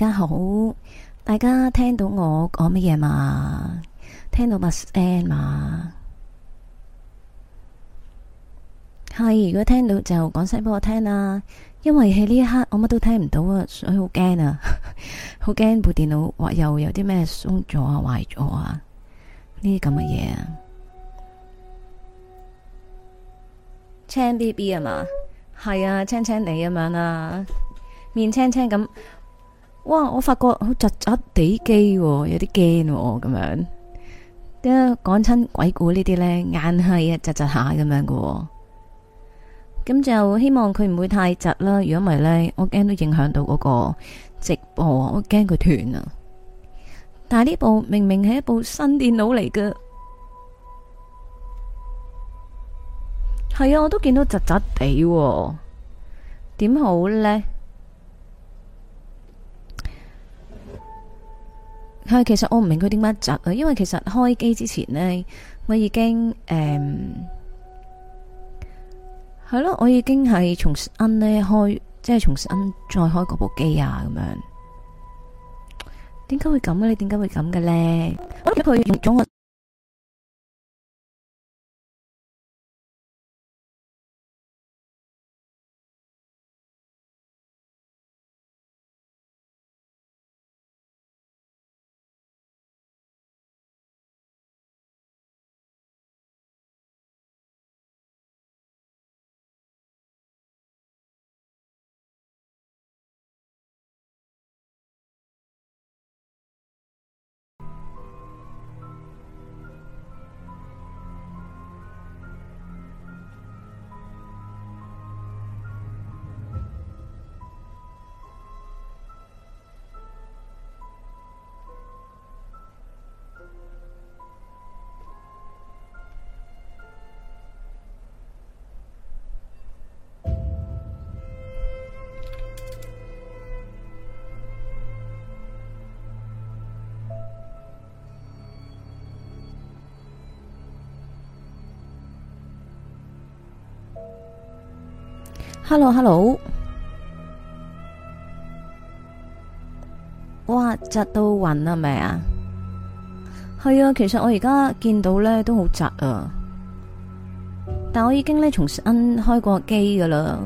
家好，大家聽到我講乜嘢嘛？聽到把聲嘛？係，如果聽到就講聲俾我聽啦。因為喺呢一刻我乜都聽唔到啊，所以好驚啊，好驚部電腦或又有啲咩鬆咗啊、壞咗啊，呢啲咁嘅嘢啊。青 B B 啊嘛？係啊，青青地咁樣啦，面青青咁。哇！我發覺好窒窒地機，有啲驚咁樣。點解講親鬼故呢啲呢？硬係啊窒窒下咁樣嘅。咁就希望佢唔會太窒啦。如果唔係呢，我驚都影響到嗰個直播，我驚佢斷啊。但係呢部明明係一部新電腦嚟嘅，係啊，我都見到窒窒地，點好呢？係，其實我唔明佢點解窒啊，因為其實開機之前呢，我已經係咯，我已經係重新呢開，即係重新再開嗰部機啊，咁樣。點解會咁嘅？你點解會咁嘅咧？我諗佢用咗我。Hello，哇，窒到暈啊，係咪啊？係啊，其實我而家見到呢都好窒啊，但我已經呢重新開過機噶啦。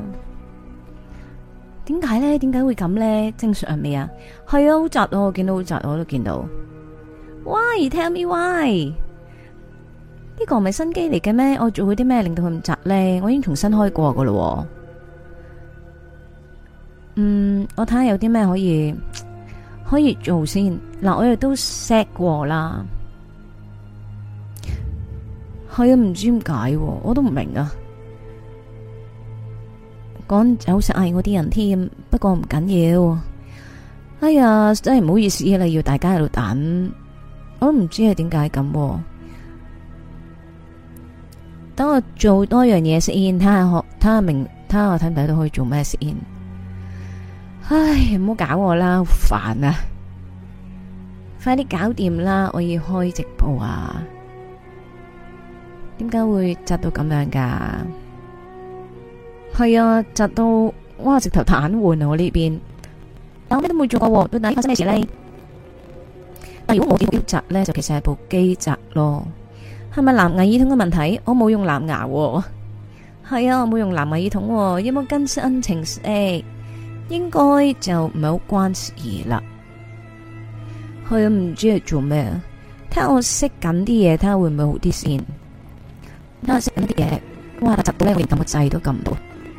點解呢？點解會咁呢？正常未啊？係啊，好窒啊！我見到好窒，我都見到。Why tell me why？呢個唔係新機嚟嘅咩？我做咗啲咩令到佢咁窒呢？我已經重新開過噶啦。我睇下有啲咩可以做先。嗱，我亦都 set 過啦。係啊，唔知點解，我都唔明啊。講走實嗌我啲人添，不過唔緊要。哎呀，真係唔好意思啦，要大家喺度等，我都唔知係點解咁。等我做多樣嘢先，睇下我睇唔睇到可以做咩先。唉，唔好搞我啦，好煩啊！快啲搞掂啦，我要開直播啊！點解會窒到咁樣噶？係啊，窒到哇，直頭癱瘓啊！我呢邊，但我咩都冇做過，到底發生咩事呢？但如果我見到窒呢，就其實係部機窒咯。係咪藍牙耳筒嘅問題？我冇用藍牙喎。係啊，我冇用藍牙耳筒喎。有冇更新程式？應該就唔係好關事啦。佢唔知係做咩，睇下我識緊啲嘢，睇下會唔會好啲先。睇下識緊啲嘢，哇！窒到咧，我連撳個掣都撳唔到。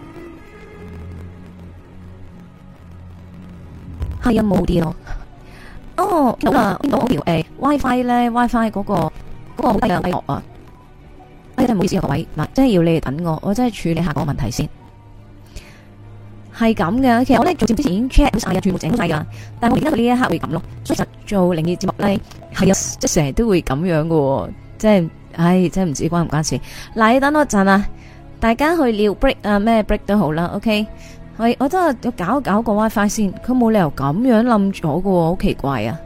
係啊，冇啲咯。哦，見到啦，見到我條WiFi 咧，WiFi 嗰個好低嘅低落啊！真係唔好意思啊，各位嗱，真係要你哋等我真係處理下嗰個問題先。係咁嘅，其實我咧做節目之前已經 check 好晒，全部整好晒噶。但係我而家到呢一刻會咁咯，所以實做靈異節目咧係啊，即係成日都會咁樣嘅，即係，唉，真係唔知關唔關事。嗱，你等我一陣啊，大家去撩 break 啊，咩 break 都好啦，OK。我真係要搞個 WiFi 先，佢冇理由咁樣冧咗嘅，好奇怪啊！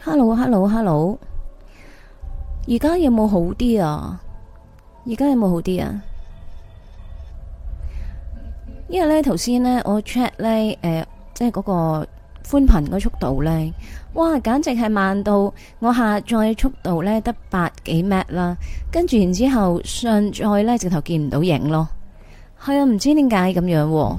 Hello，而家有冇好啲啊？而家有冇好啲啊？因為咧頭先咧我 check 咧即係嗰個寬頻個速度咧，哇，簡直係慢到我下載速度咧得百幾 Mbps 啦，跟住然之後上載咧直頭見唔到影咯。係啊，唔知點解咁樣喎。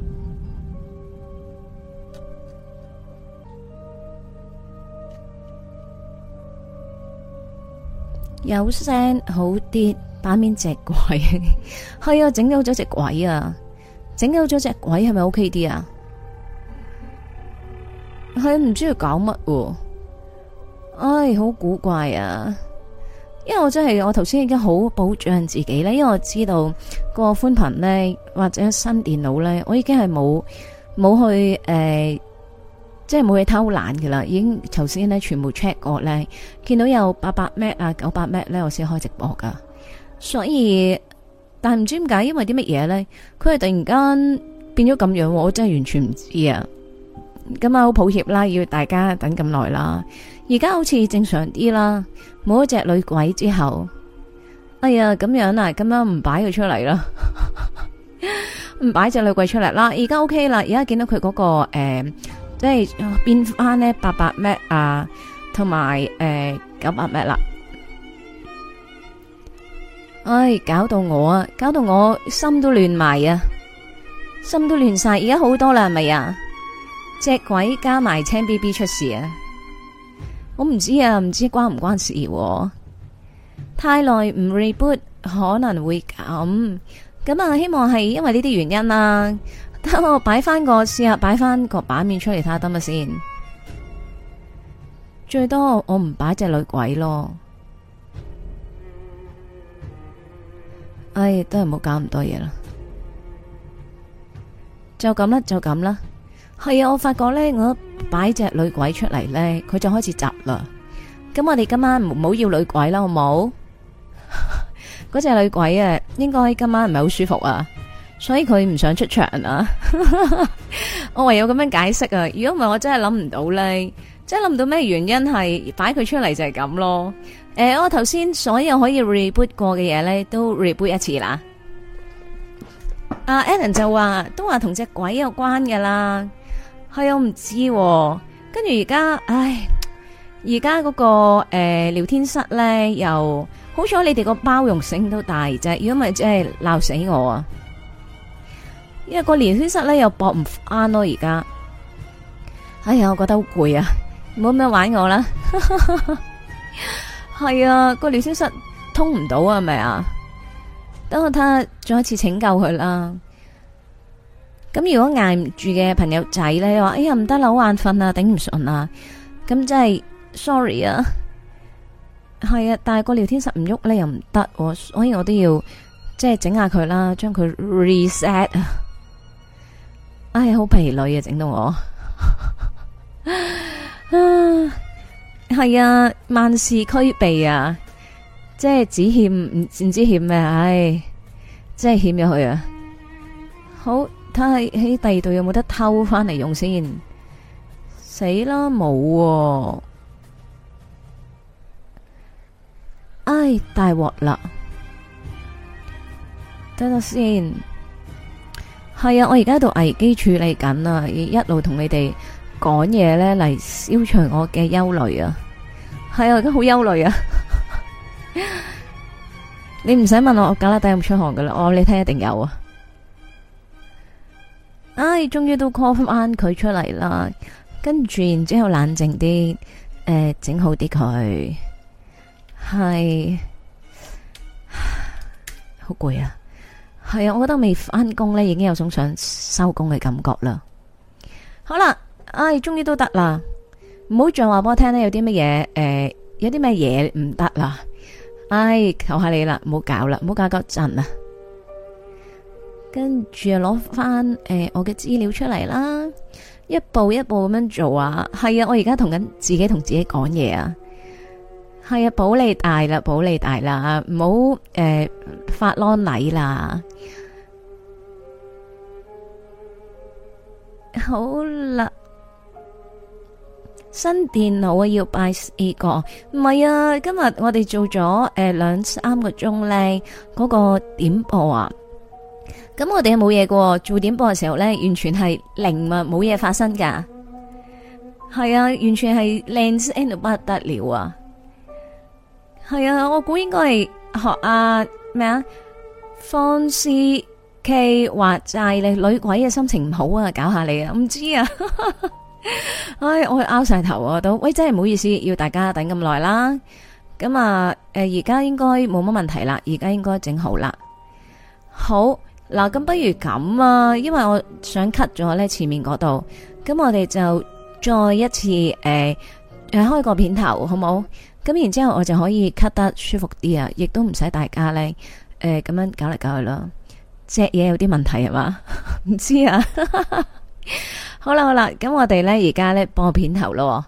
有聲好啲，版面隻鬼係啊，整到咗隻鬼啊，整到咗隻鬼係咪 OK 啲啊？係唔知佢搞乜喎？唉，好古怪啊！因為我真係我頭先已經好保障自己咧，因為我知道個寬頻咧或者新電腦咧，我已經係冇去即係冇去偷懶噶啦，已經頭先咧全部 check 過咧，見到有800Mbps啊900Mbps咧，我先開直播噶。所以，但係唔知點解，因為啲乜嘢咧，佢係突然間變咗咁樣，我真係完全唔知啊！咁啊，好抱歉啦，要大家等咁耐啦。而家好似正常啲啦，冇一隻女鬼之後，哎呀咁樣啊，咁樣唔擺佢出嚟啦，唔擺隻女鬼出嚟啦。而家 OK 啦，而家見到佢嗰個即係變翻呢800Mbps啊，同埋900Mbps啦。唉，搞到我心都亂埋啊，心都亂晒。而家好多啦，係咪啊？隻鬼加埋青 BB 出事啊！我唔知啊，唔知關唔關事啊。太耐唔 reboot 可能會咁啊！希望係因為呢啲原因啦。等我擺翻個試下，擺翻個版面出嚟睇下得咪先。最多我唔擺隻女鬼咯。唉，都係唔好搞咁多嘢啦。就咁啦。係啊，我發覺咧，我擺隻女鬼出嚟咧，佢就開始窒啦。咁我哋今晚唔好要女鬼啦，好冇？嗰隻女鬼啊，應該今晚唔係好舒服啊，所以佢唔想出場啊。我唯有咁樣解釋啊。如果唔係，我真係諗唔到咧，即係諗唔到咩原因係擺佢出嚟就係咁咯。我頭先所有可以 reboot 過嘅嘢咧，都 reboot 一次啦。阿 Alan 就話都話同隻鬼有關噶啦。係我唔知，跟住而家，而家嗰個聊天室咧，又好彩你哋個包容性都大啫，如果唔係真係鬧死我啊！因為個聊天室咧又駁唔翻咯，而家，哎呀，我覺得好攰啊，唔好咁樣玩我啦。係啊，個聊天室通唔到啊，係咪啊？等我睇下，再一次拯救佢啦。咁如果挨唔住嘅朋友仔咧，話哎呀唔得啦，好眼瞓啊，頂唔順啊，咁真係 sorry 啊，係啊，但係個聊天室唔喐咧又唔得，所以我都要即係整下佢啦，將佢 reset 啊，哎，好疲累啊，整到我，係啊，萬事俱備啊，即係只欠唔知欠咩，唉，即係欠咗佢啊，好。睇下喺第二度有冇得偷翻嚟用先，死啦冇，唉大鑊啦，等等先，係啊，我而家喺度危機處理緊啊，一路同你哋講嘢咧嚟消除我嘅憂慮啊，係啊，我而家好憂慮啊，你唔使問我格拉底有冇出汗噶啦，你睇一定有啊。唉，終於都 call 翻佢出嚟啦，跟住然之後冷靜啲，整好啲佢，係好攰啊，係啊，我覺得未翻工咧，已經有種想收工嘅感覺啦。好啦，唉，終於都得啦，唔好再話俾我聽咧，有啲乜嘢，有啲咩嘢唔得啦，唉，求下你啦，唔好搞啦，唔好搞嗰陣啊。跟住攞翻我嘅資料出嚟啦，一步一步咁樣做啊。係啊，我而家同自己講嘢啊。係啊，保你大啦，保你大啦，唔好發啷禮啦。好啦， 新電腦啊，要拜4個。唔係啊，今日我哋做咗2-3個鐘咧，嗰個點播啊。咁我哋係冇嘢喎，做點播嘅時候咧，完全係零啊，冇嘢發生噶。係啊，完全係靚聲到不得了啊！係啊，我估應該係學啊咩啊，方思 K 話齋你女鬼嘅心情唔好啊，搞下你啊，唔知啊。唉，我拗晒頭啊都，喂，真係唔好意思，要大家等咁耐啦。咁啊，而家應該冇乜問題啦，而家應該整好啦。好嗱，咁不如咁啊，因為我想 cut 咗咧前面嗰度，咁我哋就再一次開個片頭好冇？咁然之後我就可以 cut 得舒服啲啊，亦都唔使大家咧咁樣搞嚟搞去啦。隻嘢有啲問題係嘛？唔知啊。好啦，咁我哋咧而家咧播片頭咯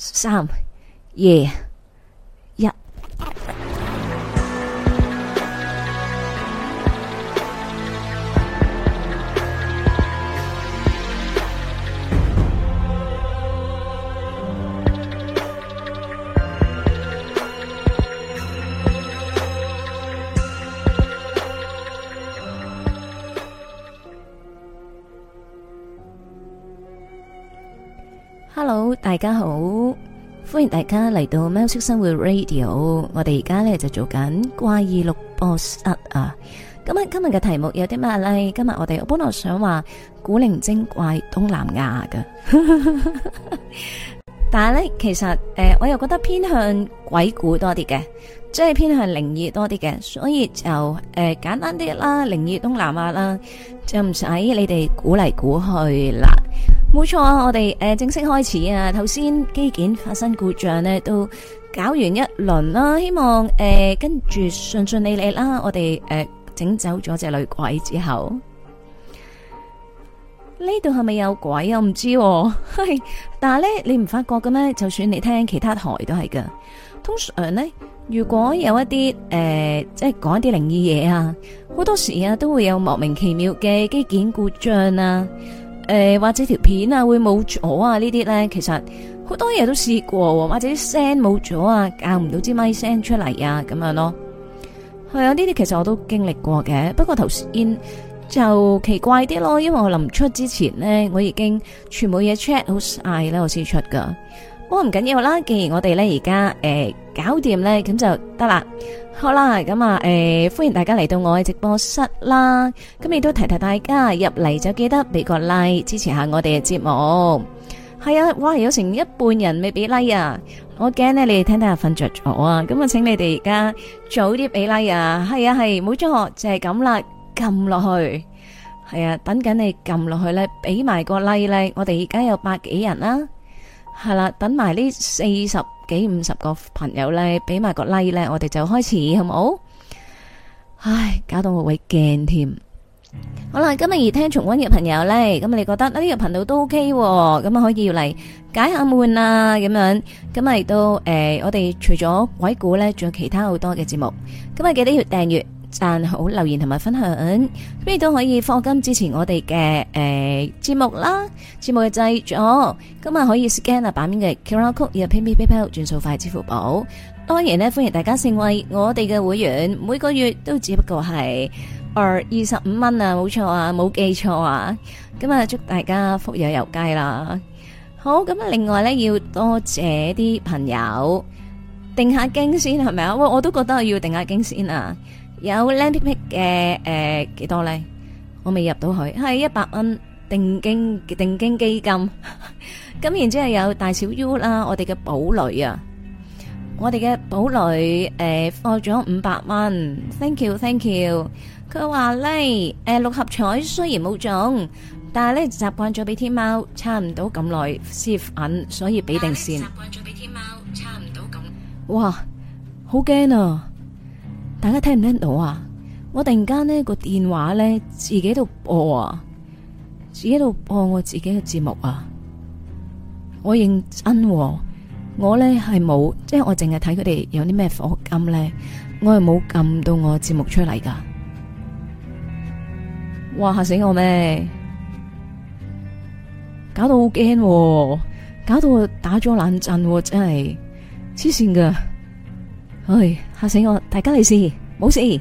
，3、2、1。Hello， 大家好，歡迎大家嚟到喵式生活 Radio。我哋而家咧就做緊怪異錄播室啊。咁啊，今日嘅題目有啲咩咧？今日我本來想話古靈精怪東南亞㗎，但係咧其實我又覺得偏向鬼故多啲嘅，即係偏向靈異多啲嘅，所以就簡單啲啦，靈異東南亞啦，就唔使你哋估嚟估去啦。冇錯啊，我哋正式開始啊！頭先機件發生故障呢，都搞完一輪啦，希望跟住順順利利啦。我哋整走咗隻女鬼之後，呢度係咪有鬼啊？我唔知喎，但係咧你唔發覺嘅咩？就算你聽其他台都係噶。通常呢，如果有一啲即係講一啲靈異嘢啊，好多時啊都會有莫名其妙嘅機件故障啊。或者條片啊會冇咗啊，呢啲咧其實好多嘢都試過，或者啲聲冇咗啊，教唔到支咪聲出嚟啊，咁樣咯。係啊，呢啲其實我都經歷過嘅，不過頭先就奇怪啲咯，因為我臨出之前呢，我已經全部嘢 check 好晒咧，我先出噶。不過唔緊要啦，既然我哋咧而家搞掂咧，咁就得啦。好啦，咁啊歡迎大家嚟到我嘅直播室啦。咁亦都提提大家入嚟就記得俾個 like 支持下我哋嘅節目。係啊，哇，有成一半人未俾 like 啊！我驚咧你哋聽下瞓着咗啊！咁啊，請你哋而家早啲俾 like 啊！係啊，係冇錯，就係咁啦，撳落去。係啊，等緊你撳落去咧，俾埋個 like 咧。我哋而家有百幾人啦。係啦，等埋呢40幾50個朋友咧，俾埋個 like 咧，我哋就開始好冇？唉，搞到我會驚添。好啦，今日而聽重溫嘅朋友咧，咁你覺得呢個頻道都 OK，咁啊可以要嚟解下悶啊，咁樣，咁咪都我哋除咗鬼故咧，仲有其他好多嘅節目，咁啊記得要訂閱、讚好、留言同埋分享，咁亦都可以課金支持我哋嘅節目啦，節目嘅製作，咁啊可以 scan 啊版面嘅 QR code 入 PayPal 轉數快支付寶。當然咧，歡迎大家成為我哋嘅會員，每個月都只不過係25蚊啊，冇錯啊，冇記錯啊。咁啊，祝大家福有攸歸啦。好，咁啊，另外咧要多謝啲朋友定下經先係咪啊？我都覺得要定下經先啊。有 Lampick 嘅幾多咧？我未入到去，係100蚊定經基金。咁然之後有大小 U 啦，我哋嘅寶女啊。我哋嘅寶女放咗500蚊 ，thank you。佢話咧6合彩雖然冇中，但係咧習慣咗俾天貓差唔多咁耐先粉，所以俾定先。習慣咗俾天貓差唔多咁。哇，好驚啊！大家聽唔聽到啊？我突然間呢個電話咧自己度播啊，自己度播我自己嘅節目啊，我認真喎。我咧係冇，即係我淨係睇佢哋有啲咩課金咧，我係冇撳到我節目出嚟噶。哇，嚇死我咩？搞到好驚， 搞到我打咗冷震，真係黐線噶，唉，嚇死我！大家利是冇事。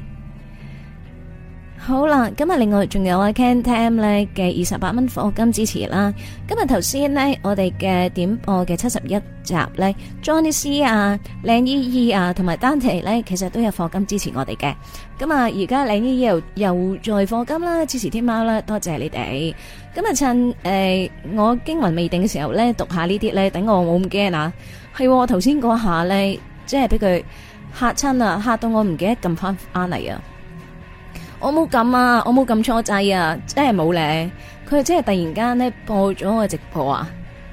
好啦，今日另外仲有Ken Tam 咧嘅28蚊課金支持啦。今日頭先呢，我哋嘅點播嘅71集咧 ，Johnny C 啊、靚姨姨啊同埋丹提咧，其實都有課金支持我哋嘅。咁啊，而家靚姨姨又再課金啦，支持天喵啦，多謝你哋。咁啊，趁我驚魂未定嘅時候咧，讀下呢啲咧，等我冇咁驚啊。係頭先嗰下咧，即係俾佢嚇親啊，嚇到我唔記得撳翻嚟啊！我冇撳啊，我冇撳錯掣啊，真係冇咧。佢真係突然間咧播咗個直播啊，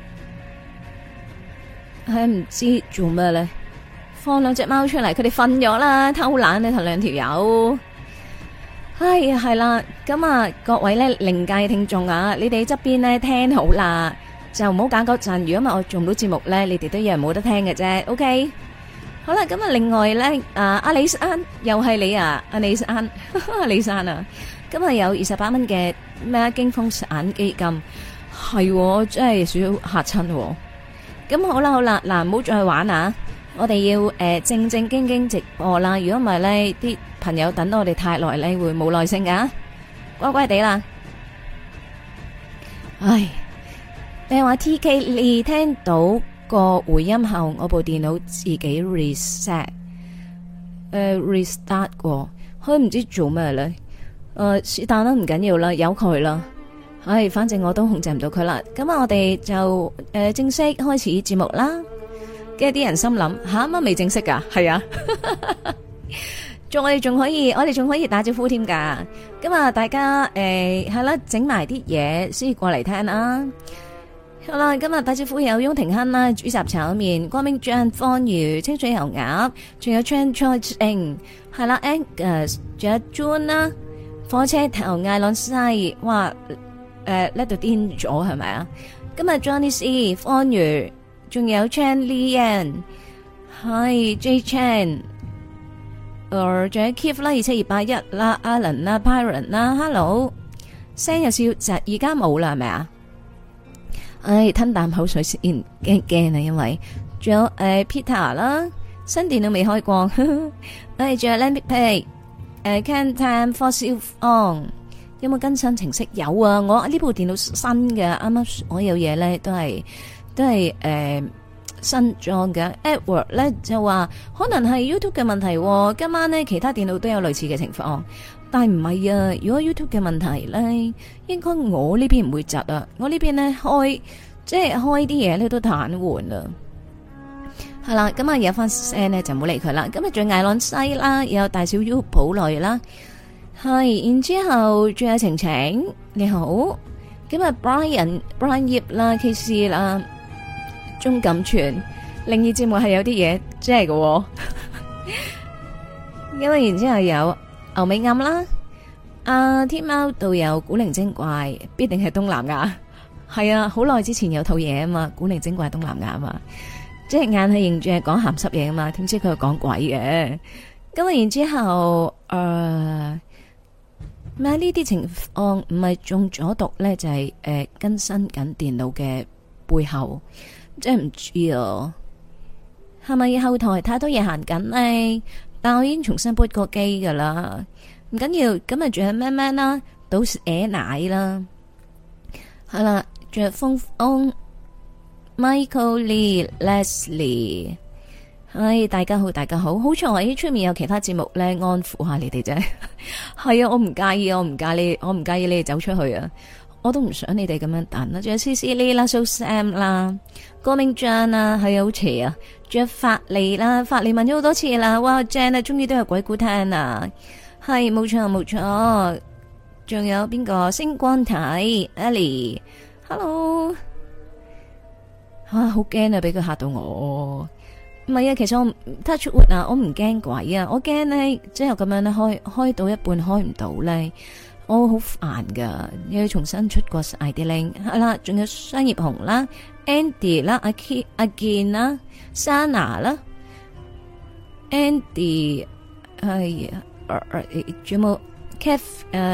係唔知做咩咧？放兩隻貓出嚟，佢哋瞓咗啦，偷懶呢頭兩條友。哎呀，係啦，咁啊，各位咧靈界聽眾啊，你哋側邊咧聽好啦，就唔好揀嗰陣。如果唔係我做唔到節目咧，你哋都一樣冇得聽嘅啫。OK。好啦，咁啊，另外咧，阿李生又係你啊，阿李生，李生啊，今日有28蚊嘅咩驚風散基金，係真係少少嚇親。咁好啦，嗱，唔好再玩啊！我哋要正正經經直播啦，如果唔係咧，啲朋友等到我哋太耐咧，會冇耐性噶，乖乖地啦。唉，你話 TK 你聽到個回音後，我部電腦自己 restart 過，佢唔知做咩咧。是但啦，唔緊要啦，由佢啦。唉，反正我都控制唔到佢啦。咁啊，我哋就正式開始節目啦。跟住啲人心諗吓，乜未正式噶？係啊，我哋仲可以打招呼添噶。咁啊，大家係啦，整埋啲嘢先過嚟聽啦。好啦，今日打招呼有翁廷亨啦，煮雜炒麵，光明醬方魚，清水油鴨，仲有 Chan Choi Ching， 係啦 ，Angus， 仲有 June 啦，火車頭艾朗西，哇，呢度癲咗係咪啊？今日 Johnny C， 方魚，仲有 Chan Lian， 係 J Chan， 仲有 Keith 啦，27281啦 ，Alan 啦 ，Byron 啦 ，Hello， 聲有少窒，而家冇啦係咪啊？唉，吞啖口水先，驚啊！因為仲有Peter 啦，新電腦未開過，仲有 Lambic Pay，Can Time Fossil On， 有冇更新程式？有啊，我呢部電腦新嘅，啱啱所有嘢咧都係新裝嘅。Edward 咧就話可能係 YouTube 嘅問題，今晚咧其他電腦都有類似嘅情況。但係唔係啊！如果 YouTube 嘅問題咧，應該我呢邊唔會窒啊！我呢邊咧開啲嘢咧都癱瘓啦。係啦，咁啊有翻聲咧就唔好理佢啦。今日仲有艾朗西啦，有大小 U 普類啦，係然之後仲有晴晴你好，今日 Brian 葉啦 KC 啦，鍾錦全靈異節目係有啲嘢真係嘅，因為然之後有。牛尾暗啦，天貓導遊古靈精怪必定係東南亞，係啊，好耐之前有套嘢啊嘛，古靈精怪東南亞啊嘛，即係硬係認住係講鹹濕嘢啊嘛，點知佢係講鬼嘅。咁然之後咩呢啲情況唔係中咗毒咧，就係更新緊電腦嘅背後，即係唔知啊，係咪後台太多嘢行緊呢？但我已經重新撥過機噶啦，唔緊要。咁啊，仲有咩咩啦，倒椰奶啦，係啦，仲有風風 Michael Lee、Leslie， 唉，大家好，大家好，好彩喺出面有其他節目咧，安撫下你哋啫。係啊，我唔介意，我唔介意你哋走出去啊，我都唔想你哋咁樣等啦。仲有 CC Lee 啦、So Sam 啦、郭明章啦，係啊，好邪啊！仲有法利啦，法利問咗好多次啦，哇 Jan 啊，終於都有鬼故聽啊，係冇錯冇錯。仲有邊個星光體 Ellie，Hello， 好驚啊，俾佢嚇到我。唔係啊，其實我 touch wood 啊，我唔驚鬼啊，我驚呢，即係咁樣咧開到一半開唔到咧，我好煩噶，要重新出過晒啲 link。係啦，仲有商業紅啦 ，Andy 啦，阿健啦。Sana 啦 ，Andy 係仲有冇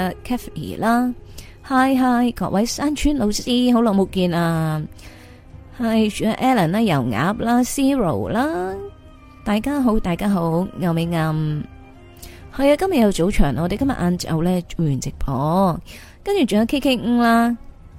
Kathy 啦 ，Hi 各位山村老師好耐冇見啊， 係仲有 Alan 啦、油鴨啦、Zero 啦，大家好，大家好，牛尾暗，係啊，今日有早場，我哋今日晏晝咧做完直播，跟住仲有 KK 啦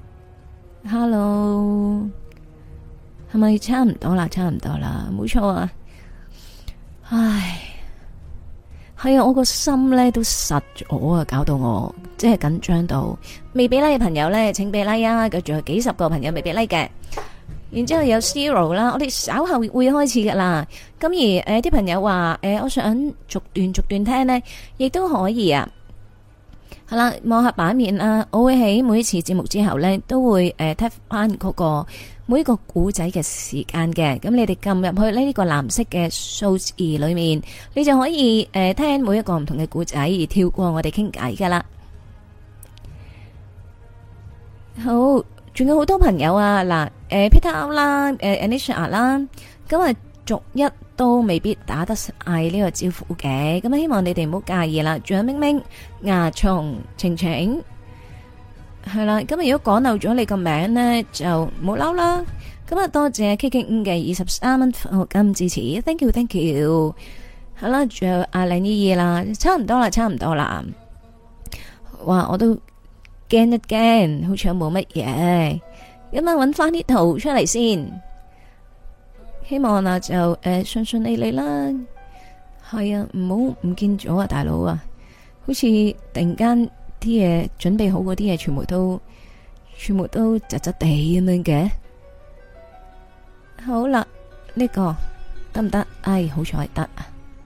，Hello， 係咪差唔多啦？差唔多啦，冇錯啊，唉，係啊，我個心咧都實咗啊，搞到我即係緊張到，未俾 like 嘅朋友咧，請俾 like 啊，仲有幾十個朋友未俾 like 嘅。然之後有 Zero 啦，我哋稍後會開始噶啦。咁而啲朋友話我想逐段聽呢，亦都可以啊。係啦，望下版面啊，我會喺每一次節目之後呢，都會睇翻嗰個每一個古仔嘅時間嘅。咁你哋撳入去呢個藍色嘅數字裏面，你就可以聽每一個唔同嘅古仔，而跳過我哋傾偈噶啦。好。仲有好多朋友啊，嗱，Peter 啦，Anisha 啦，咁啊逐一都未必打得晒呢個招呼嘅，咁啊希望你哋唔好介意啦。仲有明明、牙蟲、晴晴，係啦，咁如果講漏咗你個名呢，就唔好嬲啦。咁啊多謝 KK 嘅23蚊課金支持 ，thank you，thank you。好啦，仲有阿靚姨姨啦，差唔多啦。哇，我都。驚一驚，好似冇乜嘢，咁啊搵翻啲圖出嚟先，希望啊就順利啦。係啊，唔見咗啊，大佬啊，好似突然間啲嘢準備好嗰啲嘢，全部都窒窒地咁樣嘅。好啦，呢個得唔得？哎，好彩得啊！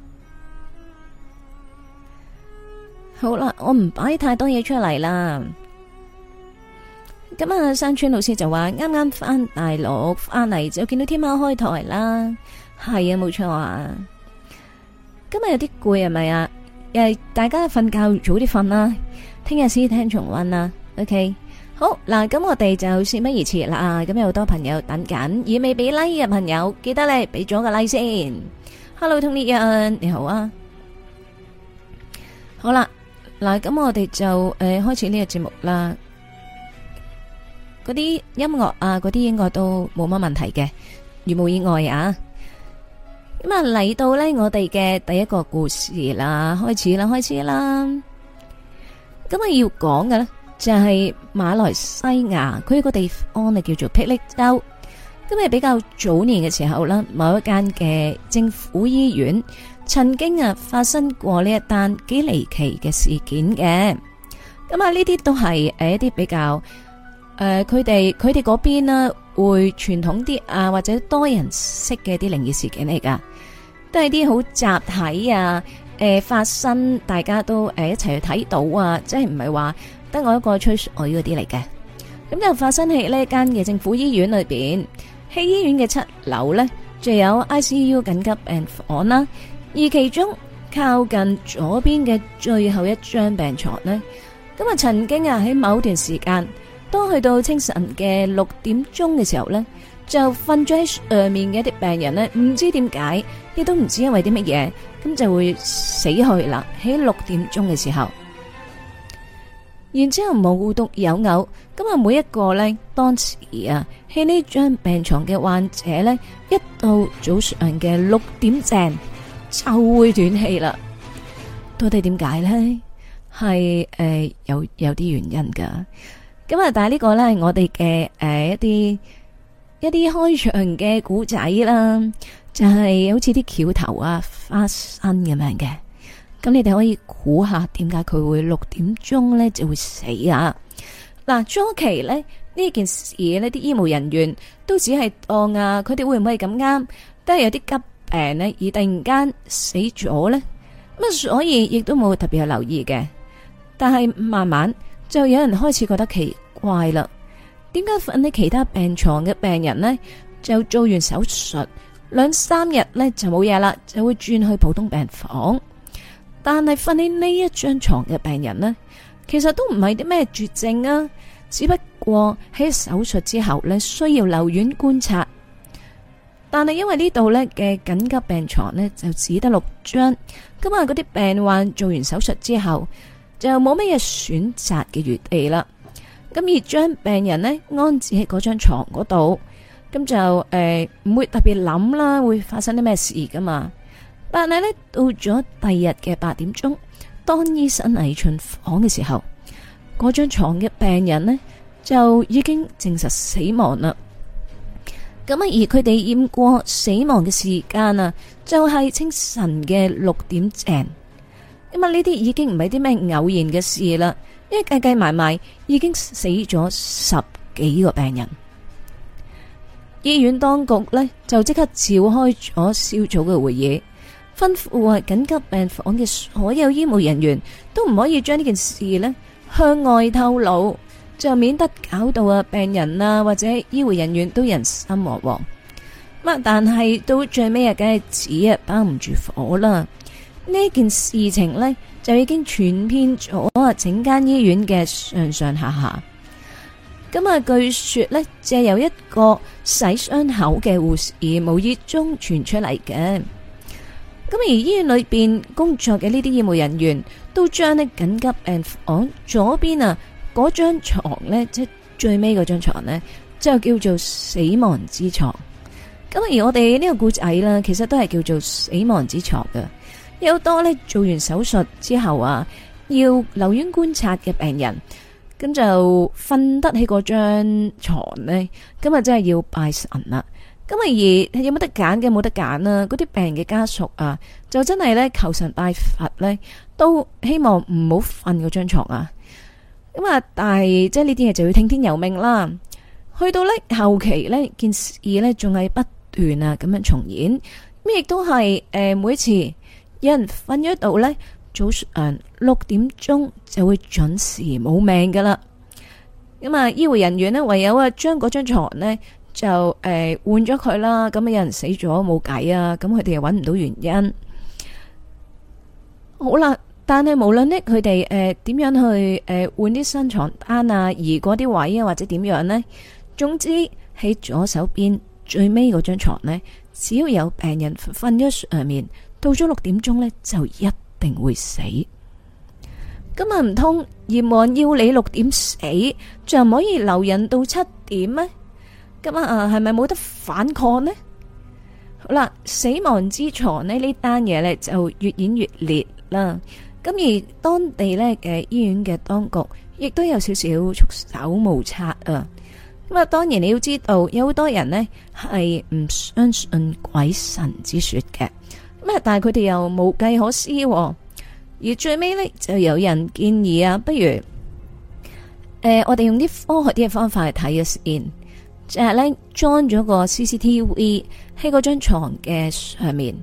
好啦，我唔擺太多嘢出嚟啦。咁啊，山村老師就話啱啱翻大陸翻嚟就見到天喵開台啦，係啊，冇錯啊。今日有啲攰係咪啊？大家瞓覺早啲瞓啦，聽日先聽重溫啦。OK， 好嗱，咁我哋就事不宜遲啦。咁有好多朋友等緊，而未俾 like 嘅朋友，記得咧俾咗個 like 先。Hello，Tony Yan，你好啊。好啦，嗱，咁我哋就開始呢個節目啦。嗰啲音樂啊，嗰啲應該都冇乜問題嘅，如無意外啊。咁啊嚟到呢，我哋嘅第一個故事啦，開始啦。咁啊要講嘅呢，就係馬來西亞，佢個地方呢叫做霹靂州。咁啊比較早年嘅時候啦，某一間嘅政府醫院曾經啊發生過呢一單幾離奇嘅事件嘅。咁啊呢啲都係一啲比較。佢哋嗰邊呢會傳統啲啊，或者多人識嘅啲靈異事件嚟噶，都係啲好集體啊，發生大家都一齊去睇到啊，即係唔係話得我一個吹水嗰啲嚟嘅。咁就發生喺呢間嘅政府醫院裏邊，喺醫院嘅7樓呢，就有 ICU 緊急病房啦，而其中靠近左邊嘅最後一張病床呢，咁啊曾經啊喺某段時間。當去到清晨嘅6點鐘嘅時候呢，就瞓咗喺上面嘅一啲病人呢，唔知點解，亦都唔知因為啲乜嘢，咁就會死去啦。喺6點鐘嘅時候，然之後無獨有偶，咁啊每一個呢，當時啊喺呢張病床嘅患者呢，一到早上嘅6點正就會斷氣啦。到底點解呢？係有啲原因噶。咁啊，但係呢個咧係我哋嘅一啲開場嘅古仔啦，就係好似啲橋頭啊花生咁樣嘅。咁你哋可以估下點解佢會6點鐘咧就會死啊？嗱，初期咧呢件事呢啲醫務人員都只係當啊，佢哋會唔會咁啱都係有啲急病呢，而突然間死咗咧？咁啊，所以亦都冇特別去留意嘅。但係慢慢。就有人開始覺得奇怪啦，點解瞓喺其他病床嘅病人呢，就做完手術2-3日呢就冇嘢啦，就會轉去普通病房，但係瞓喺呢一張床嘅病人呢，其實都唔係啲咩絕症啊，只不過喺手術之後呢需要留院觀察，但係因為呢度呢嘅緊急病床呢就只得6張，咁啊嗰啲病患做完手術之後。就冇乜嘢選擇嘅餘地啦，咁而將病人呢安置喺嗰張床嗰度， 咁就唔會特別諗啦，會發生啲咩事噶嘛。但係呢，到咗第二日嘅8點鐘，當醫生嚟巡房嘅時候，嗰張床嘅病人呢，就已經證實死亡啦。咁啊，而佢哋驗過死亡嘅時間啊，就係清晨嘅6點正。咁啊，呢啲已經唔係啲咩偶然嘅事啦，因為計計埋埋已經死咗10幾個病人。醫院當局呢，就即刻召開咗小組嘅會議，吩咐緊急病房嘅所有醫務人員都唔可以將呢件事呢向外透露，就免得搞到病人啊或者醫護人員都人心惶惶。但係到最尾梗係紙包唔住火啦。呢件事情呢，就已經傳遍咗整間醫院嘅上上下下。咁啊，據說呢，借由一個洗傷口嘅護士無意中傳出嚟嘅。咁而醫院裏邊工作嘅呢啲醫務人員都將呢緊急病房左邊啊嗰張床呢，即係最尾嗰張床呢，就叫做死亡之床。咁而我哋呢個故仔啦，其實都係叫做死亡之床嘅。有好多呢做完手術之後啊，要留院觀察嘅病人，咁就瞓得起嗰張床呢，咁啊真係要拜神啦。咁啊而有冇得揀嘅冇得揀啦，嗰啲病人嘅家屬啊，就真係呢求神拜佛呢，都希望唔好瞓嗰張床啊。咁啊，但係即係呢啲嘢就要聽天由命啦。去到呢後期呢件事呢，仲係不斷啊咁樣重演。咁亦都係每次有人瞓咗度呢，早上6點鐘就會準時冇命噶啦。咁啊，醫護人員呢，唯有將嗰張床呢，就換咗佢啦。咁有人死咗冇計啊，咁佢哋又揾唔到原因。好啦。但係無論呢，佢哋點樣去換啲新床單啊，移嗰啲位啊，或者點樣呢？總之喺左手邊最尾嗰張床呢，只要有病人瞓咗上面，到咗6點鐘呢，就一定會死。咁啊唔通閻王要你6點死，就唔可以留人到7點咩？咁啊係咪冇得反抗呢？好啦，死亡之床呢單嘢呢，就越演越烈啦。咁而當地呢嘅醫院嘅當局亦都有少少束手無策啊！咁啊，當然你要知道，有好多人呢係唔相信鬼神之說嘅，咁啊，但係佢哋又無計可施，而最尾呢，就有人建議啊，不如我哋用啲科學啲嘅方法去睇嘅先，就係呢裝咗個 CCTV 喺嗰張床嘅上面。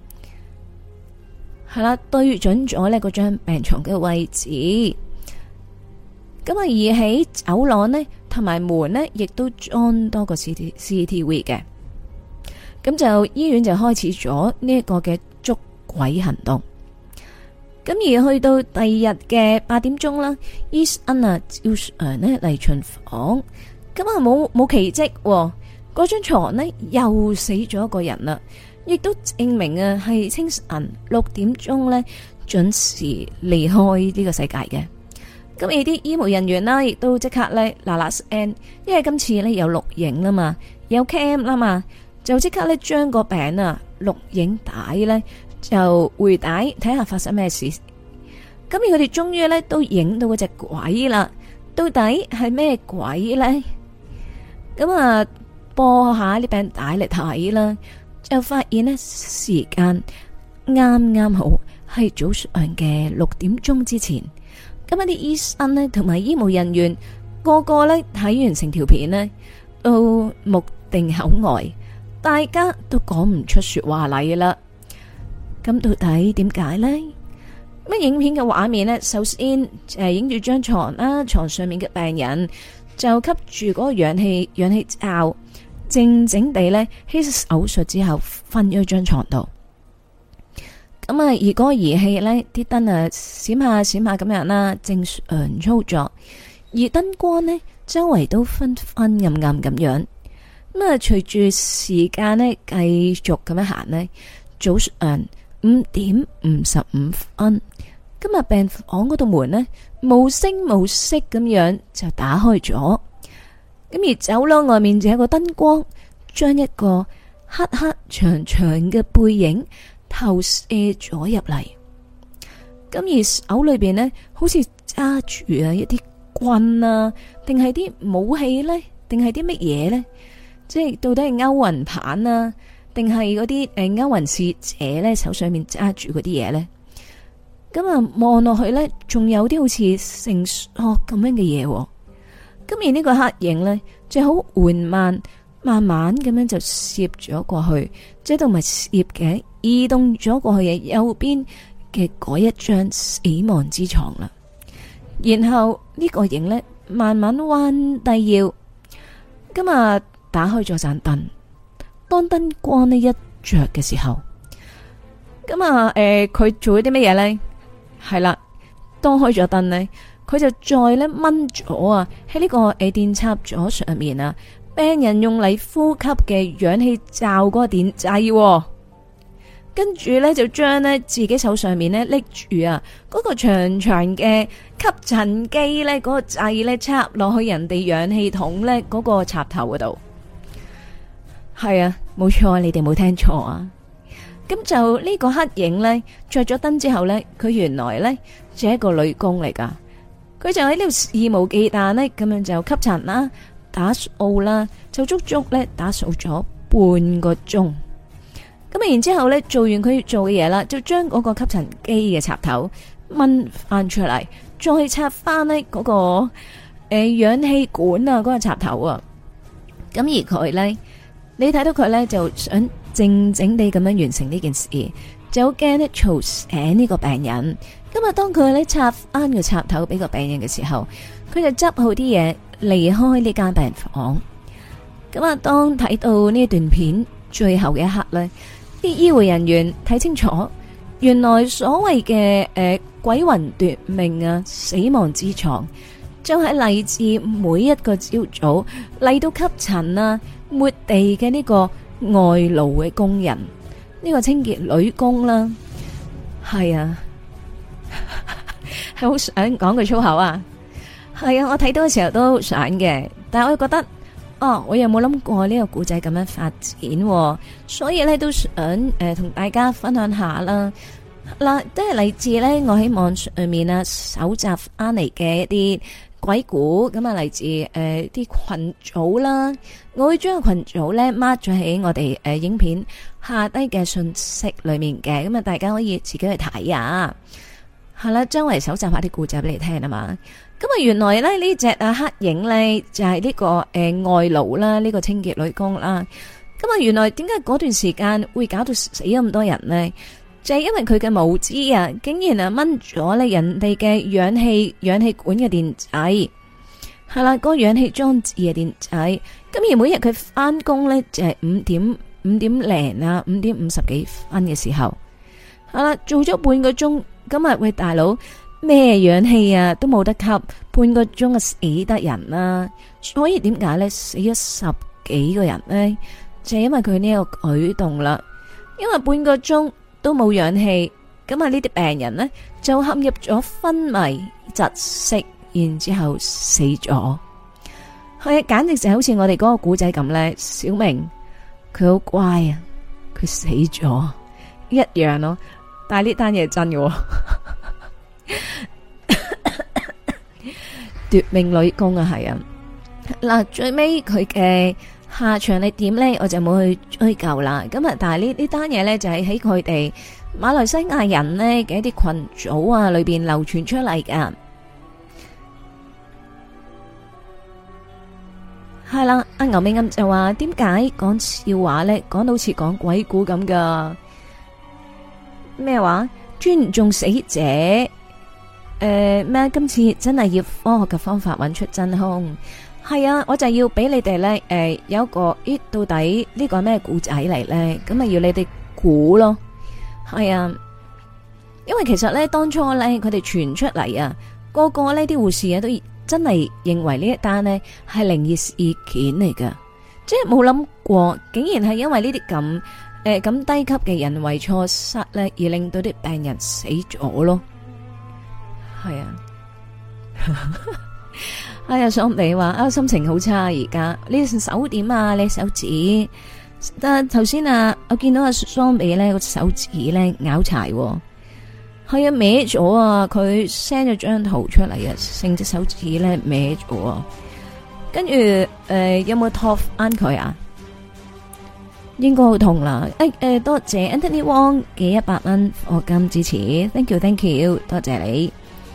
係啦，對準咗呢嗰張病床嘅位置，咁啊而喺走廊呢同埋門呢，亦都裝多個 CCTV 嘅，咁就醫院就開始咗呢一個嘅捉鬼行動。咁而去到第二日嘅8點鐘啦，醫生啊照常呢嚟巡房，咁啊冇奇蹟，嗰張床呢又死咗一個人啦。亦都證明啊，係清晨6點鐘呢準時離開呢個世界嘅。咁而啲醫務人員啦，亦都即刻呢嗱嗱聲，因為今次呢有錄影啦嘛，有 cam 啦嘛，就即刻呢將個餅啊錄影帶呢就回帶睇下發生咩事。咁而佢哋終於呢都影到嗰隻鬼啦，到底係咩鬼呢？咁啊播下啲餅帶嚟睇啦。就發現呢時間啱啱好係早上嘅6點鐘之前，咁啲醫生呢同埋醫務人員個個呢睇完成條片呢都目定口呆，大家都講唔出說話嚟啦。咁到底點解呢？乜影片嘅畫面呢？首先影住張床啦，床上面嘅病人就吸住嗰個氧氣罩。靜靜地呢，喺手術之後瞓咗張床度。咁啊，而嗰個儀器呢，啲燈啊閃下閃下咁樣啦，正常操作。而燈光呢，周圍都昏昏暗暗咁樣。咁啊，隨住時間呢，繼續咁樣行呢，早上5點55分，今日病房嗰度門呢，無聲無息咁樣就打開咗。咁而走廊外面就有個燈光， 將一個黑黑長長嘅背影投射咗入嚟。咁而手裏邊呢，好似揸住啊一啲棍啊，定係啲武器呢？定係啲乜嘢呢？即係到底係勾魂棒啊，定係嗰啲勾魂使者呢？手上面揸住嗰啲嘢呢？咁啊望落去呢，仲有啲好似成索咁樣嘅嘢。咁而呢個黑影呢，就好緩慢，慢慢咁樣就攝咗過去，即係都唔係攝嘅，移動咗過去嘅右邊嘅嗰一張死亡之床啦。然後呢個影呢，慢慢彎低腰，咁啊打開咗盞燈。當燈光呢一着嘅時候，咁啊佢做咗啲乜嘢呢？係啦，當開咗燈呢，佢就再咧掹咗啊喺呢個電插座上面啊，病人用嚟呼吸嘅氧氣罩嗰個電掣，跟住咧就將咧自己手上面咧拎住啊嗰個長長嘅吸塵機咧嗰個掣咧插落去人哋氧氣筒咧嗰個插頭嗰度。係啊，冇錯，你哋冇聽錯啊！咁就呢個黑影咧着咗燈之後咧，佢原來咧就係一個女工嚟噶。佢就喺呢度肆無忌憚呢，咁樣就吸塵啦、打掃啦，就足足咧打掃咗半個鐘。咁然之後咧做完佢做嘅嘢啦，就將嗰個吸塵機嘅插頭掹翻出嚟，再插翻呢嗰個氧氣管啊嗰個插頭啊。咁而佢咧，你睇到佢咧就想靜靜地咁樣完成呢件事，就好驚咧嘈醒呢個病人。咁啊，當佢咧插翻個插頭俾個病人嘅時候，佢就執好啲嘢離開呢間病房。咁啊，當睇到呢段片最後嘅一刻咧，啲醫護人員睇清楚，原來所謂嘅鬼魂奪命啊，死亡之床，就係嚟自每一個朝早嚟到吸塵啊、抹地嘅呢個外勞嘅工人，呢個清潔女工啦，係啊。係好想講句粗口啊！係啊，我睇到嘅時候都想嘅，但係我覺得，我又冇諗過呢個故仔咁樣發展，所以咧都想同大家分享下啦。嗱，都係嚟自咧我喺網上面啊搜集翻嚟嘅一啲鬼故，咁啊嚟自啲群組啦，我會將個群組咧 mark 咗喺我哋影片下低嘅信息裏面嘅，咁啊大家可以自己去睇啊。係啦，周圍搜集下啲故仔俾你聽啊嘛。咁啊，原來咧呢隻黑影咧就係呢個外勞啦，呢個清潔女工啦。咁啊，原來點解嗰段時間會搞到死咁多人呢？就係因為佢嘅無知啊，竟然啊掹咗咧人哋嘅氧氣管嘅電掣，係啦，嗰個氧氣裝置嘅電掣。咁而每日佢翻工咧就係5點零啊，5點50幾分嘅時候，係啦，做咗半個鐘。今日喂大佬，咩氧氣啊都冇得吸，半個鐘啊死得人啦！所以點解咧死咗10幾個人呢？就係因為佢呢個舉動啦。因為半個鐘都冇氧氣，咁啊呢啲病人呢，就陷入咗昏迷窒息，然之後死咗。係啊，簡直就好似我哋嗰個古仔咁咧。小明佢好乖啊，佢死咗一樣咯。但係呢單嘢真嘅，奪命女工啊，係啊。嗱，最尾佢嘅下場係點呢？我就冇去追究啦。咁啊，但係呢單嘢呢，就係喺佢哋馬來西亞人呢嘅一啲群組啊裏邊流傳出嚟噶。係啦，阿牛尾暗就話點解講笑話呢？講到好似講鬼故咁噶。咩話？尊重死者？咩？今次真係要科學嘅方法揾出真兇。係啊，我就要俾你哋呢，有一個到底呢個係咩故仔嚟呢？咁啊要你哋估咯。係啊，因為其實呢，當初呢，佢哋傳出嚟啊，個個呢啲護士啊都真係認為呢一單呢係靈異事件嚟噶，即係冇諗過，竟然係因為呢啲咁低級嘅人為錯失咧，而令到啲病人死咗咯。係啊， 哎呀，爽你話啊，心情好差而家。你手點啊？你手指？但頭先啊，我見到阿雙美咧個手指咧拗柴，係啊歪咗啊！佢 send 咗張圖出嚟啊，成隻手指咧歪咗。跟住有冇托翻佢啊？應該好痛啦！多謝 Anthony Wong 嘅100蚊課金支持，thank you，多謝你。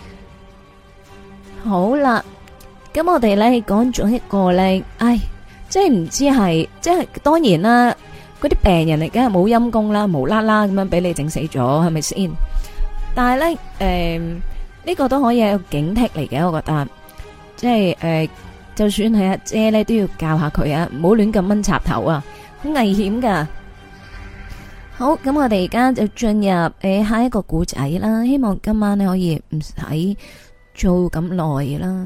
好啦，咁我哋咧講咗一個咧，即係唔知係，即係當然啦，嗰啲病人嚟梗係冇陰功啦，無啦啦咁樣俾你整死咗，係咪先？但係咧，呢個都可以係一個警惕嚟嘅，我覺得，即係就算係阿姐咧，都要教下佢啊，唔好亂咁掹插頭啊！好危險噶。好，咁我哋而家就進入下一個故仔啦。希望今晚咧可以唔使做咁耐啦。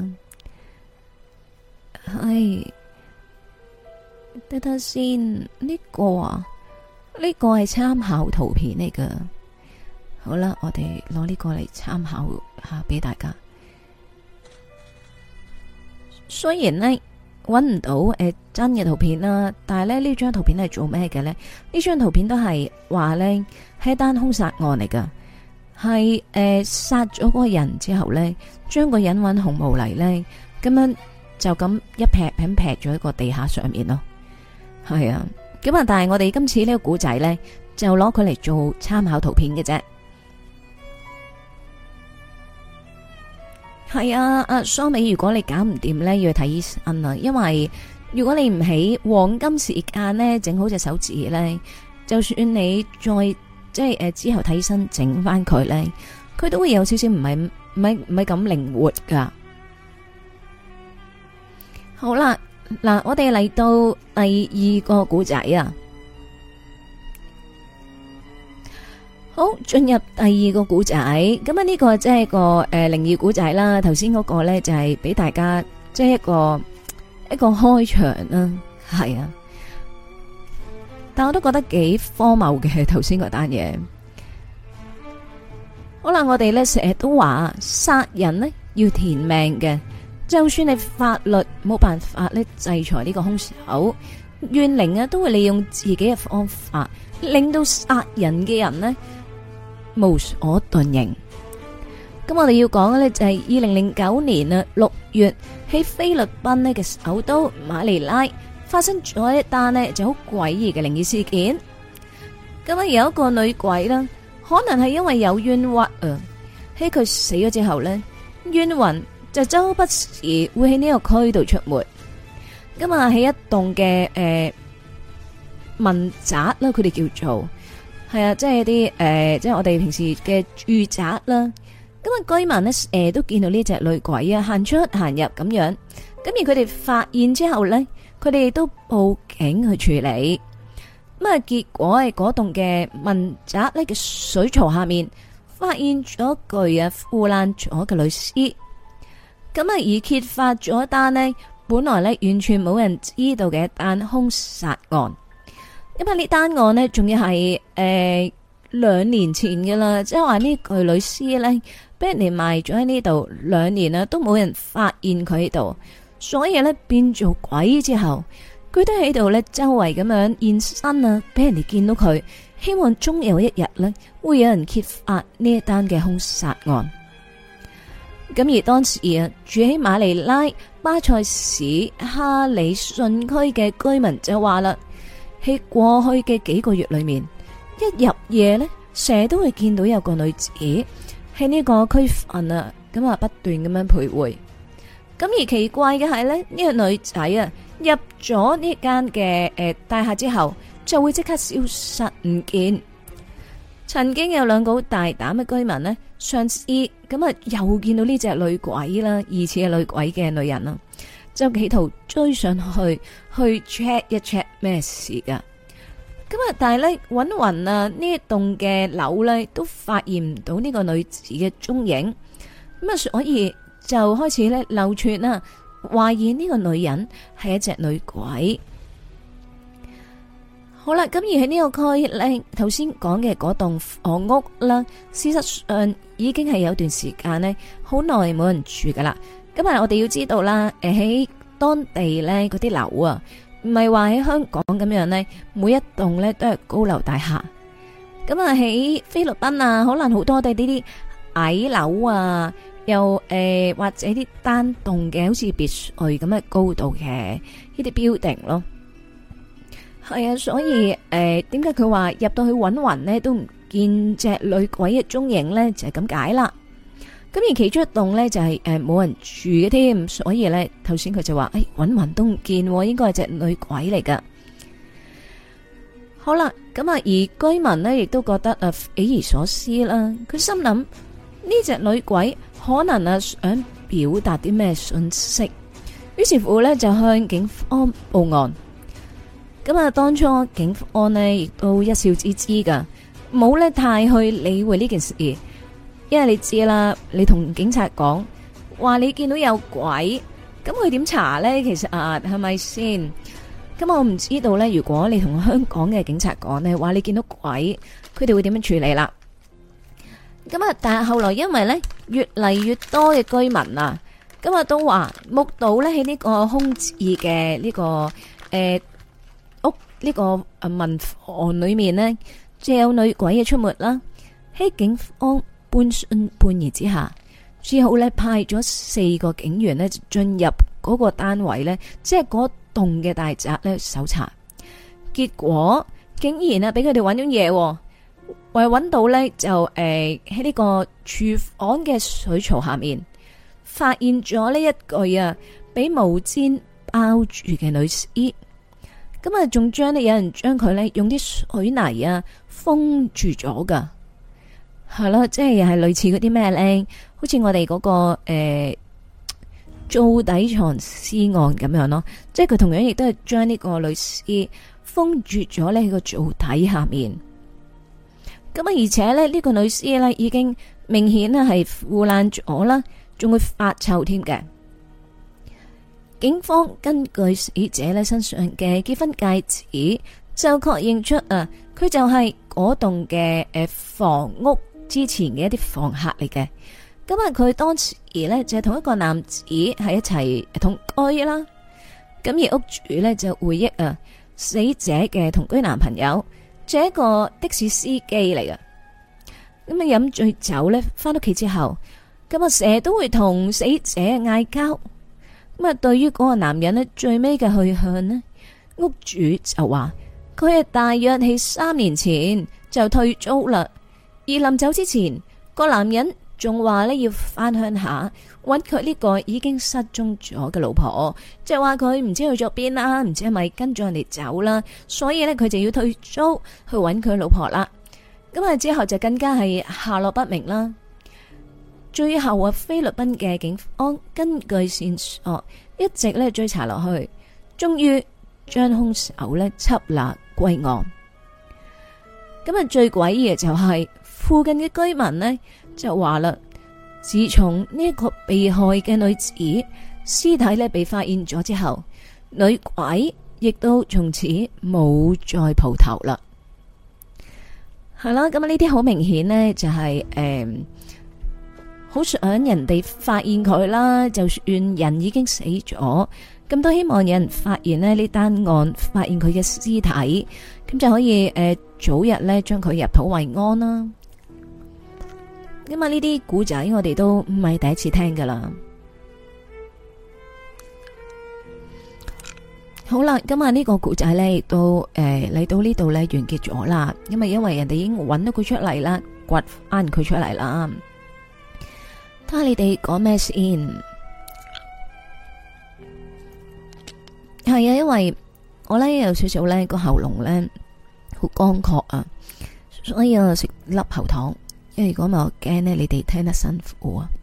係，等等先，呢個啊，呢個係參考圖片嚟噶。好啦，我哋攞呢個嚟參考下俾大家。雖然呢，搵唔到真嘅圖片啦，但係咧呢張圖片係做咩嘅呢？呢張圖片都係話呢係一單兇殺案嚟噶，係殺咗嗰個人之後呢，將個人揾紅毛泥呢，咁樣就咁一劈咁劈咗喺個地下上面咯。係啊，咁啊，但係我哋今次呢個古仔呢，就攞佢嚟做參考圖片嘅啫。係啊，阿蘇美，如果你搞唔掂呢，要去睇醫生啊，因為如果你唔喺黃金時間呢整好隻手指呢，就算你再即係之後睇醫生整翻佢呢，佢都會有少少唔係咁靈活噶。好啦，嗱，我哋嚟到第二個古仔啊。好，進入第二個古仔，咁啊呢個即係個靈異古仔啦。頭先嗰個咧就係俾大家即係一個開場啦，係啊。但我都覺得幾荒謬嘅頭先嗰單嘢。好啦，我哋咧成日都話殺人呢要填命嘅，就算係法律冇辦法咧制裁呢個兇手，怨靈啊都會利用自己嘅方法，令到殺人嘅人呢無所遁形。咁我哋要講嘅呢就係2009年啊6月喺菲律賓呢嘅首都馬尼拉發生咗一單呢就好詭異嘅靈異事件。咁啊有一個女鬼啦，可能係因為有冤屈啊，喺佢死咗之後呢，冤魂就周不時會喺呢個區度出沒。咁啊喺一棟嘅民宅啦，佢哋叫做。係啊，即係啲即係我哋平時嘅住宅啦。咁啊，居民呢都見到呢隻女鬼啊，行出行入咁樣。咁而佢哋發現之後呢，佢哋都報警去處理。咁啊，結果係嗰棟嘅民宅呢嘅水槽下面發現咗具啊腐爛咗嘅女屍。咁啊，而揭發咗一單呢本來呢完全冇人知道嘅一單兇殺案。因為呢單案呢，仲要係2年前嘅啦，即係話呢具女屍呢，俾人哋埋咗喺呢度2年啦，都冇人發現佢喺度，所以呢，變做鬼之後，佢都喺度呢周圍咁樣現身啊，俾人哋見到佢，希望終有一日呢，會有人揭發呢一單嘅兇殺案。咁而當時啊，住喺馬尼拉巴塞市哈里遜區嘅居民就話啦。喺過去嘅幾個月裏面，一入夜呢，成日都會見到有個女子喺呢個區份啊，咁啊不斷咁樣徘徊。咁而奇怪嘅係呢，呢個女仔啊入咗呢間嘅大廈之後，就會即刻消失唔見。曾經有2個好大膽嘅居民呢，嘗試咁啊又見到呢隻女鬼啦，疑似係女鬼嘅女人啦。就企圖追上去 check 一 check 咩事噶。咁啊，但係咧搵匀啊呢一棟嘅樓咧都發現唔到呢個女子嘅蹤影。咁啊，所以就開始咧流傳啦，懷疑呢個女人係一隻女鬼。 好啦，咁而喺呢個區咧，頭先講嘅嗰棟房屋啦，事實上已經係有段時間呢，好耐冇人住噶啦。咁啊，我哋要知道啦，喺當地咧嗰啲樓啊，唔係話喺香港咁樣呢，每一棟咧都係高樓大廈。咁啊，喺菲律賓啊，可能好多都係呢啲矮樓啊，又或者啲單棟嘅，好似別墅咁嘅高度嘅呢啲 building 咯。係啊，所以點解佢話入到去搵暈呢都唔見隻女鬼嘅蹤影呢？就係咁解啦。咁而其中一棟呢，就係冇人住嘅添，所以呢，頭先佢就話搵暈都唔見，應該係隻女鬼嚟噶。好啦，咁啊而居民呢，亦都覺得匪夷所思啦。佢心諗呢隻女鬼可能想表達啲咩信息，於是乎呢，就向警方報案。咁啊，當初警方呢亦都一笑置之噶，冇呢太去理會呢件事，因為你知啦，你同警察講話你見到有鬼，咁佢點查呢？其實係咪先？咁我唔知道呢，如果你同香港嘅警察講呢，話你見到鬼，佢哋會點樣處理啦？咁啊，但係後來因為呢越嚟越多嘅居民啊，咁啊都話目睹呢喺呢個空置嘅呢個呢個民房裏面呢，就有女鬼嘅出沒啦。喺警方半信半疑之下，只好呢派咗4個警員呢進入嗰個單位呢，即係嗰棟嘅大宅呢搜查。結果竟然俾佢哋揾咗嘢，為揾到呢，就喺呢個廚房嘅水槽下面，發現咗呢一具俾毛氈包住嘅女屍。咁啊，仲有人將佢呢用啲水泥封住咗噶，係咯，即係係類似嗰啲咩咧，好似我哋嗰個灶底藏屍案咁樣咯，即係佢同樣亦都係將呢個女屍封住咗呢個灶底下面。咁啊，而且呢個女屍呢已經明顯係腐爛咗啦，仲會發臭添嘅。警方根據死者呢身上嘅結婚戒指，就確認出佢就係嗰棟嘅房屋之前嘅一啲房客嚟嘅。咁啊，佢當時呢就係同一個男子喺一齊同居啦。咁而屋主呢就回憶死者嘅同居男朋友，就係一個的士司機嚟嘅。咁啊，飲醉酒呢翻屋企之後，咁啊成日都會同死者嗌交。咁啊，對於嗰個男人呢，最尾嘅去向呢，屋主就話佢係大約喺3年前就退租啦。而臨走之前，個男人仲話呢要翻鄉下揾佢呢個已經失蹤咗嘅老婆，即係話佢唔知去咗邊啦，唔知係咪跟咗人哋走啦，所以呢，佢就要退租去揾佢老婆啦。咁啊之後就更加係下落不明啦。最後菲律賓嘅警方根據線索一直咧追查落去，終於將兇手咧緝拿歸案。咁啊，最詭異嘅就係附近嘅居民呢就話啦，自從呢一個被害嘅女子屍體咧被發現咗之後，女鬼亦都從此冇再蒲頭啦。係啦，咁啊呢啲好明顯呢就係好想人哋發現佢啦，就算人已經死咗，咁都希望有人發現呢單案，發現佢嘅屍體，咁就可以早日呢將佢入土為安啦。咁啊呢啲古仔我哋都唔係第一次聽噶啦。好啦，咁啊呢個古仔呢亦都嚟到呢度呢完結咗啦。因為人哋已經揾到佢出嚟啦，掘翻佢出嚟啦。睇下你哋講咩先？係啊，因為我呢有少少呢個喉嚨呢好乾涸啊，所以我食粒喉糖。因為如果唔係我驚呢你哋聽得辛苦啊。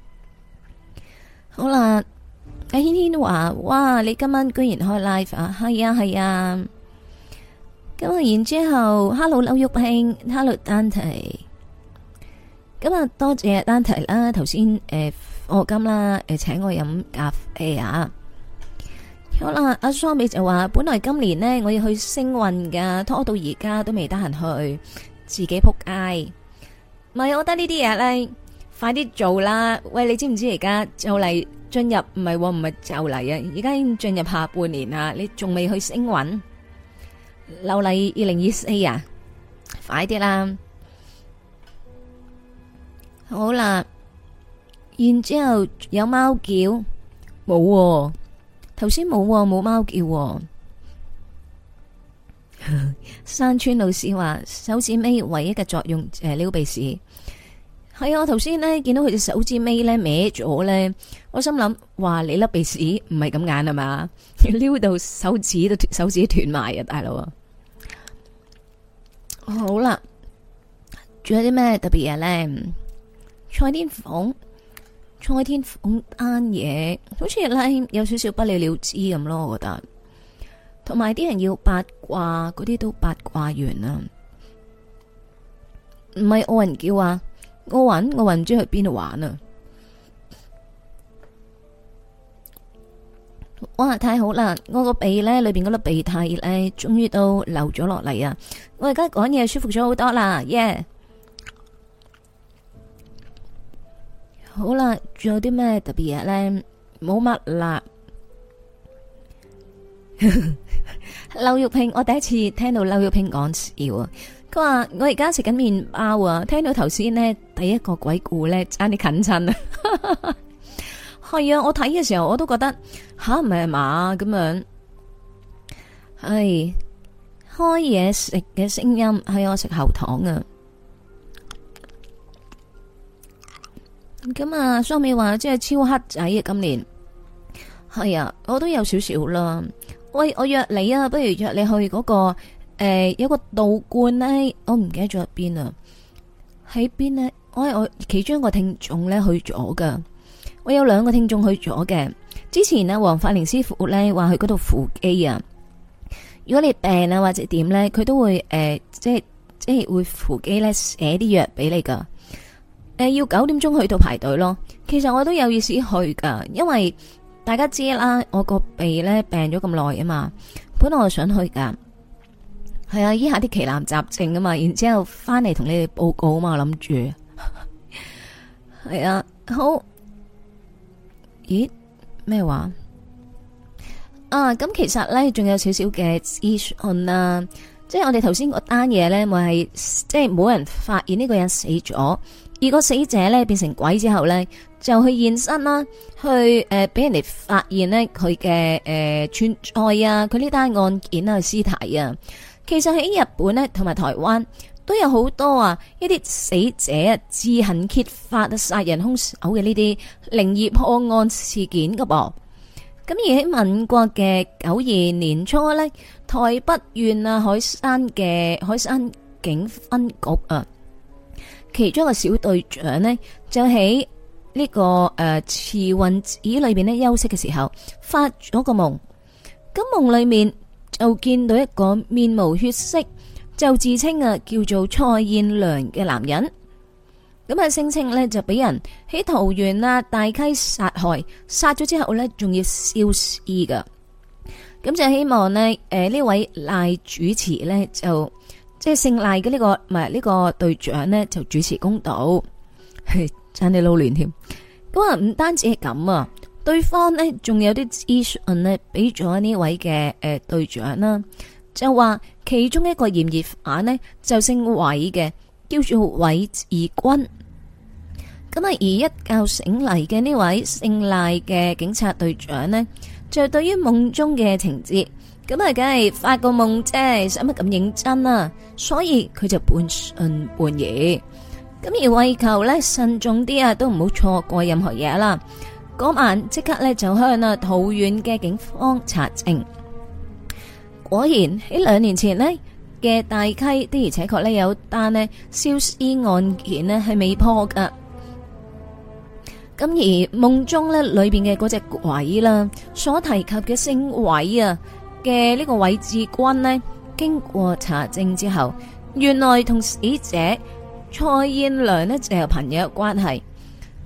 好啦，阿軒軒話：哇，你今晚居然開 live 啊？係啊係啊。咁啊，然之後 ，Hello 劉玉卿 ，Hello Dante。咁啊，多謝丹提啦，頭先課金啦，請我飲咖啡啊。 好啦，阿桑美就話本來今年呢，我要去星運噶，拖到而家都未得閒去，自己撲街。唔係，我覺得呢啲嘢咧，快啲做啦！喂，你知唔知而家就嚟進入唔係就嚟啊？而家已經進入下半年啦，你仲未去星運？留嚟2024啊！快啲啦！好啦，然之後有貓叫冇喎？頭先冇冇貓叫喎。山村老師話手指尾唯一嘅作用撩鼻屎。係啊，我頭先呢見到佢隻手指尾咧歪咗咧，我心諗話你粒鼻屎唔係咁眼啊嘛，撩到手指斷埋啊，大佬啊！好啦，仲有啲咩特別嘢咧？蔡天鳳單嘢，好似咧有少少不了了之咁咯，我覺得。同埋啲人要八卦，嗰啲都八卦完啦。唔係奧運叫啊，奧運唔知去邊度玩啊！哇，太好啦！我個鼻咧裏邊嗰粒鼻涕咧，終於都流咗落嚟啊！我而家講嘢舒服咗好多啦，耶！好啦，仲有啲咩特別嘢咧？冇乜啦。劉玉萍，我第一次聽到劉玉萍講笑啊！佢話我而家食緊麵包啊，聽到頭先呢第一個鬼故咧，差啲近親啊！係啊，我睇嘅時候我都覺得吓唔係嘛咁樣，係開嘢食嘅聲音，係我食喉糖啊！咁啊，雙美話即係超黑仔啊！今年係啊，我都有少少啦。喂，我約你啊，不如約你去嗰個有個道觀呢，我唔記得咗喺邊啊。喺邊呢？我其中一個聽眾呢去咗噶，我有兩個聽眾去咗嘅。之前呢，黃法寧師傅呢話去嗰度扶乩啊。如果你病啊或者點呢，佢都會即係會扶乩呢寫啲藥俾你噶。要9點鐘去到排隊咯。其實我都有意思去噶，因為大家知啦，我個鼻咧病咗咁耐啊嘛，本來我想去噶，係啊，醫下啲奇難雜症啊嘛，然之後翻嚟同你哋報告啊嘛，我諗住係啊，好，咦咩話啊？咁其實咧仲有少少嘅資訊啦，即係我哋頭先嗰單嘢咧，咪係即係冇人發現呢個人死咗。而個死者咧變成鬼之後咧，就去現身啦，去俾人哋發現呢佢嘅存在啊，佢呢單案件啊屍體啊，其實喺日本咧同埋台灣都有好多啊一啲死者自行揭發殺人兇手嘅呢啲靈異破案事件噶噃。咁而喺民國嘅92年初咧，台北縣啊海山警分局啊。其中一個小隊長呢，就喺呢個慈雲寺裏邊呢休息嘅時候，發咗個夢。咁夢裏面就見到一個面無血色，就自稱啊叫做蔡彥良嘅男人。咁啊聲稱呢，就俾人喺桃園啊大溪殺害，殺咗之後呢，仲要燒屍噶。咁就希望呢，呢位賴主持呢，就。即係姓賴嘅呢個唔係呢個隊長呢，就主持公道，差啲撈亂添。咁啊，唔單止係咁啊，對方呢仲有啲資訊呢俾咗呢位嘅隊長啦，就話其中一個嫌疑犯呢，就姓韋嘅，叫做韋志軍。咁啊，而一覺醒嚟嘅呢位姓賴嘅警察隊長呢，就對於夢中嘅情節。咁啊，梗係發個夢啫，使乜咁認真啊？所以佢就半信半疑。咁而為求咧慎重啲啊，都唔好錯過任何嘢啦。嗰晚即刻咧就向啊桃園嘅警方查證。果然喺2年前呢嘅大溪的而且確咧有單呢燒屍案件呢係未破噶。咁而夢中咧裏邊嘅嗰隻鬼啦，所提及嘅姓韋啊嘅呢個韋志軍呢，經過查證之後，原來同死者蔡彥良呢就有朋友關係。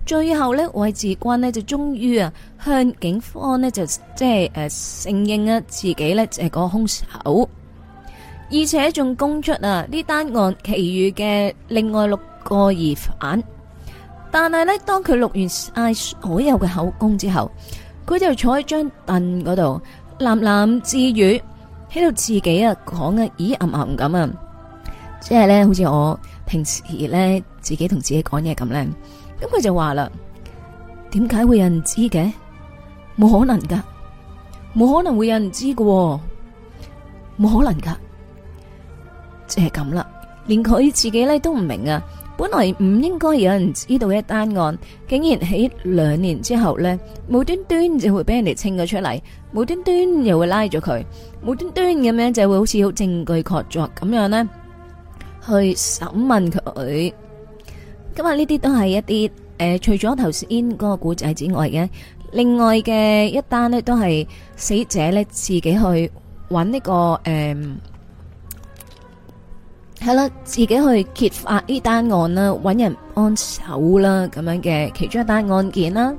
最後咧，韋志軍呢就終於啊向警方呢就即係承認啊自己咧就係個兇手，而且仲供出啊呢單案其餘嘅另外6個疑犯。但係咧，當佢錄完晒所有嘅口供之後，佢就坐喺張凳嗰度喃喃自語，喺度自己啊講啊咦咁啊，即係咧好似我平時咧自己同自己講嘢咁咧。咁佢就話啦，點解會有人知嘅？冇可能噶，冇可能會有人知喎，冇可能噶，即係咁啦。連佢自己咧都唔明啊，本來唔應該有人知道嘅一單案，竟然喺2年之後咧，無端端就會俾人哋清咗出嚟，無端端又會拉咗佢，無端端咁樣就會好似好證據確鑿咁樣咧，去審問佢。咁啊，呢啲都係一啲除咗頭先嗰個故仔之外嘅，另外嘅一單呢，都係死者呢自己去揾呢個係啦，自己去揭發呢單案啦，揾人幫手啦，咁樣嘅其中一單案件啦。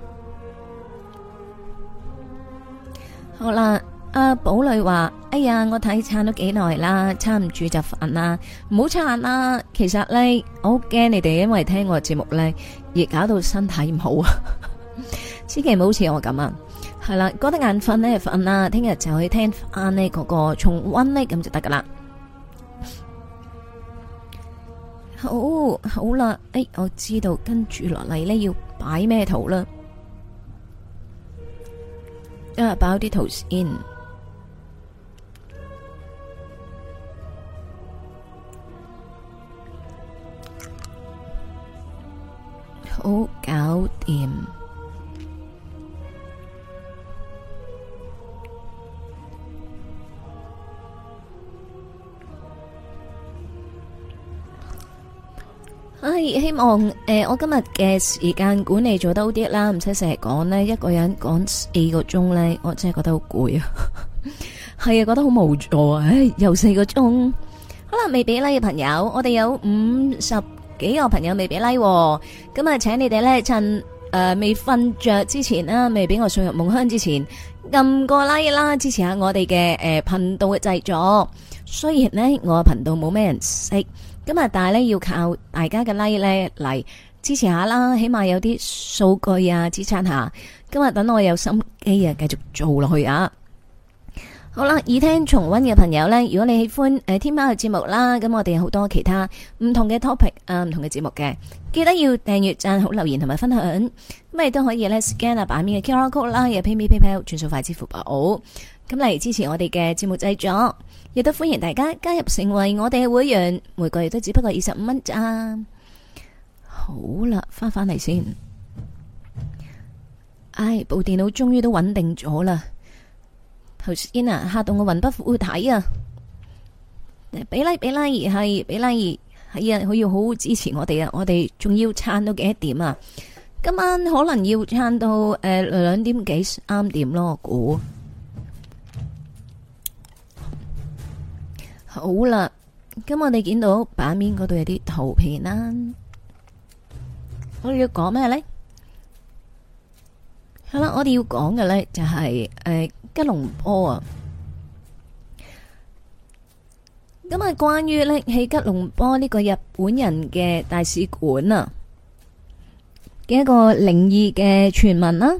好啦。阿寶女話：哎呀，我睇撐咗幾耐啦，撐唔住就瞓啦，唔好撐啦。其實咧，我好驚你哋因為聽我嘅節目咧而搞到身體唔好啊。千祈唔好似我咁啊。係啦，覺得眼瞓咧就瞓啦，聽日就去聽翻呢嗰個重溫咧，咁就得噶啦。好啦，我知道跟住落嚟咧要擺咩圖啦。擺啲圖先。好搞掂，希望我今日嘅時間管理做得好啲啦，唔使成日講呢，一個人講4個鐘呢，我真係覺得好攰啊，係啊，覺得好無助啊，又4個鐘，好啦，未俾 like 嘅朋友，我哋有50幾個朋友未俾 like，咁啊，請你哋咧趁未瞓着之前啦，未俾我送入夢鄉之前，撳個 like 啦，支持下我哋嘅頻道嘅製作。雖然呢，我嘅頻道冇咩人識，咁啊，但係咧要靠大家嘅 like 咧嚟支持下啦，起碼有啲數據啊支撐下。今日等我有心機啊，繼續做落去啊！好啦，耳聽重溫嘅朋友呢，如果你喜歡天喵嘅節目啦，咁我哋有好多其他唔同嘅 topic 啊，唔同嘅節目嘅，記得要訂閱、讚好、留言同埋分享，咁亦都可以呢 scan 啊版面嘅 QR code 啦，有 PayMe PayPal 轉數快支付寶，咁嚟支持我哋嘅節目製作，亦都歡迎大家加入成為我哋嘅會員，每個月都只不過25蚊咋。好啦，翻嚟先，部電腦終於都穩定咗啦。頭先啊，嚇到我魂不附體啊！俾 like 係俾 like 係啊，佢要好好支持我哋啊！我哋仲要撐到幾多點啊？今晚可能要撐到2點幾3點咯，我估。好啦，咁我哋見到版面嗰度有啲圖片啦，我哋要講咩咧？係啦，我哋要講嘅咧就係吉隆坡啊，咁啊，關於咧喺吉隆坡呢個日本人嘅大使館啊嘅一個靈異嘅傳聞啦。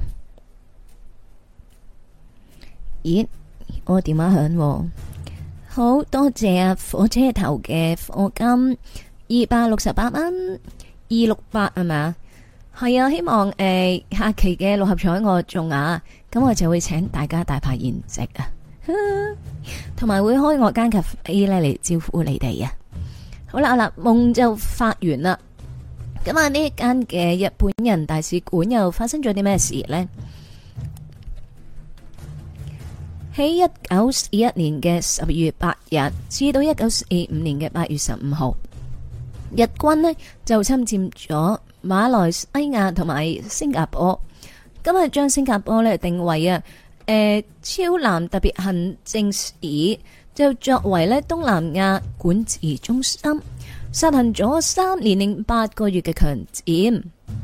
咦，我電話響，好多謝啊火車頭嘅課金268蚊268係咪？係啊，希望下期嘅6合彩我中啊，咁我就會請大家大排筵席啊，同埋會開我間咖啡咧嚟招呼你哋啊。好啦，夢就發完啦。咁啊，呢間嘅日本人大使館又發生咗啲咩事呢？喺1941年嘅12月8日至到1945年嘅8月15號，日軍呢就侵佔咗馬來西亞同埋新加坡，今日將新加坡咧定為超南特別行政市，就作為咧東南亞管治中心，實行咗3年8個月嘅強佔。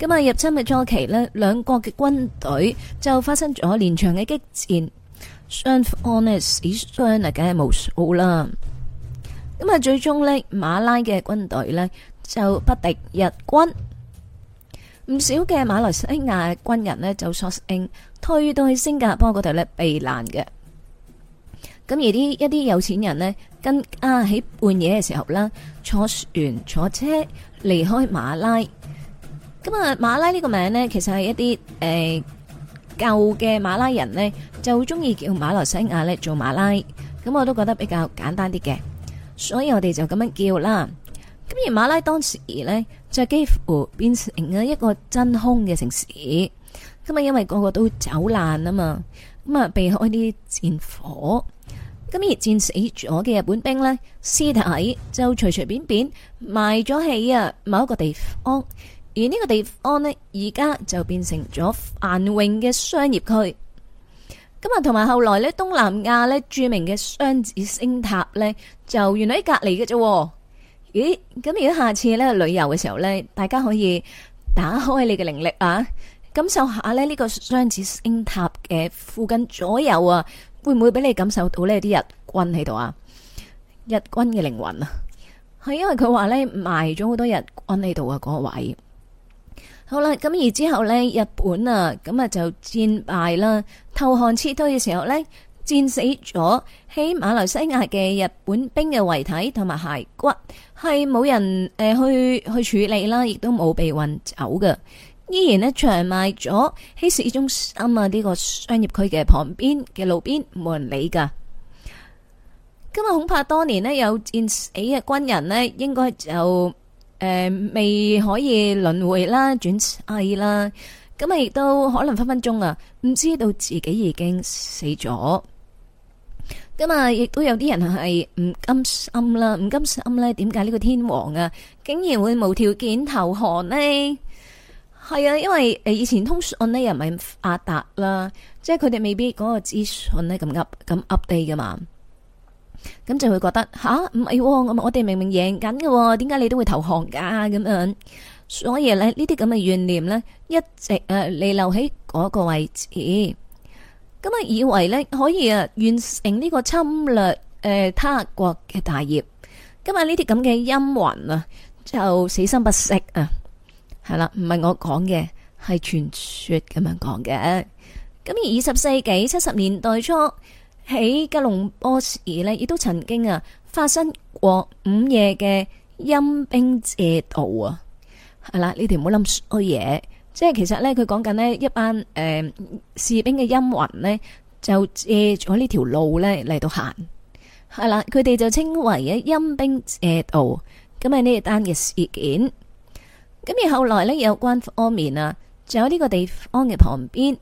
咁啊，入侵嘅初期呢，兩國嘅軍隊就發生咗連場嘅激戰，雙方呢死傷啊，梗係無數啦。咁啊，最終呢，馬拉嘅軍隊呢就不敵日軍，唔少嘅馬來西亞軍人呢就索性退到去新加坡嗰度呢避難嘅。咁而一啲有錢人呢，更加喺半夜嘅時候啦，坐船坐車離開馬拉。咁啊，馬拉呢個名呢，其實係一啲舊嘅馬拉人呢，就中意叫馬來西亞呢做馬拉。咁我都覺得比較簡單啲嘅，所以我哋就咁樣叫啦。咁而馬拉當時呢，就幾乎變成咗一個真空嘅城市。咁啊，因為個個都走難啊嘛，咁啊避開啲戰火。咁而戰死咗嘅日本兵呢，屍體就隨隨便便埋咗喺某一個地方，而呢個地方呢，而家就變成咗繁榮嘅商業區。咁啊，同埋後來呢，東南亞呢著名嘅雙子星塔呢，就原來喺隔籬嘅啫。咦？咁如果下次呢旅遊嘅時候呢，大家可以打開你嘅靈力啊，感受下呢個雙子星塔嘅附近左右啊。會唔會俾你感受到呢啲日軍喺度啊？日軍嘅靈魂啊，係因為佢話呢埋咗好多日軍喺度啊，嗰個位。好啦，咁而之後呢，日本啊，咁啊就戰敗啦，投降撤退嘅時候呢，戰死咗喺馬來西亞嘅日本兵嘅遺體同埋骸骨，係冇人去處理啦，亦都冇被運走嘅。依然呢，長埋咗喺市中心啊呢個商業區嘅旁邊嘅路邊，冇人理噶。今日恐怕當年呢，有戰死嘅軍人呢，應該就未可以輪迴啦、轉世啦。咁啊，亦都可能分分鐘啊，唔知道自己已經死咗。咁啊，亦都有啲人係唔甘心啦，唔甘心呢，點解呢個天皇啊，竟然會無條件投降呢？係啊，因為以前通訊呢又唔係咁發達啦，即係佢哋未必嗰個資訊呢咁 update 噶嘛，咁就會覺得唔係，我哋明明贏緊嘅，點解你都會投降噶咁樣？所以呢啲咁嘅怨念呢，一直彌留喺嗰個位置，咁啊以為呢可以完成呢個侵略他國嘅大業，咁啊呢啲咁嘅陰魂啊就死心不息啊！係啦，唔係我講嘅，係傳說咁樣講嘅。咁而20世紀70年代初喺吉隆坡市呢，亦都曾經發生過午夜嘅陰兵借道啊。係啦，你哋唔好諗衰嘢，即係其實呢，佢講緊呢一班士兵嘅陰魂呢，就借咗呢條路呢嚟到行。係啦，佢哋就稱為陰兵借道。咁係呢單嘅事件。咁而後來呢，有關方面就有呢個地方嘅旁邊，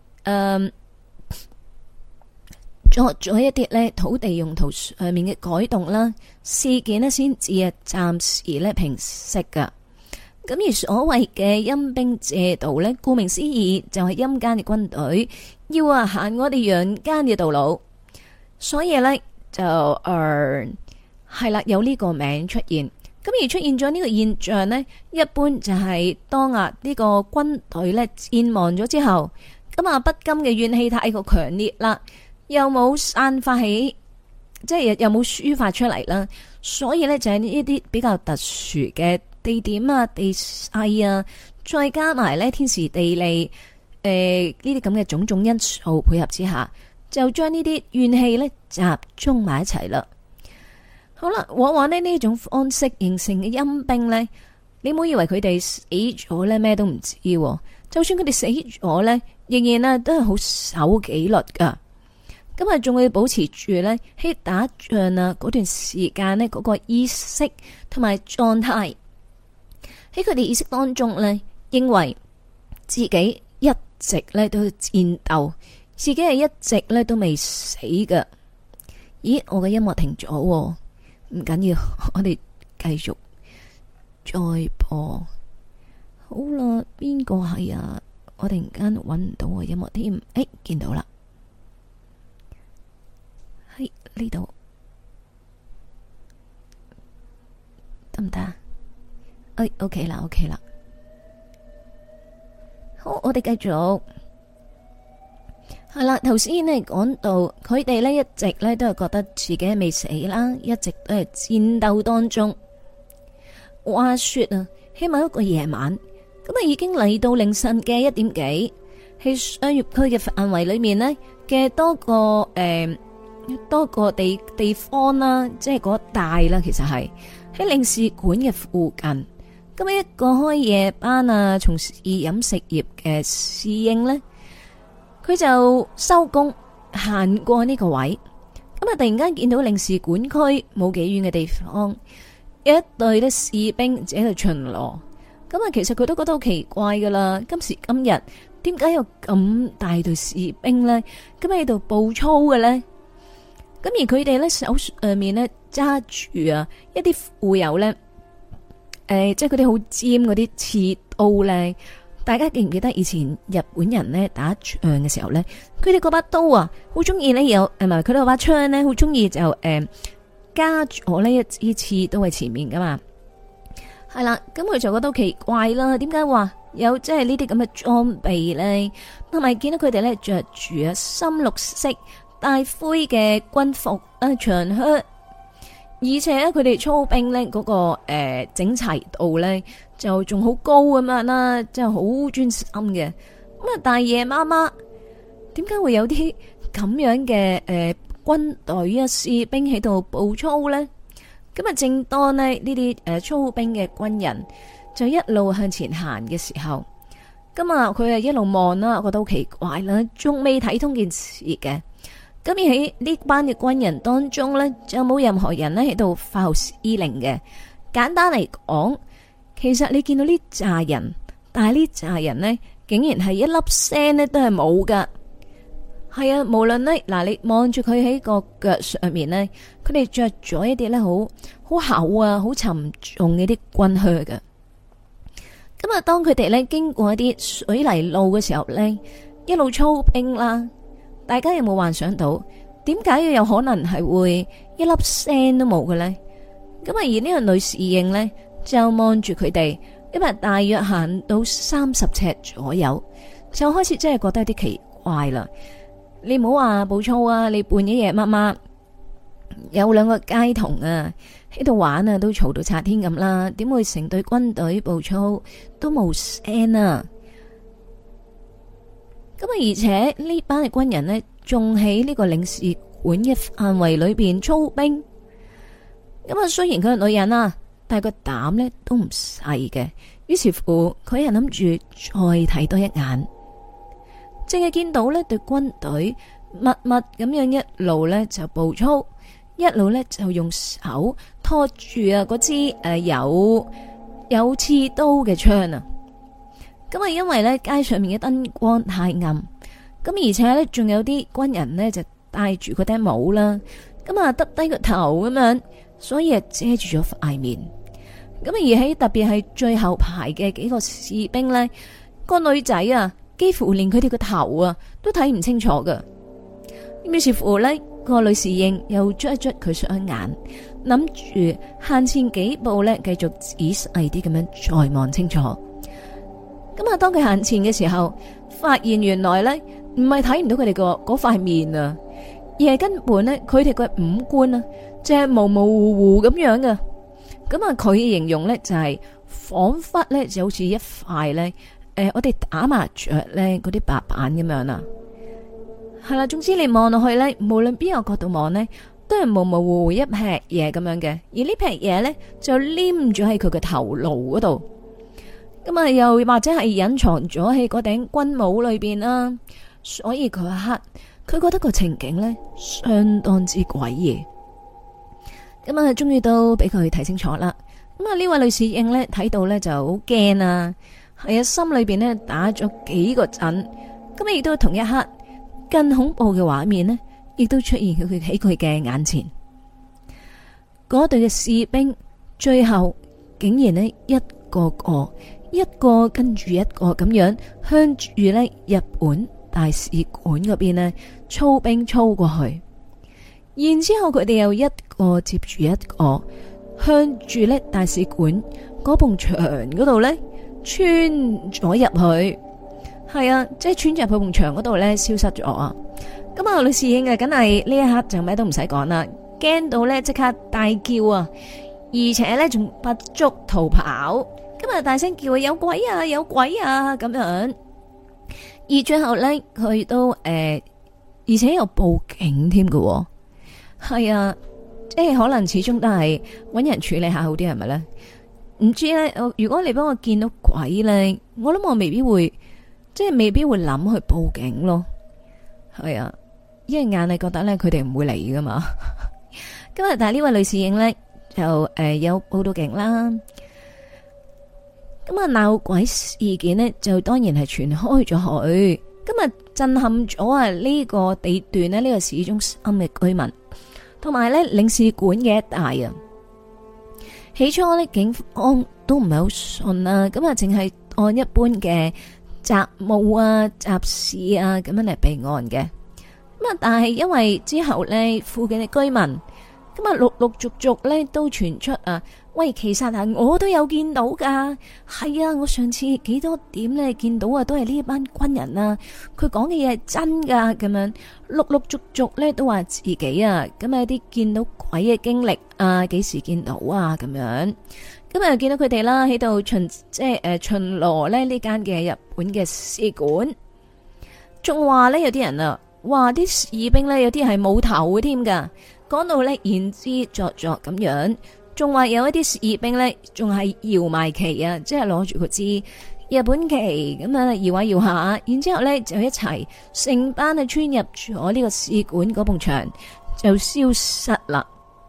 作咗一啲呢土地用途上面嘅改動啦，事件呢先至暫時呢平息噶。咁而所謂嘅陰兵借道呢，顧名思義就係陰間嘅軍隊要行我哋陽間嘅道路，所以呢，就係啦，有呢個名出現。咁而出現咗呢個現象呢，一般就係當呢個軍隊呢戰亡咗之後，咁不甘嘅怨氣太過強烈啦，又冇散發起，即係又冇抒發出嚟啦，所以呢，就係呢啲比較特殊嘅地點地勢再加埋呢天時地利呢啲咁嘅種種因素配合之下，就將呢啲怨氣呢集中埋一齊啦。好啦，往往呢種方式形成嘅陰兵呢，你唔好以為佢哋死咗呢咩都唔知，就算佢哋死咗呢，仍然都係好守紀律噶。咁啊，仲會保持住呢喺打仗嗰段時間呢嗰個意識同埋狀態，喺佢哋意識當中呢，認為自己一直呢都戰鬥，自己係一直呢都未死噶。咦，我嘅音樂停咗。唔緊要，我哋繼續再播。好啦，邊個係我突然間揾唔到個音樂添。見到啦，喺呢度得唔得？OK 啦，OK 啦。 好，我哋繼續。係啦，頭先呢講到佢哋呢一直呢都係覺得自己未死啦，一直都係戰鬥當中。話說啊，喺某一個夜晚，咁啊已經嚟到凌晨嘅1點幾，喺商業區嘅範圍裏面呢嘅多個地方啦，即係嗰帶啦，其實係喺領事館嘅附近。咁一個開夜班啊，從事飲食業嘅侍應呢，佢就收工行過呢個位，咁啊突然間見到領事館區冇幾遠嘅地方，有一隊呢士兵喺度巡邏。咁啊其實佢都覺得好奇怪噶啦，今時今日點解有咁大隊士兵呢？咁喺度步操嘅呢？咁而佢哋呢手上面呢揸住啊一啲富有呢，即係嗰啲好尖嗰啲刺刀呢。大家記唔記得以前日本人呢打仗嘅時候呢，佢哋嗰把刀啊，好中意呢有唔係佢哋嗰把槍呢，好中意就加咗呢一支刺刀喺前面噶嘛。係啦，咁佢就覺得好奇怪啦，點解話有即係呢啲咁嘅裝備呢？同埋見到佢哋呢着住啊深綠色帶灰嘅軍服啊長靴，而且咧佢哋操兵呢嗰個整齊度呢，就仲好高咁樣啦，即係好專心嘅。咁啊，但係夜媽媽點解會有啲咁樣嘅軍隊啊士兵喺度步操呢？咁啊，正當呢啲操兵嘅軍人就一路向前行嘅時候，咁啊佢係一路望啦，覺得好奇怪啦，仲未睇通件事嘅。咁而喺呢班嘅軍人當中呢，就冇任何人呢喺度發號施令嘅。簡單嚟講，其實你見到呢紮人，但係呢紮人呢，竟然係一粒聲呢都係冇噶。係啊，無論呢，嗱，你望住佢喺個腳上面呢，佢哋着咗一啲呢好厚啊、好沉重嘅啲軍靴嘅。咁啊，當佢哋呢經過一啲水泥路嘅時候呢，一路操兵啦，大家有冇幻想到點解要有可能係會一粒聲都冇嘅呢？咁啊，而呢個女侍應呢，就望住佢哋，因為大約行到30尺左右，就開始真係覺得有啲奇怪啦。你唔好話步操啊，你半夜夜媽媽有2個街童啊喺度玩啊，都嘈到拆天咁啦，點會成隊軍隊步操都冇聲啊？咁啊，而且呢班嘅軍人呢，仲喺呢個領事館嘅範圍裏邊操兵。咁啊，雖然佢係女人啊，但係個膽呢都唔細嘅。於是乎，佢係諗住再睇多一眼。淨係見到呢隊軍隊默默咁樣一路呢就步操，一路呢就用手拖住啊嗰支有刺刀嘅槍啊。咁啊，因為呢街上面嘅燈光太暗，咁而且呢仲有啲軍人呢就戴住嗰頂帽啦，咁啊耷低個頭咁樣，所以啊遮住咗塊面。咁而喺特別係最後排嘅幾個士兵呢，個女仔啊，幾乎連佢哋個頭啊都睇唔清楚噶。於是乎呢，個女侍應又捽一捽佢雙眼，諗住行前幾步呢，繼續仔細啲咁樣再望清楚。咁啊，當佢行前嘅時候，發現原來呢唔係睇唔到佢哋個嗰塊面啊，而係根本呢，佢哋個五官啊，即係模模糊糊咁樣嘅。咁啊，佢形容呢就係仿佛呢就好似一塊呢，我哋打麻雀呢嗰啲白板咁樣啊。係啦，總之你望落去呢，無論邊個角度望呢，都係模模糊糊一劈嘢咁樣嘅。而呢劈嘢呢，就黏咗喺佢嘅頭顱嗰度。咁啊，又或者係隱藏咗喺嗰頂軍帽裏邊啦。所以嗰一刻，佢覺得個情景呢，相當之詭異。咁啊，終於都俾佢睇清楚啦。咁啊，呢位女侍應呢，睇到呢就好驚啊，係啊，心裏邊呢打咗幾個震。咁亦都同一刻，更恐怖嘅畫面呢，亦都出現喺佢嘅眼前。嗰隊嘅士兵最後竟然呢，一個跟住一個咁樣向住呢日本大使館嗰邊呢操兵操過去。然之後佢哋又一個接住一個向住呢大使館嗰埲牆嗰度呢穿咗入去。 係啊，即係穿入去埲牆嗰度咧消失咗啊！咁啊，女侍應啊，梗係呢一刻就咩都唔使講啦，驚到咧即刻大叫啊，而且咧仲不足逃跑，今日大聲叫啊，有鬼啊，有鬼啊咁樣。而最後咧，佢都而且又報警添喎。係啊，即係可能始終都係搵人處理下好啲，係咪咧？唔知咧，如果你幫我見到鬼咧，我諗我未必會，即係未必會諗去報警咯。係啊。因為硬係覺得咧，佢哋唔會嚟噶嘛。今日但係呢位女侍應咧就有報到警啦。咁啊鬧鬼事件呢，就當然係傳開咗去。今日震撼咗啊呢個地段呢，呢個市中心嘅居民，同埋咧領事館嘅一帶啊。起初呢，警方都唔係好信啊，咁啊淨係按一般嘅雜務啊、雜事啊咁樣嚟備案嘅。咁啊！但係因為之後咧，附近嘅居民咁啊，陸陸續續咧都傳出啊，喂，其實啊，我都有見到噶，係啊，我上次幾多點咧見到啊，都係呢一班軍人啊，佢講嘅嘢係真噶，咁樣陸陸續續咧都話自己啊，咁啊啲見到鬼嘅經歷啊，幾時見到啊，咁樣，咁啊見到佢哋啦喺度巡，即係巡邏咧呢間嘅日本嘅使館，仲話咧有啲人啊。哇！啲士兵咧有啲係冇頭嘅添噶，講到咧言之鑿鑿咁樣，仲話有一啲士兵咧仲係搖埋旗啊，即係攞住個支日本旗咁樣搖下搖下，然之後咧就一齊成班啊穿入咗呢個使館嗰埲牆就消失啦。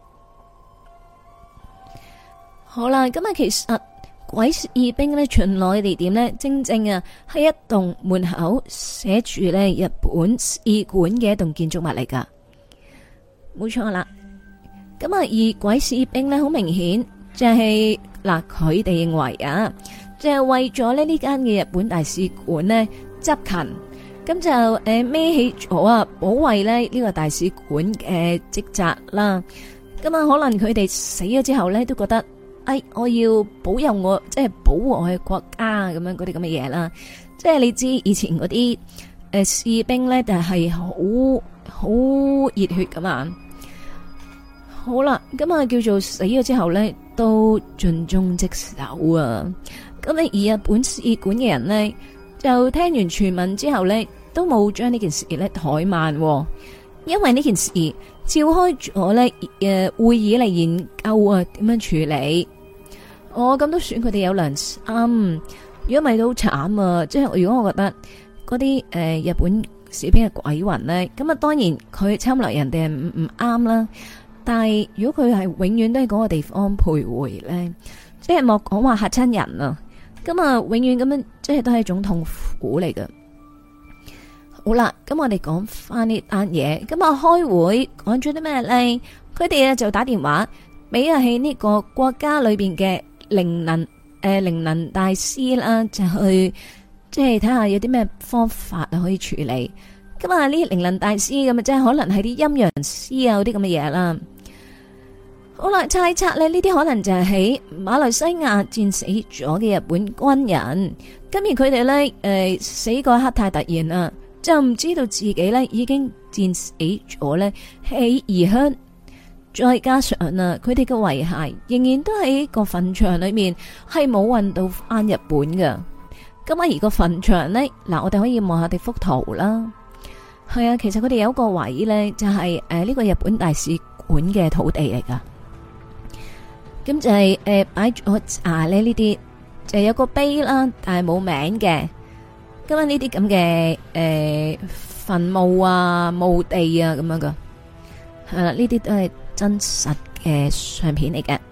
好啦，咁啊其實。鬼士兵咧巡邏嘅地點呢，正正啊係一棟門口寫住咧日本使館嘅一棟建築物嚟噶，冇錯啦。咁啊，而鬼士兵呢，好明顯就係嗱，佢哋認為啊，就係為咗咧呢間嘅日本大使館呢執勤，咁就孭起咗啊保衛咧呢個大使館嘅職責啦。咁啊，可能佢哋死咗之後呢，都覺得。我要保佑我，即係保護我嘅國家咁樣嗰啲咁嘅嘢啦。即係你知以前嗰啲士兵咧，就係好熱血噶嘛。好啦，咁啊叫做死咗之後咧，都盡忠職守啊。咁你而日本使館嘅人呢，就聽完傳聞之後咧，都冇將呢件事咧怠慢，因為呢件事召開咗咧會議嚟研究啊點樣處理。咁都算佢哋有良心，如果唔係都好慘啊！即係如果我覺得嗰啲日本士兵嘅鬼魂咧，咁啊當然佢侵略人哋係唔啱啦。但係如果佢係永遠都喺嗰個地方徘徊咧，即係莫講話嚇親人啊！咁啊永遠咁樣即係都係一種痛苦嚟㗎。好啦，咁我哋講翻呢單嘢，咁啊開會講咗啲咩咧？佢哋就打電話俾喺呢個國家裏邊嘅。靈能大師啦，就去即係睇下有啲咩方法可以處理。咁啊，呢啲靈能大師咁啊，即係可能係啲陰陽師啊，嗰啲咁嘅嘢啦。好啦，猜測咧，呢啲可能就係喺馬來西亞戰死咗嘅日本軍人。今而佢哋咧，死嗰一刻太突然啦，就唔知道自己咧已經戰死咗咧喺異鄉。再加上啊，佢哋嘅遺骸仍然都喺個墳場裏面，係冇運到翻日本㗎。咁啊，而個墳場呢，嗱，我哋可以望下啲幅圖啦。係啊，其實佢哋有一個位呢，就係呢個日本大使館嘅土地嚟噶。咁就係擺咗呢啲，就有個碑啦，但係冇名嘅。咁啊，呢啲咁嘅墳墓啊、墓地啊咁樣噶，係啦，呢啲都係真實嘅相片嚟嘅。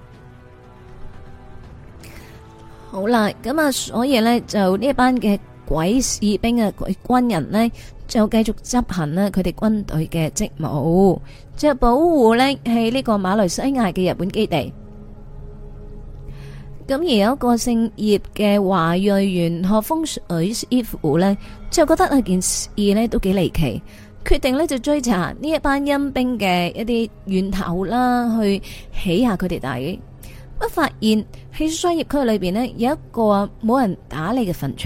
好啦，咁啊，所以呢，就呢一班嘅鬼士兵啊、鬼軍人呢，就繼續執行呢佢哋軍隊嘅職務，即係保護呢係呢個馬來西亞嘅日本基地。咁而有一個姓葉嘅華裔玄學風水師傅呢，就覺得件事呢都幾離奇，決定呢就追查呢一班陰兵嘅一啲源頭啦，去起下佢哋底。不發現喺商業區裏邊呢，有一個冇人打理嘅墳場，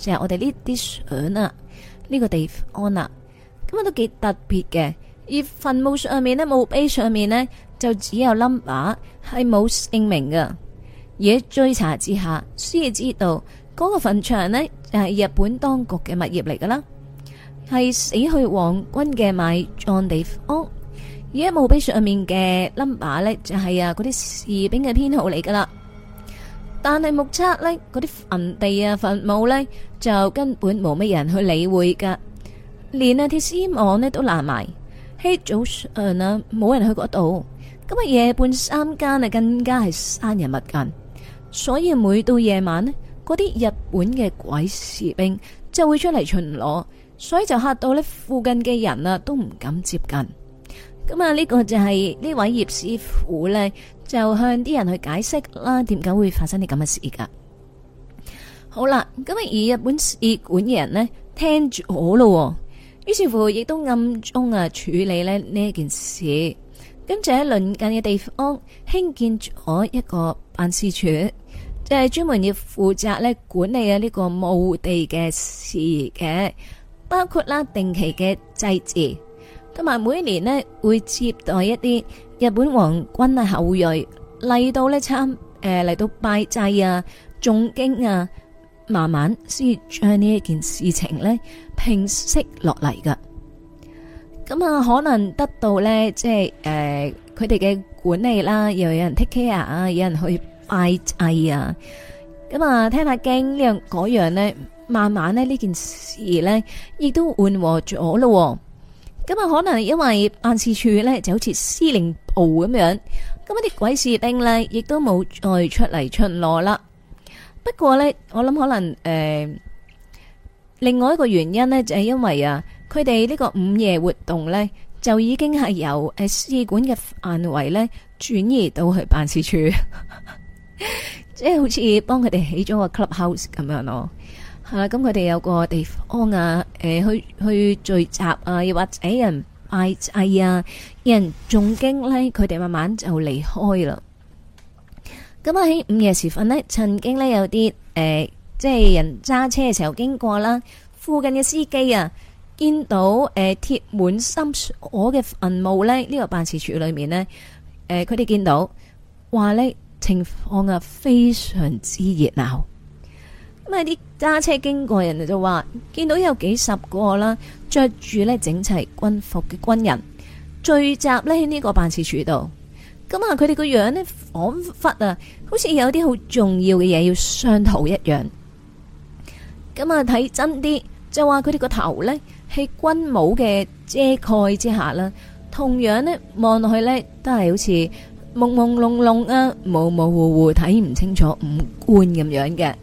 就係我哋呢啲相啊，呢個地方啊，咁啊都幾特別嘅。而墳墓上面呢，墓碑上面呢，就只有 number， 係冇姓名嘅。而喺追查之下，先至知道嗰個墳場呢，就係日本當局嘅物業嚟噶啦，係死去皇軍嘅埋葬地方。而喺墓碑上面嘅 number 呢，就係嗰啲士兵嘅編號嚟噶啦。但係目測呢，嗰啲墳地啊、墳墓呢，就根本冇乜人去理會噶，連鐵絲網呢都爛埋。喺早上啊，冇人去嗰度，咁啊夜半三更啊，更加係生人勿近。所以每到夜晚呢，嗰啲日本嘅鬼士兵就會出嚟巡邏，所以就嚇到呢附近嘅人啊都唔敢接近。咁啊呢個就係呢位葉師傅呢，就向啲人去解釋啦，點解會發生啲咁嘅事噶。好啦，咁啊而日本使館嘅人呢，聽住好咯。於是乎，亦都暗中處理呢一件事，咁就喺鄰近嘅地方興建咗一個辦事處，就係專門要負責呢管理呢個墓地嘅事嘅，包括啦定期嘅祭祀，同埋每一年呢會接待一啲日本皇軍啊後裔嚟到呢嚟到拜祭啊、誦經啊。慢慢先將呢一件事情呢平息落嚟噶，咁啊可能得到呢，即係佢哋嘅管理啦，又有人 take care 啊，有人去拜祭啊，咁啊聽下經呢樣嗰樣呢，慢慢呢件事呢亦都緩和咗咯。咁啊可能因為辦事處呢就好似司令部咁樣，咁啲鬼士兵呢亦都冇再出嚟巡邏啦。不過呢，我諗可能另外一個原因呢，就係因為佢哋呢個午夜活動呢，就已經係由使館嘅範圍呢轉移到去辦事處，即係好似幫佢哋起咗個 clubhouse 咁樣咯。係啦，咁佢哋有個地方啊，去聚集啊，又或者有人拜祭啊，有人誦經呢，佢哋慢慢就離開啦。咁啊喺午夜時分呢，曾經呢有啲即係人揸車嘅時候經過啦，附近嘅司機啊見到貼滿心鎖嘅墳墓呢，呢個辦事處裏面呢，佢哋見到話呢情況啊非常之熱鬧。咁啊啲揸車經過人就話見到有幾十個啦，着住呢整齊軍服嘅軍人聚集呢喺呢個辦事處度。咁啊，佢哋個樣呢，仿佛啊，好似有啲好重要嘅嘢要商討一樣。咁啊，睇真啲就話佢哋個頭呢，喺軍帽嘅遮蓋之下啦，同樣呢，望落去呢，都係好似朦朦朧朧啊，模模糊糊睇唔清楚五官咁樣嘅。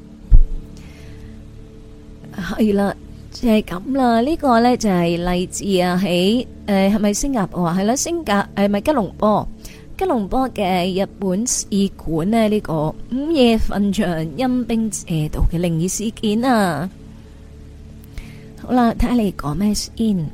係啦，就係咁啦。呢個呢，就係嚟自喺係咪新加坡啊？係啦，咪吉隆坡。吉隆坡嘅日本使館呢，呢個午夜墳場陰兵邪道嘅靈異事件啊！好啦，睇下你講咩先。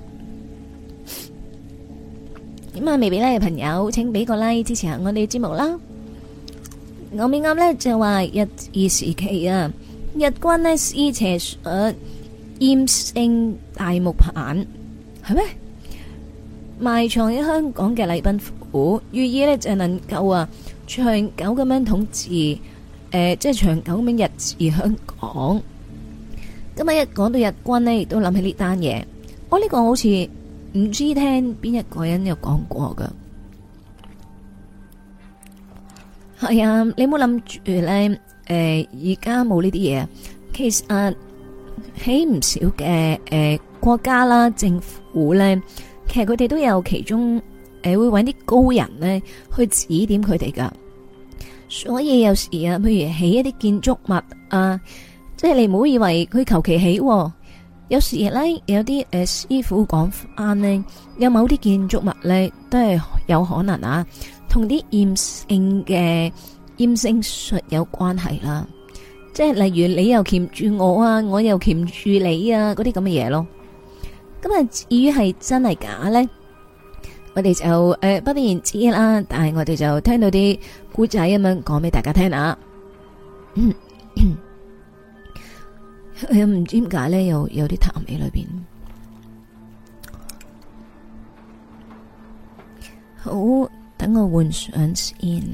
咁啊，未俾 like 嘅朋友，請俾個 like 支持下我哋節目啦。我未啱呢就話日治時期啊，日軍呢施邪術厭勝大木棒，係咩？埋藏喺香港嘅禮賓府，寓意呢就能夠長久咁樣統治，即係長久咁樣日治香港。咁啊，一講到日軍呢，亦都諗起呢單嘢。我呢個好似唔知聽邊一個人有講過噶。係啊，你冇諗住呢，而家冇呢啲嘢。其實喺唔少嘅國家啦，政府呢。其實佢哋都有其中會揾啲高人呢去指點佢哋噶，所以有時譬如起一啲建築物啊，即係你唔好以為佢求其起，有時呢，有啲師傅講翻呢，有某啲建築物呢都係有可能同啲厭勝術有關係啦，即係例如你又鉗住我啊，我又鉗住你啊，嗰啲咁嘅嘢咯。咁啊，至於係真係假呢？我哋就不得而知啦。但係我哋就聽到啲古仔咁樣講俾大家聽啊。 佢唔知點解咧，有啲痰喺裏邊。好，等我換上先。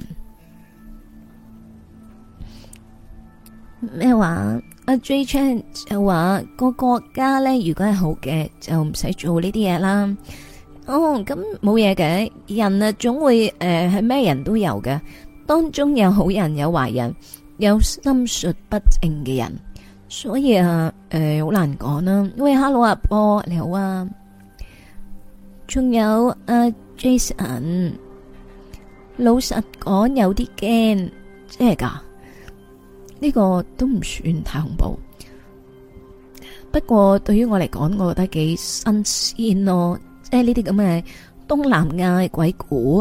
咩話？阿 J Chan 就話個國家咧，如果係好嘅，就唔使做呢啲嘢啦。哦，咁冇嘢嘅，人啊總會係咩人都有嘅，當中有好人有壞人，有心術不正嘅人，所以啊好難講啦。喂，Hello 阿波你好啊，仲有阿 Jason， 老實講有啲驚，真係噶。呢個都唔算太恐怖，不過對於我嚟講，我覺得幾新鮮咯。即係呢啲咁嘅東南亞鬼故，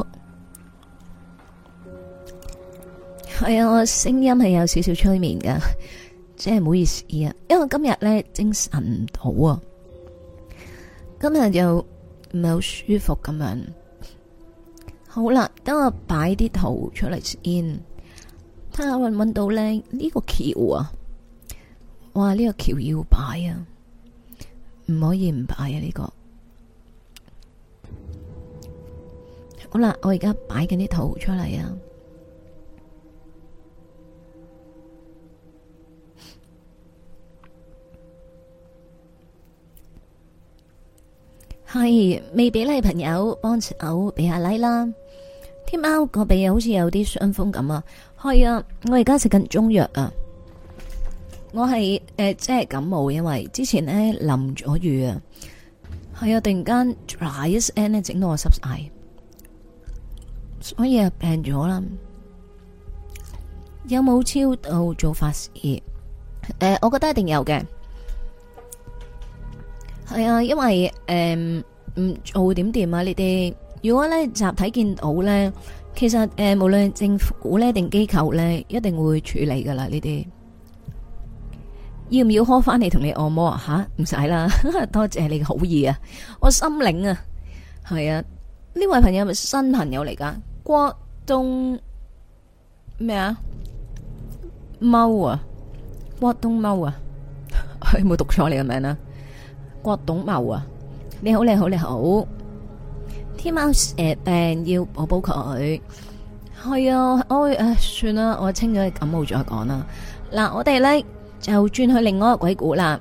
係啊，我聲音係有少少催眠噶，即係唔好意思啊，因為今日咧精神唔到啊，今日又唔係好舒服咁樣。好啦，等我擺啲圖出嚟先，睇下搵唔搵到咧呢個橋啊！哇，呢個橋要擺啊，唔可以唔擺啊呢個。好啦，我而家擺緊啲圖出嚟啊！係未俾like朋友幫手俾下 like 啦。天喵個鼻好似有啲傷風咁啊！係啊，我而家食緊中藥啊。我係即係感冒，因為之前咧淋咗雨啊。係啊，突然間 dry 一聲咧，整到我濕晒。所以啊，病咗啦。有冇超度做法事？我覺得一定有嘅。係啊，因為唔做點掂啊？呢啲如果咧集體見到咧，其實無論政府咧定機構咧，一定會處理噶啦。呢啲要唔要開翻嚟同你按摩啊？吓，唔使啦，多謝你嘅好意啊！我心領啊，係啊，呢位朋友係咪新朋友嚟噶？郭東咩啊？貓啊？郭東貓啊？有冇讀錯你嘅名啊？郭東貓啊？你好，你好，你好。天貓病要補補佢。係啊，算啦，我清咗佢感冒再講啦。嗱，我哋咧就轉去另外一個鬼故啦。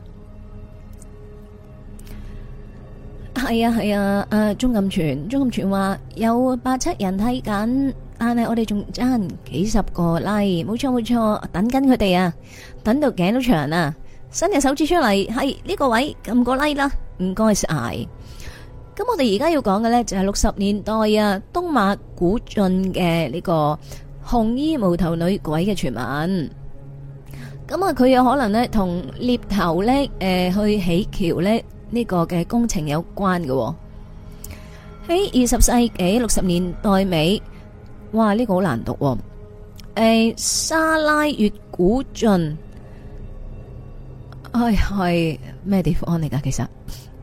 係啊，鍾錦全話有87人睇緊，但係我哋仲爭幾十個 like，冇錯，等緊佢哋啊，等到頸都長啊，伸隻手指出嚟，係呢個位撳個 like 啦，唔該晒。咁我哋而家要講嘅呢，就係60年代啊，東馬古晉嘅呢個紅衣無頭女鬼嘅傳聞。咁啊，佢有可能呢同獵頭呢去起橋呢。呢個嘅工程有關嘅。喺20世紀60年代尾，哇！呢個好難讀。沙拉越古晉，係咩地方嚟噶？其實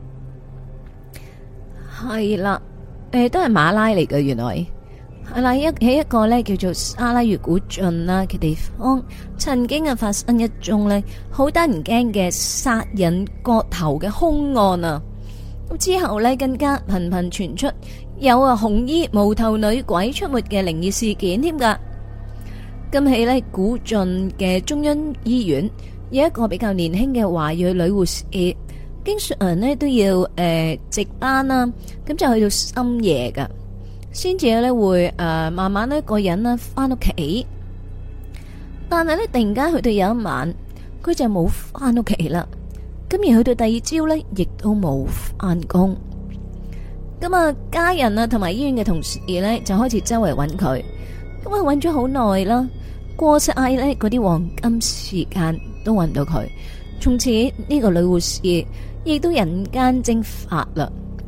係啦，都係馬拉嚟嘅。原來係啦，喺一個呢叫做沙拉越古晉啦嘅地方，曾經啊發生一宗呢好得人驚嘅殺人割頭嘅兇案啊！咁之後呢，更加頻頻傳出有紅衣無頭女鬼出沒嘅靈異事件添噶。今起呢，古晉嘅中央醫院有一個比較年輕嘅華裔女護士，經常呢都要值班啦，咁就去到深夜噶。先至咧會慢慢呢個人呢翻屋企，但係呢突然間去到有一晚，佢就冇翻屋企啦。咁而去到第二朝呢，亦都冇翻工。咁啊，家人啊同埋醫院嘅同事呢，就開始周圍揾佢。咁啊揾咗好耐啦，過晒呢嗰啲黃金時間都揾唔到佢。從此呢個女護士亦都人間蒸發啦。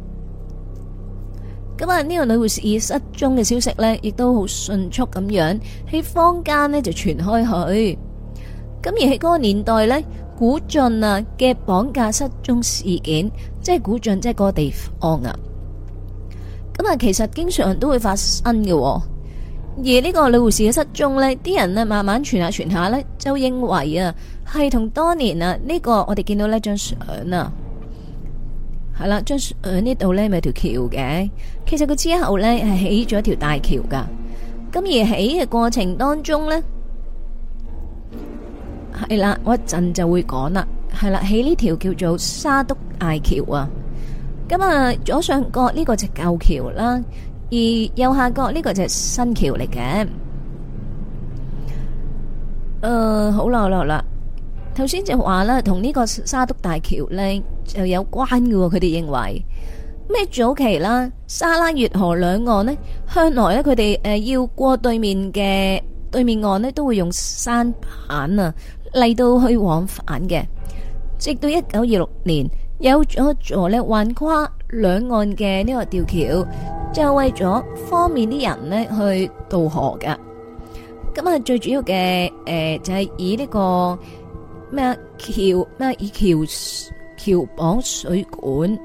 咁啊，呢個女護士失蹤嘅消息呢，亦都好迅速咁樣喺坊間呢就傳開去。咁而喺嗰個年代呢，古晉啊嘅綁架失蹤事件，即係古晉即係嗰個地方啊。咁啊，其實經常都會發生嘅。而呢個女護士嘅失蹤呢，啲人呢慢慢傳下呢，就認為啊係同當年啊呢個我哋見到呢張相啊，係啦，張相呢度呢咪有條橋嘅，其實佢之後呢係起咗條大橋噶，咁而起嘅過程當中呢，係啦，我一陣就會講啦，係啦，起呢條叫做沙督大橋啊，咁啊左上角呢個就舊橋啦，而右下角呢個就係新橋嚟嘅。好啦好啦好啦，頭先就話啦，同呢個沙督大橋呢就有關嘅，佢哋認為咩早期啦，沙拉越河兩岸呢，向來呢，佢哋要過對面岸呢，都會用舢板啊嚟到去往返嘅，直到1926年有咗座呢橫跨兩岸嘅呢個吊橋，就為咗方便啲人呢去渡河噶。咁啊，最主要嘅就係以呢個咩橋咩以橋綁水管。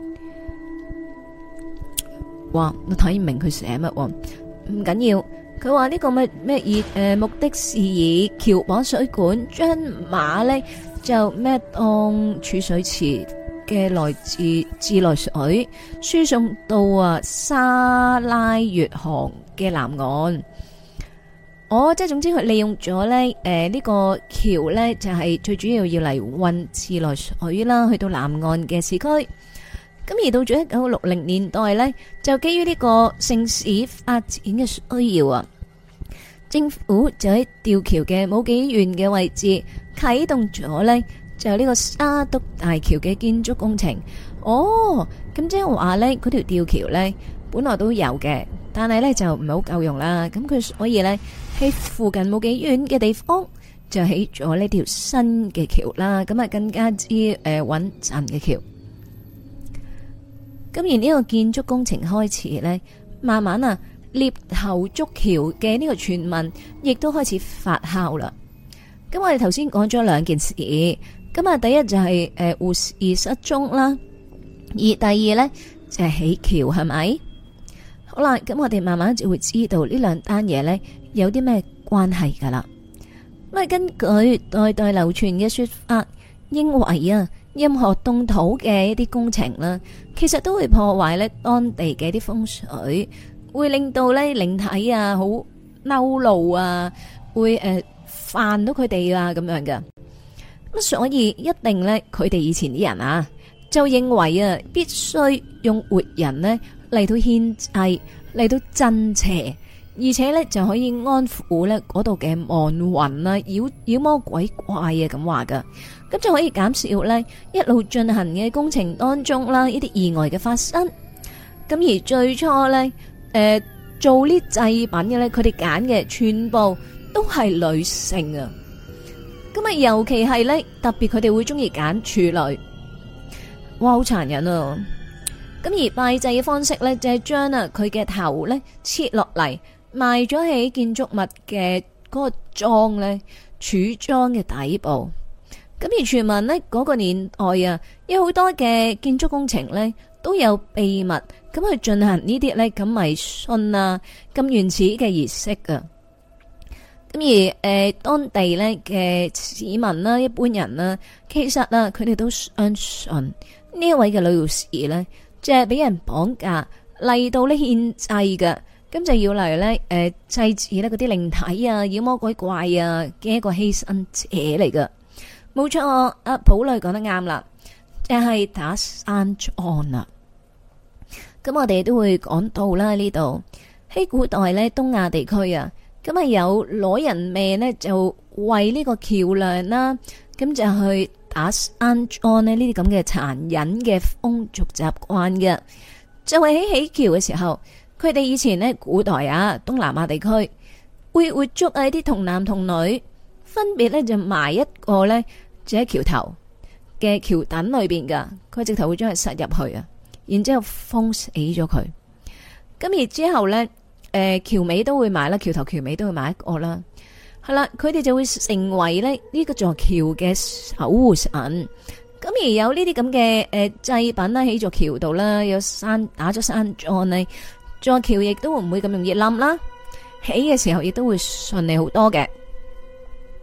哇！我睇唔明佢寫乜喎，唔緊要。佢話呢個咩以目的是以橋綁水管，將馬呢就咩當儲水池嘅來自自來水輸送到啊沙拉越河嘅南岸。即係總之佢利用咗咧，呢個橋咧就係最主要要嚟運自來水啦，去到南岸嘅市區。咁而到咗1960年代咧，就基於呢個城市發展嘅需要啊，政府就喺吊橋嘅冇幾遠嘅位置啟動咗咧，就呢個沙督大橋嘅建築工程。咁即係話咧，嗰條吊橋咧本來都有嘅，但係咧就唔係好夠用啦。咁佢所以咧喺附近冇幾遠嘅地方就起咗呢條新嘅橋啦。咁啊更加之穩陣嘅橋。咁而呢個建築工程開始咧，慢慢啊獵頭築橋嘅呢個傳聞亦都開始發酵啦。咁我哋頭先講咗兩件事，咁啊第一就係護士失蹤啦，而第二呢，就係起橋，係咪？好啦，咁我哋慢慢就會知道呢兩單嘢呢有啲咩關係噶啦。咁啊根據代代流傳嘅說法，認為啊任何動土嘅一啲工程啦，其實都會破壞呢當地嘅啲風水，會令到呢靈體啊好嬲怒啊，會煩到佢哋啊咁樣嘅。咁所以一定呢，佢哋以前啲人啊就認為啊必須用活人呢嚟到獻祭，嚟到鎮邪，而且呢就可以安撫呢嗰度嘅亡魂啊、妖魔鬼怪啊咁話噶，咁就可以減少呢一路進行嘅工程當中啦呢啲意外嘅發生。咁而最初呢，做呢祭品嘅呢，佢哋揀嘅全部都係女性啊。咁啊，尤其係呢，特別佢哋會中意揀處女。哇，好殘忍啊！咁而拜祭嘅方式呢，就係將啊佢嘅頭呢切落嚟，埋咗喺建築物嘅嗰個樁呢柱樁嘅底部。咁而傳聞呢，嗰個年代啊，有好多嘅建築工程呢都有秘密咁去進行呢啲呢咁迷信啊咁原始嘅儀式啊。咁而當地呢嘅市民啦、一般人啦，其實啊佢哋都相信呢一位嘅女護士呢，就係俾人綁架嚟到呢獻祭嘅，咁就要嚟呢祭祀呢嗰啲靈體啊、妖魔鬼怪啊嘅一個犧牲者嚟噶。冇錯，阿普女講得啱啦，就係打生樁啦。咁我哋都會講到啦，呢度喺古代呢東亞地區啊。咁啊有攞人命呢，就為呢個橋梁啦，咁就去打生樁呢啲咁嘅殘忍嘅風俗習慣嘅，就係喺起橋嘅時候，佢哋以前呢古代啊東南亞地區會活捉啊啲童男童女，分別呢就埋一個呢，就喺橋頭嘅橋墩裏邊噶，佢直頭會將佢塞入去啊，然之後封死咗佢，咁而之後呢。橋尾都會買啦，橋頭橋尾都會買一個啦，係啦，佢哋就會成為呢個座橋嘅守護神。咁而有呢啲咁嘅祭品啦，喺座橋度啦，有打咗生樁呢，座橋亦都唔會咁容易冧啦，起嘅時候亦都會順利好多嘅。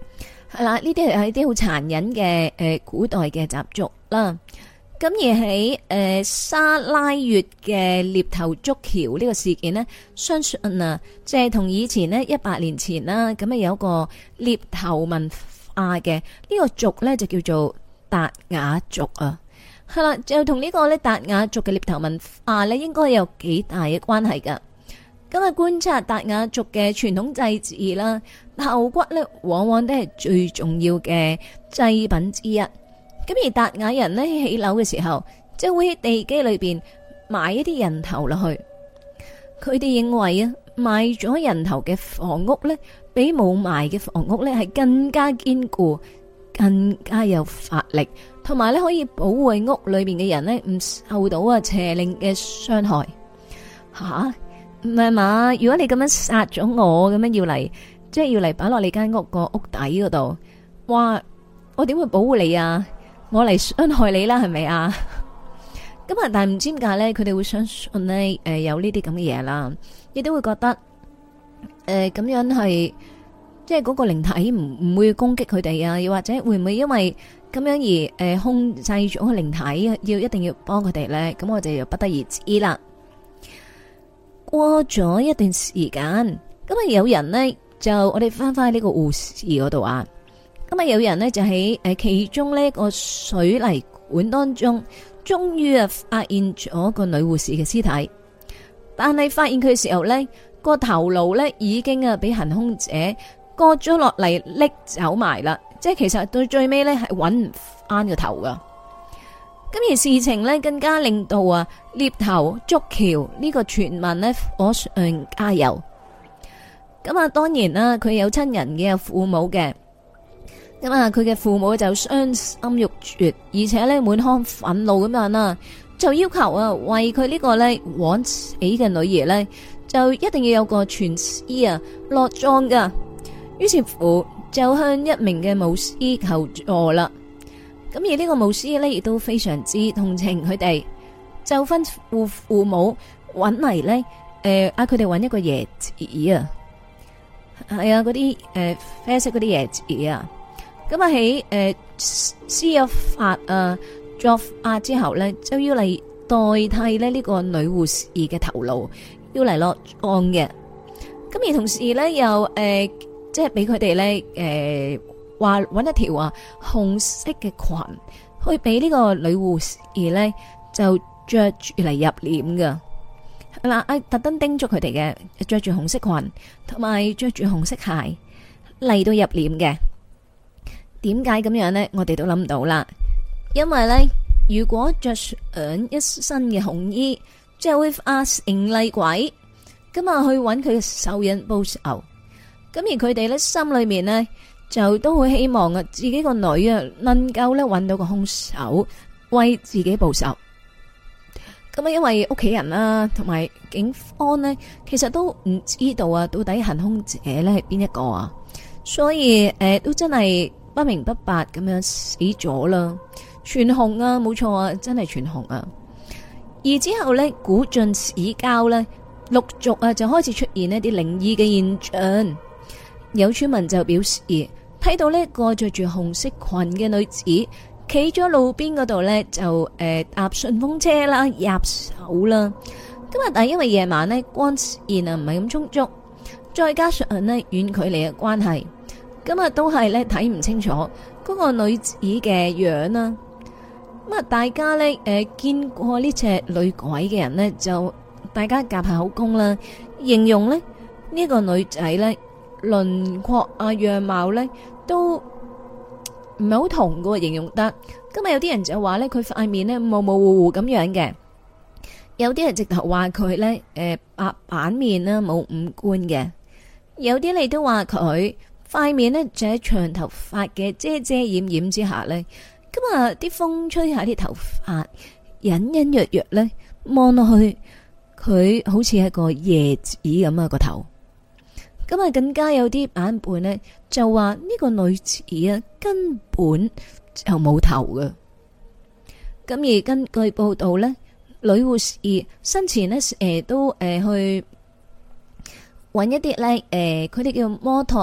係啦，呢啲係啲好殘忍嘅古代嘅習俗啦。咁而喺沙拉越嘅獵頭築橋呢個事件呢，相信啊，即係同以前呢100年前啦，咁啊有個獵頭文化嘅呢個族呢，就叫做達雅族啊。係啦，就同呢個呢達雅族嘅獵頭文化呢，應該有幾大嘅關係噶。咁啊，觀察達雅族嘅傳統祭祀啦，頭骨呢往往都係最重要嘅祭品之一。咁而達雅人呢，起樓嘅時候，就會喺地基裏邊埋一啲人頭落去。佢哋認為啊，埋咗人頭嘅房屋呢，比冇埋嘅房屋呢係更加堅固、更加有法力，同埋呢可以保護屋裏邊嘅人呢唔受到邪靈嘅傷害。吓，唔係嘛？如果你咁樣殺咗我，咁樣要嚟，即係要嚟擺落你間屋個屋底嗰度，哇！我點會保護你啊？我嚟傷害你啦，係咪啊？咁啊，但係唔知點解咧，佢哋會相信呢，有呢啲咁嘅嘢啦，亦都會覺得咁樣係即係嗰個靈體唔會攻擊佢哋啊，又或者會唔會因為咁樣而控制咗個靈體，要一定要幫佢哋咧？咁我哋又不得而知啦。過咗一段時間，咁啊有人呢，就我哋翻返呢個護士嗰度啊。咁啊！有人呢就喺其中呢個水泥管當中，終於啊發現咗個女護士嘅屍體。但係發現佢嘅時候呢，個頭顱呢已經啊俾行兇者割咗落嚟，拎走埋啦。即係其實到最尾呢係揾唔翻個頭噶。咁而事情呢更加令到啊獵頭築橋呢個傳聞呢火上加油。咁啊，當然啦，佢有親人嘅，有父母嘅。咁啊，佢嘅父母就傷心欲絕，而且咧滿腔憤怒咁樣啦，就要求啊為佢呢個咧枉死嘅女兒咧，就一定要有個全屍啊落葬噶。於是乎就向一名嘅巫師求助啦。咁而呢個巫師咧亦都非常之同情佢哋，就吩咐父母揾嚟咧，嗌佢哋揾一個椰子啊，係啊嗰啲啡色嗰啲椰子啊。咁啊喺施咗法啊作法之後呢，就要嚟代替呢個女護士嘅頭顱，要嚟落葬嘅。咁而同時呢，又即係俾佢哋呢話搵一條啊紅色嘅裙，去俾呢個女護士呢就着住嚟入殮噶。嗱，特登叮囑佢哋嘅，着住紅色裙，同埋着住紅色鞋嚟到入殮嘅。點解咁樣呢？我哋都諗到啦。因為呢，如果着上一身嘅紅衣，就會化成厲鬼，咁啊去揾佢嘅仇人報仇。咁而佢哋呢，心裏面呢，就都會希望啊自己個女啊能夠呢揾到個兇手，為自己報仇。咁啊，因為屋企人啦，同埋警方呢，其實都唔知道啊到底行兇者呢係邊一個啊，所以都真係不明不白咁樣死咗啦，全紅啊，冇錯啊，真係全紅啊。而之後呢，古晉市郊呢，陸續啊就開始出現一啲靈異嘅現象。有村民就表示睇到呢個着住紅色裙嘅女子企咗路邊嗰度呢，就搭順風車啦，入手啦。今日但係因為夜晚呢，光線啊唔係咁充足，再加上呢遠距離嘅關係。今日都係咧睇唔清楚嗰個女子嘅樣啦。咁啊，大家咧見過呢隻女鬼嘅人呢，就大家夾下口供啦，形容咧呢個女仔咧輪廓啊樣貌咧都唔係好同嘅形容得。今日有啲人就話咧佢塊面咧模模糊糊咁樣嘅，有啲人直頭話佢咧白板面啦，冇五官嘅，有啲你都話佢塊面呢，就喺長頭髮嘅遮遮掩掩之下呢，咁啊啲風吹下啲頭髮，隱隱約約呢，望落去佢好似係個椰子咁啊個頭。咁啊更加有啲版本呢，就話呢個女子啊根本就冇頭㗎。咁而根據報道呢，女護士生前呢，都去揾一啲呢，佢哋叫摩托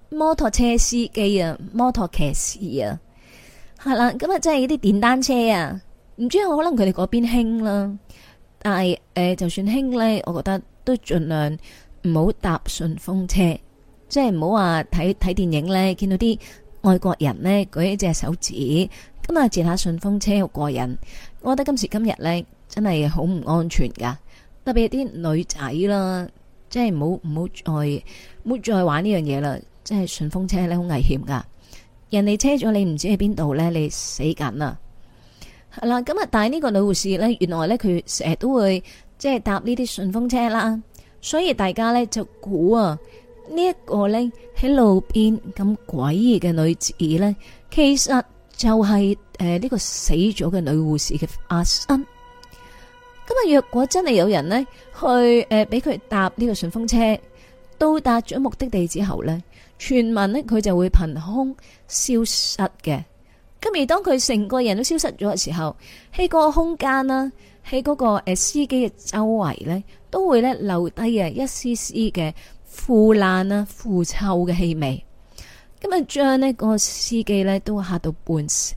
摩托車司機啊，摩托騎士啊，係啦，咁啊，即係啲電單車啊，唔知可能佢哋嗰邊興啦，但係就算興咧，我覺得都盡量唔好搭順風車，即係唔好話睇電影咧，見到啲外國人咧舉一隻手指，咁啊截下順風車好過癮。我覺得今時今日咧真係好唔安全噶，特別係啲女仔啦，即係唔好再玩呢樣嘢啦，即係順風車咧好危險噶，人哋車咗你唔知喺邊度咧，你死緊啊！係啦，咁啊，但係呢個女護士咧，原來咧佢成日都會即係搭呢啲順風車啦，所以大家咧就估啊，呢一個咧喺路邊咁詭異嘅女子咧，其實就係呢個死咗嘅女護士嘅化身。咁啊，若果真係有人呢去俾佢搭呢個順風車，到達咗目的地之後呢，傳聞呢佢就會憑空消失嘅。咁而當佢成個人都消失咗嘅時候，喺嗰個空間啦，喺嗰個司機嘅周圍呢，都會呢留低啊一絲絲嘅腐爛啊腐臭嘅氣味。咁啊，將呢個司機呢都嚇到半死，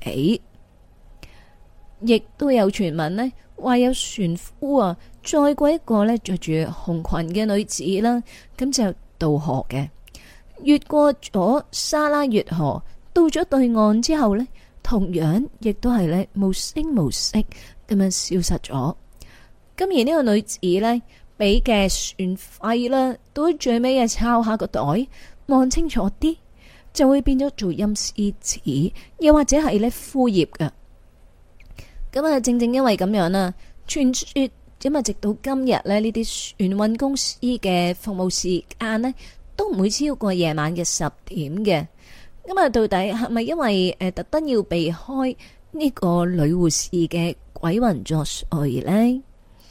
亦都有傳聞呢話有船夫啊載過一個呢着住紅裙嘅女子啦，咁就渡河嘅，越過咗沙拉越河，到咗對岸之後呢，同樣亦都係呢無聲無息咁樣消失咗。咁而呢個女子呢，俾嘅船費啦，到最尾啊抄下個袋，望清楚啲，就會變咗做陰司紙，又或者係呢枯葉㗎。咁啊，正正因為咁樣啦，傳說咁啊，直到今日呢，呢啲船運公司嘅服務時間呢，都唔會超過夜晚嘅10點嘅。咁啊，到底係咪因為特登要避開呢個女護士嘅鬼魂作祟呢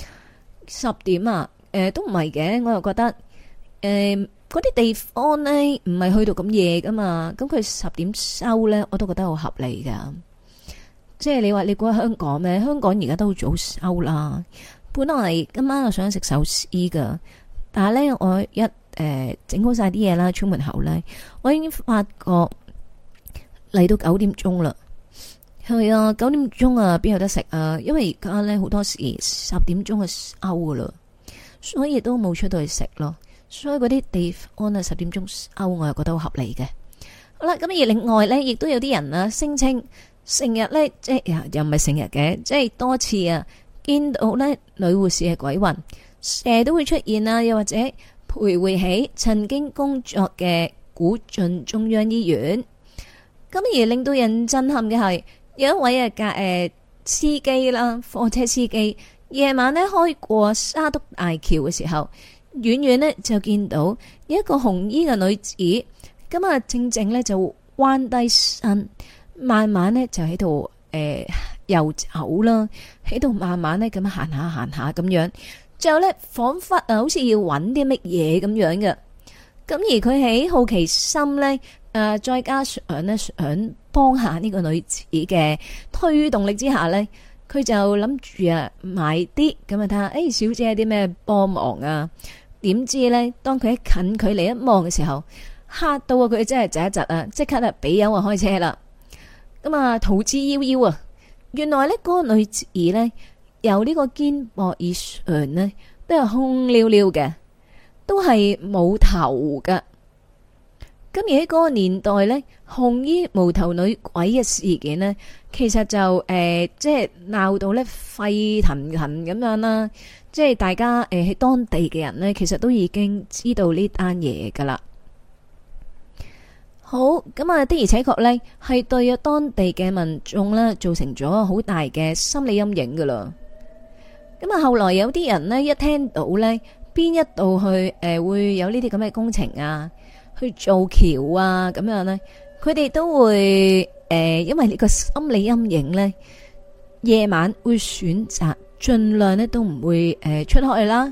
？10點啊，都唔係嘅，我又覺得嗰啲地方呢，唔係去到咁夜噶嘛，咁佢10點收呢，我都覺得好合理噶。即係你話你估香港咩？香港而家都好早收啦。本來今晚我想食壽司噶，但係呢，我一整好晒啲嘢啦，出門口呢，我已經發覺嚟到9點鐘啦。係啊，9點鐘啊，邊有得食啊？因為而家呢，好多時10點鐘就收噶啦，所以都冇出到去食咯。所以嗰啲地方啊，10點鐘收，我又覺得好合理嘅。好啦，咁而另外呢，亦都有啲人啊聲稱。成日呢，即係又唔係成日嘅，即係多次啊，見到呢女護士嘅鬼魂，成日都會出現啊，又或者徘徊喺曾經工作嘅古晉中央醫院。咁而令到人震撼嘅係，有一位司機啦，貨車司機，夜晚呢開過沙督大橋嘅時候，遠遠呢就見到有一個紅衣嘅女子，咁啊正正呢就彎低身。慢慢呢就喺度遊走啦，喺度慢慢呢咁行下咁樣，最後呢仿佛好似要揾啲乜嘢咁樣嘅。咁而佢喺好奇心呢，再加上呢想幫下呢個女子嘅推動力之下呢，佢就諗住啊買啲咁啊睇下，小姐有啲咩幫忙啊？點知呢，當佢喺近距離一望嘅時候，嚇到啊佢真係窒一窒啊，即刻啊俾油啊開車啦。咁啊，逃之夭夭啊！原來呢嗰個女子呢，由呢個肩膊以上呢，都係空溜溜嘅，都係冇頭噶。咁而喺嗰個年代呢，紅衣無頭女鬼嘅事件呢，其實就即係鬧到呢沸騰騰咁樣啦。即係大家喺當地嘅人呢，其實都已經知道呢單嘢噶啦。好，咁啊的而且確呢係對當地嘅民眾呢造成咗好大嘅心理陰影噶啦。咁啊後來有啲人呢，一聽到呢邊一度去會有呢啲咁嘅工程啊，去做橋啊咁樣呢，佢哋都會因為呢個心理陰影呢，夜晚會選擇盡量呢都唔會出去啦。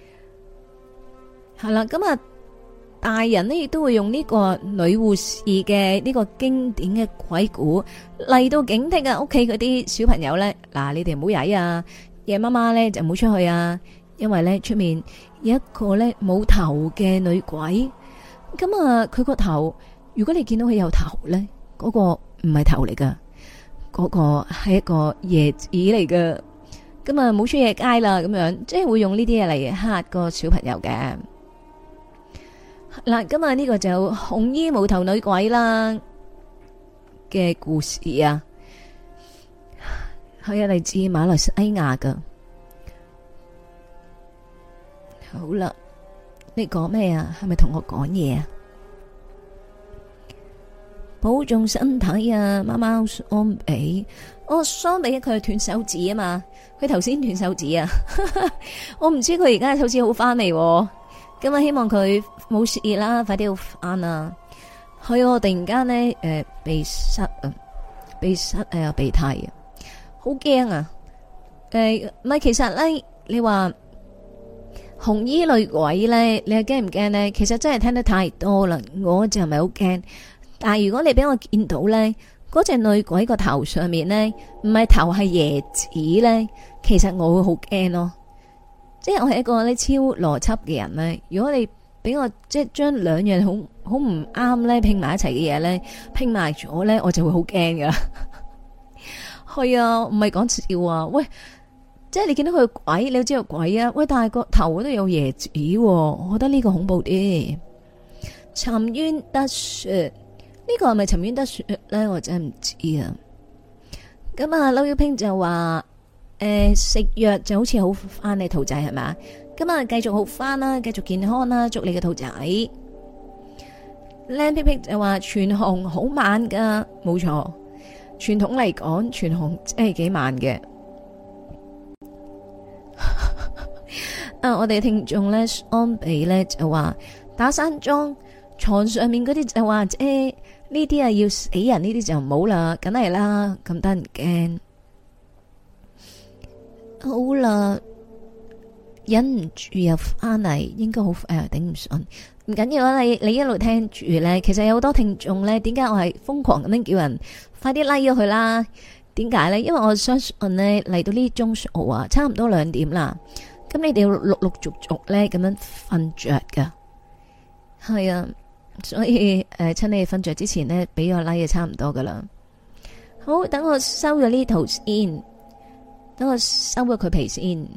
係啦，咁啊。大人呢亦都會用呢個女護士嘅呢個經典嘅鬼故嚟到警惕啊屋企嗰啲小朋友呢。嗱，你哋唔好曳啊，夜媽媽呢就唔好出去啊，因為呢出面有一個呢冇頭嘅女鬼。咁啊佢個頭如果你見到佢有頭咧，嗰個唔係頭嚟噶，嗰個係一個椰子嚟噶。咁啊，冇出夜街啦，咁樣即係會用呢啲嘢嚟嚇個小朋友嘅。嗱，今日呢個就紅衣無頭女鬼啦嘅故事啊，係啊，嚟自馬來西亞噶。好啦，你講咩啊？係咪同我講嘢啊？保重身體啊，貓貓桑比。哦，桑比佢係斷手指啊嘛，佢頭先斷手指啊。我唔知佢而家手指好翻未，咁啊希望佢冇事啦，快啲好翻啊。係我突然間咧，鼻塞啊，鼻塞有鼻涕啊，好驚啊。唔係，其實咧，你話紅衣女鬼咧，你係驚唔驚咧？其實真係聽得太多啦，我就唔係好驚。但係如果你俾我見到咧，嗰隻女鬼個頭上面咧，唔係頭係椰子咧，其實我會好驚咯。即係我係一個咧超邏輯嘅人咧，如果你俾我即係將兩樣好唔啱咧拼埋一齊嘅嘢咧拼埋咗咧，我就會好驚噶。係啊，唔係講笑啊。喂，即係你見到佢鬼，你都知道鬼啊。喂，但係個頭都有椰子，我覺得呢個恐怖啲。沉冤得雪。呢個係咪沉冤得雪咧？我真係唔知啊。咁啊，劉耀平就話食藥就好似好翻你兔仔係嘛？咁啊，繼續好翻啦，繼續健康啦，祝你嘅兔仔。靚皮皮就話全紅好慢噶，冇錯。傳統嚟講，全紅真係幾慢嘅。啊，我哋聽眾咧安比咧就話打山莊床上面嗰啲就話呢啲啊要死人，呢啲就唔好啦，梗係啦，咁得人驚。好啦，忍唔住又翻嚟，應該好頂唔順。唔緊要啊，你一路聽住咧，其實有好多聽眾咧，點解我係瘋狂咁樣叫人快啲拉咗佢啦？點解咧？因為我相信咧嚟到呢鐘數啊，差唔多2點啦，咁你哋要陸陸續續咧咁樣瞓着噶，係啊。所以趁你哋瞓着之前呢，俾個 like 就差唔多噶啦。好，等我收咗呢圖先，等我收咗佢皮先。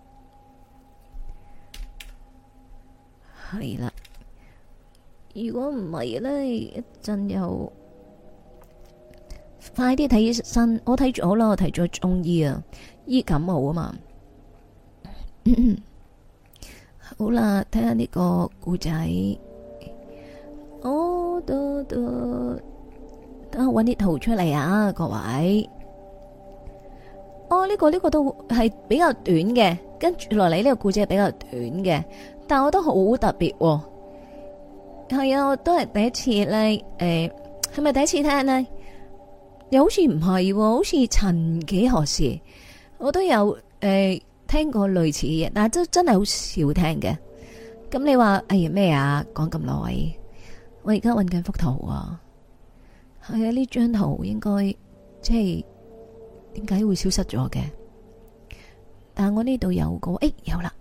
係啦，如果唔係呢，一陣又快啲睇醫生。我睇咗啦，我睇咗中醫啊，醫感冒啊嘛。好啦，睇下呢個故仔。等我搵啲圖出嚟啊，各位。呢個都係比較短嘅，跟住落嚟呢個故仔係比較短嘅，但我覺得好特別。係啊，我都係第一次咧，係咪第一次聽呢？又好似唔係，好似曾幾何時我都有聽過類似嘅嘢，但係都真係好少聽嘅。咁你話哎呀咩啊？講咁耐。我而家搵緊幅圖啊，係啊，呢張圖應該即係點解會消失咗嘅？但我呢度有個，有啦，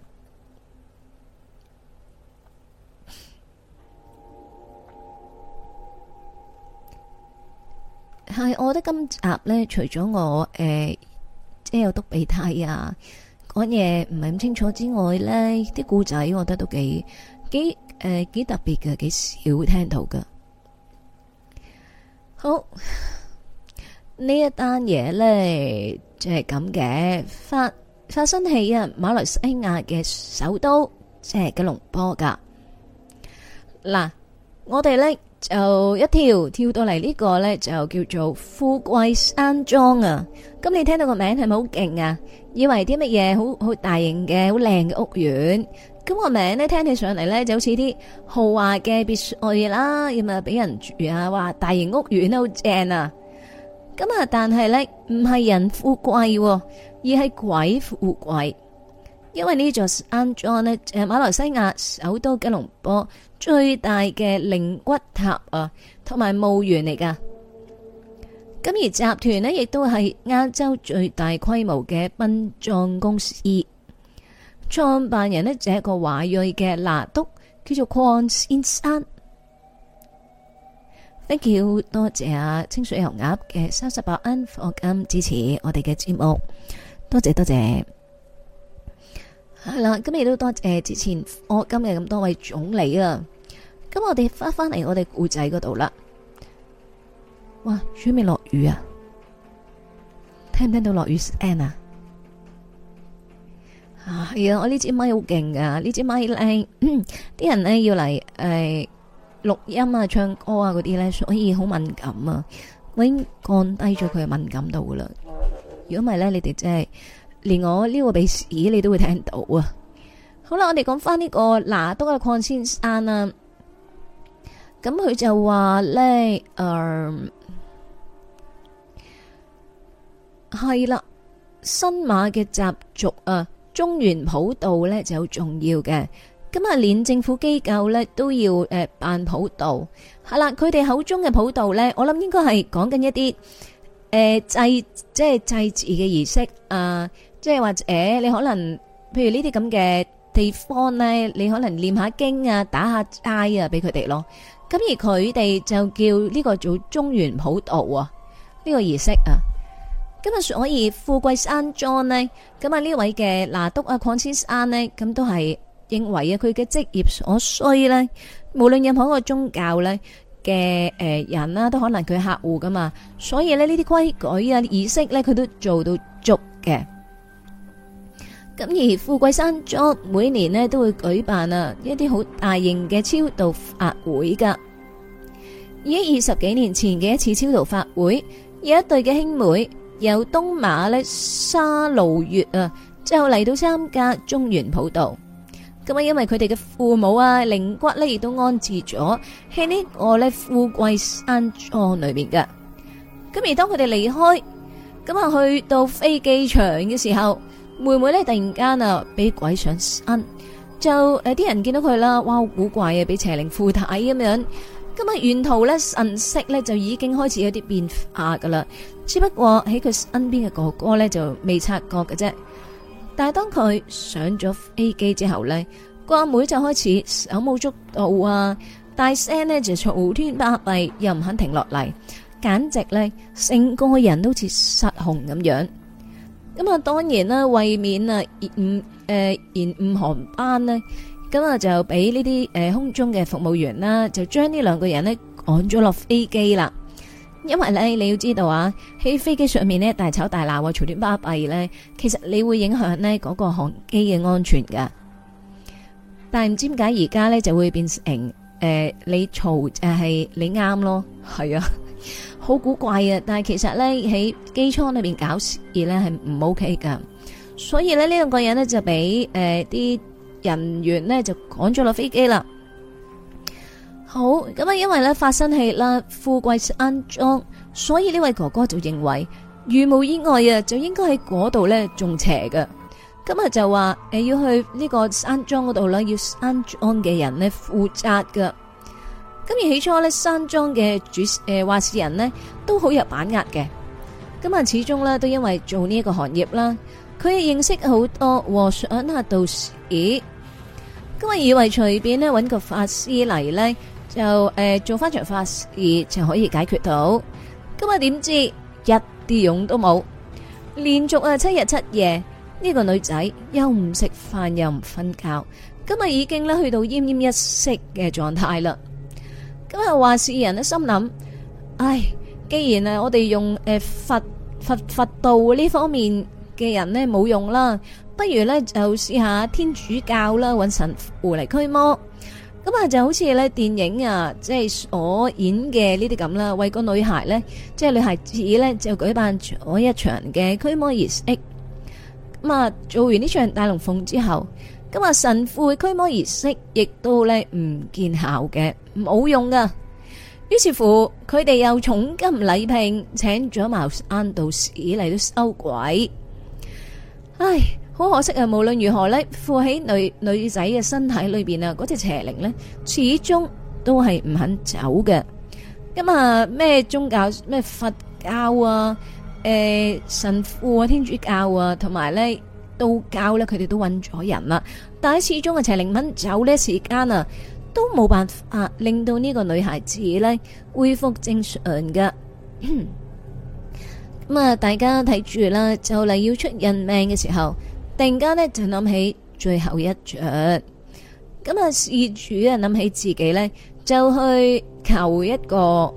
係我覺得今集呢，除咗我即係有篤鼻涕啊，講嘢唔係咁清楚之外呢，啲故仔我覺得都幾特別嘅，幾少聽到㗎。好，呢一單嘢呢，就係咁嘅，發生喺馬來西亞嘅首都，即係吉隆坡噶。嗱，我哋呢就一跳到嚟呢個呢，就叫做富貴山莊啊。咁你聽到個名係咪好勁啊？以為啲乜嘢好大型嘅好靚嘅屋苑。咁個名咧聽起上嚟咧就好似啲豪華嘅別墅啦，咁啊俾人住啊，話大型屋苑都好正啊。咁啊，但係咧唔係人富貴，而係鬼富貴。因為呢座山莊咧就係馬來西亞首都吉隆坡最大嘅靈骨塔啊，同埋墓園嚟噶。咁而集團咧亦都係亞洲最大規模嘅殯葬公司。創辦人呢就係一個華裔嘅拿督，叫做鄺先生。 ，thank you，多謝啊清水油鴨嘅38蚊課金支持我哋嘅節目，多謝多謝。係啦，咁亦都多謝之前課金嘅咁多位總理啊。咁我哋翻嚟我哋故仔嗰度啦。哇，準備落雨啊！聽唔聽到落雨聲啊？係啊，我呢支咪好勁噶，呢支咪咧，啲人咧要嚟錄音啊、唱歌啊嗰啲咧，所以好敏感啊。我已經降低咗佢嘅敏感度噶啦。如果唔係咧，你哋真係連我呢個鼻屎你都會聽到啊。好啦，我哋講翻呢個拿督嘅鄺先生啊。咁佢就話咧，係啦，新馬嘅習俗啊。中原普渡咧就好重要嘅，咁啊連政府機構咧都要辦普渡，係啦，佢哋口中嘅普渡咧，我諗應該係講緊一啲即係祭祀嘅儀式啊，即係或者你可能譬如呢啲咁嘅地方咧，你可能念下經啊、打下齋啊俾佢哋咯，咁而佢哋就叫呢個做中原普渡啊，呢個儀式啊。咁啊，所以富貴山莊呢，咁啊呢位嘅拿督啊鄺先生呢，咁都係認為啊佢嘅職業所需呢，無論任何一個宗教呢嘅人啦，都可能佢客戶噶嘛，所以呢啲規矩啊儀式呢，佢都做到足嘅。咁而富貴山莊每年呢，都會舉辦啊一啲好大型嘅超度法會噶。而喺20幾年前嘅一次超度法會，有一對嘅兄妹。由東馬咧沙路月啊，就嚟到參加中原普渡。咁啊，因為佢哋嘅父母啊靈骨咧亦都安置咗喺呢個咧富貴山莊裏面嘅。咁而當佢哋離開，咁啊去到飛機場嘅時候，妹妹咧突然間啊俾鬼上身，就啲人見到佢啦，哇好古怪啊，俾邪靈附體咁樣。咁啊，沿途咧神色咧就已經開始有啲變化噶啦，只不過喺佢身邊嘅哥哥咧就未察覺嘅啫。但係當佢上咗飛機之後咧，個阿妹就開始手舞足蹈啊，大聲咧就嘈天巴閉，又唔肯停落嚟，簡直咧成個人都似失控咁樣。咁啊，當然啦，為免啊延誤航班呢。咁啊，就俾呢啲空中嘅服務員啦，就將呢兩個人呢趕咗落飛機啦。因為咧，你要知道啊，喺飛機上面呢，大吵大鬧啊，嘈亂巴閉咧，其實你會影響呢嗰個航機嘅安全噶。但係唔知點解而家咧就會變成你嘈就係你啱咯，係啊，好古怪啊！但係其實咧喺機艙裏邊搞事咧係唔 OK 噶，所以咧呢兩個人呢，就俾啲人員呢就趕咗落飛機啦。好，咁啊，因為咧發生喺啦富貴山莊，所以呢位哥哥就認為如無意外啊，就應該喺嗰度咧中邪嘅。咁啊就話要去呢個山莊嗰度啦，要山莊嘅人呢負責噶。咁而起初咧山莊嘅話事人呢都好有把握嘅。咁啊始終咧都因為做呢一個行業啦，佢認識好多和尚啊道士。咁啊以為隨便呢搵個法師嚟呢，就做翻場法事就可以解決到。咁啊點知一啲用都冇，連續7日7夜呢個女仔又唔食飯又唔瞓覺，今日已經咧去到奄奄一息嘅狀態啦。咁啊話事人呢心諗，唉，既然啊我哋用佛道呢方面嘅人呢冇用啦，不如呢就試下天主教啦，搵神父嚟驅魔。咁啊就好似咧電影啊，即係所演嘅呢啲咁啦，為個女孩呢，即係女孩子呢，就舉辦咗一場嘅驅魔儀式。咁啊做完呢場大龍鳳之後，咁啊神父嘅驅魔儀式亦都呢唔見效嘅，冇用噶。於是乎佢哋又重金禮聘，請咗茅山道士嚟到收鬼。唉，好可惜啊！無論如何呢，附喺女仔嘅身體裏邊啊，嗰隻邪靈呢，始終都係唔肯走嘅。咁啊，咩宗教，咩佛教啊，神父啊，天主教啊，同埋呢道教呢，佢哋都揾咗人啦，但係始終啊邪靈唔肯走呢時間啊， 都冇辦法令到呢個女孩子咧恢復正常噶。咁啊，大家睇住啦，就嚟要出人命嘅時候，突然間呢就諗起最後一着。咁啊，事主啊諗起自己呢，就去求一個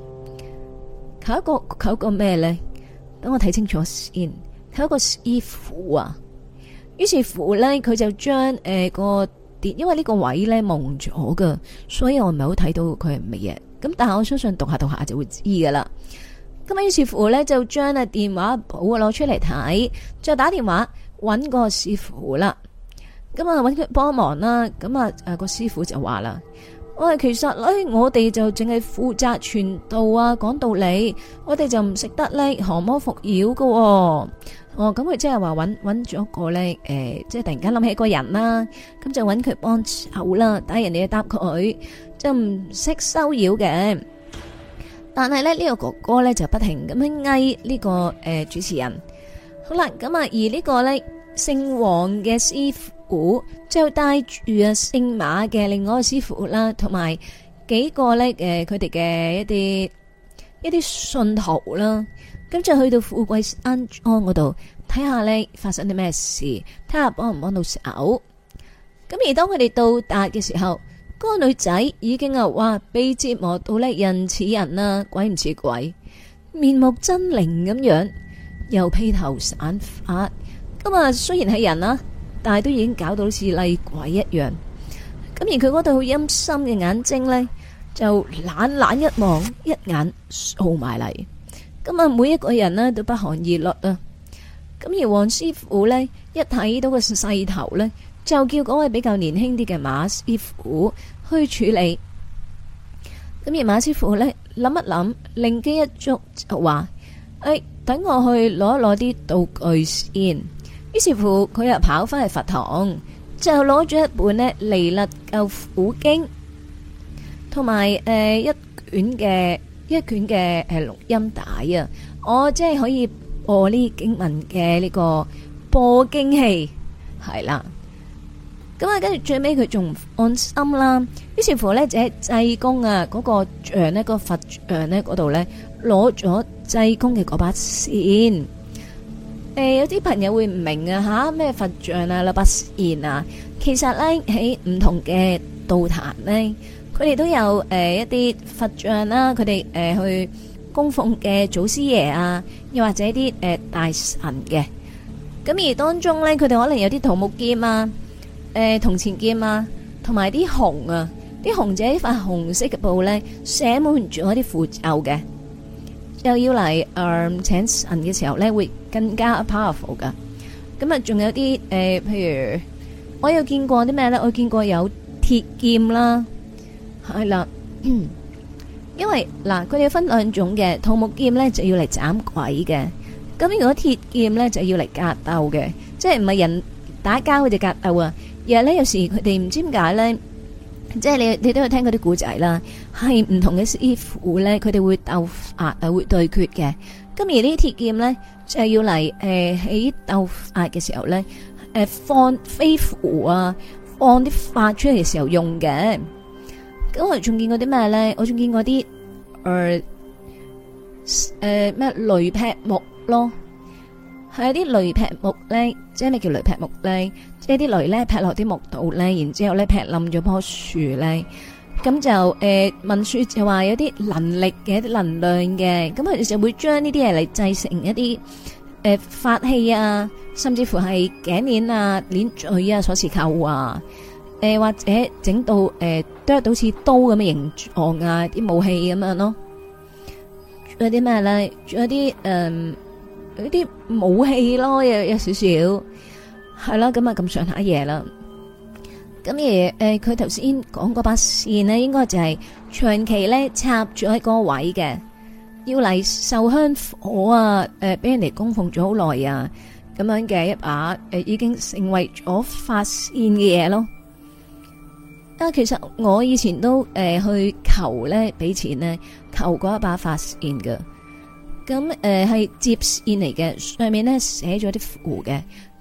咩呢？等我睇清楚先。求一個師傅啊。於是乎呢，佢就將個電，因為呢個位呢蒙咗噶，所以我唔係好睇到佢係乜嘢。咁但係我相信讀下就會知噶啦。咁啊，於是乎咧就將啊電話簿攞出嚟睇，再打電話搵個師傅啦。咁啊搵佢幫忙啦。咁啊個師傅就話啦：喂，其實咧我哋就淨係負責傳道啊，講道理，我哋就唔識得咧降魔伏妖噶。哦，咁佢即係話搵咗個咧即係突然間諗起一個人啦，咁就搵佢幫手啦，但係人哋答佢就唔識收妖嘅。但係咧呢個哥哥咧就不停咁樣嗌呢個主持人。好啦，咁啊而呢個咧姓黃嘅師傅就帶住啊姓馬嘅另外一個師傅啦，同埋幾個咧佢哋嘅一啲信徒啦，咁就去到富貴山莊嗰度睇下咧發生啲咩事，睇下幫唔幫到手。咁而當佢哋到達嘅時候，嗰個女仔已經話被折磨到咧人似人啊，鬼唔似鬼，面目猙獰咁樣，又披頭散髮。咁啊，雖然係人啊，但係都已經搞到好似厲鬼一樣。咁而佢嗰對好陰森嘅眼睛呢，就懶一望，一眼掃埋嚟。咁啊，每一個人呢都不寒而栗啊。咁而黃師傅呢，一睇到個勢頭呢，就叫嗰位比較年輕啲嘅馬師傅去處理。咁而馬師傅呢，諗一諗，靈機一觸就話：等我去攞一攞啲道具先。於是乎佢又跑翻去佛堂，就攞咗一本呢《彌勒救苦經》同埋一卷嘅錄音帶啊！我即係可以播呢經文嘅呢個播經器，係啦。咁啊，跟住最尾佢仲唔安心啦，於是乎呢，就喺濟公啊嗰個像呢，個佛像呢嗰度呢，攞咗濟公嘅嗰把扇。有啲朋友會唔明啊，吓咩佛像啊，攞把扇啊，其實呢，喺唔同嘅道壇呢，佢哋都有一啲佛像啦，佢哋去供奉嘅祖師爺啊，又或者啲大神嘅。咁而當中呢，佢哋可能有啲桃木劍啊。銅錢劍啊，同埋啲紅啊，啲紅就係一塊紅色嘅布咧，寫滿咗啲符咒嘅，又要嚟請神嘅時候咧，會更加 powerful 噶。咁啊，仲有啲譬如我有見過啲咩咧？我見過有鐵劍啦，係啦，因為嗱，佢哋分兩種嘅，桃木劍咧就要嚟斬鬼嘅，咁如果鐵劍咧就要嚟格鬥嘅，即係唔係人打交佢哋格鬥啊。而係咧，有時佢哋唔知點解咧，即係你都有聽嗰啲古仔啦，係唔同嘅師傅咧，佢哋會鬥法啊，會對決嘅。咁而呢啲鐵劍咧，就係要嚟喺鬥法嘅時候咧，放飛符啊，放啲法出嚟嘅時候用嘅。咁我仲見過啲咩咧？我仲見過啲咩雷劈木咯。係啲雷劈木咧，即係咩叫雷劈木咧？即係啲雷咧劈落啲木度咧，然之後咧劈冧咗棵樹咧，咁就文書就話有啲能力嘅一啲能量嘅，咁佢哋就會將呢啲嘢嚟製成一啲法器啊，甚至乎係頸鏈啊、鏈墜啊、鎖匙扣啊，或者整到剁到似刀咁嘅形狀啊，啲武器咁樣咯。仲有啲咩咧？仲有啲嗰啲武器咯，有少少係啦，咁啊咁上下嘢啦。咁而佢頭先講嗰把扇呢，應該就係長期咧插住喺嗰個位嘅，要嚟受香火啊，俾人哋供奉咗好耐啊，咁樣嘅一把已經成為咗法扇嘅嘢咯。啊，其實我以前都去求咧，俾錢咧求過一把法扇噶。咁係接線嚟嘅，上面咧寫咗啲符嘅。咁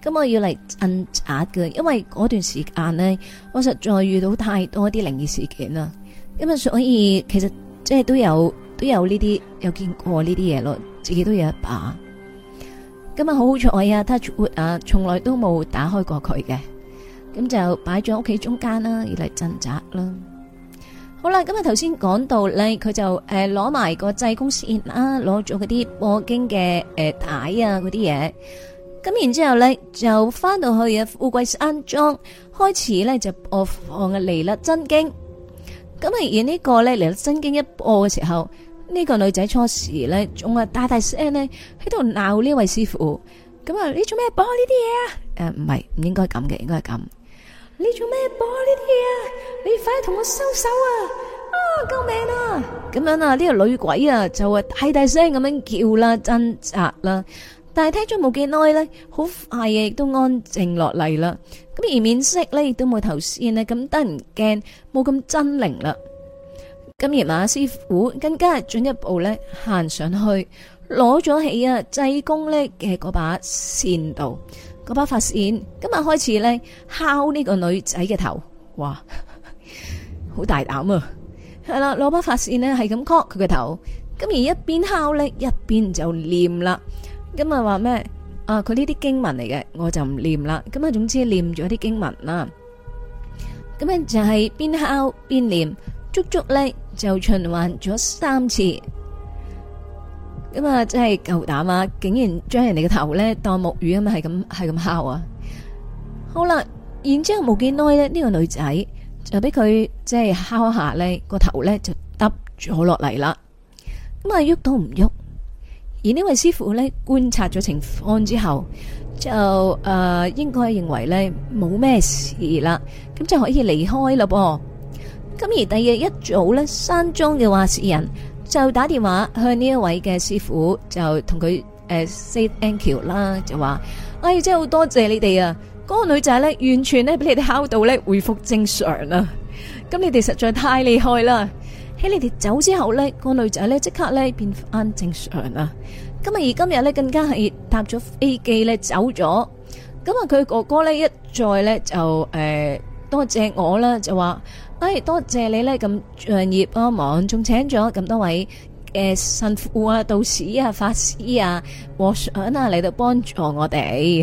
咁我要嚟鎮壓嘅，因為嗰段時間呢，我實在遇到太多啲靈異事件啦。咁啊，所以其實即係都有呢啲，有見過呢啲嘢咯，自己都有一把。咁啊，好好彩啊 ，touch wood 啊，從來都冇打開過佢嘅。咁就擺咗屋企中間啦，要嚟鎮宅啦。好啦，咁啊頭先講到咧，佢就攞埋個濟公線啦，攞咗嗰啲播經嘅帶啊嗰啲嘢。咁然之後咧就翻到去啊富貴山莊，開始咧就播放嘅彌勒真經。咁啊而呢個咧彌勒真經一播嘅時候，呢個女仔初時咧仲係大大聲咧喺度鬧呢位師傅。咁啊你做咩播呢啲嘢啊？唔係，唔應該咁嘅，應該係咁。你做咩播呢啲嘢啊？你快同我收手啊！啊，救命啊！咁樣啊，呢個女鬼啊就大大聲咁樣叫啦，掙扎啦。但係聽咗冇幾耐咧，好快亦都安靜落嚟啦。咁而面色咧亦都冇頭先呢咁得人驚，冇咁猙獰啦。咁而馬師傅更加係進一步咧行上去，攞咗起啊濟公咧嘅嗰把扇度。嗰把髮線，今日開始咧敲呢個女仔嘅頭，哇，好大膽啊！係啦，攞把髮線咧係咁敲佢嘅頭，咁而一邊敲咧一邊就念啦。咁啊話咩？啊，佢呢啲經文嚟嘅，我就唔念啦。咁啊，總之念咗啲經文啦。咁樣就係邊敲邊念，足足咧就循環咗3次。咁啊，真係夠膽啊！竟然將人哋嘅頭咧當木魚咁係咁敲啊！好啦，然之後冇幾耐咧，呢個女仔就俾佢即係敲下咧個頭咧就耷咗落嚟啦。咁啊，喐都唔喐。而呢位師傅咧觀察咗情況之後，就應該認為咧冇咩事啦，咁就可以離開啦噃。咁而第二日一早咧，山莊嘅話事人就打電話向呢一位嘅師傅，就同佢say thank you 啦，就話：哎，真係好多謝你哋啊！嗰個女仔咧，完全咧俾你哋敲到咧恢復正常啦。咁你哋實在太厲害啦！喺你哋走之後咧，個女仔咧即刻咧變翻正常啦。咁啊而今日咧更加係搭咗飛機咧走咗。咁啊佢哥哥咧一再咧就多謝我啦，就話。多謝你咧咁仗義幫忙，仲請咗咁多位神父啊、道士啊、法師啊、和尚啊嚟到幫助我哋。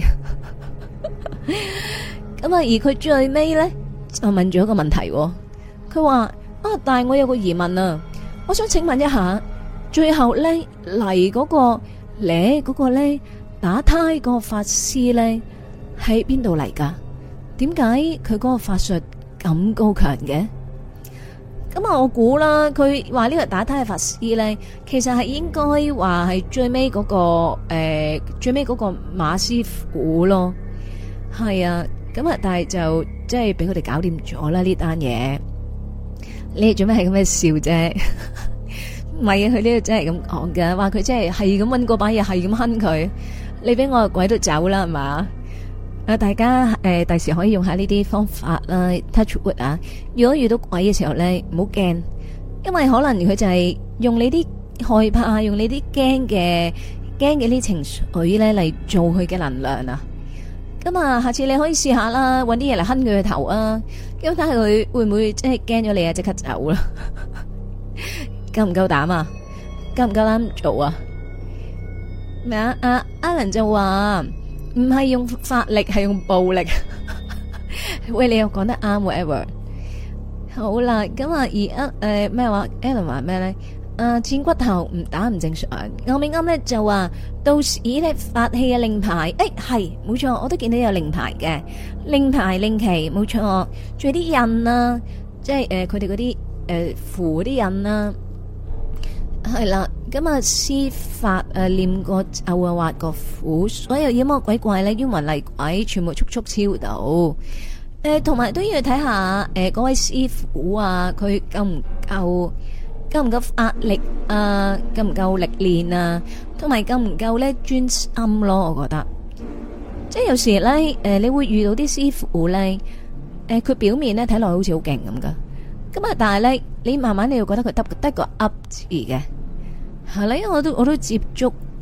咁啊，而佢最尾咧就問咗一個問題，佢話但係我有個疑問啊，我想請問一下，最後咧嚟嗰個咧打胎個法師咧喺邊度嚟噶？點解佢嗰個法術咁高強嘅？咁啊，我估啦，佢話呢個打胎嘅法師咧，其實係應該話係最尾嗰個馬師傅咯。係啊，咁啊，但係就即係俾佢哋搞掂咗啦呢單嘢。你哋做咩係咁嘅笑啫？唔係啊，佢呢度真係咁講㗎，話佢真係咁搵嗰把嘢，係咁哼佢。你俾我個鬼都走啦，係嘛？大家第時可以用下呢啲方法啦 ，touch wood 啊！如果遇到鬼嘅時候咧，唔好驚，因為可能佢就係用你啲害怕，用你啲驚嘅啲情緒咧嚟做佢嘅能量啊！咁啊，下次你可以試下啦，搵啲嘢嚟哼佢嘅頭啊，咁睇下佢會唔會即係驚咗你啊，即刻走啦！夠唔夠膽啊？夠唔夠膽做啊？咩啊？Alan 就話。唔係用法力，係用暴力。喂，你又講得啱，whatever。好啦，咁啊，而咩話 Alan 話咩咧？賤骨頭唔打唔正常。歐美啱咧就話到時咧法器嘅令牌，係冇錯，我都見到有令牌嘅令牌令旗，冇錯。仲有啲印啊，即係佢哋嗰啲符啲印啦。係啦，咁啊，施法念個咒啊，畫個符，所有妖魔鬼怪咧，冤魂厲鬼，全部速速超度。同埋都要睇下嗰位師傅啊，佢夠唔夠法力啊，夠唔夠歷練啊，同埋夠唔夠咧專心咯。我覺得，即係有時咧，你會遇到啲師傅咧，佢表面咧睇落好似好勁咁噶。咁啊，但係咧，你慢慢你又覺得佢得個噏字嘅，係啦，因為我都接觸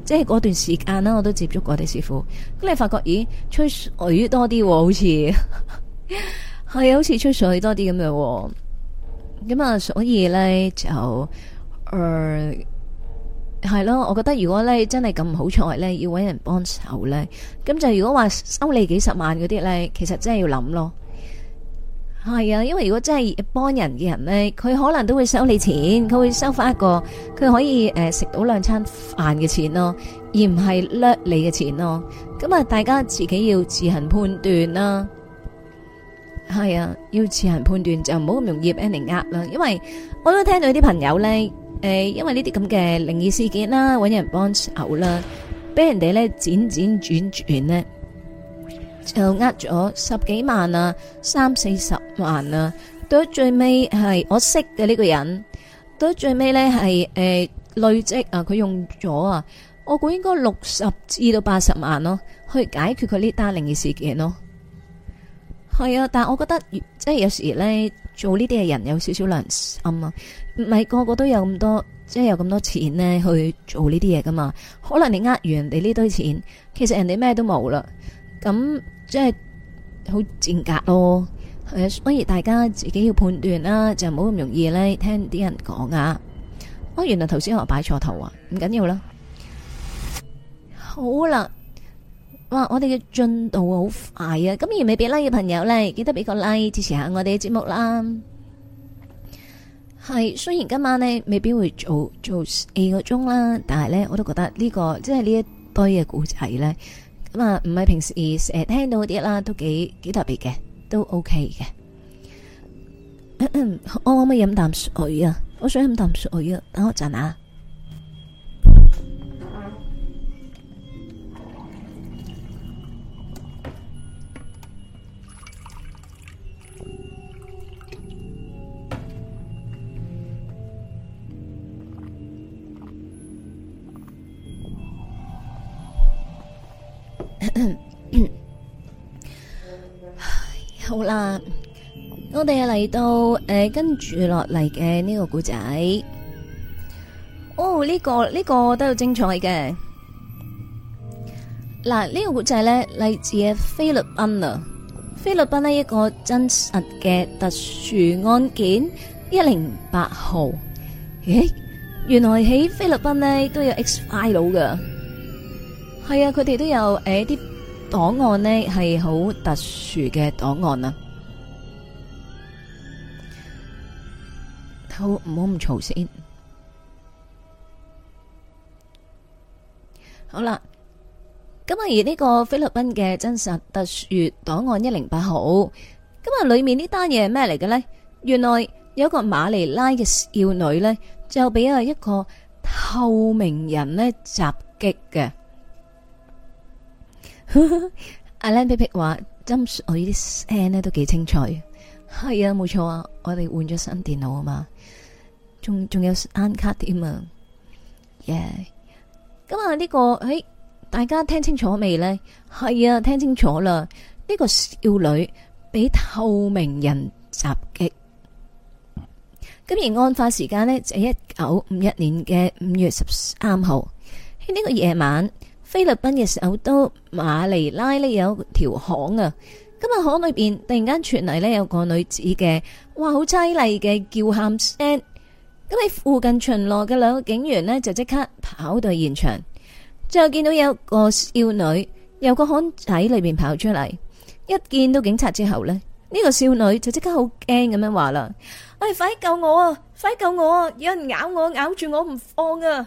即係嗰段時間啦，我都接觸過啲師傅。咁你發覺，咦，吹水多啲，好似係啊，好似吹水多啲咁樣。咁啊，所以咧就係咯，我覺得如果咧真係咁唔好彩咧，要搵人幫手咧，咁就如果話收你幾十萬嗰啲咧，其實真係要諗咯。係啊，因為如果真係幫人嘅人咧，佢可能都會收你錢，佢會收翻一個佢可以食到2餐飯嘅錢咯，而唔係掠你嘅錢咯。咁啊，大家自己要自行判斷啦。係啊，要自行判斷，就唔好咁容易俾人哋呃啦。因為我都聽到啲朋友咧，因為呢啲咁嘅靈異事件啦，搵人幫手啦，俾人哋咧輾轉轉咧，就呃咗10幾萬啊，30-40萬啊，到最尾係我識嘅呢個人，到最尾咧係累積啊，佢用咗啊，我估應該60至到80萬咯，去解決佢呢單靈異事件咯。係啊，但係我覺得即係有時咧做呢啲嘅人有少少良心啊，唔係個個都有咁多，即係有咁多錢咧去做呢啲嘢噶嘛。可能你呃完人哋呢堆錢，其實人哋咩都冇啦，咁即係好賤格咯。係啊，所以大家自己要判斷啦，就唔好咁容易咧聽啲人講啊。原來頭先我擺錯頭啊，唔緊要啦。好啦。哇！我哋嘅進度好快啊！咁而未俾 like 嘅朋友呢，記得俾個 like 支持下我哋嘅節目啦。係雖然今晚呢未必會做4個鐘啦，但係呢我都覺得呢個即係呢一堆嘅故仔呢，咁啊唔係平時成日聽到嗰啲啦，都幾特別嘅，都 OK 嘅。我可唔可以飲啖水啊？我想飲啖水啊！等我陣啊！好啦，我哋嚟到跟住落嚟嘅呢個故仔。呢個都有精彩嘅。嗱，呢個故仔呢，嚟自菲律賓啊，菲律賓呢一個真實嘅特殊案件108號。原來喺菲律賓呢都有 X file 噶。係啊，佢哋都有啲檔案呢係好特殊嘅檔案啊。好，唔好咁嘈先。好啦，咁而呢個菲律賓嘅真實特殊檔案108號，咁啊裏面呢單嘢係咩嚟嘅呢？原來有個馬尼拉嘅少女呢，就俾一個透明人呢襲擊嘅。阿靚皮皮話斟水啲聲咧都幾清脆，係啊，冇錯啊，我哋換咗新電腦啊嘛，仲有聲卡添啊，咁啊呢個大家聽清楚未呢？係啊，聽清楚啦，呢個少女俾透明人襲擊，咁而案發時間呢，就係1951年嘅5月13號喺呢個夜晚。菲律賓嘅首都馬尼拉呢有條巷啊，咁啊巷裏邊突然間傳嚟呢有個女子嘅哇好淒厲嘅叫喊聲，咁喺附近巡邏嘅2個警員呢，就即刻跑到現場，最後見到有個少女由個巷仔裏邊跑出嚟，一見到警察之後呢，呢個少女就即刻好驚咁樣話啦：快啲救我啊！快啲救我啊！有人咬我，咬住我唔放啊！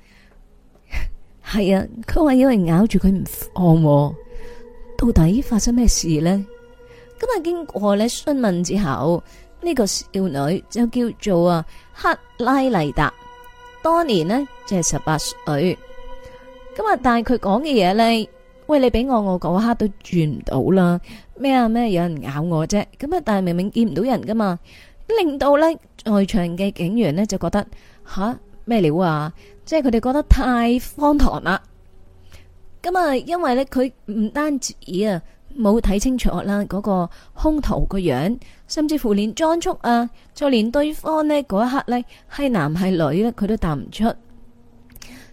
係啊，佢話有人咬住佢唔放，到底發生咩事呢？咁啊，經過咧詢問之後，呢個少女就叫做克拉麗達，當年呢就係18歲。咁啊，但係佢講嘅嘢呢，喂，你俾我嗰刻都轉唔到啦。咩有人咬我啫？咁啊，但係明明見唔到人噶嘛，令到呢在場嘅警員呢就覺得咩料啊？即係佢哋覺得太荒唐啦。咁啊，因為咧佢唔單止冇睇清楚啦嗰個兇徒個樣，甚至乎連裝束就連對方呢嗰一刻呢係男係女咧，佢都答唔出。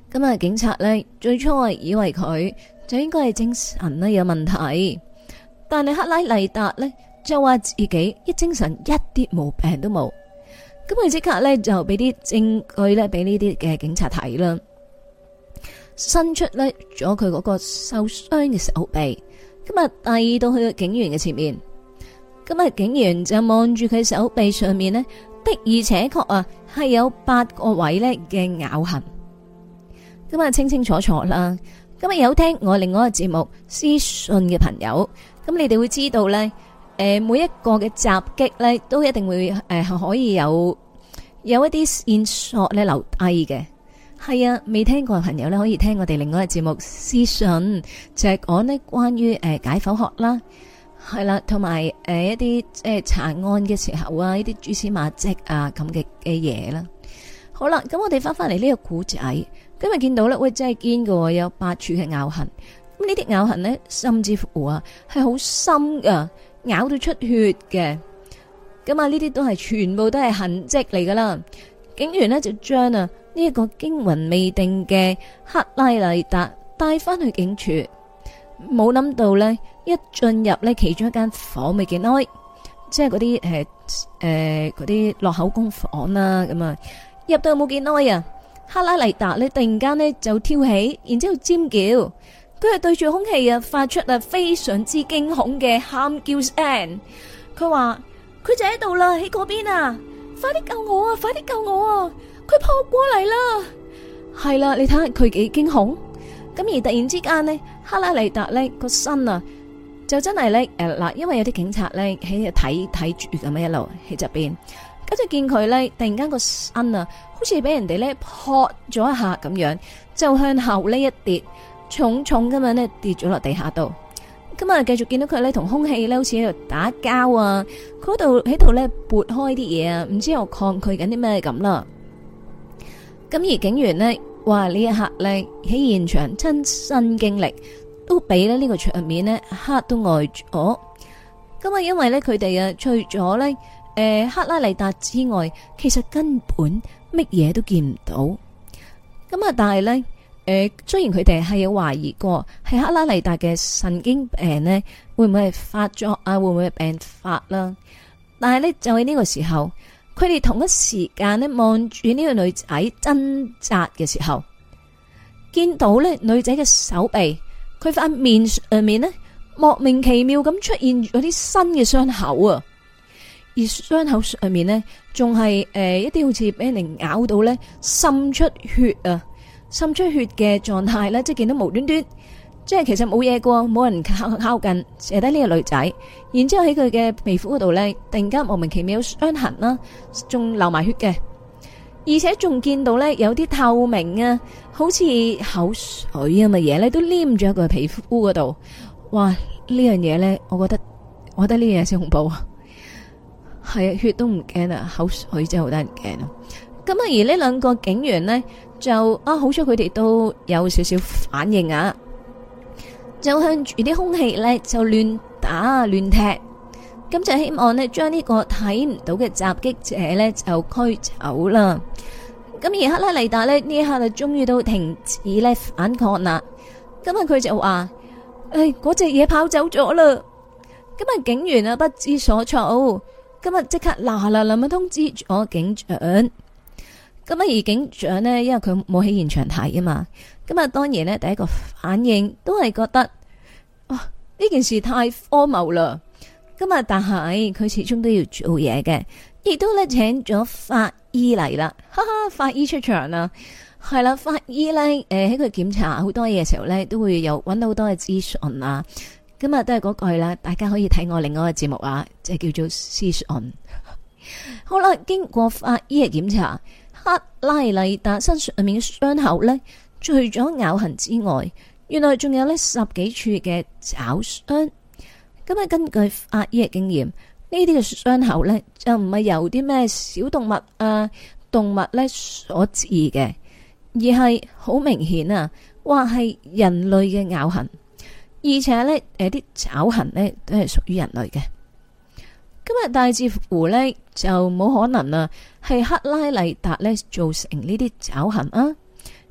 咁啊，警察呢，最初係以為佢就應該係精神呢有問題，但係克拉麗達呢，就話自己一精神一啲毛病都冇。咁佢即刻呢，就俾啲證據呢俾呢啲嘅警察睇啦，伸出呢咗佢嗰個受傷嘅手臂，咁啊遞到去個警員嘅前面。咁啊，警員就望住佢手臂上面呢，的而且確啊係有8個位呢嘅咬痕。咁啊，清清楚楚啦。咁啊，有聽我另外一個節目私信嘅朋友，咁你哋會知道呢，每一個嘅襲擊呢，都一定會可以有一啲線索咧留低嘅。係啊，未聽過嘅朋友呢，可以聽我哋另外一個節目私信，就係講呢關於解剖學啦。係啦，同埋一啲查案嘅時候啊，呢啲蛛絲馬跡啊咁嘅嘢啦。好啦，咁我哋翻嚟呢個古仔，今日見到咧，喂，真係堅㗎，有8處嘅咬痕。咁呢啲咬痕呢，甚至乎啊係好深噶，咬到出血嘅。咁啊，呢啲都係全部都係痕跡嚟噶啦。警員呢，就將啊呢一個驚魂未定嘅克拉麗達帶翻去警署。冇諗到呢，一進入呢其中一間房未幾耐，即係嗰啲嗰啲落口供房啦，咁啊入到冇幾耐啊，克拉麗達呢突然間呢就跳起，然之後尖叫，佢係對住空氣啊發出啊非常之驚恐嘅喊叫聲。佢話佢就喺度啦，喺嗰邊啊，快啲救我啊，快啲救我啊，佢撲過嚟啦。係啦，你睇下佢幾驚恐。咁而突然之間呢，克拉麗達呢個身啊，就真係呢，嗱，因為有啲警察呢喺度睇住咁樣一路喺側邊，跟住見佢呢，突然間個身啊，好似俾人哋呢撲咗一下咁樣，就向後呢一跌，重重咁樣呢跌咗落地下度。咁啊，繼續見到佢呢同空氣呢好似喺度打交啊，佢喺度呢撥開啲嘢啊，唔知又抗拒緊啲咩咁啦。咁而警員呢，話呢一刻呢喺現場親身經歷，都俾呢個場面呢嚇都呆咗。咁啊，因為呢，佢哋啊，除咗呢克拉麗達之外，其實根本乜嘢都見唔到。咁啊，但係呢，雖然佢哋係有懷疑過係克拉麗達嘅神經病呢會唔會係發作啊，會唔會係病發啦？但係呢，就喺呢個時候，佢哋同一時間呢望住呢個女仔掙扎嘅時候，見到呢女仔嘅手臂，佢塊面上面呢莫名其妙咁出現咗啲新嘅傷口啊！而傷口上面呢，仲係一啲好似俾人咬到呢滲出血啊，滲出血嘅狀態呢，即係見到無端端，即係其實冇嘢過，冇人靠近，射低呢個女仔，然之後喺佢嘅皮膚嗰度呢，突然間莫名其妙有傷痕啦，仲流埋血嘅，而且仲見到呢，有啲透明啊，好似口水咁嘅嘢呢，都黏咗喺佢皮膚嗰度。哇！呢樣嘢呢，我覺得呢樣嘢先恐怖啊！係啊，血都唔驚啊，口水真係好得人驚啊！咁啊，而呢兩個警員呢，就好彩佢哋都有少少反應啊，就向住啲空氣呢，就亂打亂踢，咁就希望呢，將呢個睇唔到嘅襲擊者呢，就驅走啦。咁而克拉麗達呢，呢一刻就終於都停止呢反抗啦。咁啊，佢就話：嗰隻嘢跑走咗啦。咁啊，警員啊不知所措。今日即刻嗱咁通知咗警長，咁啊而警長呢，因為佢冇喺現場睇啊嘛，咁啊當然呢，第一個反應都係覺得，哇，呢件事太荒謬啦，咁啊但係佢始終都要做嘢嘅，亦都咧請咗法醫嚟啦，哈哈，法醫出場啦，係啦，法醫咧喺佢檢查好多嘢嘅時候咧，都會有搵到好多嘅資訊啊。今日都係嗰句啦，大家可以睇我另外一個節目啊，即係叫做屍訊。好啦，經過法醫嘅檢查，克拉麗達身上面嘅傷口呢，除咗咬痕之外，原來仲有呢10幾處嘅爪傷。咁啊，根據法醫嘅經驗，呢啲嘅傷口呢，就唔係由啲咩小動物啊、動物呢所致嘅，而係好明顯啊，話係人類嘅咬痕。而且呢，啲爪痕呢都係屬於人類嘅。今日大致乎呢，就冇可能啊，係克拉麗達呢造成呢啲爪痕啊。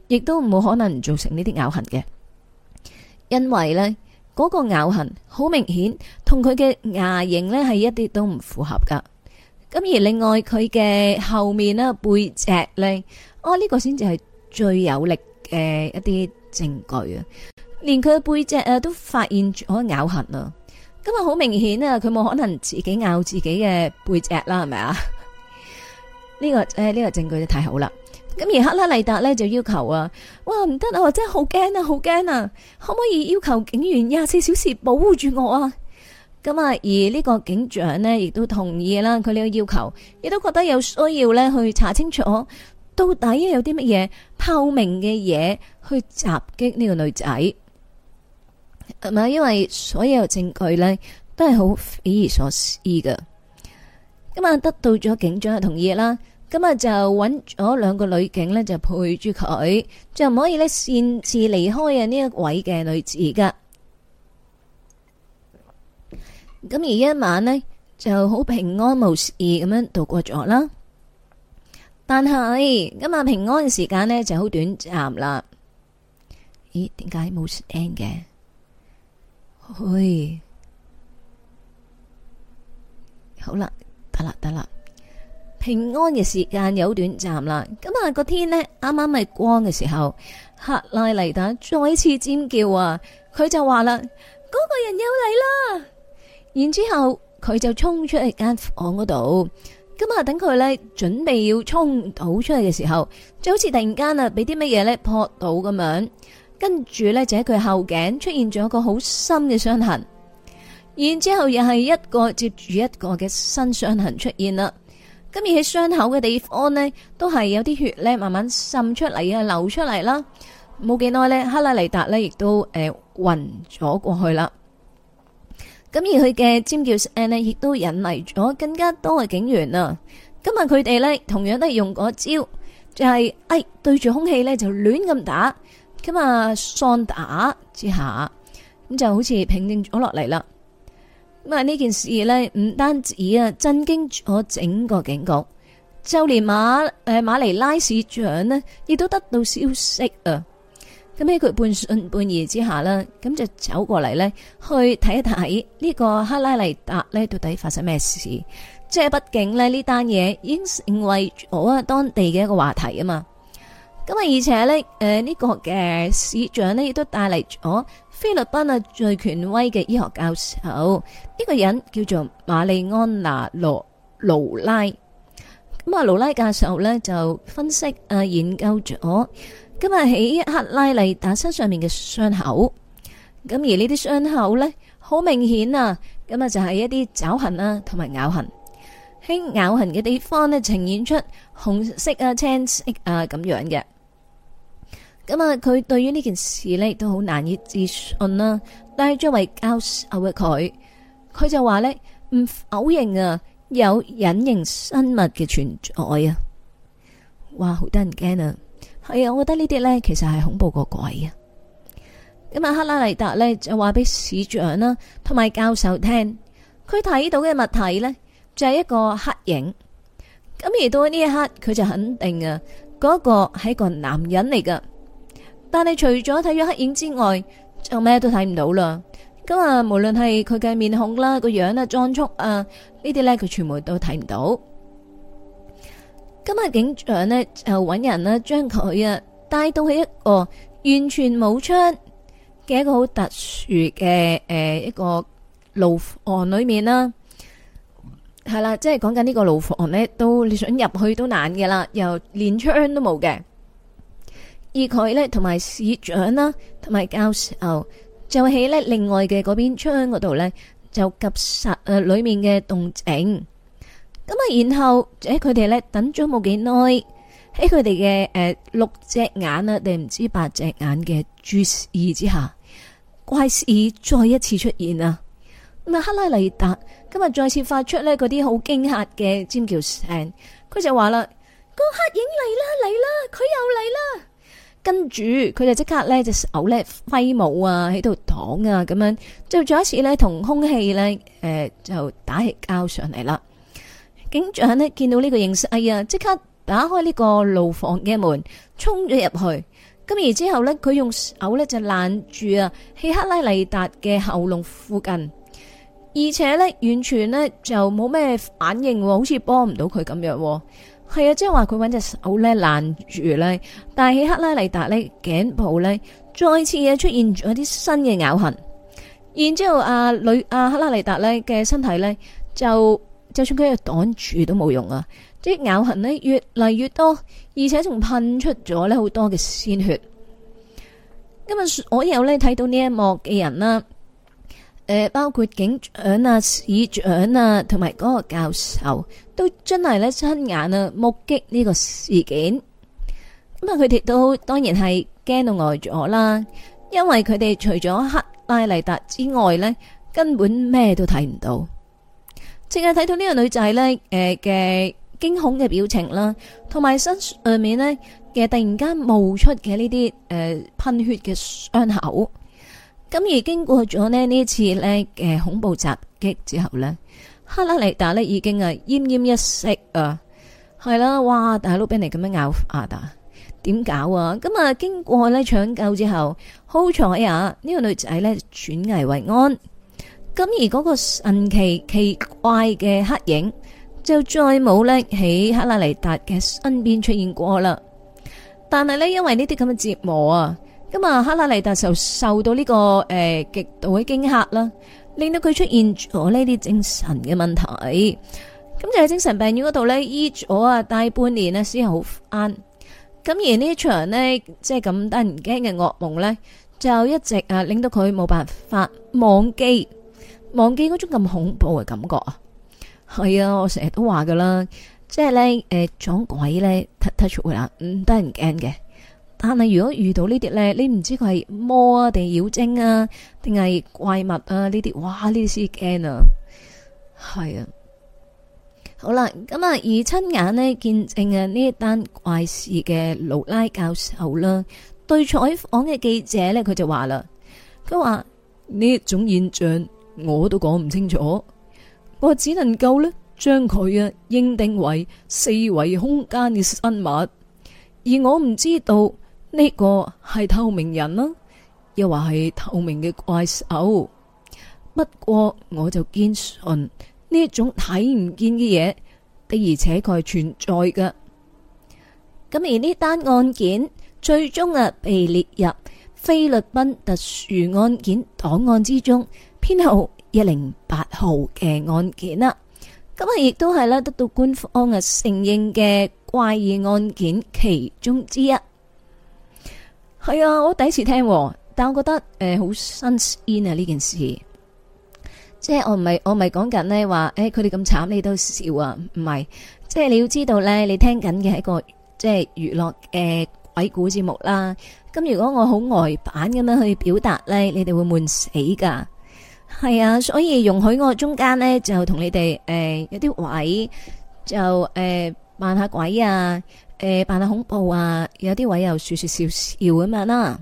亦都冇可能造成呢啲咬痕嘅，因為呢嗰個咬痕好明顯同佢嘅牙形呢係一啲都唔符合噶。咁而另外佢嘅後面呢，背脊呢，呢個先至係最有力嘅一啲證據啊！連佢嘅背脊都發現咗咬痕啊！咁啊好明顯啊，佢冇可能自己咬自己嘅背脊啦，係咪啊？呢個證據就太好啦！咁而克拉麗達呢，就要求啊，哇唔得啊，我真係好驚啊，好驚啊！可唔可以要求警員24小時保護住我啊？咁啊，而呢個警長呢，亦都同意啦，佢呢個要求，亦都覺得有需要呢去查清楚到底有啲乜嘢透明嘅嘢去襲擊呢個女仔，係咪？因為所有證據呢都係好匪夷所思㗎。咁啊，得到咗警長嘅同意啦，咁啊就揾咗2個女警呢，就陪住佢，就唔可以呢擅自離開啊呢一位嘅女子噶。咁而一晚呢，就好平安無事咁樣度過咗啦。但係今日平安嘅時間呢，就好短暫啦。咦？點解冇聲嘅？嘿，好啦，得啦。平安嘅時間有短暫啦。咁啊個天呢，啱啱係光嘅時候，克拉麗達再次尖叫啊！佢就話啦：嗰個人又嚟啦！然之後佢就衝出去間房嗰度，咁啊等佢呢準備要衝到出去嘅時候，就好似突然間啊俾啲乜嘢呢撲到咁樣，跟住呢，就喺佢後頸出現咗一個好深嘅傷痕，然之後又係一個接住一個嘅新傷痕出現啦。咁而喺傷口嘅地方呢，都係有啲血呢慢慢滲出嚟啊，流出嚟啦。冇幾耐呢，克拉麗達呢亦都暈咗過去啦。咁而佢嘅尖叫聲呢，亦都引嚟咗更加多嘅警員啊！今日佢哋呢，同樣都係用嗰招，就係對住空氣呢，就亂咁打，咁啊喪打之下，咁就好似平靜咗落嚟啦。咁啊呢件事呢，唔單止啊震驚咗整個警局，就連馬尼拉市長呢，亦都得到消息啊！咁喺佢半信半疑之下啦，咁就走過嚟呢，去睇一睇呢個克拉麗達呢到底發生咩事。即係畢竟呢單嘢已經成為咗當地嘅一個話題啊嘛。咁啊，而且呢，呢個嘅市長呢亦都帶嚟咗菲律賓啊最權威嘅醫學教授，呢個人叫做瑪麗安娜盧拉。咁啊，盧拉教授呢就分析研究咗今日喺克拉麗達身上面嘅傷口，咁而呢啲傷口呢，好明顯啊，咁啊就係一啲爪痕啊同埋咬痕，喺咬痕嘅地方呢，呈現出紅色啊、青色啊咁樣嘅。咁啊，佢對於呢件事呢，亦都好難以置信啦。但係作為教授嘅佢就話呢，唔否認啊有隱形生物嘅存在啊。哇，好得人驚啊！係啊，我覺得呢啲呢，其實係恐怖過鬼啊！咁啊，克拉麗達呢，就話俾市長啦同埋教授聽，佢睇到嘅物體呢，就係一個黑影。咁而到呢一刻，佢就肯定啊，嗰個係一個男人嚟噶。但係除咗睇咗黑影之外，就咩都睇唔到啦。咁啊，無論係佢嘅面孔啦、個樣啊、裝束啊呢啲呢，佢全部都睇唔到。今日警長呢，就揾人呢將佢啊帶到去一個完全冇窗嘅一個好特殊嘅一個牢房裏面啦。係啦，即係講緊呢個牢房呢，都你想入去都難嘅啦，又連窗都冇嘅。而佢呢，同埋市長啦，同埋教授就喺呢另外嘅嗰邊窗嗰度呢，就及實裏面嘅動靜。咁啊，然後喺佢哋呢等咗冇幾耐，喺佢哋嘅6隻眼啊定唔知8隻眼嘅注視之下，怪事再一次出現啊！咁啊，克拉麗達今日再次發出呢嗰啲好驚嚇嘅尖叫聲，佢就話啦：個黑影嚟啦，佢又嚟啦！跟住佢就即刻呢隻手呢揮舞啊，喺度擋啊，咁樣就再一次呢同空氣呢就打起交上嚟啦。警長呢見到呢個形勢啊，即刻打開呢個牢房嘅門，衝咗入去， 咁而之後咧，佢用手咧就攔住啊希克拉利達嘅喉嚨附近，而且咧完全咧就冇咩反應，好似幫唔到佢咁樣。係啊，即係話佢搵隻手咧攔住咧，但係希克拉利達咧頸部咧再次啊出現咗啲新嘅咬痕，然之後克拉利達咧嘅身體咧就算佢擋住都冇用啊！啲咬痕咧越嚟越多，而且仲噴出咗咧好多嘅鮮血。今日所有咧睇到呢一幕嘅人啦，包括警長啊、市長啊，同埋嗰個教授，都真係咧親眼啊目擊呢個事件。咁啊，佢哋都當然係驚到呆咗啦，因為佢哋除咗克拉利達之外咧，根本咩都睇唔到，淨係睇到呢個女仔咧嘅驚恐嘅表情啦，同埋身上面呢嘅突然間冒出嘅呢啲噴血嘅傷口。咁而經過咗呢次呢嘅恐怖襲擊之後呢，克拉利達呢已經啊奄奄一息啊，係啦，哇！大佬俾你咁樣咬法啊，點搞啊？咁啊經過呢搶救之後，好彩啊呢個女仔呢轉危為安。咁而嗰個神奇奇怪嘅黑影就再冇咧喺克拉利達嘅身邊出現過啦。但係呢，因為呢啲咁嘅折磨啊，咁啊克拉利達就受到呢個極度嘅驚嚇啦，令到佢出現咗呢啲精神嘅問題。咁就喺精神病院嗰度呢，醫咗啊大半年呢先好返。咁而呢場呢，即係咁得人驚嘅噩夢呢，就一直啊令到佢冇辦法忘記嗰種咁恐怖嘅感覺啊。係啊，我成日都話噶啦，即係咧撞鬼咧 touch 啦，唔得人驚嘅。但係如果遇到呢啲咧，你唔知佢係魔啊定妖精啊，定係怪物啊呢啲，哇呢啲先驚啊。係啊，好啦，咁啊而親眼呢見證啊呢一單怪事嘅盧拉教授啦，對採訪嘅記者咧，佢就話啦，佢話呢一種現象我都講唔清楚。我只能夠咧將佢啊認定為四維空間嘅生物，而我唔知道呢個係透明人啦，又話係透明嘅怪獸。不過我就堅信呢一種睇唔見嘅嘢的而且確係存在嘅。咁而呢單案件最終啊被列入菲律賓特殊案件檔案之中，編號108號嘅案件啦，咁啊亦都係咧得到官方啊承認嘅怪異案件其中之一。係啊，我第一次聽，但我覺得好新鮮啊呢件事。即係我唔係講緊呢話，佢哋咁慘你都笑啊？唔係，即係你要知道咧，你聽緊嘅係一個即係娛樂嘅鬼故節目啦。咁如果我好呆板咁樣去表達咧，你哋會悶死噶。係啊，所以容許我中間呢，就同你哋有啲位就扮下鬼啊，扮下恐怖啊，有啲位又說說笑笑咁樣啦。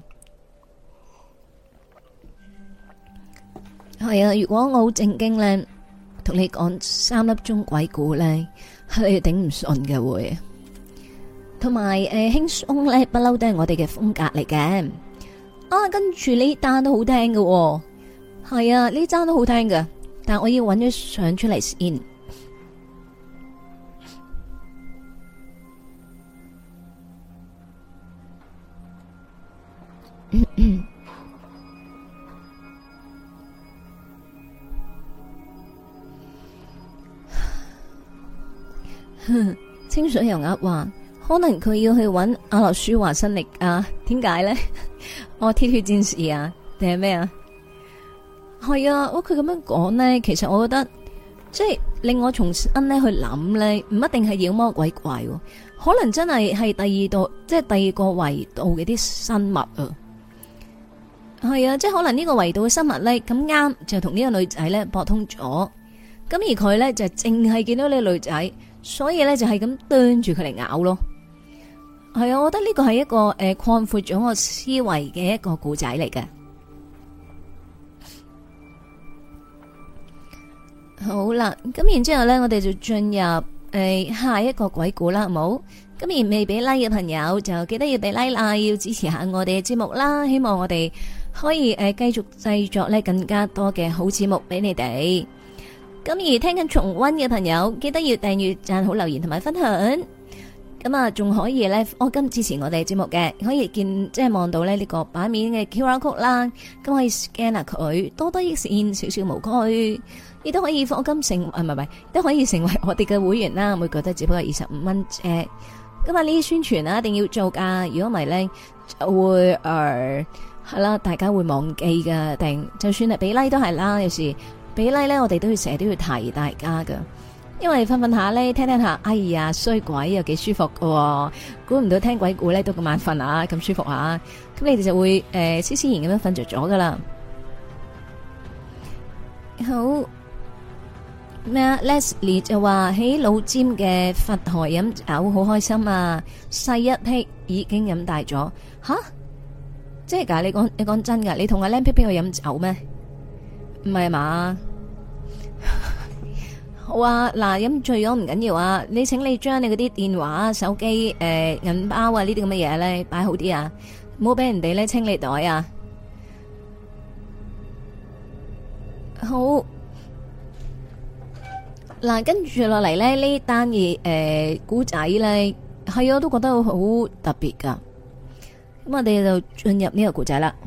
係啊，如果我好正經呢，同你講3粒鐘鬼故呢，係頂唔順嘅會。同埋輕鬆呢，不嬲都係我哋嘅風格嚟嘅。啊，跟住呢單都好聽嘅。係啊，呢單都好聽㗎，但我要揾咗相出嚟先。清水油鴨話，可能佢要去揾阿諾舒華辛力啊？點解呢？我鐵血戰士啊，定係咩啊？係啊，佢咁樣講呢，其實我覺得即係令我重新呢去諗呢，唔一定係妖魔鬼怪，可能真係第二度，即係第二個維度嘅啲生物啊。係啊，即係可能呢個維度嘅生物呢，咁啱就同呢個女仔呢搏通咗，咁而佢呢，就淨係見到呢個女仔，所以呢，就係咁啄住佢嚟咬咯。係啊，我覺得呢個係一個擴闊咗我思維嘅一個故仔嚟嘅。好啦，咁然之後呢，我哋就進入下一個鬼故啦，好冇？咁而未俾 like 嘅朋友就記得要俾 like 啦，要支持下我哋嘅節目啦。希望我哋可以繼續製作呢更加多嘅好節目俾你哋。咁而聽緊重溫嘅朋友，記得要訂閱、讚好、留言同埋分享。咁啊，仲可以呢，我今支持我哋節目嘅，可以見即係望到呢個版面嘅 QR code 啦，咁可以 scan 下佢，多多益善，少少無拘。亦都可以課金成，唔係，都可以成為我哋嘅會員啦。每個都只不過25蚊啫。咁啊，呢啲宣傳啊，一定要做噶。如果唔係咧，就會係啦，大家會忘記噶。定就算係俾 like 都係啦。有時俾 like 咧，我哋都要成日都要提大家噶。因為瞓下咧，聽下，哎呀衰鬼又幾舒服噶。估唔到聽鬼故咧都咁晚瞓啊，咁舒服啊。咁你哋就會斯斯然咁樣瞓着咗噶啦。好。咩啊 ？Leslie 就話喺老尖嘅佛台飲酒好開心啊！細一批已經飲大咗，吓？即係噶？你講真噶？你同阿靚皮皮去飲酒咩？唔係嘛？好啊，嗱，飲醉咗唔緊要啊！你請你將你嗰啲電話、手機、銀包啊呢啲咁嘅嘢咧擺好啲啊，唔好俾人哋咧清理袋啊！好。嗱，跟住落嚟咧，呢單嘢古仔咧，係我都覺得好特別噶。咁我哋就進入呢個古仔啦。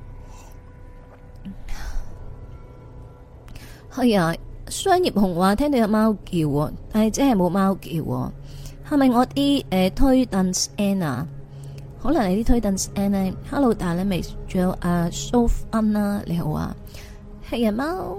係啊，商業紅話聽到有貓叫，但係真係冇貓叫。係咪我啲推凳 N 啊？可能係啲推凳 N 咧。Hello，大家未？仲有阿 Sophie 啦，你好啊，係啊貓，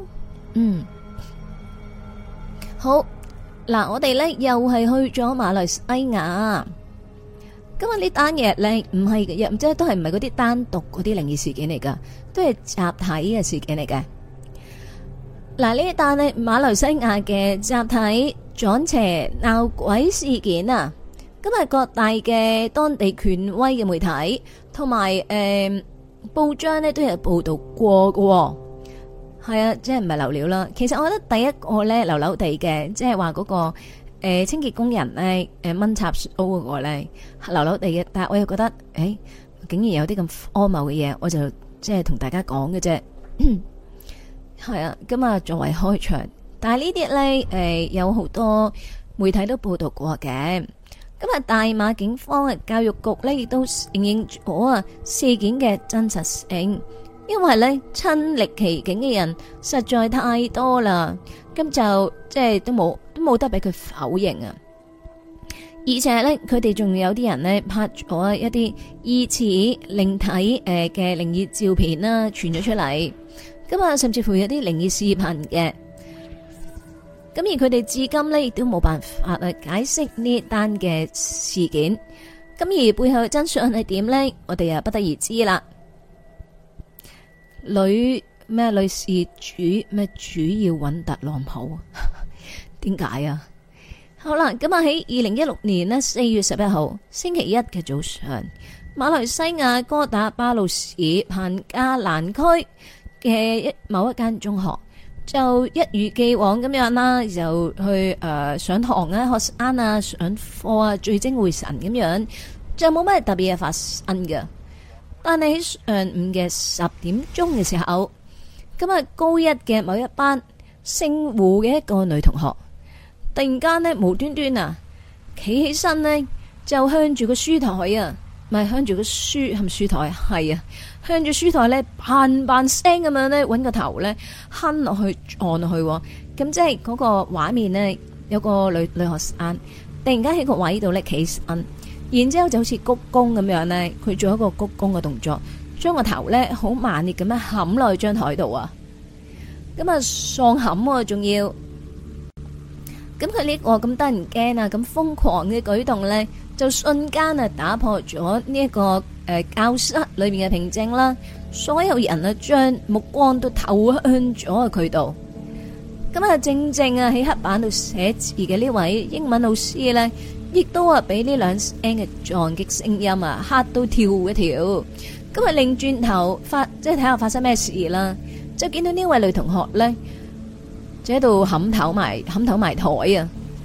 好嗱，我哋咧又係去咗馬來西亞。今日呢單嘢咧唔係嘅，即係都係唔係嗰啲單獨嗰啲靈異事件嚟噶，都係集體嘅事件嚟嘅。嗱，呢一單咧馬來西亞嘅集體撞邪鬧鬼事件啊，今日各大嘅當地權威嘅媒體同埋報章咧都有報道過嘅。係啊，即係唔係流料啦。其實我覺得第一個咧流流地嘅，即係話嗰個清潔工人咧蚊插蘇嗰個咧流流地嘅。但係我又覺得竟然有啲咁荒謬嘅嘢，我就即係同大家講嘅啫。係啊，咁啊作為開場，但係呢啲咧有好多媒體都報道過嘅。咁啊，大馬警方嘅教育局咧亦都承認咗啊事件嘅真實性。因為咧親歷其境嘅人實在太多啦，咁就即係都冇得俾佢否認啊！而且咧，佢哋仲有啲人咧拍咗一啲疑似靈體嘅靈異照片啦，傳咗出嚟。咁啊，甚至乎有啲靈異視頻嘅。咁而佢哋至今咧亦都冇辦法解釋呢單嘅事件。咁而背後嘅真相係點咧？我哋又不得而知啦。女士主要揾特朗普？點解啊？好啦，咁啊喺2016年呢4月11號星期一嘅早上，馬來西亞哥打巴魯市彭加蘭區嘅某一間中學，就一如既往咁樣啦，就去上堂啊、學生啊、上課啊，聚精會神咁樣，就冇咩特別嘢發生嘅。但係喺上午嘅10點鐘嘅時候，咁啊高一嘅某一班姓胡嘅一個女同學，突然間呢無端端啊企起身呢，就向住個書台啊，唔係向住個書，係咪書台？係啊，向住書台呢，嘭聲咁樣呢，搵個頭呢，哼落去撞落去，咁即係嗰個畫面呢，有個女學生突然間喺個位度呢企身。然之後就好似鞠躬咁樣咧，佢做一個鞠躬嘅動作，將個頭咧好猛烈咁樣冚落去張台度啊！咁啊喪冚喎，仲要咁佢呢個咁得人驚啊，咁瘋狂嘅舉動咧，就瞬間啊打破咗呢一個教室裏面嘅平靜啦！所有人啊將目光都投向咗佢度。咁啊正啊喺黑板度寫字嘅呢位英文老師咧，亦都啊俾呢兩聲嘅撞擊聲音啊嚇到跳一跳，咁啊擰轉頭即係睇下發生咩事啦，就見到呢位女同學咧，就喺度冚頭埋台啊，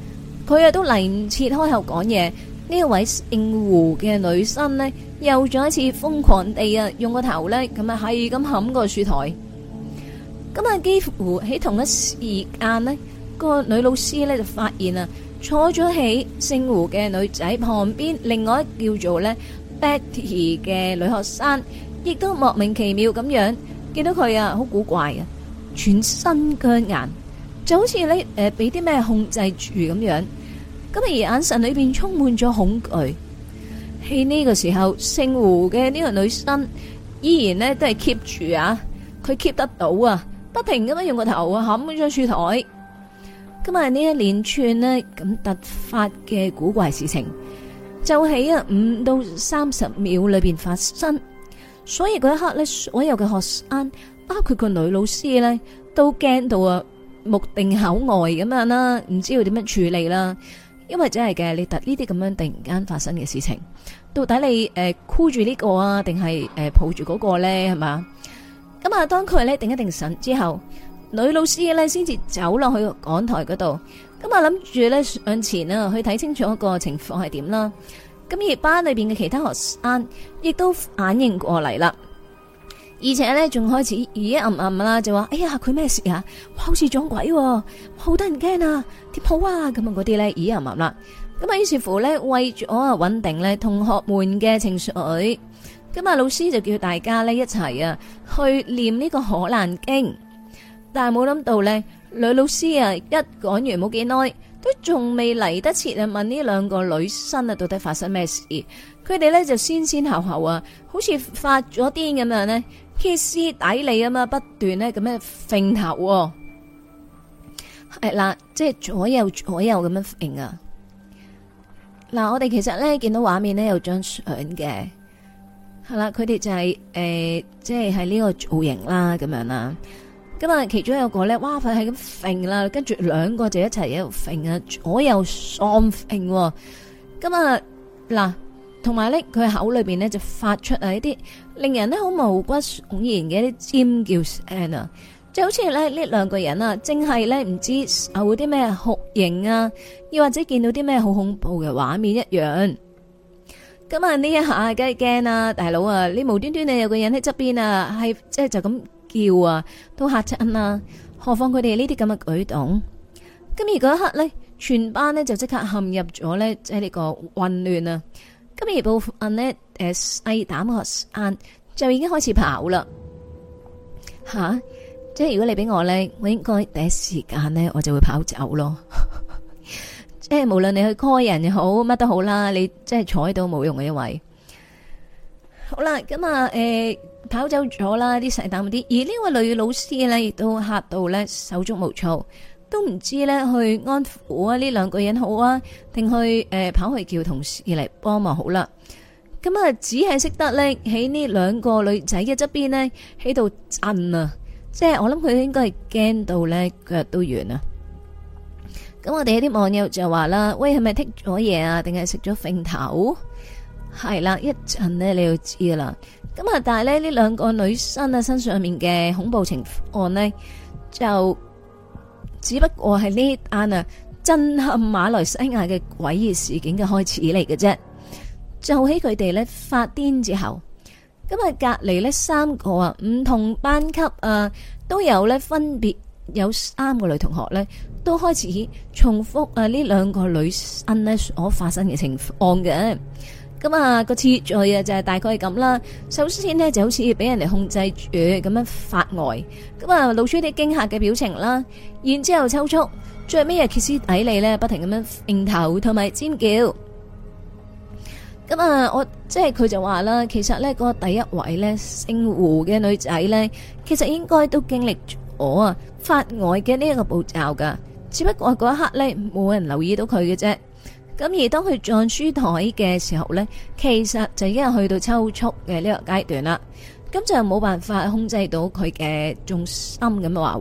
佢啊都嚟唔切開口講嘢。呢一位姓胡嘅女生呢，又再一次瘋狂地啊，用個頭呢，咁啊係咁冚個書台。咁啊，幾乎喺同一時間呢，個女老師呢就發現啊，坐咗喺姓胡嘅女仔旁邊，另外一叫做呢 Betty 嘅女學生，亦都莫名其妙咁樣見到佢啊，好古怪啊，全身僵硬，就好似呢俾啲咩控制住咁樣。咁而眼神裏邊充滿咗恐懼。喺呢個時候，姓胡嘅呢個女生依然呢都係 keep 住啊，佢 keep 得到啊，不停咁樣用個頭啊冚咗書台。咁啊呢一連串呢咁突發嘅古怪事情，就喺5到30秒裏邊發生。所以嗰一刻呢，所有嘅學生，包括個女老師呢，都驚到啊目定口呆咁樣啦，唔知道點樣處理啦。因為真係嘅，你呢啲咁樣突然間發生嘅事情，到底你箍住呢個啊，定係抱住嗰個咧，係嘛？咁啊，當佢咧定一定神之後，女老師咧先至走落去講台嗰度，咁啊諗住咧上前啊去睇清楚個情況係點啦。咁而班裏邊嘅其他學生亦都反應過嚟啦。而且咧，仲開始咦暗啦，就話：哎呀，佢咩事啊？哇，好似撞鬼，好得人驚啊！點好啊？咁啊，嗰啲咧咦暗啦。咁啊，於是乎咧，為咗穩定咧同學們嘅情緒，咁啊，老師就叫大家咧一齊啊去念呢個可蘭經。但係冇諗到咧，女老師啊一講完冇幾耐，都仲未嚟得切啊問呢兩個女生啊到底發生咩事。佢哋咧就先後啊，好似發咗癲咁樣呢。歇斯底里啊嘛，不斷咧咁樣揈頭，係啦，即係左右咁樣揈啊！嗱，我哋其實咧見到畫面咧有張相嘅，係啦，佢哋就係即係呢個造型啦，咁樣啦。咁啊，其中有個咧，哇，佢係咁揈啦，跟住兩個就一齊喺度揈啊，左右雙揈。咁啊，嗱。同埋咧，佢口裏邊咧就發出一啲令人咧好毛骨悚然嘅一啲尖叫聲啊，就好似咧呢兩個人啊，正係咧唔知受啲咩酷刑啊，又或者見到啲咩好恐怖嘅畫面一樣。咁啊呢一下梗係驚啦，大佬啊，你無端端你有個人喺側邊啊，係即係就咁叫啊，都嚇親啦。何況佢哋呢啲咁嘅舉動。咁而嗰一刻咧，全班咧就即刻陷入咗咧即係呢個混亂啊。咁而部分呢，細膽學生就已經開始跑啦，吓！即係如果你俾我咧，我應該第一時間咧，我就會跑走咯。即係無論你去 call 人又好，乜都好啦，你即係坐喺度冇用嘅，因為好啦，咁啊，跑走咗啦，啲細膽啲，而呢位女老師咧亦都嚇到咧手足無措。都唔知咧去安撫啊呢兩個人好啊，定去跑去叫同事嚟幫忙好啦。咁啊，只係識得咧喺呢兩個女仔嘅側邊呢，喺度震啊，即係我諗佢應該係驚到咧腳都軟啊。咁我哋有啲網友就話啦，喂，係咪剔咗嘢啊？定係食咗揈頭？係啦，一陣呢，你就知噶啦。咁啊，但係咧呢兩個女生啊身上面嘅恐怖情況呢，就只不過係呢單啊震撼馬來西亞嘅詭異事件嘅開始嚟嘅啫。就喺佢哋咧發癲之後，咁啊隔離呢三個啊唔同班級啊都有咧分別有3個女同學咧都開始重複啊呢兩個女生咧所發生嘅情況嘅。咁啊個次序啊就係大概係咁啦。首先呢就好似俾人哋控制住咁樣發呆，咁啊露出啲驚嚇嘅表情啦，然之後抽搐，最尾啊歇斯底里咧不停咁樣揈頭同埋尖叫。咁啊我即係佢就話啦，其實咧嗰個第一位咧姓胡嘅女仔咧，其實應該都經歷咗啊發呆嘅呢一個步驟噶，只不過嗰一刻咧冇人留意到佢嘅啫。咁而當佢撞書台嘅時候呢，其實就已經係去到抽搐嘅呢個階段啦。咁就冇辦法控制到佢嘅重心咁話。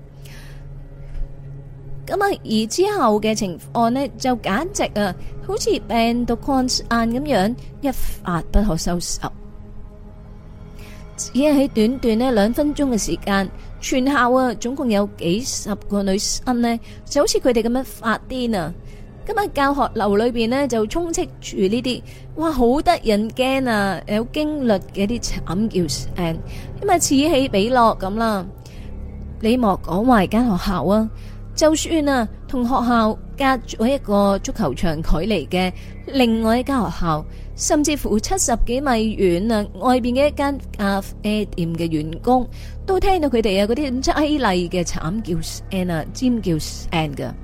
咁啊，而之後嘅情況呢，就簡直啊，好似病毒擴散咁樣，一發不可收拾。只係喺短短呢2分鐘嘅時間，全校啊總共有幾十個女生呢，就好似佢哋咁樣發癲啊！ 今日教學樓裏邊呢，就充斥住呢啲，哇，好得人驚啊，有驚慄嘅啲慘叫聲，咁啊此起彼落咁啦。你莫講話間學校啊，就算啊同學校隔咗一個足球場距離嘅另外一間學校，甚至乎70幾米遠啊，外邊嘅一間咖啡店嘅員工都聽到佢哋啊嗰啲咁淒厲嘅慘叫聲啊、尖叫聲噶。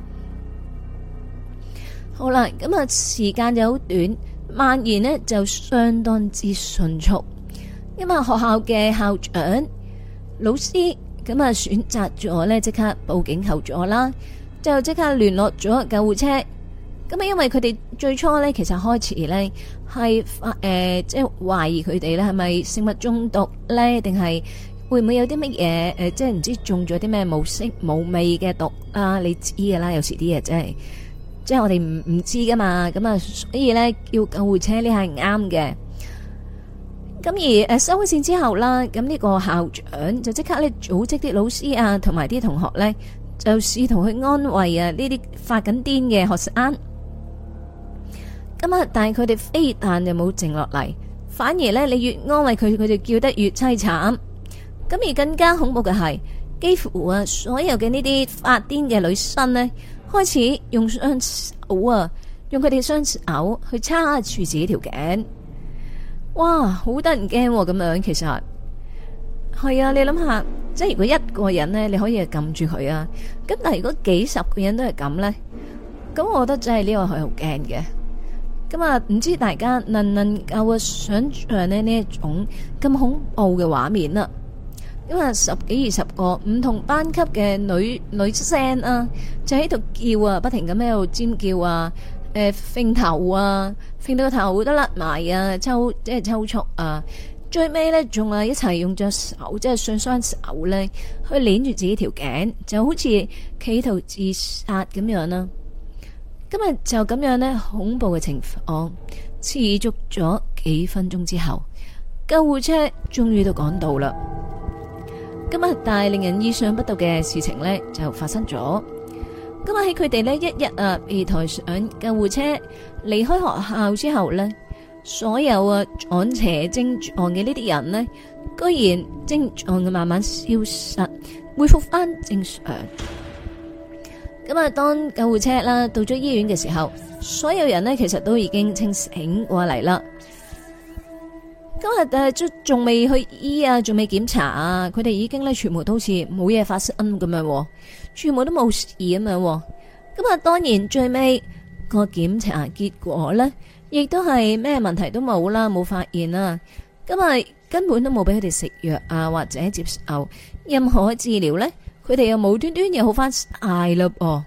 好啦，咁啊時間就好短，蔓延呢就相當之迅速。因為學校嘅校長、老師咁啊選擇咗呢即刻報警求助啦，就即刻聯絡咗救護車。咁啊因為佢哋最初呢，其實開始呢係即係懷疑佢哋呢係咪食物中毒呢，定係會唔會有啲乜嘢即係唔知中咗啲咩無色無味嘅毒啊？你知噶啦，有時啲嘢即係我哋唔知噶嘛，咁啊，所以咧叫救護車呢係啱嘅。咁而收咗線之後啦，咁呢個校長就即刻咧組織啲老師啊，同埋啲同學咧，就試圖去安慰啊呢啲發緊癲嘅學生。咁啊，但係佢哋非但就冇靜落嚟，反而咧你越安慰佢，佢就叫得越凄慘。咁而更加恐怖嘅係，幾乎啊所有嘅呢啲發癲嘅女生呢，開始用雙手啊，用佢哋雙手去叉住自己條頸，哇，好得人驚咁樣。其實係啊，你諗下，即係如果一個人呢，你可以撳住佢啊，咁但係如果幾十個人都係咁呢，咁我覺得真係呢個係好驚嘅。咁啊，唔知大家能唔能夠想象呢一種咁恐怖嘅畫面啦？因為10幾20個唔同班級嘅女聲啊，就喺度叫啊，不停咁喺度尖叫啊，揈頭啊，揈到個頭都甩埋啊，即係抽搐啊，最尾呢，仲係一齊用隻手，即係上雙手呢，去捏住自己條頸，就好似企圖自殺咁樣啦。今日就咁樣呢，恐怖嘅情況持續咗幾分鐘之後，救護車終於都趕到啦。今日但係令人意想不到嘅事情呢，就發生咗。今日喺佢哋呢一日被抬上救護車離開學校之後呢，所有撞邪症狀嘅呢啲人呢，居然症狀嘅慢慢消失，恢復翻正常。咁啊，當救護車啦到咗醫院嘅時候，所有人呢其實都已經清醒過嚟啦。今日仲未去醫啊，仲未檢查啊，佢哋已經咧全部都好似冇嘢發生咁樣，全部都冇事咁樣。咁啊，當然最尾個檢查結果咧，亦都係咩問題都冇啦，冇發現啦。咁啊，根本都冇俾佢哋食藥啊，或者接受任何治療咧，佢哋又無端端又好翻晒啦噃。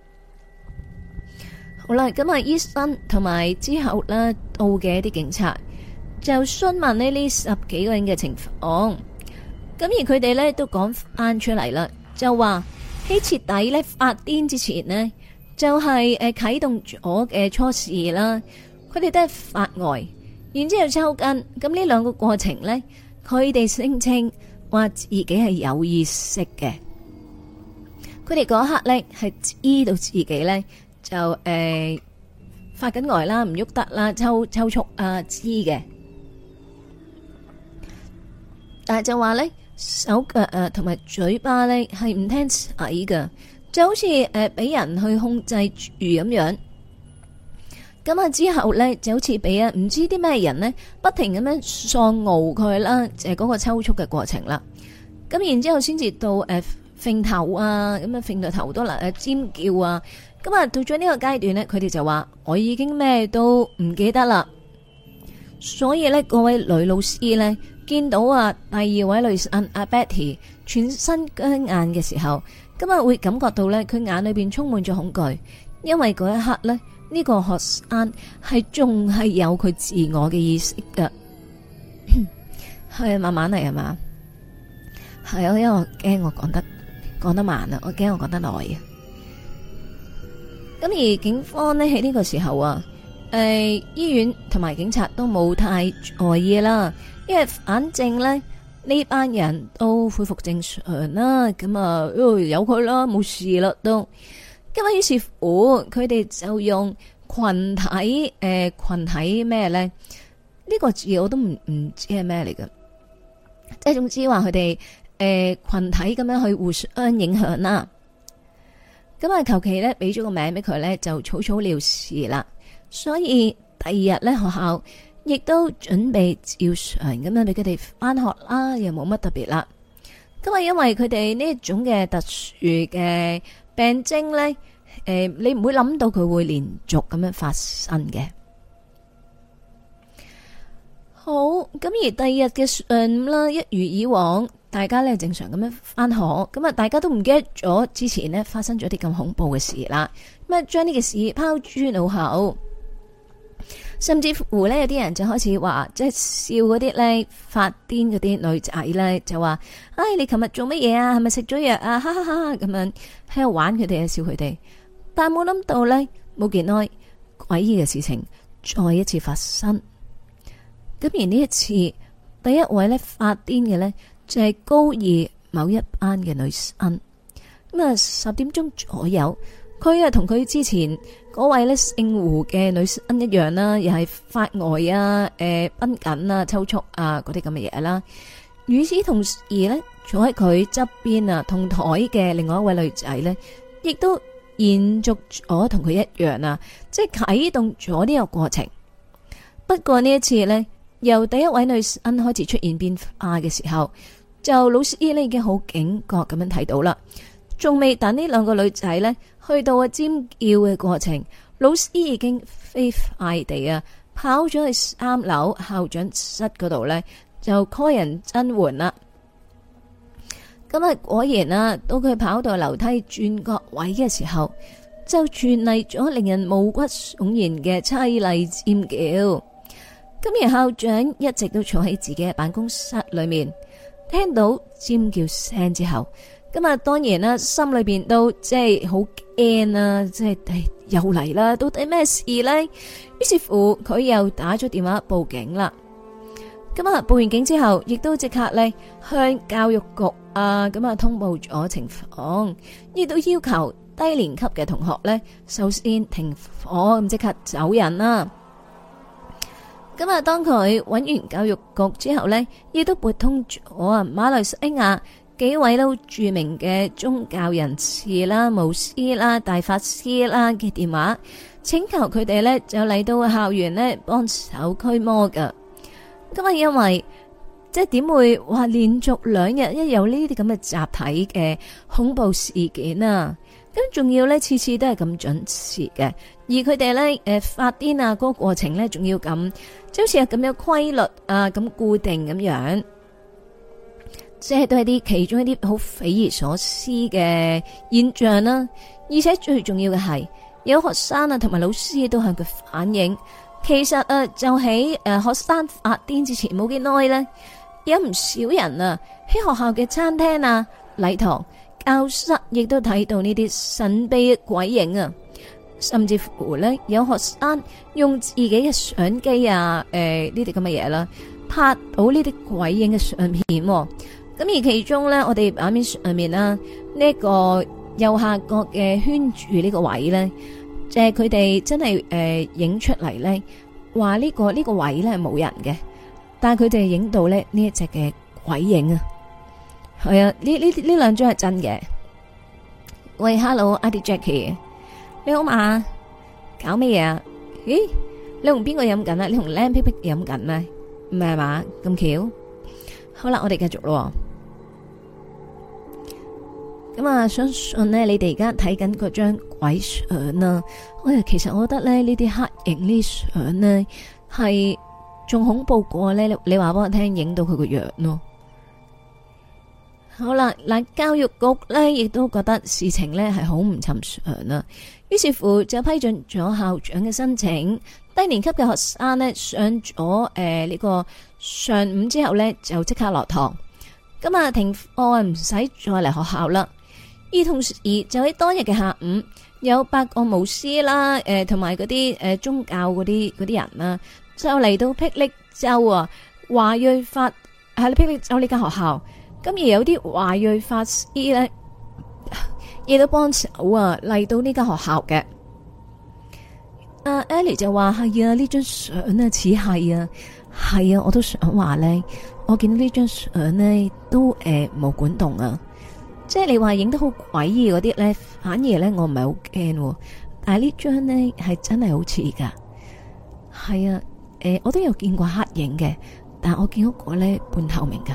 好啦，咁啊，醫生同埋之後咧到嘅一啲警察，就詢問呢10幾個人嘅情況，咁而佢哋呢都講翻出嚟啦，就話喺徹底呢發癲之前呢，就係啟動咗嘅初試啦，佢哋都係發呆，然之後抽筋，咁呢兩個過程呢，佢哋聲稱話自己係有意識嘅，佢哋嗰刻呢係知道自己呢就發緊呆啦，唔喐得啦，抽搐啊，知嘅。但係就話咧，手腳同埋嘴巴咧係唔聽使㗎，就好似俾人去控制住咁樣。咁啊之後咧就好似俾唔知啲咩人呢不停咁樣喪熬佢啦，就係嗰個抽搐嘅過程啦。咁然之後先至到揈頭啊，咁啊揈到頭都啦，尖叫啊。咁啊到咗呢個階段呢，佢哋就話我已經咩都唔記得啦。所以呢，各位女老師呢，見到第二位女生阿 Betty 全身僵硬嘅時候，咁啊會感覺到呢，佢眼裏邊充滿咗恐懼，因為嗰一刻呢，呢個學生係仲係有佢自我嘅意識噶。係慢慢嚟係嘛？係啊，因為我驚我講得慢啊，我驚我講得耐啊。咁而警方呢，喺呢個時候醫院同埋警察都冇太在意啦，因為反正咧呢班人都恢復正常啦，咁啊由佢啦，冇事啦都。 咁於是乎佢哋就用群體咩咧？呢個字我都唔知係咩嚟嘅，即係總之話佢哋群體咁樣去互相影響啦。咁啊，求其咧俾咗個名俾佢咧，就草草了事啦。所以第二日咧，學校亦都準備照常咁樣俾佢哋翻學啦，又冇乜特別啦。咁啊，因為佢哋呢一種嘅特殊嘅病徵咧，你唔會諗到佢會連續咁樣發生嘅。好，咁而第二日嘅上午啦，一如以往，大家咧正常咁樣翻學，咁啊，大家都唔記得咗之前呢發生咗啲咁恐怖嘅事啦。咁啊，將呢個事拋諸腦後，甚至乎呢，有啲人就開始話，即係笑嗰啲咧發癲嗰啲女仔咧，就話：唉，你琴日做乜嘢啊？係咪食咗藥啊？哈哈哈！咁樣喺度玩佢哋，笑佢哋。但冇諗到呢，冇幾耐，詭異嘅事情再一次發生。咁而呢一次，第一位咧發癲嘅呢，就係高二某一班嘅女生。咁啊，10點鐘左右，佢啊同佢之前嗰位咧姓胡嘅女生一樣啦，又係發呆啊、繃緊啊、抽搐啊嗰啲咁嘅嘢啦。與此同時呢，坐喺佢側邊啊同台嘅另外一位女仔呢，亦都延續咗同佢一樣啊，即係啟動咗呢個過程。不過呢一次呢，由第一位女生開始出現變化嘅時候，就老師呢已經好警覺咁樣睇到啦。仲未等呢兩個女仔呢去到啊尖叫嘅過程，老師已經飛快地啊跑咗去3樓校長室嗰度呢，就 call 人增援啦。咁啊，果然啊，到佢跑到樓梯轉角位嘅時候，就傳嚟咗令人毛骨悚然嘅淒厲尖叫。咁而校長一直都坐喺自己嘅辦公室裏面，聽到尖叫聲之後，咁啊當然啦，心裏邊都即係好驚啦，即係又嚟啦，到底咩事呢？於是乎佢又打咗電話報警啦。咁啊報完警之後，亦都即刻咧向教育局咁啊通報咗情況，亦都要求低年級嘅同學咧首先停課，咁即刻走人啦。咁啊，當佢揾完教育局之後呢，亦都撥通咗馬來西亞幾位都著名嘅宗教人士啦、巫師啦、大法師啦嘅電話，請求佢哋呢就嚟到校園呢幫手驅魔噶。咁啊，因為即係點會話連續2日一有呢啲咁嘅集體嘅恐怖事件啊？咁仲要呢次次都係咁準時嘅，而佢哋呢發癲啊嗰個過程呢，仲要咁，即好似係咁有規律啊咁固定咁樣，即係都係啲其中一啲好匪夷所思嘅現象啦。而且最重要嘅係，有學生啊同埋老師都向佢反映，其實就喺學生發癲之前冇幾耐呢，有唔少人啊喺學校嘅餐廳啊、禮堂、教室亦都睇到呢啲神秘嘅鬼影啊，甚至乎呢，有學生用自己嘅相機啊，呢啲咁嘅嘢啦，拍到呢啲鬼影嘅相片。咁而其中呢，我哋畫面上面啦，呢個右下角嘅圈住呢個位呢，就係佢哋真係影出嚟呢，話呢個位呢係冇人嘅，但係佢哋影到呢一隻嘅鬼影啊。係啊，呢兩張係真嘅。喂，Hello，Auntie Jackie，你好嘛？搞咩嘢啊？咦，你同邊個飲緊啊？你同靚皮皮飲緊咩？唔係嘛？咁巧。好啦，我哋繼續咯。咁啊，相信呢，你哋而家睇緊嗰張鬼相啦。其實我覺得咧，呢啲黑影呢相呢，係仲恐怖過咧。你話俾我聽，影到佢個樣咯。好啦，嗱，教育局呢亦都覺得事情呢係好唔尋常啦，於是乎就批准咗校長嘅申請，低年級嘅學生呢上咗呢個上午之後呢就即刻落堂，咁啊停課唔使再嚟學校啦。而同時就喺當日嘅下午，有8個巫師啦，同埋嗰啲宗教嗰啲人啦，就嚟到霹靂州啊華裔法喺霹靂州呢間學校。咁而有啲華裔法師咧， 亦都幫手啊嚟到呢間學校嘅。阿 Ellie 就話係啊，呢張相啊似係啊，係啊，我都想話咧，我見到呢張相咧都冇管動啊，即係你話影得好詭異嗰啲咧，反而咧我唔係好驚，但係呢張咧係真係好似噶，係啊，我都有見過黑影嘅，但係我見到個咧半透明噶。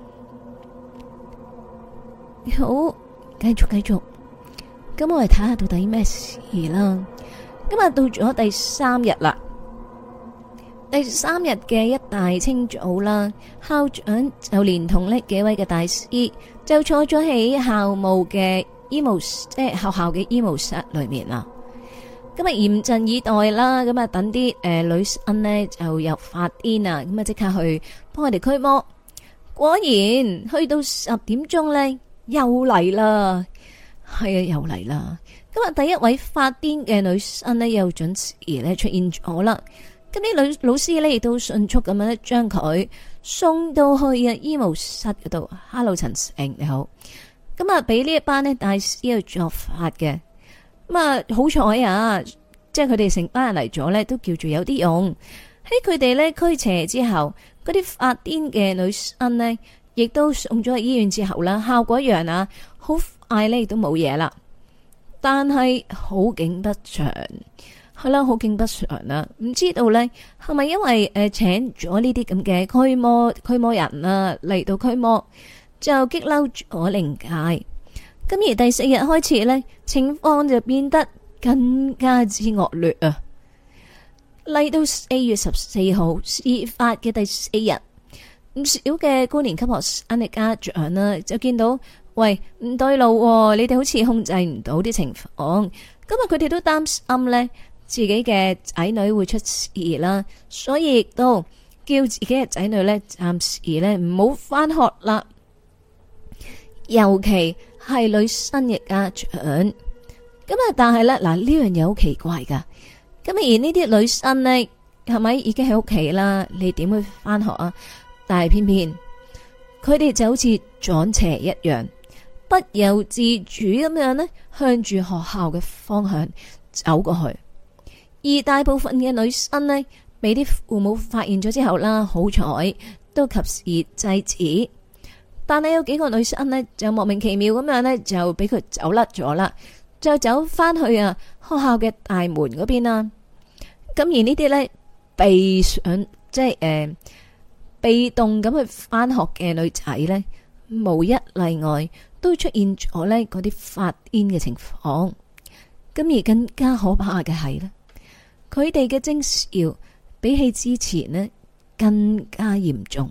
好，繼續，咁我哋睇下到底咩事啦。今日到咗第3日啦，第3日嘅一大清早啦，校長就連同呢幾位嘅大師就坐咗喺校務嘅醫務，即係學校嘅醫務室裏面啦。今日嚴陣以待啦，咁啊等啲女生呢就又發癲啊，咁啊即刻去幫佢哋驅魔。果然去到10點鐘呢，又嚟啦，係啊，又嚟啦。今日第一位發癲嘅女生呢，又準時咧出現咗啦。咁啲女老師呢，亦都迅速咁樣咧將佢送到去啊醫務室嗰度。Hello， 陳成你好。咁啊，俾呢一班呢大師去作法嘅。咁啊，好彩啊，即係佢哋成班人嚟咗呢，都叫做有啲用。喺佢哋呢驅邪之後，嗰啲發癲嘅女生呢，亦都送咗去醫院之後啦，效果一樣啊，好快呢，亦都冇嘢啦。但係好景不長，係啦，好景不長啦。唔知道呢係咪因為請咗呢啲咁嘅驅魔人啊嚟到驅魔，就激嬲咗靈界。咁而第4日開始呢，情況就變得更加之惡劣啊！嚟到4月14號事發嘅第4日，唔少嘅高年級學生嘅家長啦，就見到。喂，唔對路喎，你哋好似控制唔到啲情況，今日佢哋都擔心呢，自己嘅仔女會出事啦，所以亦都叫自己嘅仔女呢，暫時呢唔好返學啦。尤其係女生嘅家長，咁啊，但係呢，嗱，呢樣嘢好奇怪噶，咁而呢啲女生呢，係咪已經喺屋企啦？你點會返學啊？但係偏偏佢哋就好似撞邪一樣。不由自主咁樣呢，向住學校嘅方向走過去。而大部分嘅女生呢，俾啲父母發現咗之後啦，好彩都及時制止。但係有幾個女生呢，就莫名其妙咁樣呢，就俾佢走甩咗啦，就走翻去啊學校嘅大門嗰邊啦。咁而呢啲呢，被上即係被動咁去翻學嘅女仔呢，無一例外。都出現咗呢嗰啲發癲嘅情況，咁而更加可怕嘅係呢，佢哋嘅徵兆比起之前呢更加嚴重。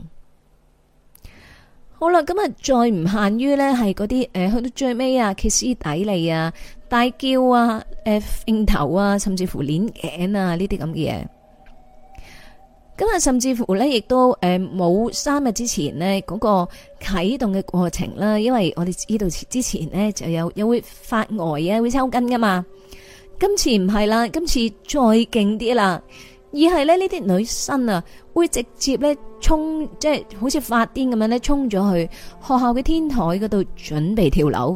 好啦，咁啊再唔限於呢係嗰啲去到最尾啊歇斯底里啊大叫啊揈頭啊甚至乎鏈頸啊呢啲咁嘅嘢。咁啊，甚至乎咧，亦都冇3日之前呢嗰個啟動嘅過程啦，因為我哋知道之前呢就有會發呆啊，會抽筋噶嘛。今次唔係啦，今次再勁啲啦，而係咧呢啲女生啊，會直接咧衝，即係好似發癲咁樣咧，衝咗去學校嘅天台嗰度準備跳樓。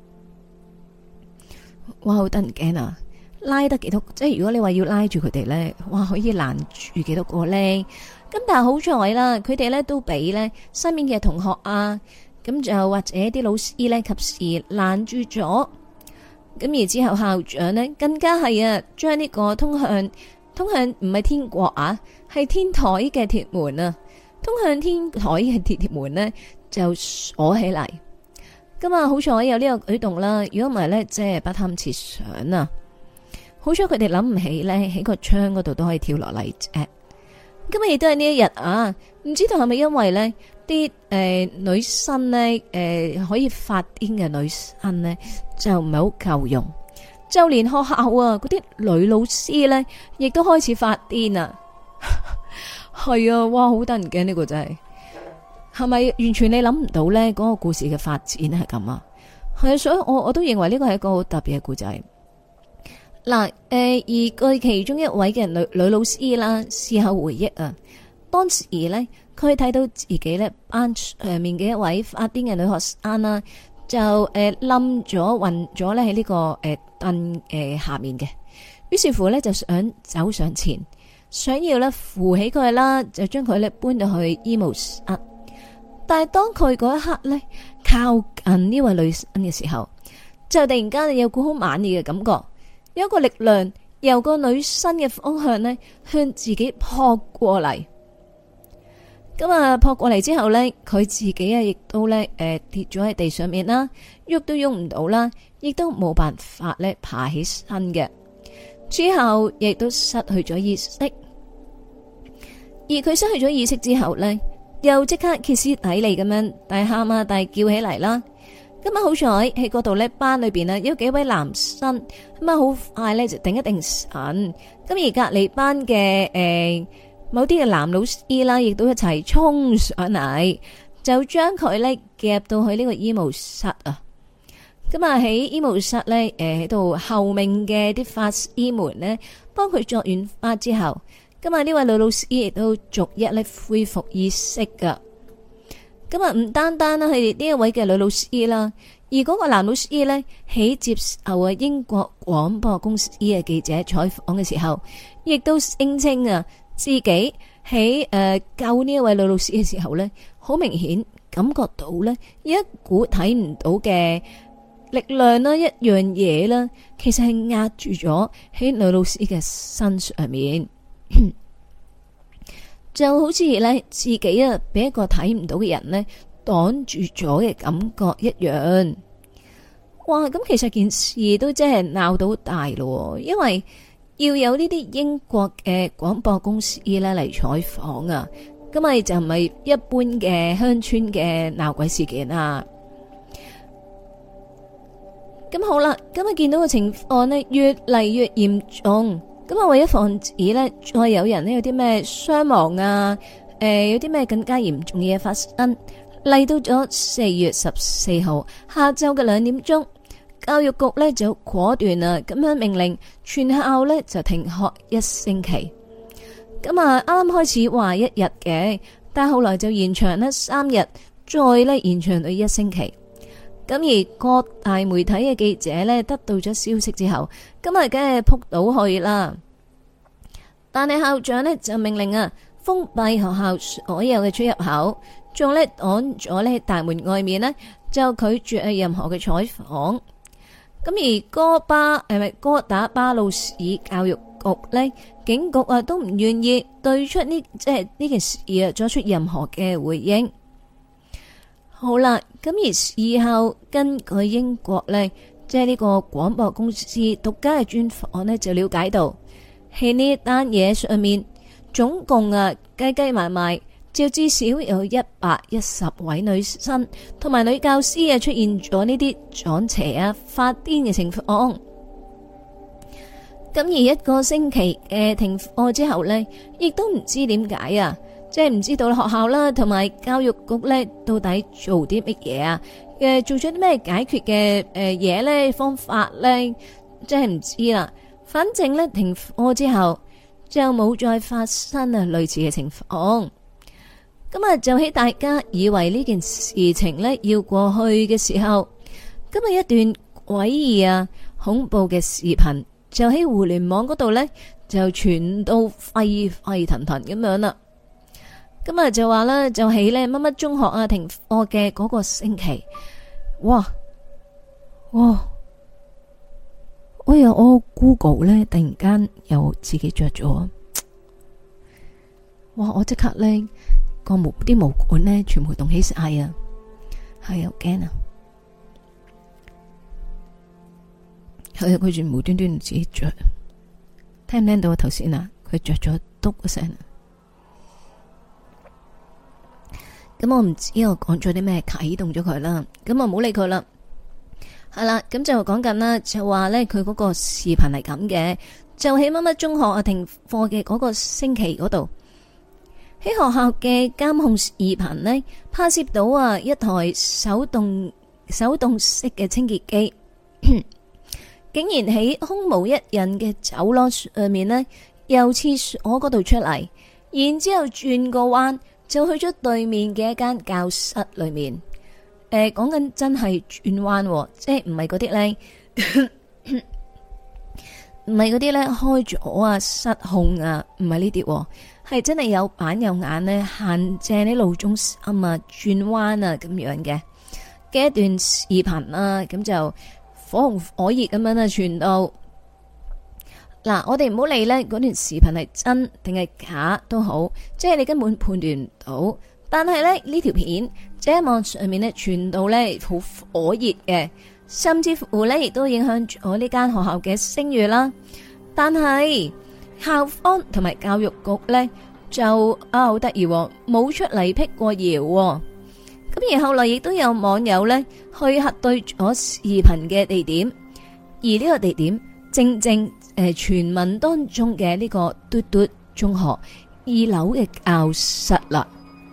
哇，好得人驚啊！拉得幾多？即係如果你話要拉住佢哋呢，哇，可以攔住幾多個呢？咁但係好彩啦，佢哋呢都俾呢身邊嘅同學啊，咁就或者啲老師呢及時攔住咗。咁而之後校長呢更加係啊，將呢個通向唔係天國啊，係天台嘅鐵門啊，通向天台嘅鐵門呢就鎖起嚟。咁啊，好彩有呢個舉動啦，如果唔係呢，即係不堪設想啊！好彩佢哋諗唔起呢，喺個窗嗰度都可以跳落嚟啫。今日亦都係呢一日啊，唔知道係咪因為呢啲女生呢可以發癲嘅女生呢就唔係好夠用，就連學校啊嗰啲女老師呢亦都開始發癲啊。係啊，哇，好得人驚，呢個真係咪完全你諗唔到呢嗰個故事嘅發展係咁啊？係啊，所以我都認為呢個係一個好特別嘅故仔。嗱，而據其中一位嘅女老師啦，事後回憶啊，當時呢，佢睇到自己呢班上面嘅一位發癲嘅女學生啦， 就冧咗暈咗咧喺呢個凳下面嘅。於是乎咧就想走上前，想要咧扶起佢啦，就將佢咧搬到去醫務室。但係當佢嗰一刻咧靠近呢位女生嘅時候，就突然間有股好猛烈嘅感覺，有一個力量由個女生嘅方向咧向自己撲過嚟。咁啊撲過嚟之後咧，佢自己啊亦都咧跌咗喺地上面啦，喐都喐唔到啦，亦都冇辦法咧爬起身嘅。之後亦都失去咗意識，而佢失去咗意識之後呢，又即刻歇斯底里咁樣大喊啊大叫起嚟啦。咁啊好彩喺嗰度呢班裏邊啊有幾位男生，咁啊好快呢就定一定神。咁而隔籬班嘅某啲嘅男老師啦，亦都一齊衝上嚟，就將佢呢夾到去呢個醫務室啊。咁啊喺醫務室咧，喺度候命嘅啲法醫們呢，幫佢作完法之後，咁啊呢位女老師亦都逐一咧恢復意識噶。咁啊唔單單啦係呢一位嘅女老師啦，而嗰個男老師呢，喺接受啊英國廣播公司嘅記者採訪嘅時候，亦都聲稱啊自己喺救呢一位女老師嘅時候呢，好明顯感覺到呢有一股睇唔到嘅力量啦，一樣嘢啦，其實係壓住咗喺女老師嘅身上面，就好似咧自己啊俾一個睇唔到嘅人呢擋住咗嘅感覺一樣。哇！咁其實件事都真係鬧到大咯，因為要有呢啲英國嘅廣播公司咧嚟採訪啊，咁咪就唔係一般嘅鄉村嘅鬧鬼事件啊。咁好啦，咁啊見到個情況呢越嚟越嚴重，咁啊為咗防止呢再有人呢有啲咩傷亡啊，有啲咩更加嚴重嘅嘢發生，嚟到咗4月14號下晝嘅2點鐘，教育局呢就果斷啊咁樣命令全校呢就停學1星期。咁啊啱啱開始話1日嘅，但係後來就延長呢3日，再呢延長到1星期。咁而各大媒體嘅記者呢，得到咗消息之後，今日梗係撲到去啦。但係校長呢，就命令啊，封閉學校所有嘅出入口，仲呢擋咗呢大門外面呢，就拒絕任何嘅採訪。咁而哥打巴魯市教育局呢，警局啊都唔願意對出呢件事啊作出任何嘅回應。好啦，咁而事後根據英國呢，即係呢個廣播公司獨家嘅專訪呢，就了解到喺呢單嘢上面，總共計埋埋，就至少有110位女生同埋女教師出現咗呢啲撞邪啊、發癲嘅情況。咁而1個星期嘅停課之後呢，亦都唔知點解啊。即係唔知道學校啦，同埋教育局呢，到底做啲乜嘢啊？做咗啲咩解決嘅嘢呢？方法呢？真係唔知啦。反正呢，停課之後就冇再發生類似嘅情況。咁啊，就喺大家以為呢件事情呢要過去嘅時候，今日一段詭異啊、恐怖嘅視頻就喺互聯網嗰度呢，就傳到沸沸騰騰咁樣啦。咁啊就話啦，就喺呢乜乜中學啊停課嘅嗰個星期，哇！我 Google 呢突然間又自己着咗，哇！我即刻呢啲毛管呢全部動起晒啊，係好驚啊！係佢全無端端自己着，聽唔聽到啊？頭先啊，佢着咗篤一聲。咁我唔知我講咗啲咩啟動咗佢啦，咁我唔好理佢啦。係啦，咁就講緊啦，就話呢，佢嗰個視頻係咁嘅，就喺乜乜中學啊停課嘅嗰個星期嗰度，喺學校嘅監控視頻呢，拍攝到啊一台手動式嘅清潔機，竟然喺空無一人嘅走廊上面呢，由廁所嗰度出嚟，然之後轉個彎。就去咗對面嘅一間教室裏面， 講緊真係轉彎，即係唔係嗰啲咧，唔係嗰啲咧開咗啊失控啊，唔係呢啲，係真係有板有眼咧，行正啲路中心啊轉彎啊咁樣嘅一段視頻啊，咁就火紅火熱咁樣啊傳到。嗱，我哋唔好理咧嗰段視頻係真定係假都好，即係你根本判斷唔到。但係咧呢條片即係喺網上面咧傳到咧好火熱嘅，甚至乎咧亦都影響咗呢間學校嘅聲譽啦。但係校方同埋教育局咧就好得意，冇出嚟辟過謠。咁而後來亦都有網友咧去核對咗視頻嘅地點，而呢個地點正傳聞當中嘅呢個嘟嘟中學2樓嘅教室啦。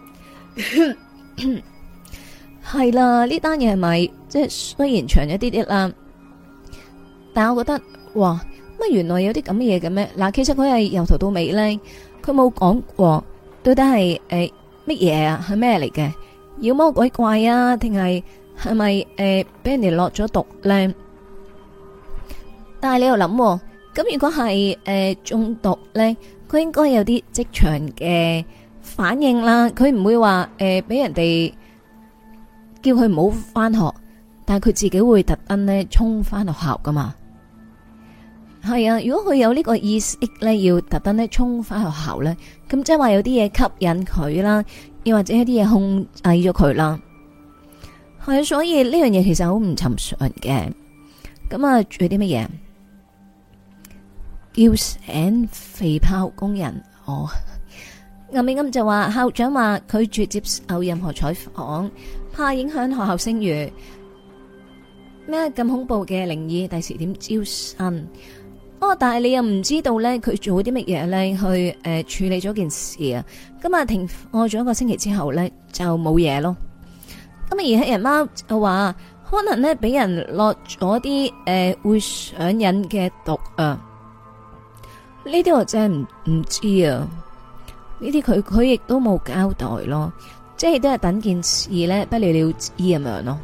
係啦，呢單嘢係咪即係雖然長一啲啲啦，但係我覺得哇，乜原來有啲咁嘅嘢嘅咩？嗱，其實佢係由頭到尾咧，佢冇講過到底係乜嘢啊，係咩嚟嘅？妖魔鬼怪啊，定係咪俾人哋落咗毒咧？但係你又諗，咁如果係中毒咧，佢應該有啲即場嘅反應啦，佢唔會話俾人哋叫佢唔好翻學，但係佢自己會特登咧衝翻學校噶嘛。係啊，如果佢有呢個意識咧，要特登咧衝翻學校咧，咁即係話有啲嘢吸引佢啦，又或者一啲嘢控制咗佢啦。係啊，所以呢樣嘢其實好唔尋常嘅。咁啊，仲有啲乜嘢？叫醒肥炮工人哦。暗美暗就話校長話拒絕接受任何採訪，怕影響學校聲譽。咩咁恐怖嘅靈異，第時點招生？哦，但係你又唔知道咧，佢做啲乜嘢咧去處理咗件事啊？今日停課咗1個星期之後咧就冇嘢咯。咁而黑人貓就話可能咧俾人落咗啲會上癮嘅毒啊。呢啲我真係唔知啊。呢啲佢亦都冇交代咯，即係都係等件事咧不了了之咁樣咯。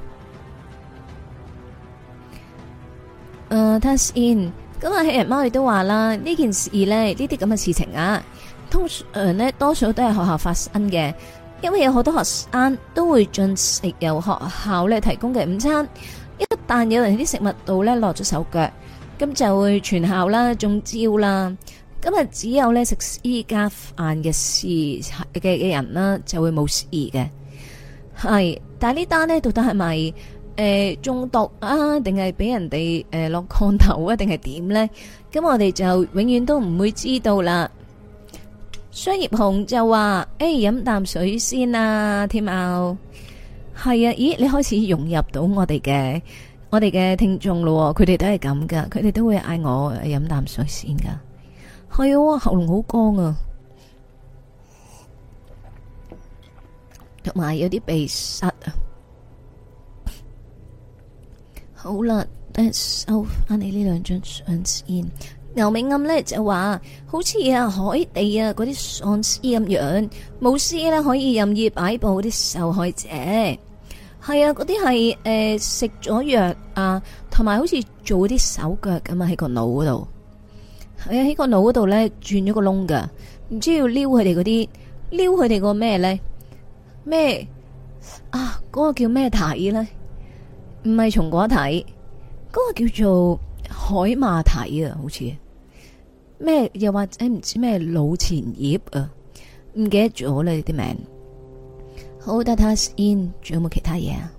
睇下先，咁啊，黑人貓亦都話啦，呢件事咧，呢啲咁嘅事情啊，通常咧多數都係學校發生嘅，因為有好多學生都會進食由學校咧提供嘅午餐，一旦有人喺啲食物度咧落咗手腳，咁就會全校啦中招啦。咁啊，只有咧食私家飯嘅事嘅人啦，就會冇事嘅。係，但係呢單呢，到底係咪中毒啊，定係俾人哋落降頭啊，定係點呢？咁我哋就永遠都唔會知道啦。商業紅就話：飲啖水先啊，天喵。係啊，咦，你開始融入到我哋嘅聽眾咯，佢哋都係咁噶，佢哋都會嗌我飲啖水先噶。係啊，喉嚨好乾啊，同埋有啲鼻塞啊。好啦，等收翻你呢2張相先。牛尾暗呢就話，好似啊海地啊嗰啲喪屍咁樣，巫師呢可以任意擺布啲受害者。係啊，嗰啲係食咗藥啊，同埋好似做啲手腳咁啊喺個腦嗰度。係啊，喺個腦嗰度咧轉咗個窿噶，唔知要撩佢哋嗰啲，撩佢哋個咩咧？咩啊？嗰個叫咩體咧？唔係松果體，嗰個叫做海馬體啊，好似咩？又或者唔知咩腦前葉啊？唔記得咗啦啲名。好，等睇下先，仲有冇其他嘢啊？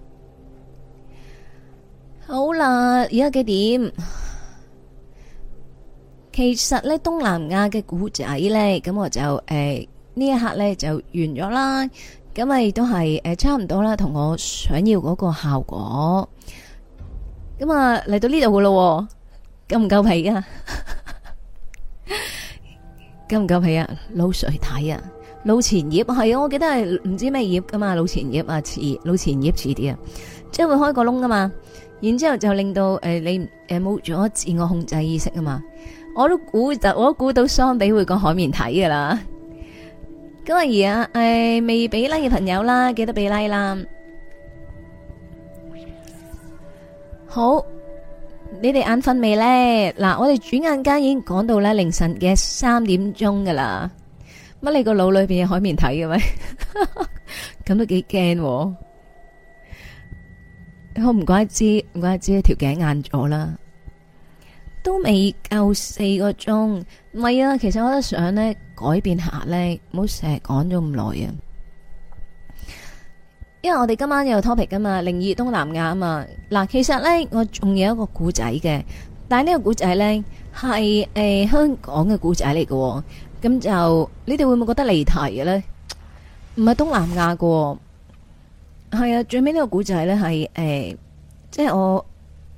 好啦，而家幾點？其實咧東南亞嘅古仔咧，咁我就呢一刻咧就完咗啦。咁啊亦都係差唔多啦，同我想要嗰個效果。咁啊嚟到呢度噶咯，夠唔夠皮啊？夠唔夠皮啊？腦水睇啊，腦前葉係啊，我記得係唔知咩葉噶嘛，腦前葉啊，腦前葉遲啲啊，即係會開個窿噶嘛。然之後就令到你冇咗自我控制意識啊嘛。我都估到桑比會講海綿體噶啦。咁啊而家未俾 like 嘅朋友啦，記得俾 like 啦。 好，你哋眼瞓未呢？嗱，我哋轉眼間已經講到咧凌晨嘅3點鐘噶啦。乜你個腦裏邊有海綿體嘅咩？咁都幾驚。我唔怪知條頸硬咗啦。都未夠4個鐘，唔係啊。其實我都想呢改變下呢，唔好成日講咗咁耐啊。因為我哋今晚有 topic 噶嘛，靈異東南亞啊嘛。嗱，其實呢，我仲有一個故仔嘅，但係呢個故仔呢，係香港嘅故仔嚟嘅，咁就你哋會唔會覺得離題嘅呢？唔係東南亞嘅，係啊。最尾呢個故仔呢，係即係我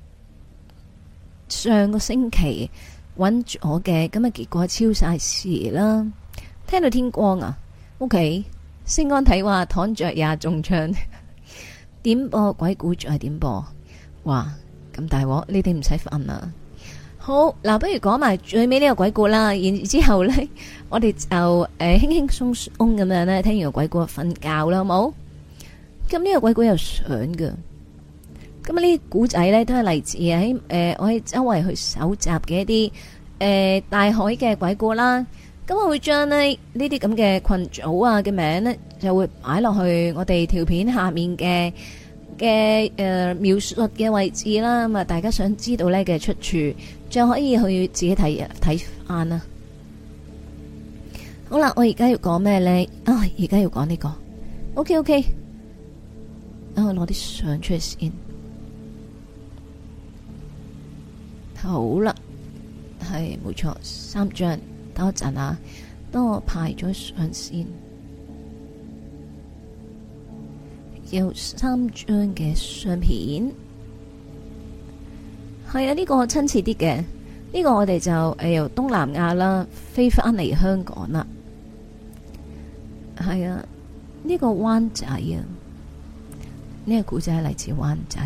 上個星期揾咗嘅，咁啊結果超晒時啦。聽到天光啊，OK。星安睇話躺着也中槍，點播鬼故再點播，哇咁大鑊，你哋唔使瞓啦。好嗱，不如講埋最尾呢個鬼故啦，然之後呢，我哋就輕輕鬆鬆咁樣呢，聽完個鬼故瞓覺啦，好冇？咁呢個鬼故有相㗎，咁呢啲故仔呢，都係嚟自喺我喺周圍去搜集嘅一啲大海嘅鬼故啦。咁我會將呢啲咁嘅群組啊嘅名呢，就會擺落去我哋條片下面嘅描述嘅位置啦。咁啊，大家想知道呢嘅出處，就可以去自己睇翻啦。好啦，我而家要講咩呢？而家要講呢個。OK，我攞啲相出嚟先。好啦，係冇錯，3張。等我陣啊，等我排咗相先，有3張嘅相片，係啊，呢個親切啲嘅，呢個我哋就由東南亞啦飛翻嚟香港啦，係啊，呢個灣仔啊，呢個古仔係嚟自灣仔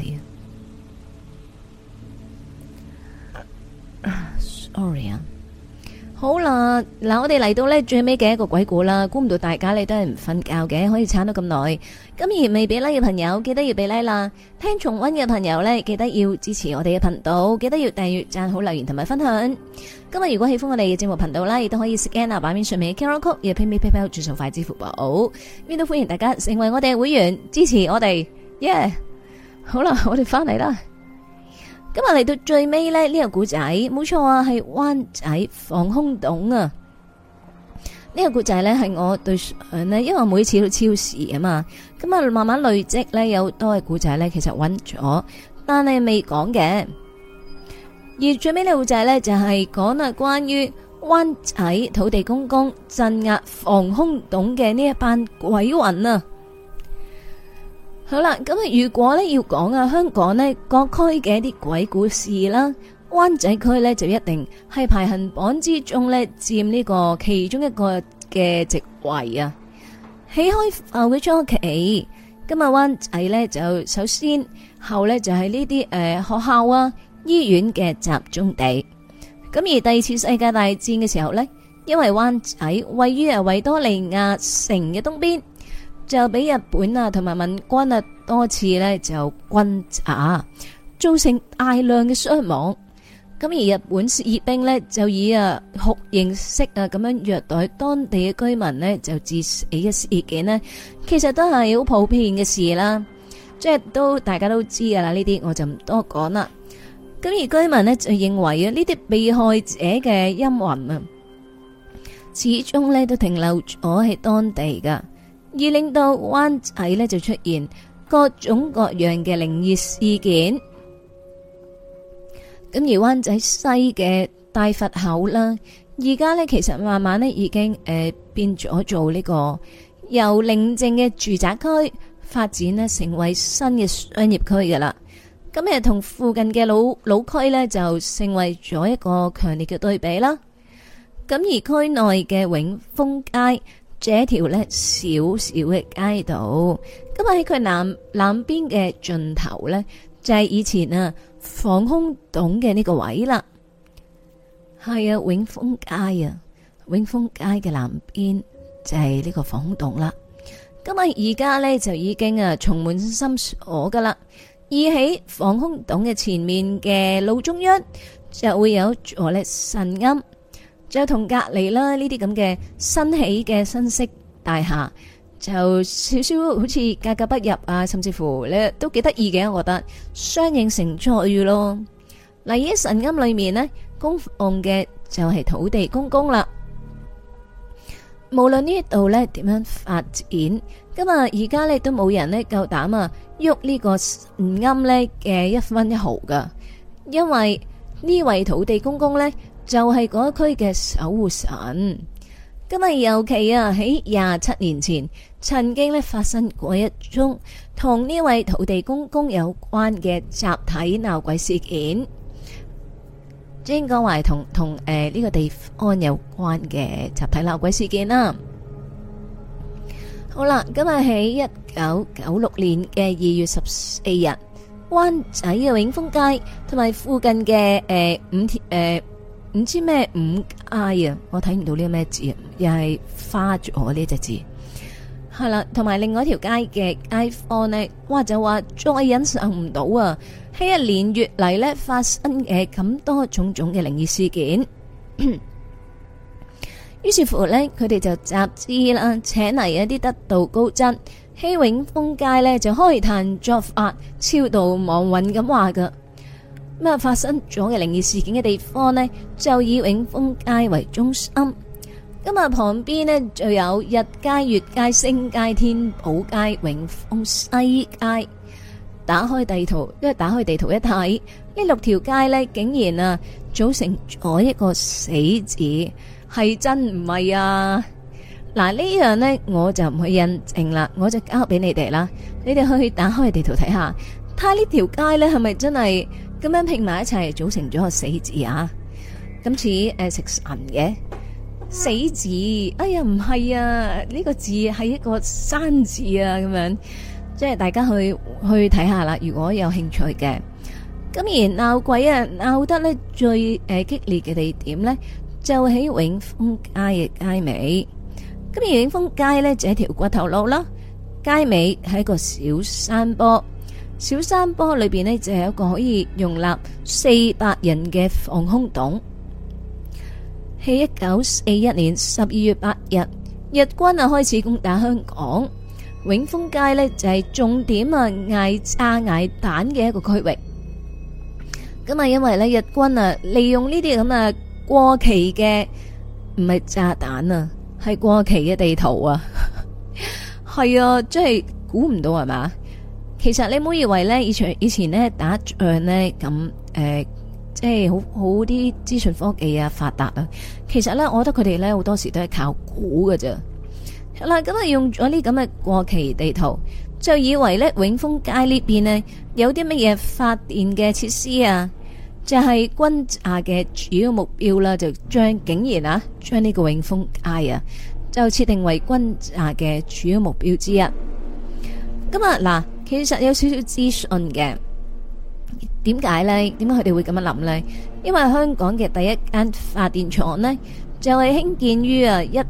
啊，sorry 啊。好啦，嗱，我哋嚟到呢最尾嘅一個鬼故啦，估唔到大家你都係唔瞓覺嘅，可以撐到咁耐。咁而未俾 like 嘅朋友，記得要俾 like 啦。聽重溫嘅朋友呢，記得要支持我哋嘅頻道，記得要訂閱、讚好、留言同埋分享。今日如果喜歡我哋嘅節目頻道啦，亦都可以 scan 下版面上面嘅 QR code，亦 PayPal 轉數快支付寶。邊都歡迎大家成為我哋嘅會員，支持我哋。耶！好啦，我哋翻嚟啦。今日嚟到最尾呢，呢個故仔冇錯啊，係灣仔防空洞啊！呢個故仔呢，係我對上呢，因為我每次都超時啊嘛，咁啊慢慢累積呢，有多嘅故仔呢，其實揾咗，但係未講嘅。而最尾呢個故仔呢，就係講啊關於灣仔土地公公鎮壓防空洞嘅呢一班鬼魂啊！好啦，咁啊，如果呢要講啊，香港呢各區嘅一啲鬼故事啦，灣仔區呢就一定係排行榜之中呢佔呢個其中一個嘅席位啊。喺開埠嘅初期，今日灣仔呢就首先後呢就係呢啲學校啊、醫院嘅集中地。咁而第二次世界大戰嘅時候呢，因為灣仔位於維多利亞城嘅東邊，就俾日本啊同埋民軍啊多次呢就轟炸，造成大量嘅傷亡。咁而日本士兵呢，就以酷刑式咁樣虐待當地嘅居民呢，就致死嘅事件呢，其實都係好普遍嘅事啦。即係都大家都知噶啦，呢啲我就唔多講啦。咁而居民呢，就認為啊，呢啲被害者嘅陰魂啊，始終呢都停留咗喺當地噶。而令到灣仔呢就出現各種各樣嘅靈異事件。咁而灣仔西嘅大佛口啦，而家呢其實慢慢呢已經變咗做呢個由寧靜嘅住宅區發展呢成為新嘅商業區噶啦。咁同附近嘅老區呢就成為咗一個強烈嘅對比啦。咁而區內嘅永豐街，這條呢小小嘅街道，咁喺佢南邊嘅盡頭呢，就係以前防空洞嘅呢個位啦。係永豐街啊，永豐街嘅南邊就係呢個防空洞啦。咁而家呢，就已經充滿深鎖噶啦， 而喺防空洞嘅前面嘅路中央就會有座咧神龕，就同隔籬啦呢啲咁嘅新起嘅新式大廈就少少好似格格不入啊，甚至乎咧都幾得意嘅，我覺得相映成趣咯。嗱，喺神龕裏面呢，供奉嘅就係土地公公啦。無論呢度咧點樣發展，咁啊而家咧都冇人咧夠膽啊喐呢個神龕咧嘅一分一毫噶，因為呢位土地公公咧就係嗰一區嘅守護神。咁啊尤其啊喺27年前，曾經咧發生過一宗同呢位土地公公有關嘅集體鬧鬼事件。應該話同呢個地方有關嘅集體鬧鬼事件啦。好啦，今日喺1996年嘅2月14日，灣仔嘅永豐街同埋附近嘅唔知咩5街啊，我睇唔到呢個咩字啊，又係花咗呢隻字。係啦，同埋另外一條街嘅街坊呢，哇就話再忍受唔到啊！喺一連月嚟呢發生嘅咁多種種嘅靈異事件，於是乎呢，佢哋就集資啦，請嚟一啲得道高僧喺永豐街呢就開壇作法，超度亡魂咁話噶。咁啊，發生咗嘅靈異事件嘅地方呢，就以永豐街為中心。咁啊，旁邊呢就有日街、月街、星街、天寶街、永豐西街。打開地圖一睇，呢6條街呢竟然啊組成咗一個死字，係真唔係啊？嗱，呢樣呢我就唔去印證啦，我就交俾你哋啦。你哋去打開地圖睇下，睇下呢條街呢係咪真係咁樣拼埋一齊組成咗個死字啊？咁似食神嘅死字，哎呀唔係啊，呢個字係一個山字啊，咁樣。即係大家去睇下啦，如果有興趣嘅。咁而鬧鬼啊，鬧得呢最激烈嘅地點呢，就喺永豐街嘅街尾。咁而永豐街呢，就係條骨頭路啦，街尾係一個小山坡，小山坡裏邊呢，就係一個可以容納400人嘅防空洞。喺1941年12月8日，日軍啊開始攻打香港。永豐街呢就係重點啊，挨炸挨彈嘅一個區域。咁啊，因為呢日軍啊利用呢啲咁啊過期嘅唔係炸彈啊，係過期嘅地圖啊，係啊，即係估唔到係嘛？其實你唔好以為呢以前呢打仗呢咁即係好啲資訊科技啊發達啊，其實呢我覺得佢哋呢好多時都係靠估㗎咋。啦，咁啊用咗呢咁嘅過期地圖，就以為呢永豐街呢邊呢有啲乜嘢發電嘅設施啊，就係轟炸嘅主要目標啦，就竟然啊將呢個永豐街啊就設定為轟炸嘅主要目標之一。咁啊嗱，其實有少少資訊嘅，點解呢？點解佢哋會咁樣諗呢？因為香港嘅第一間發電廠呢，就係興建於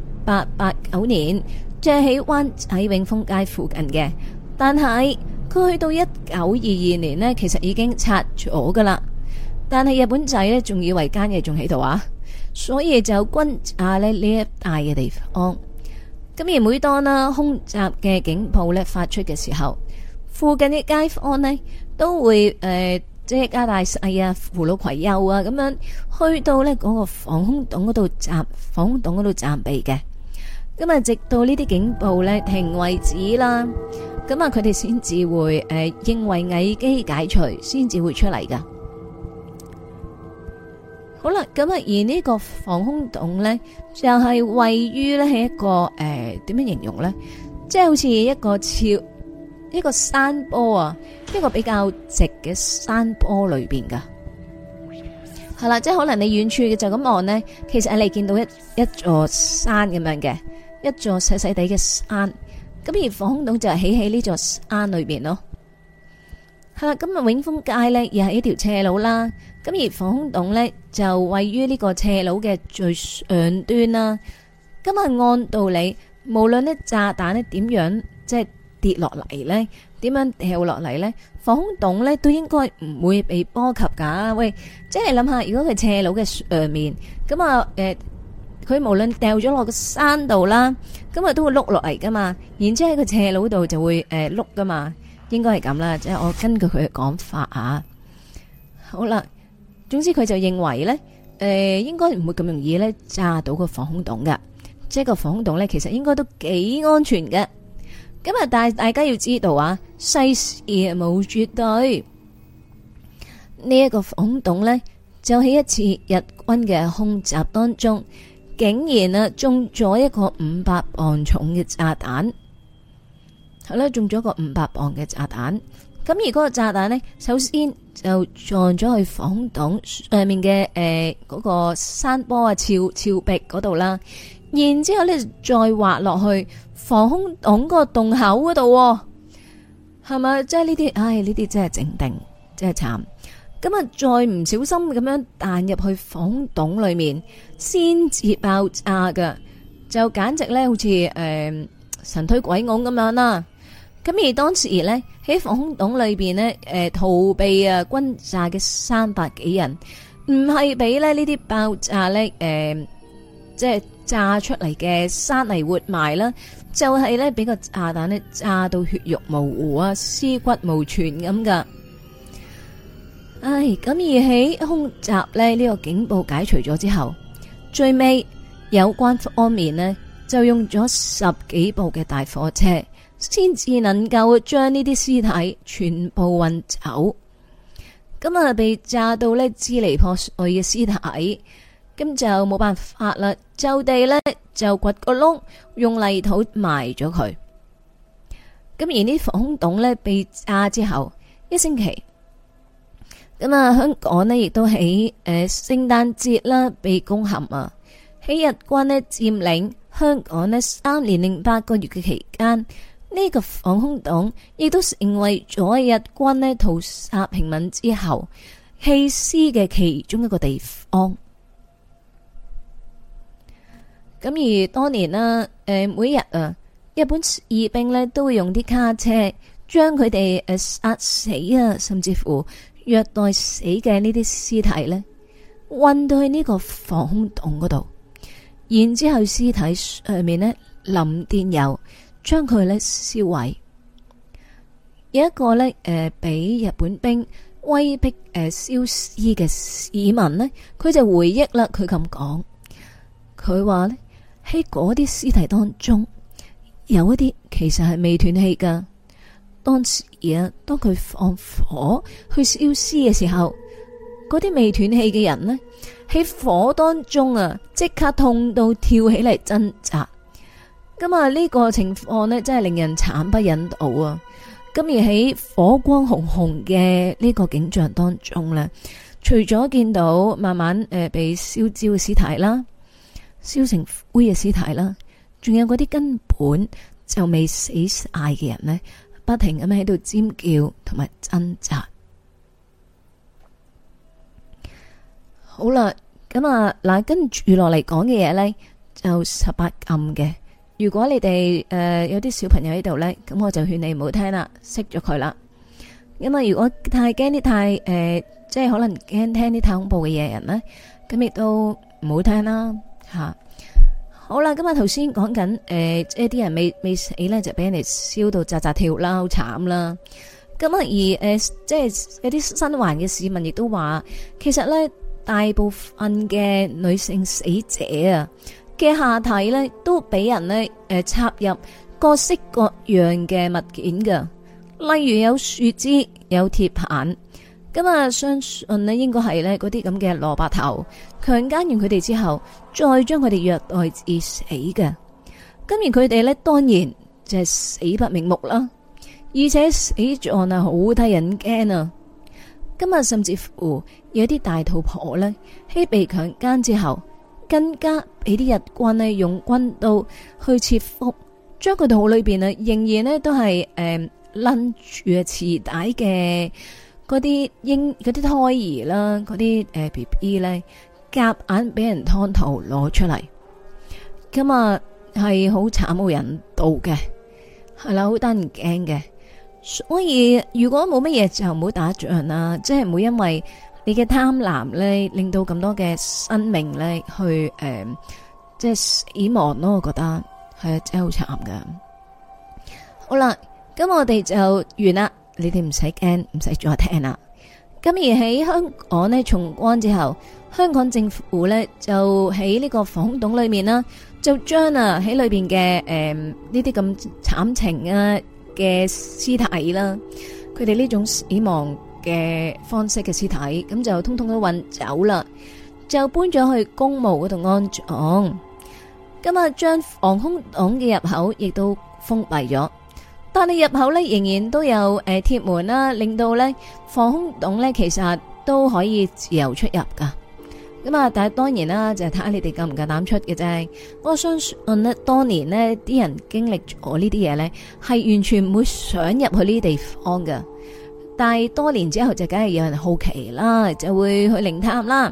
1889年，就係喺灣仔永豐街附近嘅。但係佢去到1922年呢，其實已經拆咗噶啦。但係日本仔呢，仲以為間嘢仲喺度啊，所以就轟炸呢一帶嘅地方。咁而每當啦空襲嘅警報呢發出嘅時候，附近嘅街坊呢都會即係加大細啊、扶老攜幼啊咁樣去到呢嗰個防空洞嗰度暫避嘅。咁啊，直到呢啲警報呢停為止啦，咁啊佢哋先至會認為危機解除，先至會出嚟噶。好啦，咁啊而呢個防空洞呢，就係位於呢係一個點樣形容呢？即係好似一個山坡啊，一個比較直嘅山坡裏邊噶。係啦，即係可能你遠處嘅就咁望呢，其實你見到一座山咁樣嘅。一座細細地嘅山，咁而防空洞就係起喺呢座山裏邊咯。係啦，咁啊永豐街呢又係一條斜路啦，咁而防空洞呢就位於呢個斜路嘅最上端啦。咁啊按道理，無論呢炸彈呢點樣即係跌落嚟呢， 點樣掉落嚟咧？防空洞咧都應該唔會被波及噶。喂，即係你諗下，如果佢斜路嘅上面，咁啊佢無論掉咗落個山度啦，咁啊都會碌落嚟噶嘛。然之後喺個斜路度就會碌噶嘛，應該係咁啦。即係我根據佢嘅講法啊。好啦，總之佢就認為咧，應該唔會咁容易咧炸到個防空洞噶。即係個防空洞咧，其實應該都幾安全嘅。咁啊，但係大家要知道啊，世事冇絕對。呢一個防空洞咧，就喺一次日軍嘅空襲當中，竟然啊中咗一個500磅重嘅炸彈。係啦，中咗個500磅嘅炸彈。咁而嗰個炸彈呢，首先就撞咗去防空洞上面嘅嗰個山坡啊、峭壁嗰度啦。然之後呢，再滑落去防空洞個洞口嗰度，係咪？即係呢啲，唉，呢啲真係整定，真係慘。咁啊，再唔小心咁樣彈入去防空洞裏面，先至爆炸噶，就簡直咧好似神推鬼拱咁樣啦。咁而當時呢，喺防空洞裏邊呢，逃避啊轟炸嘅300幾人，唔係俾咧呢啲爆炸呢，即係炸出嚟嘅山泥活埋啦，就係呢，俾個炸彈呢炸到血肉模糊啊，屍骨無存咁噶。唉，咁而喺空襲呢個警報解除咗之後，最尾有關方面呢，就用咗10幾部嘅大貨車，先至能夠將呢啲屍體全部運走。咁啊，被炸到呢支離破碎嘅屍體，咁就冇辦法啦，就地呢，就掘個窿，用泥土埋咗佢。咁而呢防空洞呢，被炸之後1星期，咁啊香港呢，亦都喺聖誕節啦被攻陷啊。喺日軍呢佔領香港呢3年08個月嘅期間，呢個防空洞亦都成為咗日軍呢屠殺平民之後棄屍嘅其中一個地方。咁而當年啦，每日啊，日本士兵呢都會用啲卡車將佢哋殺死啊，甚至乎虐待死嘅呢啲屍體呢運到去呢個防空洞嗰度，然之後屍體上面呢淋電油，將佢呢燒毀。有一個呢俾日本兵威逼燒屍嘅市民呢，佢就回憶啦，佢咁講，佢話呢喺嗰啲屍體當中，有一啲其實係未斷氣噶。當時啊，當佢放火去燒屍嘅時候，嗰啲未斷氣嘅人呢，喺火當中啊，即刻痛到跳起嚟掙扎。咁啊，呢個情況呢，真係令人慘不忍睹啊！咁而喺火光紅紅嘅呢個景象當中呢，除咗見到慢慢被燒焦嘅屍體啦，燒成灰嘅屍體啦，仲有嗰啲根本就未死晒嘅人呢，不停咁喺度尖叫同埋掙扎。好啦，咁啊嗱，跟住落嚟講嘅嘢呢，就18禁嘅。如果你哋有啲小朋友喺度呢，咁我就勸你唔好聽啦，熄咗佢啦。因為如果太驚啲太即係可能驚聽啲太恐怖嘅嘢人呢，咁亦都唔好聽啦吓。好啦，咁啊頭先講緊即係啲人未死呢，就俾人哋燒到扎扎跳啦，好慘啦。咁啊而即係有啲新環嘅市民亦都話，其實呢，大部分嘅女性死者啊嘅下體呢，都俾人呢插入各式各樣嘅物件噶，例如有樹枝、有鐵棒。咁啊，相信呢應該係呢嗰啲咁嘅蘿蔔頭強姦完佢哋之後，再將佢哋虐待致死嘅。咁而佢哋呢，當然就係死不瞑目啦，而且死狀啊好得人驚啊！今日甚至乎有啲大肚婆呢，喺被強姦之後，更加俾啲日軍呢用軍刀去切腹，將佢肚裏邊呢仍然呢都係攆住臍帶嘅嗰啲嗰啲胎兒啦，嗰啲BB 呢，夾硬俾人劏肚攞出嚟，咁啊係好慘無人道嘅，係啦，好得人驚嘅。 所以如果冇乜嘢就唔好打仗啦，即係唔會因為你嘅貪婪咧，令到咁多嘅生命咧去即係死亡咯。我覺得係啊，真係好慘噶。好啦，咁我哋就完啦，你哋唔使驚，唔使再聽啦。咁而喺香港呢，重關之後，香港政府呢就喺呢個防空洞裏面啦，就將喺裏邊嘅呢啲咁慘情啊嘅屍體啦，佢哋呢種死亡嘅方式嘅屍體，咁就通通都運走啦，就搬咗去公墓嗰度安葬。咁啊，將防空洞嘅入口亦都封閉咗。但係入口咧仍然都有鐵門啦，令到咧防空洞咧其實都可以自由出入噶。咁啊，但係當然啦，就係睇下你哋夠唔夠膽出嘅啫。我相信呢，當年呢啲人經歷咗呢啲嘢咧，係完全唔會想入去呢啲地方噶。但係多年之後就梗係有人好奇啦，就會去靈探啦。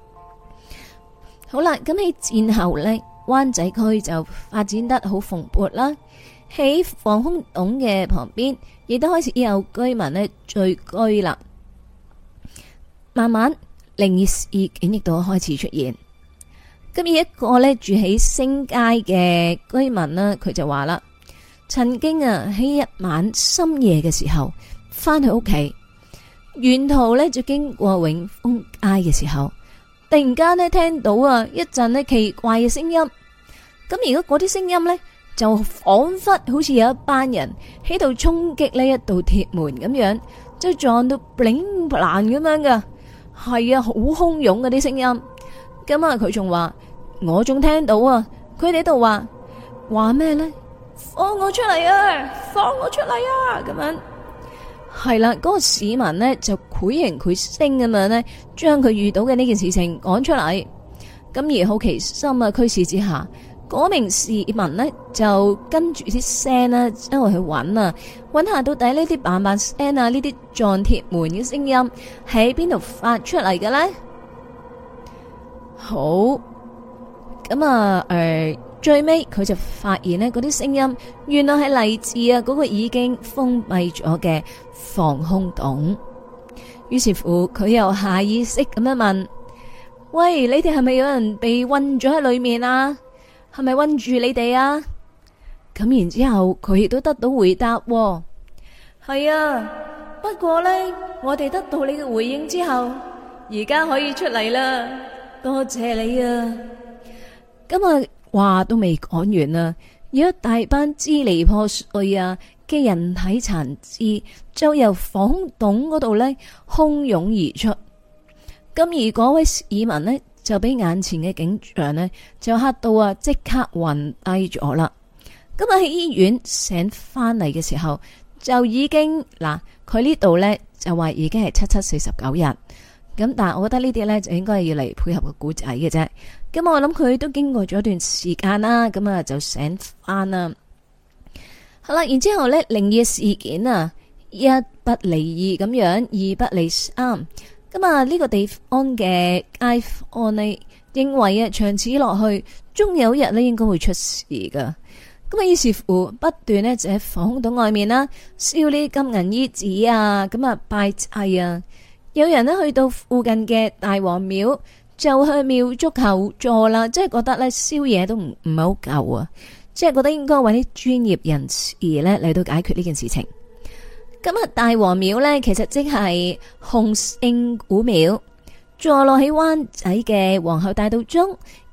好啦，咁喺戰後咧，灣仔區就發展得好蓬勃啦。喺防空洞嘅旁邊，亦都開始有居民呢聚居啦。慢慢靈異事件亦都開始出現。咁而一個呢住喺星街嘅居民呢，佢就話啦，曾經喺一晚深夜嘅時候翻去屋企，沿途呢就經過永豐街嘅時候，突然間呢聽到一陣呢奇怪嘅聲音。咁如果嗰啲聲音呢，就仿佛好似有一班人喺度衝擊呢一道鐵門咁樣，即係撞到 bling bling 咁樣噶，係啊，好洶湧嗰啲聲音。咁啊，佢仲話，我仲聽到佢哋喺度話咩呢？放我出嚟啊！放我出嚟啊！咁樣係啦，嗰個市民呢，就繪形繪聲咁樣呢，將佢遇到嘅呢件事情講出嚟。咁而好奇心驅使之下，嗰名市民呢，就跟住啲聲啦，周圍去揾下到底呢啲嘭嘭聲啊，呢啲撞鐵門嘅聲音喺邊度發出嚟嘅呢？好，咁啊，最尾佢就發現呢嗰啲聲音原來係嚟自嗰個已經封閉咗嘅防空洞。於是乎，佢又下意識咁樣問：喂，你哋係咪有人被困咗喺裏面啊？係咪困住你哋啊？咁然之後佢亦都得到回答，係啊。不過呢，我哋得到你嘅回應之後，而家可以出嚟啦。多謝你啊！咁啊，話都未講完啊，有一大班支離破碎嘅人體殘肢就由防空洞嗰度呢洶湧而出。咁而嗰位市民呢，就俾眼前嘅景象呢，就嚇到即刻暈低咗啦。咁喺醫院醒翻嚟嘅時候，就已經佢呢度呢，就話已經係749日。咁但係我覺得呢啲呢，就應該係要嚟配合個故仔嘅啫。咁我諗佢都經過咗一段時間啦，咁啊就醒翻啦。好啦，然之後呢，靈異事件一不離二咁樣，二不離三。咁啊，呢個地方嘅街坊呢，認為長此落去，終有一日呢應該會出事噶。咁啊，於是乎不斷呢就喺防空洞外面啦，燒呢金銀衣紙啊，咁啊拜祭啊。有人呢去到附近嘅大王廟，就向廟祝求助啦，即係覺得呢燒嘢都唔係好夠啊，即係覺得應該揾啲專業人士呢嚟到解決呢件事情。咁啊，大王廟呢，其實即係洪聖古廟，坐落喺灣仔嘅皇后大道中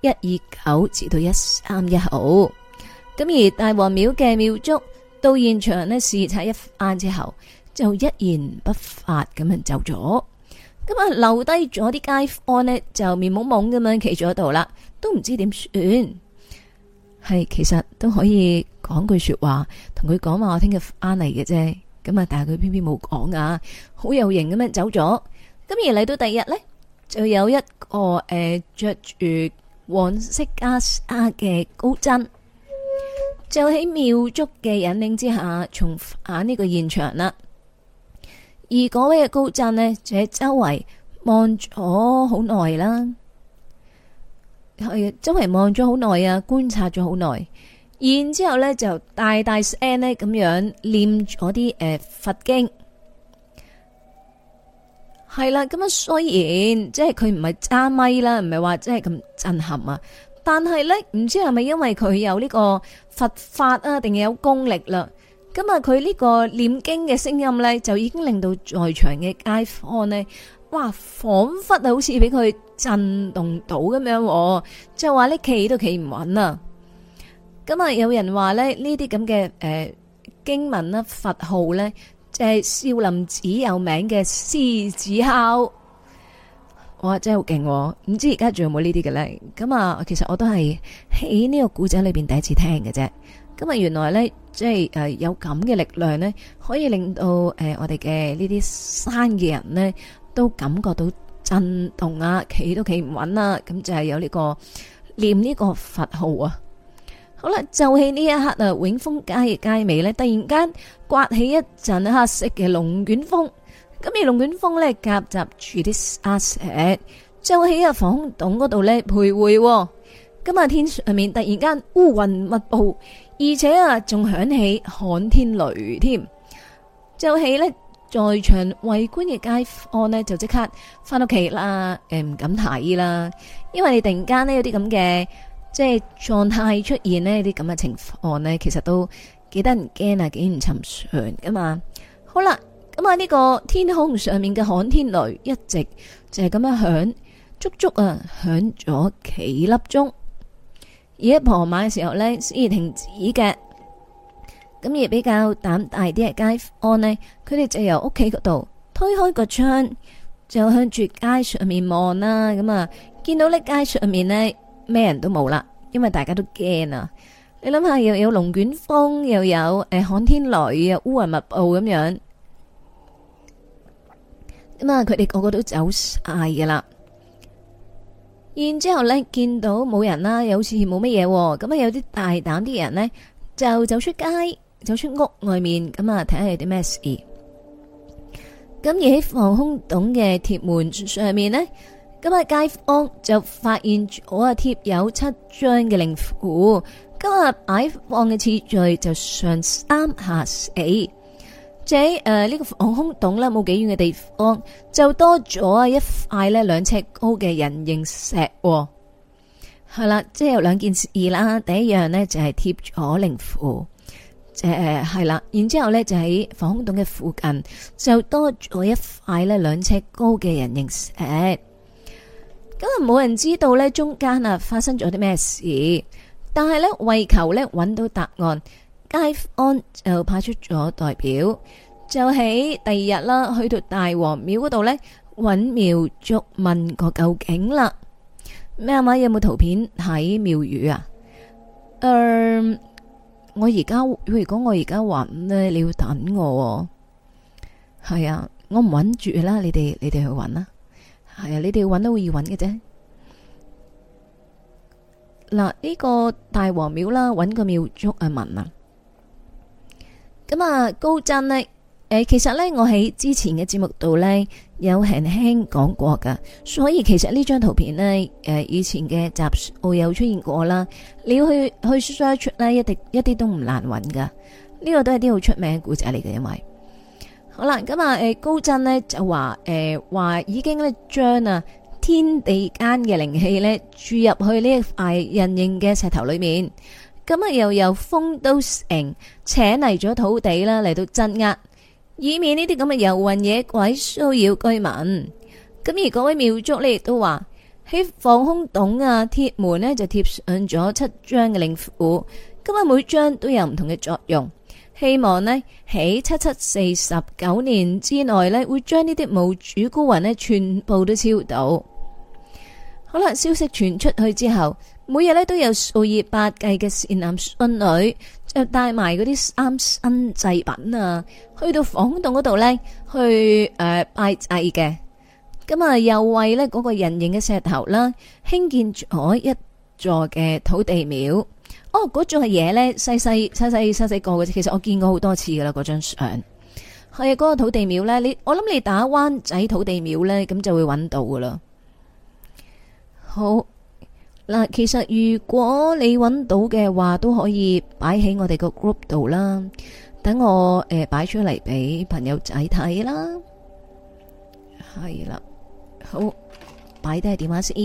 129至到131號。咁而大王廟嘅廟祝到現場呢視察一番之後，就一言不發咁樣走咗。咁啊，留低咗啲街坊呢，就面懵懵咁樣企咗喺度啦，都唔知點算。係其實都可以講句說話，同佢講話我聽日翻嚟嘅啫。咁啊，但係佢偏偏冇講啊，好有型咁樣走咗。咁而嚟到第二日呢，就有一個着住黃色袈裟嘅高僧，就喺廟祝嘅引領之下，重返呢個現場啦。而嗰位嘅高僧呢，就喺周圍望咗好耐啦，係周圍望咗好耐啊，觀察咗好耐。 然之後咧就大大聲咧咁樣念咗啲佛經。係啦，咁啊雖然即係佢唔係揸咪啦，唔係話即係咁震撼啊，但係咧唔知係咪因為佢有呢個佛法啊，定係有功力啦？咁啊，佢呢個念經嘅聲音咧，就已經令到在場嘅街坊咧，哇，仿佛啊好似俾佢震動到咁樣，就話呢企都企唔穩啊！咁啊，有人話咧呢啲咁嘅經文啦、佛號咧，就係少林寺有名嘅獅子哮。哇，真係好勁！唔知而家仲有冇呢啲嘅咧？咁啊，其實我都係喺呢個古仔裏邊第一次聽嘅啫。咁啊，原來咧，即係有咁嘅力量咧，可以令到我哋嘅呢啲山嘅人咧，都感覺到震動啊，企都企唔穩啊。咁就係有呢個念呢個佛號啊。好啦，就喺呢一刻啊，永豐街嘅街尾咧，突然間颳起一陣黑色嘅龍捲風。咁而龍捲風咧夾雜住啲沙石，就喺防空洞嗰度咧徘徊。咁啊，天上面突然間烏雲密布，而且啊仲響起旱天雷添。就喺呢在場圍觀嘅街坊呢，就即刻翻屋企啦，唔敢睇啦，因為你突然間呢有啲咁嘅即係狀態出現呢啲咁嘅情況呢，其實都幾得人驚啊，幾唔尋常噶嘛。好啦。咁啊！呢個天空上面嘅旱天雷一直就係咁樣響，足足啊響咗幾粒鐘。而喺傍晚嘅時候呢，先至停止嘅。咁而比較膽大啲嘅街坊呢，佢哋就由屋企嗰度推開個窗，就向住街上面望啦。咁啊，見到呢街上面呢，咩人都冇啦，因為大家都驚啊！你諗下，又有龍捲風，又有旱天雷啊，烏雲密布咁樣。咁啊！佢哋個個都走晒噶啦，然之後咧見到冇人啦，又好似冇乜嘢。咁啊，有啲大膽啲人呢，就走出街，走出屋外面，咁啊睇下有啲咩事。咁而喺防空洞嘅鐵門上面呢，咁啊街坊就發現咗啊貼有7張嘅靈符，今日擺放嘅次序就上3下4。即係呢個防空洞啦，冇幾遠嘅地方就多咗一塊咧2尺高嘅人形石。係啦，即係有2件事啦。第一樣呢，就係貼咗靈符，係啦。然之後咧就喺防空洞嘅附近就多咗一塊咧2尺高嘅人形石。咁啊冇人知道咧中間啊發生咗啲咩事，但係咧為求咧揾到答案。街坊就派出咗代表，就喺第二日啦，去到大王廟嗰度呢，揾廟祝問個究竟啦。咩啊嘛？有冇圖片喺廟宇啊？我而家如果我而家揾呢，你要等我。係啊，我唔揾住啦，你哋去揾啦。係啊，你哋揾都好易揾嘅啫。嗱，呢個大王廟啦，揾個廟祝問啊。咁啊，高真呢？其實呢，我喺之前嘅節目度呢，有輕輕講過噶，所以其實呢張圖片呢，以前嘅集數有出現過啦。你要去 search 呢，一啲都唔難揾噶。呢個都係啲好出名嘅故仔嚟嘅，因為好啦，咁啊，高真呢就話已經呢將啊天地間嘅靈氣呢注入去呢一塊人形嘅石頭裏面。咁啊，又由豐都城請嚟咗土地啦，嚟到鎮壓，以免呢啲咁嘅遊魂野鬼騷擾居民。咁而嗰位廟祝呢，亦都話喺防空洞啊鐵門呢，就貼上咗7張嘅靈符，咁啊每張都有唔同嘅作用，希望呢，喺7749年之內呢，會將呢啲無主孤魂呢全部都超度。好啦，消息傳出去之後，每日咧都有數以百計嘅善男信女就帶埋嗰啲3牲祭品啊，去到防空洞嗰度呢，去拜祭嘅。咁啊，又為呢嗰個人形嘅石頭啦，興建咗一座嘅土地廟。哦，嗰座嘢呢，細細個嘅，其實我見過好多次噶啦，嗰張相係啊，嗰個土地廟呢，我諗你打灣仔土地廟呢，咁就會揾到噶啦。好。 嗱，其實如果你揾到嘅話，都可以擺喺我哋個 group 度啦。等我擺出嚟俾朋友仔睇啦。係啦，好，擺低電話先。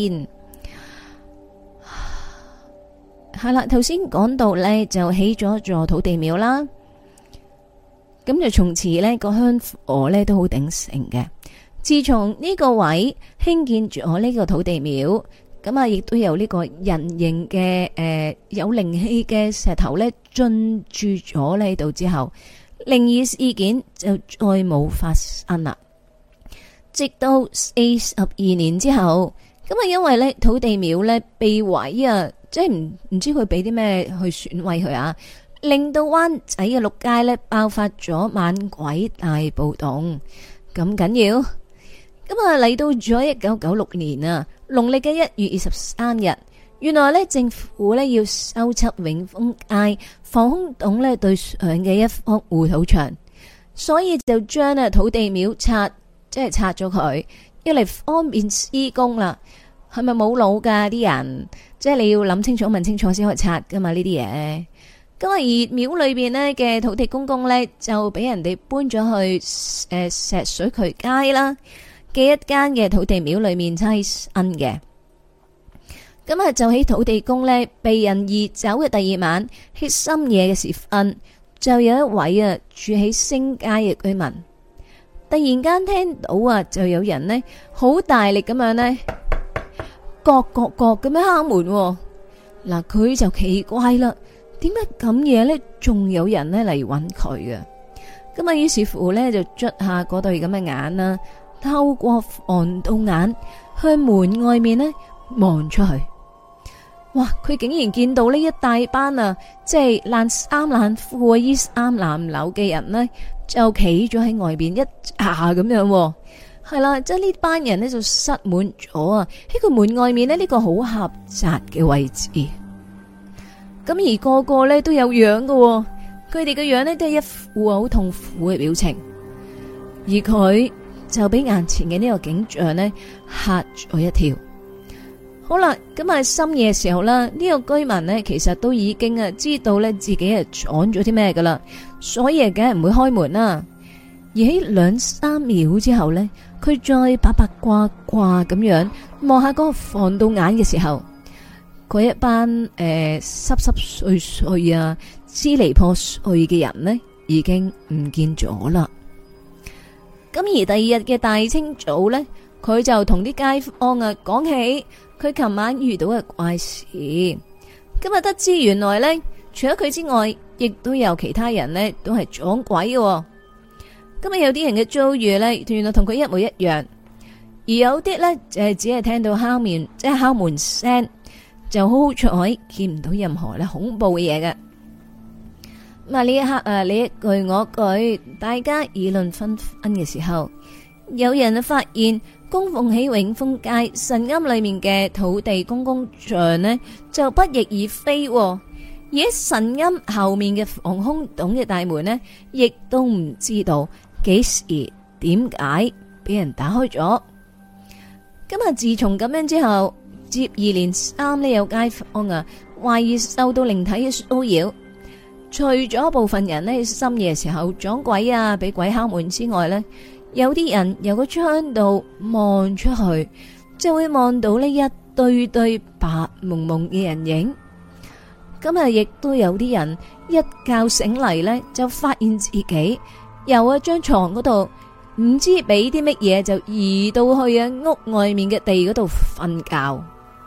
係啦，頭先講到呢，就起咗座土地廟啦。咁就從此呢個香火呢都好鼎盛嘅。自從呢個位興建咗呢個土地廟，咁啊亦都有呢個人形嘅有靈氣嘅石頭呢進駐咗呢度之後，靈異事件就再冇發生啦。直到42年之後，咁啊因為呢土地廟呢被毀啊，即係唔知佢俾啲咩去損毀佢啊。令到灣仔嘅六街呢爆發咗猛鬼大暴動，咁緊要。咁啊嚟到咗1996年啊，農曆嘅1月23日，原來呢政府呢要修葺永豐街防空洞呢對上嘅一幅護土牆，所以就將土地廟拆咗佢，要嚟方便施工啦。係咪冇腦噶啲人？即係你要諗清楚、問清楚先可以拆噶嘛呢啲嘢。咁而廟裏邊呢嘅土地公公呢，就俾人哋搬咗去石水渠街啦嘅一間嘅土地廟裏面棲身嘅。咁啊就喺土地公呢被人移走嘅第二晚，喺深夜嘅時分，就有一位啊住喺星街嘅居民，突然間聽到啊就有人呢好大力咁樣呢，各咁樣敲門。嗱，佢就奇怪啦。點解咁嘢呢？仲有人呢嚟揾佢嘅？咁啊，於是乎呢，就捽下嗰對咁嘅眼啦，透過防盜眼向門外面呢望出去。哇！佢竟然見到呢一大班啊，即係爛衫爛褲、衣衫襤褸嘅人呢，就企咗喺外邊一下咁樣。係啦，即係呢班人呢，就塞滿咗啊！喺個門外面呢，呢個好狹窄嘅位置。咁而個個咧都有樣嘅，佢哋嘅樣咧都係一副好痛苦嘅表情，而佢就俾眼前嘅呢個景象咧嚇咗一跳。好啦，咁啊深夜嘅時候啦，呢個居民呢其實都已經啊知道咧自己係撞咗啲咩噶啦，所以啊梗係唔會開門啦。而喺2-3秒之後呢，佢再八卦咁樣望下嗰個防盜眼嘅時候，嗰一班濕碎啊、支離破碎嘅人呢，已經唔見咗啦。咁而第二日嘅大清早呢，佢就同啲街坊啊講起佢琴晚遇到嘅怪事。今日得知原來呢，除咗佢之外，亦都有其他人呢都係撞鬼嘅。今日有啲人嘅遭遇呢，原來同佢一模一樣，而有啲呢，就係只係聽到敲門聲。就好彩見唔到任何咧恐怖嘅嘢嘅。咁啊呢一刻啊，你一句我一句，大家議論紛紛嘅時候，有人啊發現供奉喺永豐街神龕裏面嘅土地公公像呢，就不翼而飛，而喺神龕後面嘅防空洞嘅大門呢，亦都唔知道幾時點解俾人打開咗。今日自從咁樣之後，接二連三呢有街坊啊懷疑受到靈體嘅騷擾，除咗部分人呢深夜時候撞鬼啊俾鬼敲門之外呢，有啲人由個窗度望出去就會望到呢一堆堆白蒙蒙嘅人影。今日亦都有啲人一覺醒嚟呢，就發現自己由一張床嗰度唔知俾啲乜嘢就移到去啊屋外面嘅地嗰度瞓覺。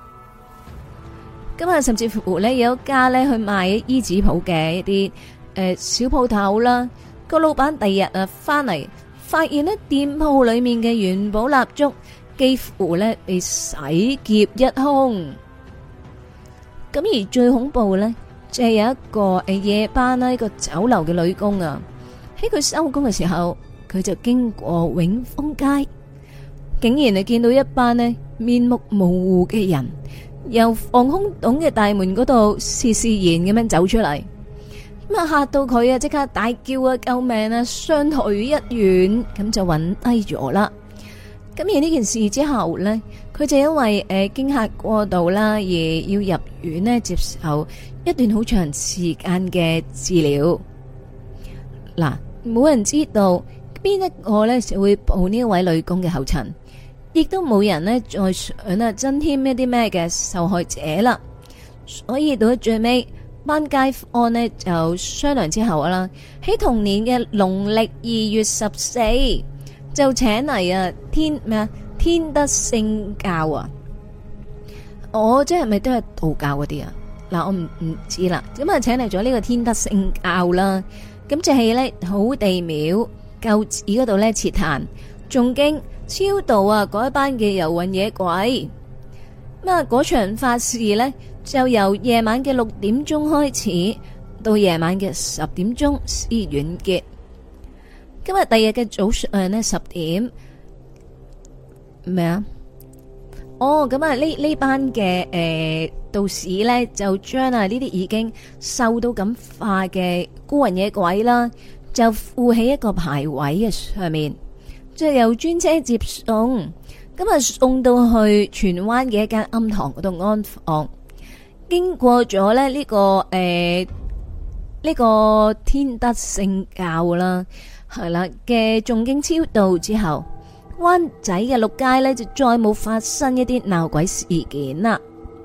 今日甚至乎呢，有一家呢去賣衣紙鋪嘅一啲小鋪頭啦，個老闆第二日啊翻嚟，發現呢店鋪裏面嘅元寶蠟燭幾乎呢被洗劫一空。咁而最恐怖呢，就係有一個夜班啦，一個酒樓嘅女工啊，喺佢收工嘅時候，佢就經過永豐街，竟然係見到一班呢面目模糊嘅人由防空洞嘅大門嗰度施然咁樣走出嚟，咁啊嚇到佢啊，即刻大叫啊救命啊，雙腿一軟，咁就暈低咗啦。咁而呢件事之後呢， 佢就因為驚嚇過度啦，而要入院呢接受一段好長時間嘅治療。嗱，冇人知道邊一個呢就會步呢位女工嘅後塵，亦都冇人呢再想增添一啲咩嘅受害者啦。所以到咗最尾，班街坊呢就商量之後啦，喺同年嘅農曆2月14就請嚟天德聖教啊！我即係咪都係道教嗰啲啊？嗱，我唔知啦。咁啊，請嚟咗呢個天德聖教啦。咁就係咧土地廟舊址嗰度咧設壇誦經超度啊嗰一班嘅遊魂野鬼。咁啊，嗰場法事呢，就由夜晚嘅6點鐘開始，到夜晚嘅10點鐘先完結。今日第二日嘅早上呢10點咩啊？哦，咁啊呢班嘅道士呢，就將呢啲已經受到感化嘅孤魂野鬼啦，就附喺一個牌位嘅上面，即係由專車接送，咁啊送到去荃灣嘅一間庵堂嗰度安放。經過咗咧呢個呢個天德聖教啦，係啦嘅誦經超度之後，灣仔嘅六街呢，就再冇發生一啲鬧鬼事件啦。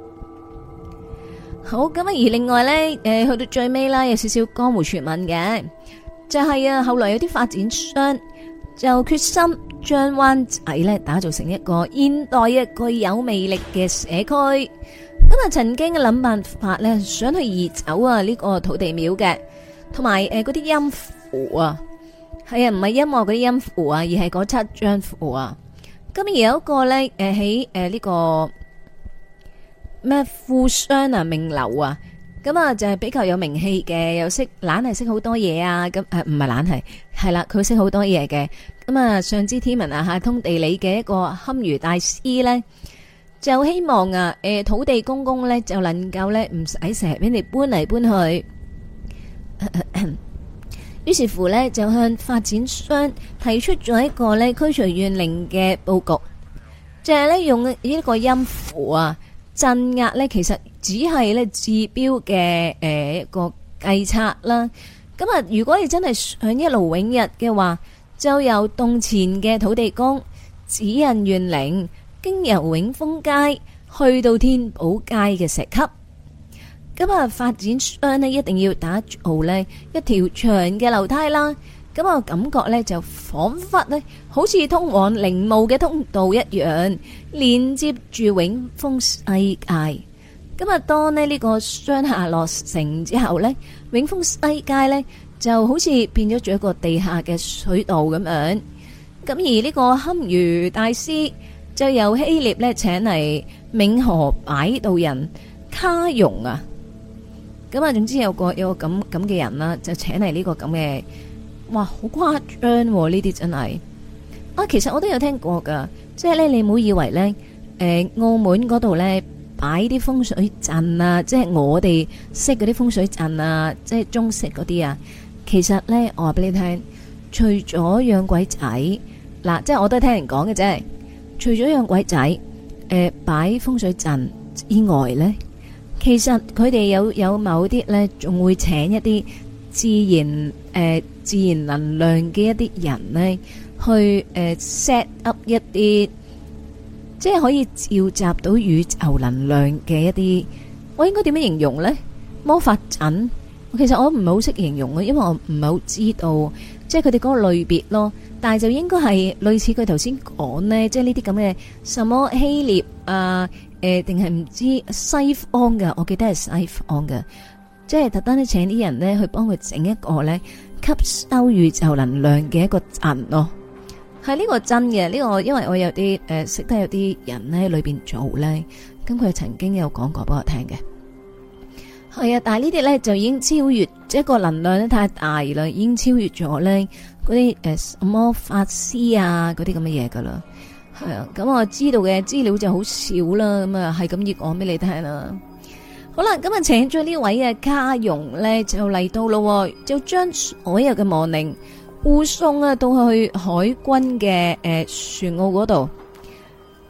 好，咁啊而另外呢，去到最尾啦，有少少江湖傳聞嘅，就係後來有啲發展商就決心將灣仔呢打造成一個現代嘅具有魅力嘅社區。咁啊，曾經嘅諗辦法呢，想去移走呢個土地廟嘅，同埋嗰啲音符啊。係啊，唔係音樂嗰啲音符啊，而係嗰7張符啊。咁而有一個咧，喺呢個咩富商啊名流啊，咁啊就係比較有名氣嘅，又識懶係識好多嘢啊。咁唔係懶係啦，佢識好多嘢嘅。咁啊，上知天文啊，下通地理嘅一個堪輿大師咧，就希望土地公公咧就能夠咧唔使成日俾你搬嚟搬去。於是乎呢，就向發展商提出咗一個呢驅除怨靈嘅佈局，就係呢用呢一個音符啊鎮壓呢，其實只係呢治標嘅一個計策啦。咁啊，如果你真係想一勞永逸嘅話，就由洞前嘅土地公指引怨靈，經由永豐街去到天寶街嘅石級。咁啊，發展商呢一定要打造呢一條長嘅樓梯啦。咁啊，感覺呢就仿佛呢好似通往陵墓嘅通道一樣，連接住永豐世界。咁啊，當呢個商廈落成之後呢，永豐世界呢就好似變咗做一個地下嘅水道咁樣。咁而呢個堪輿大師就由希臘呢請嚟冥河擺渡人卡容啊。咁啊，總之有個咁嘅人啦，就請嚟呢個咁嘅，哇，好誇張喎！呢啲真係啊，其實我都有聽過噶，即係咧，你唔好以為咧，澳門嗰度咧擺啲風水陣啊，即係我哋識嗰啲風水陣啊，即係中式嗰啲啊，其實咧，我話俾你聽，除咗養鬼仔，嗱，即係我都係聽人講嘅啫，除咗養鬼仔，擺風水陣以外咧。其實佢哋有某啲呢，仲會請一啲自然能量嘅一啲人呢，去set up 一啲，即係可以召集到宇宙能量嘅一啲，我應該點樣形容呢？魔法陣，其實我唔係好識形容嘅，因為我唔係好知道，即係佢哋嗰個類別咯。但係就應該係類似佢頭先講呢，即係呢啲咁嘅什麼希臘啊。定係唔知西方嘅，我記得係西方嘅，即係特登咧請啲人咧去幫佢整一個咧吸收宇宙能量嘅一個陣咯。係呢個真嘅，呢個因為我有啲識得有啲人咧裏邊做咧，咁佢曾經有講過俾我聽嘅。係啊，但係呢啲咧就已經超越，即係個能量咧太大啦，已經超越咗咧嗰啲什麼法師啊嗰啲咁嘅嘢噶啦。係啊，咁我知道嘅資料就好少啦，咁啊係咁要講俾你聽啦。好啦，咁啊請咗呢位嘅卡容咧就嚟到咯，就將所有嘅亡靈護送啊到去海軍嘅船澳嗰度。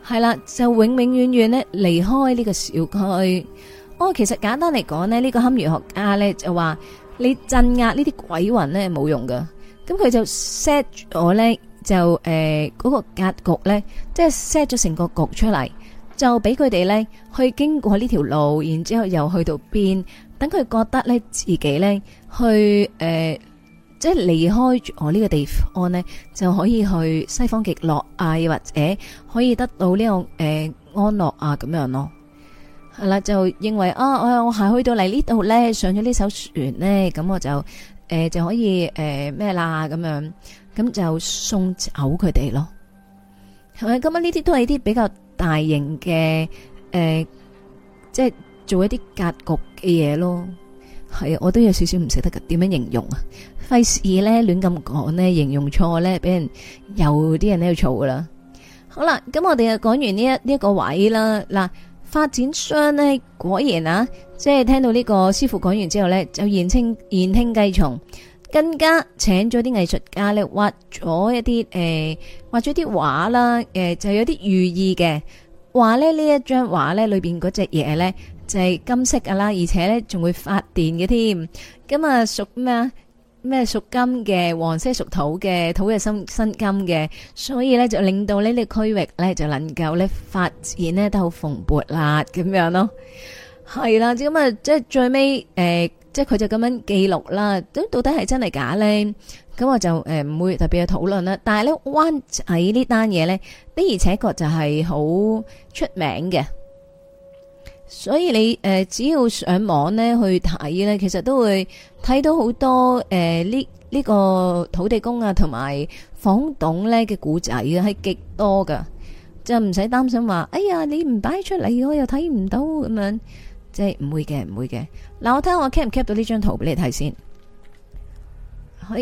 係啦，就永永遠遠咧離開呢個小區。其實簡單嚟講呢，呢個堪輿學家咧就話你鎮壓呢啲鬼魂咧冇用噶，咁佢就 set 咗咧就嗰個格局咧，即係 set 咗成個局出嚟，就俾佢哋咧去經過呢條路，然之後又去到邊，等佢覺得咧自己咧去即係離開咗呢個地方呢，就可以去西方極樂啊，又或者可以得到呢個安樂啊咁樣咯。係啦，就認為我係去到嚟呢度呢，上咗呢艘船呢，咁我就就可以咩啦咁樣，咁就送走佢哋咯。係咪咁啊？呢啲都係啲比較大型嘅即係做一啲格局嘅嘢咯。係啊，我都有少少唔識得噶，點樣形容啊？費事咧亂咁講咧，形容錯咧，俾人有啲人喺度嘈噶啦。好啦，咁我哋就講完呢一個位啦。嗱，發展商咧果然啊，即係聽到呢個師傅講完之後咧，就言聽計從，更加請咗啲藝術家咧畫咗一啲畫咗啲畫啦，就有啲寓意嘅話咧，呢一張畫咧裏邊嗰隻嘢咧就係金色噶啦，而且咧仲會發電嘅添。咁啊屬咩啊？咩屬金嘅，黃色屬土嘅，土嘅生金嘅，所以咧就令到呢個區域咧就能夠咧發展咧都好蓬勃啦，咁樣咯。係啦，咁啊即係最尾即係佢就咁樣記錄啦。咁到底係真係假咧？咁我就唔會特別去討論啦。但係咧灣仔呢單嘢咧的而且確就係好出名嘅。所以你只要上網咧去睇咧，其實都會睇到好多呢個土地公啊同埋房董咧嘅古仔啊，係極多噶，就唔使擔心話，哎呀你唔擺出嚟我又睇唔到咁樣，即係唔會嘅，唔會嘅。嗱，我睇下我 cap 唔 cap 到呢張圖俾你睇先，係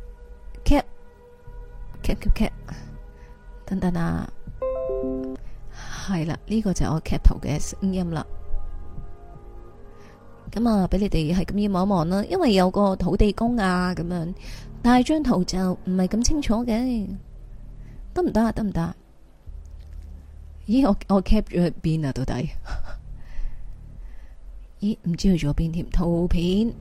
cap，等等啊。係啦，呢個就係我 cap 圖嘅聲音啦。咁啊，俾你哋係咁要望一望啦，因為有個土地公啊咁樣，但係張圖就唔係咁清楚嘅，得唔得啊？得唔得？咦，我 cap 咗去邊啊？到底？咦，唔知去咗邊添？圖片，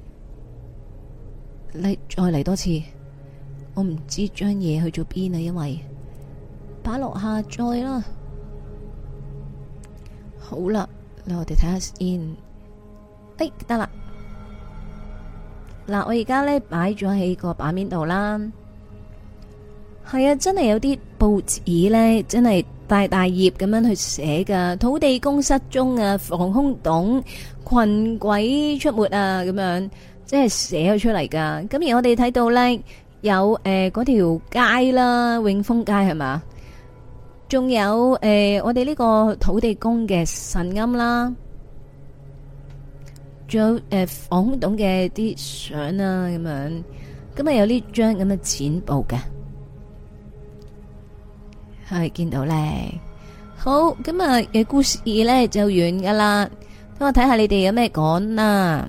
你再嚟多次，我唔知張嘢去咗邊啊，因為擺落下載啦。好啦，嗱我哋睇下先。得啦。嗱，我而家咧擺咗喺個版面度啦。係啊，真係有啲報紙咧，真係大大頁咁樣去寫噶。土地公失蹤啊，防空洞群鬼出沒啊，咁樣即係寫咗出嚟噶。咁而我哋睇到咧有嗰條街啦，永豐街係嘛？仲有我哋呢個土地公嘅神龕啦，仲有防空洞嘅啲相啊，咁樣，咁啊有呢張咁嘅剪報嘅，係見到咧。好，咁啊嘅故事咧就完噶啦。等我睇下你哋有咩講啦。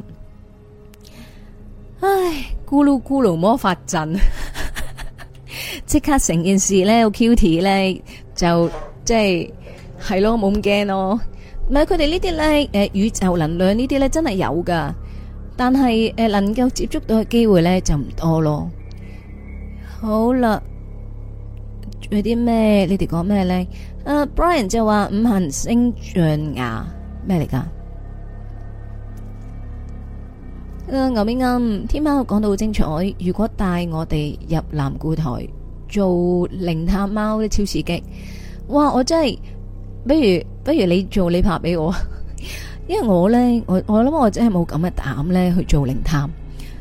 唉，咕嚕咕嚕魔法陣，即刻成件事咧好 cute 咧。就即係咯，冇咁驚咯。唔係佢哋呢啲咧，宇宙能量呢啲咧真係有噶，但係能夠接觸到嘅機會咧就唔多咯。好啦，仲有啲咩？你哋講咩咧？Brian 就話五行星象牙咩嚟噶？牛尾啱，天喵講到好精彩。如果帶我哋入南固台做靈探貓咧，超刺激！哇，我真係，不如你做你拍俾我，因為我咧，我諗我真係冇咁嘅膽咧去做靈探。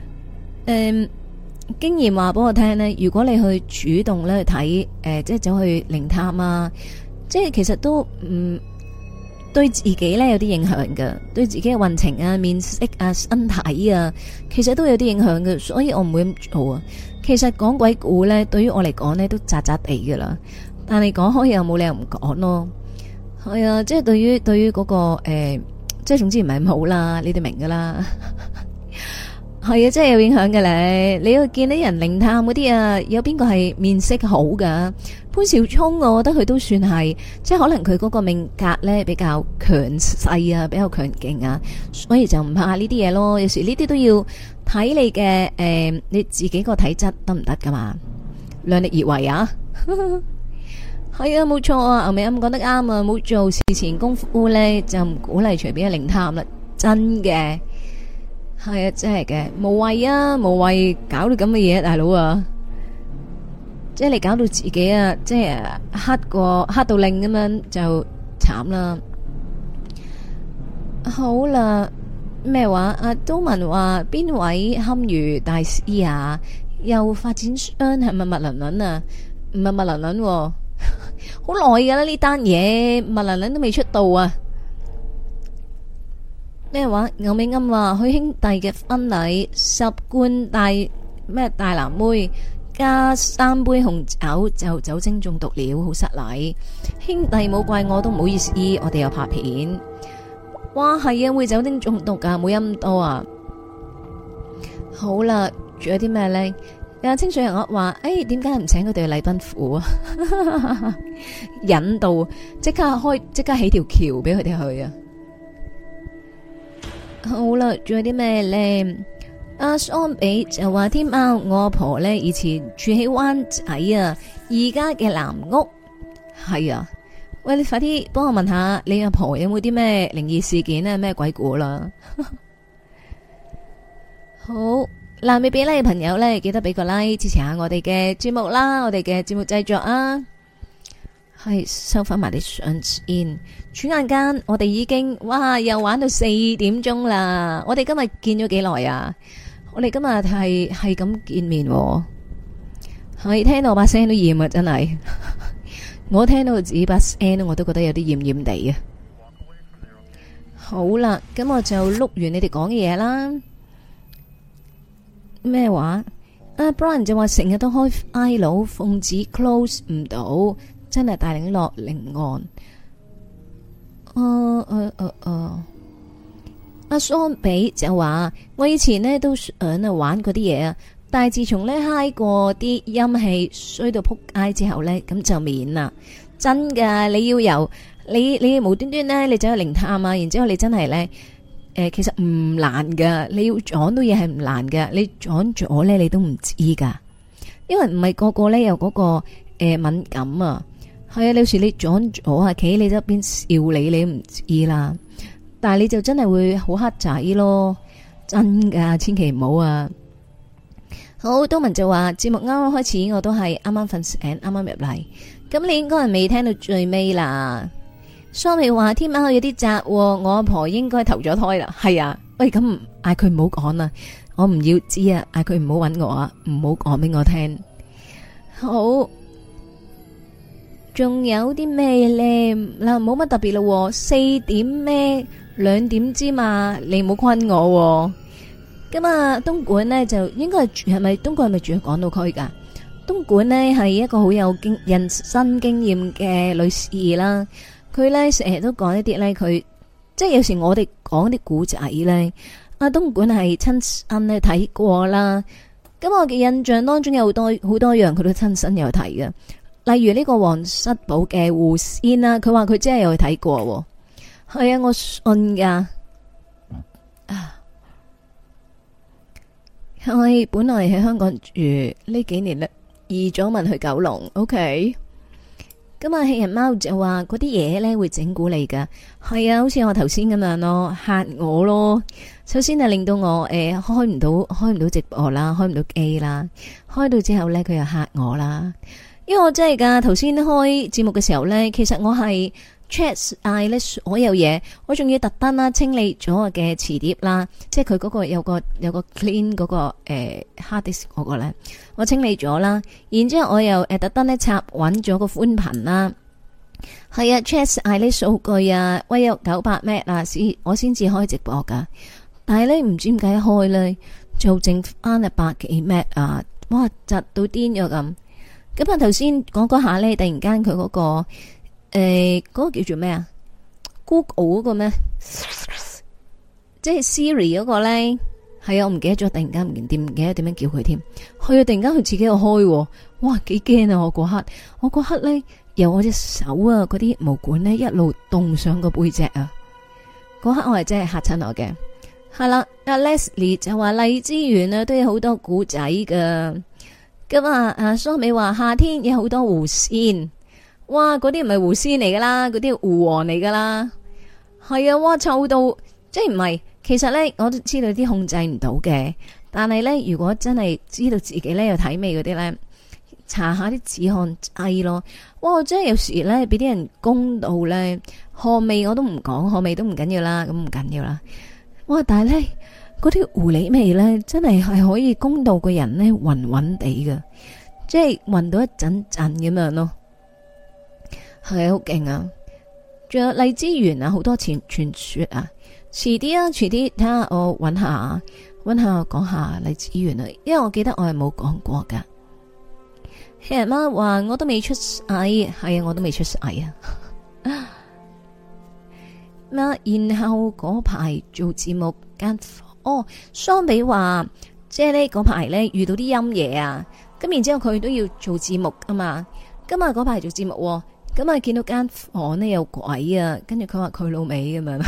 經驗話俾我聽咧，如果你去主動咧去睇，即係走去靈探啊，即係其實都唔對自己咧有啲影響㗎，對自己嘅運程啊、面色啊、身體啊，其實都有啲影響嘅，所以我唔會咁做啊。其實講鬼故咧，對於我嚟講咧都渣渣地噶啦，但係講開又冇理由唔講咯。係啊，即係對於嗰個即係總之唔係咁好啦，你哋明噶啦。 係啊，真係有影響嘅咧。你要見啲人靈探嗰啲啊，有邊個係面色好噶？潘紹聰，我覺得佢都算係，即係可能佢嗰個命格咧比較強勢啊，比較強勁啊，所以就唔怕呢啲嘢咯。有時呢啲都要睇你嘅你自己個體質得唔得噶嘛，量力而為啊。係啊，冇錯啊，牛尾啱講得啱啊，冇做事前功夫咧就唔鼓勵隨便去靈探啦，真嘅。係啊，真係嘅，無謂啊，無謂搞到咁嘅嘢，大佬啊，即係你搞到自己啊，即係黑到令咁樣就慘啦。好啦，咩話？阿都文話邊位堪輿大師啊？又發展商係咪麥倫倫啊？唔係麥倫倫，好耐噶啦呢單嘢，麥倫倫都未出道啊！咩話？牛尾啱話佢兄弟嘅婚禮10罐大藍妹加3杯紅酒就酒精中毒了，好失禮。兄弟冇怪我都唔好意思，我哋有拍片。哇，係啊，會酒精中毒噶，冇飲咁多啊。好啦，仲有啲咩呢？有清水人我話，點解唔請佢哋去禮賓府啊？引導即刻起條橋俾佢哋去啊！好啦，仲有啲咩呢？阿桑比就話天喵，我阿婆呢以前住喺灣仔啊，而家嘅藍屋係啊。喂，你快啲幫我問下你阿婆有冇啲咩靈異事件啊？咩鬼故啦？好，嗱，未俾 like 嘅朋友呢，記得俾個 like 支持下我哋嘅節目啦，我哋嘅節目製作啊。係收翻埋啲相先，轉眼間我哋已經又玩到4點鐘啦。我哋今日見咗幾耐啊？我哋今日係咁見面，係聽到我把聲都厭啊！真係，我聽到自己把聲我都覺得有啲厭厭地啊。好啦，咁我就碌完你哋講嘅嘢啦。咩話？阿 Brian 就話成日都開 I 佬，奉旨 close 唔到。真係大領落靈案。阿桑比就話我以前呢都想玩嗰啲嘢啊，但係自從呢嗨過啲陰氣衰到撲街之後呢，咁就免啦。真噶，你要由你無端端呢，你走去靈探啊，然之後你真係呢，其實唔難噶，你要撞到嘢係唔難噶，你撞咗呢，你都唔知噶，因為唔係個個呢有嗰個敏感啊。係啊，有時你撞咗啊，企喺你側邊笑你都唔知啦。但係你就真係會好黑仔咯，真噶，千祈唔好啊。好，東文就話節目啱啱開始，我都係啱啱瞓醒，啱啱入嚟。咁你應該係未聽到最尾啦。蘇美話天喵有啲窄，我阿婆應該投咗胎啦。係啊，喂，咁嗌佢唔好講啦，我唔要知啊，嗌佢唔好搵我啊，唔好講俾我聽。好。仲有啲咩咧？嗱，冇乜特別咯。4點咩？2點之嘛，你唔好困我。咁啊，東莞呢，就應該係咪東莞係咪住喺港島區噶？東莞呢，係一個好有人生經驗嘅女士啦。佢呢，成日都講一啲呢，佢即係有時我哋講啲古仔呢，阿東莞係親身咧睇過啦。咁我嘅印象當中有好多樣，佢都親身有睇嘅。例如呢個皇室堡嘅狐仙啦，佢話佢真係有去睇過，係啊，我信噶。係本來喺香港住呢幾年咧，移咗民去九龍。OK，咁啊，棄人貓就話嗰啲嘢咧會整蠱你噶，係啊，好似我頭先咁樣咯，嚇我咯。首先係令到我開唔到直播啦，開唔到機啦，開到之後咧佢又嚇我啦。因為我真係噶，頭先開節目嘅時候呢，其實我係 check 晒呢所有嘢，我仲要特登啦清理咗我嘅磁碟啦，即係佢嗰個有個 clean 嗰個hard disk 嗰個呢，我清理咗啦，然之後我又特登呢插穩咗個寬頻啦，係啊 check 晒呢數據啊，喂有900 M 啊，我先至開直播噶，但係呢，唔知點解一開呢，就剩翻100幾 M 啊，哇窒到癲咗咁。咁啊！頭先講嗰下咧，突然間佢嗰個嗰個叫做咩啊 ？Google 嗰個咩？即係 Siri 嗰個咧， 係啊，我唔記得咗，突然間唔記得點樣叫佢添。佢突然間佢自己又開，哇，幾驚啊！我嗰刻咧，由我隻手啊，嗰啲毛管咧一路凍上個背脊啊，嗰刻我係真係嚇親我嘅。係啦，阿 Leslie 就話荔枝園啊都有好多古仔噶。咁啊，阿蘇美話夏天有好多狐仙，哇，嗰啲唔係狐仙嚟噶啦，嗰啲狐王嚟噶啦。係啊，哇，臭到即係唔係。其實咧，我都知道啲控制唔到嘅，但係咧，如果真係知道自己咧有體味嗰啲咧，搽下啲止汗劑咯。哇，真係有時咧俾啲人攻到咧，汗味我都唔講，汗味都唔緊要啦，咁唔緊要啦。哇，但係咧嗰啲狐狸味咧，真係可以攻到個人咧暈暈地噶，即係暈到一陣陣咁樣咯。係好勁啊！仲有荔枝園啊，好多傳說啊。遲啲啊，遲啲睇下我搵下講下荔枝園啊，因為我記得我係冇講過噶。黑人媽話我都未出世，係啊，我都未出世啊。然後嗰排做節目間桑比話，即係呢嗰排咧遇到啲陰嘢啊，咁然之後佢都要做節目啊嘛。今日嗰排做節目，咁啊見到間房咧有鬼啊，跟住佢話佢老味咁樣。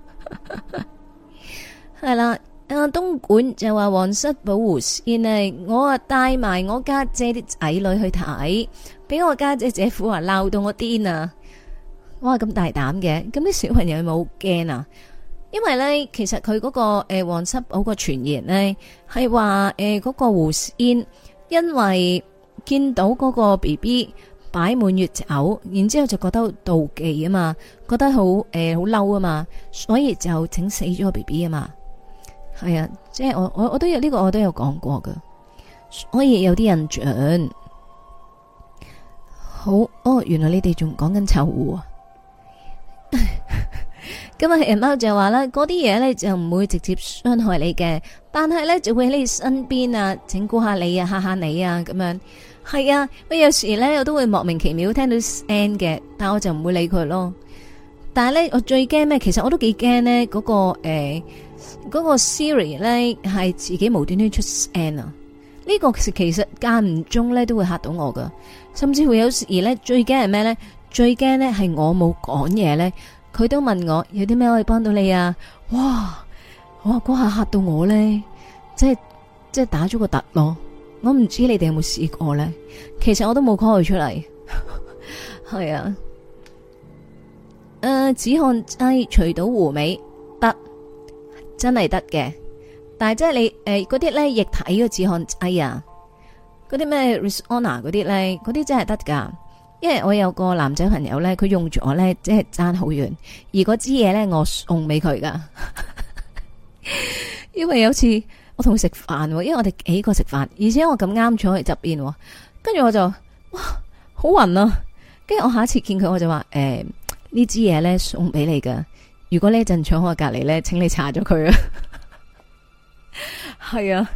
係啦，東莞就話皇室保護先呢，我啊帶埋我家姐啲仔女去睇，俾我家姐姐夫話鬧到我癲啊！哇，咁大膽嘅，咁啲小朋友有冇驚啊？因為呢，其實佢嗰個皇室保個傳言呢，係話嗰個狐仙因為見到嗰個 BB 擺滿月酒，然之後就覺得妒忌啊嘛，覺得好好嬲啊嘛，所以就整死咗個 BB 啊嘛。係啊，即係我都有呢個，我都有講過噶，所以有啲印象。好原來你哋仲講緊臭狐啊！今日人貓就話啦，嗰啲嘢呢就唔會直接傷害你嘅，但係呢就會喺你身邊啊，整蠱下你啊，嚇下你啊咁樣。係啊，喂，有時咧我都會莫名其妙聽到聲嘅，但我就唔會理佢咯。但係咧，我最驚咩？其實我都幾驚呢嗰個 Siri 咧係自己無端端出聲啊！呢個其實間唔中咧都會嚇到我噶，甚至會有時咧最驚係咩咧？最驚咧係我冇講嘢咧，佢都問我有啲咩可以幫到你啊！哇，嗰下嚇到我咧，即係打咗個突咯。我唔知你哋有冇試過呢？其實我都冇 call 佢出嚟。係啊，止汗劑除到狐味得，真係得嘅。但係即係你嗰啲咧液體嘅止汗劑啊，嗰啲咩 Rexona 嗰啲咧，嗰啲真係得噶。因為我有個男仔朋友咧，佢用咗咧，即係爭好遠。而嗰支嘢咧，我送俾佢噶。因為有次我同佢食飯，因為我哋幾個食飯，而且我咁啱坐喺側邊，跟住我就哇好暈啊！跟住我下一次見佢，我就話呢支嘢咧送俾你噶，如果呢一陣坐我隔籬咧，請你搽咗佢啊！係啊，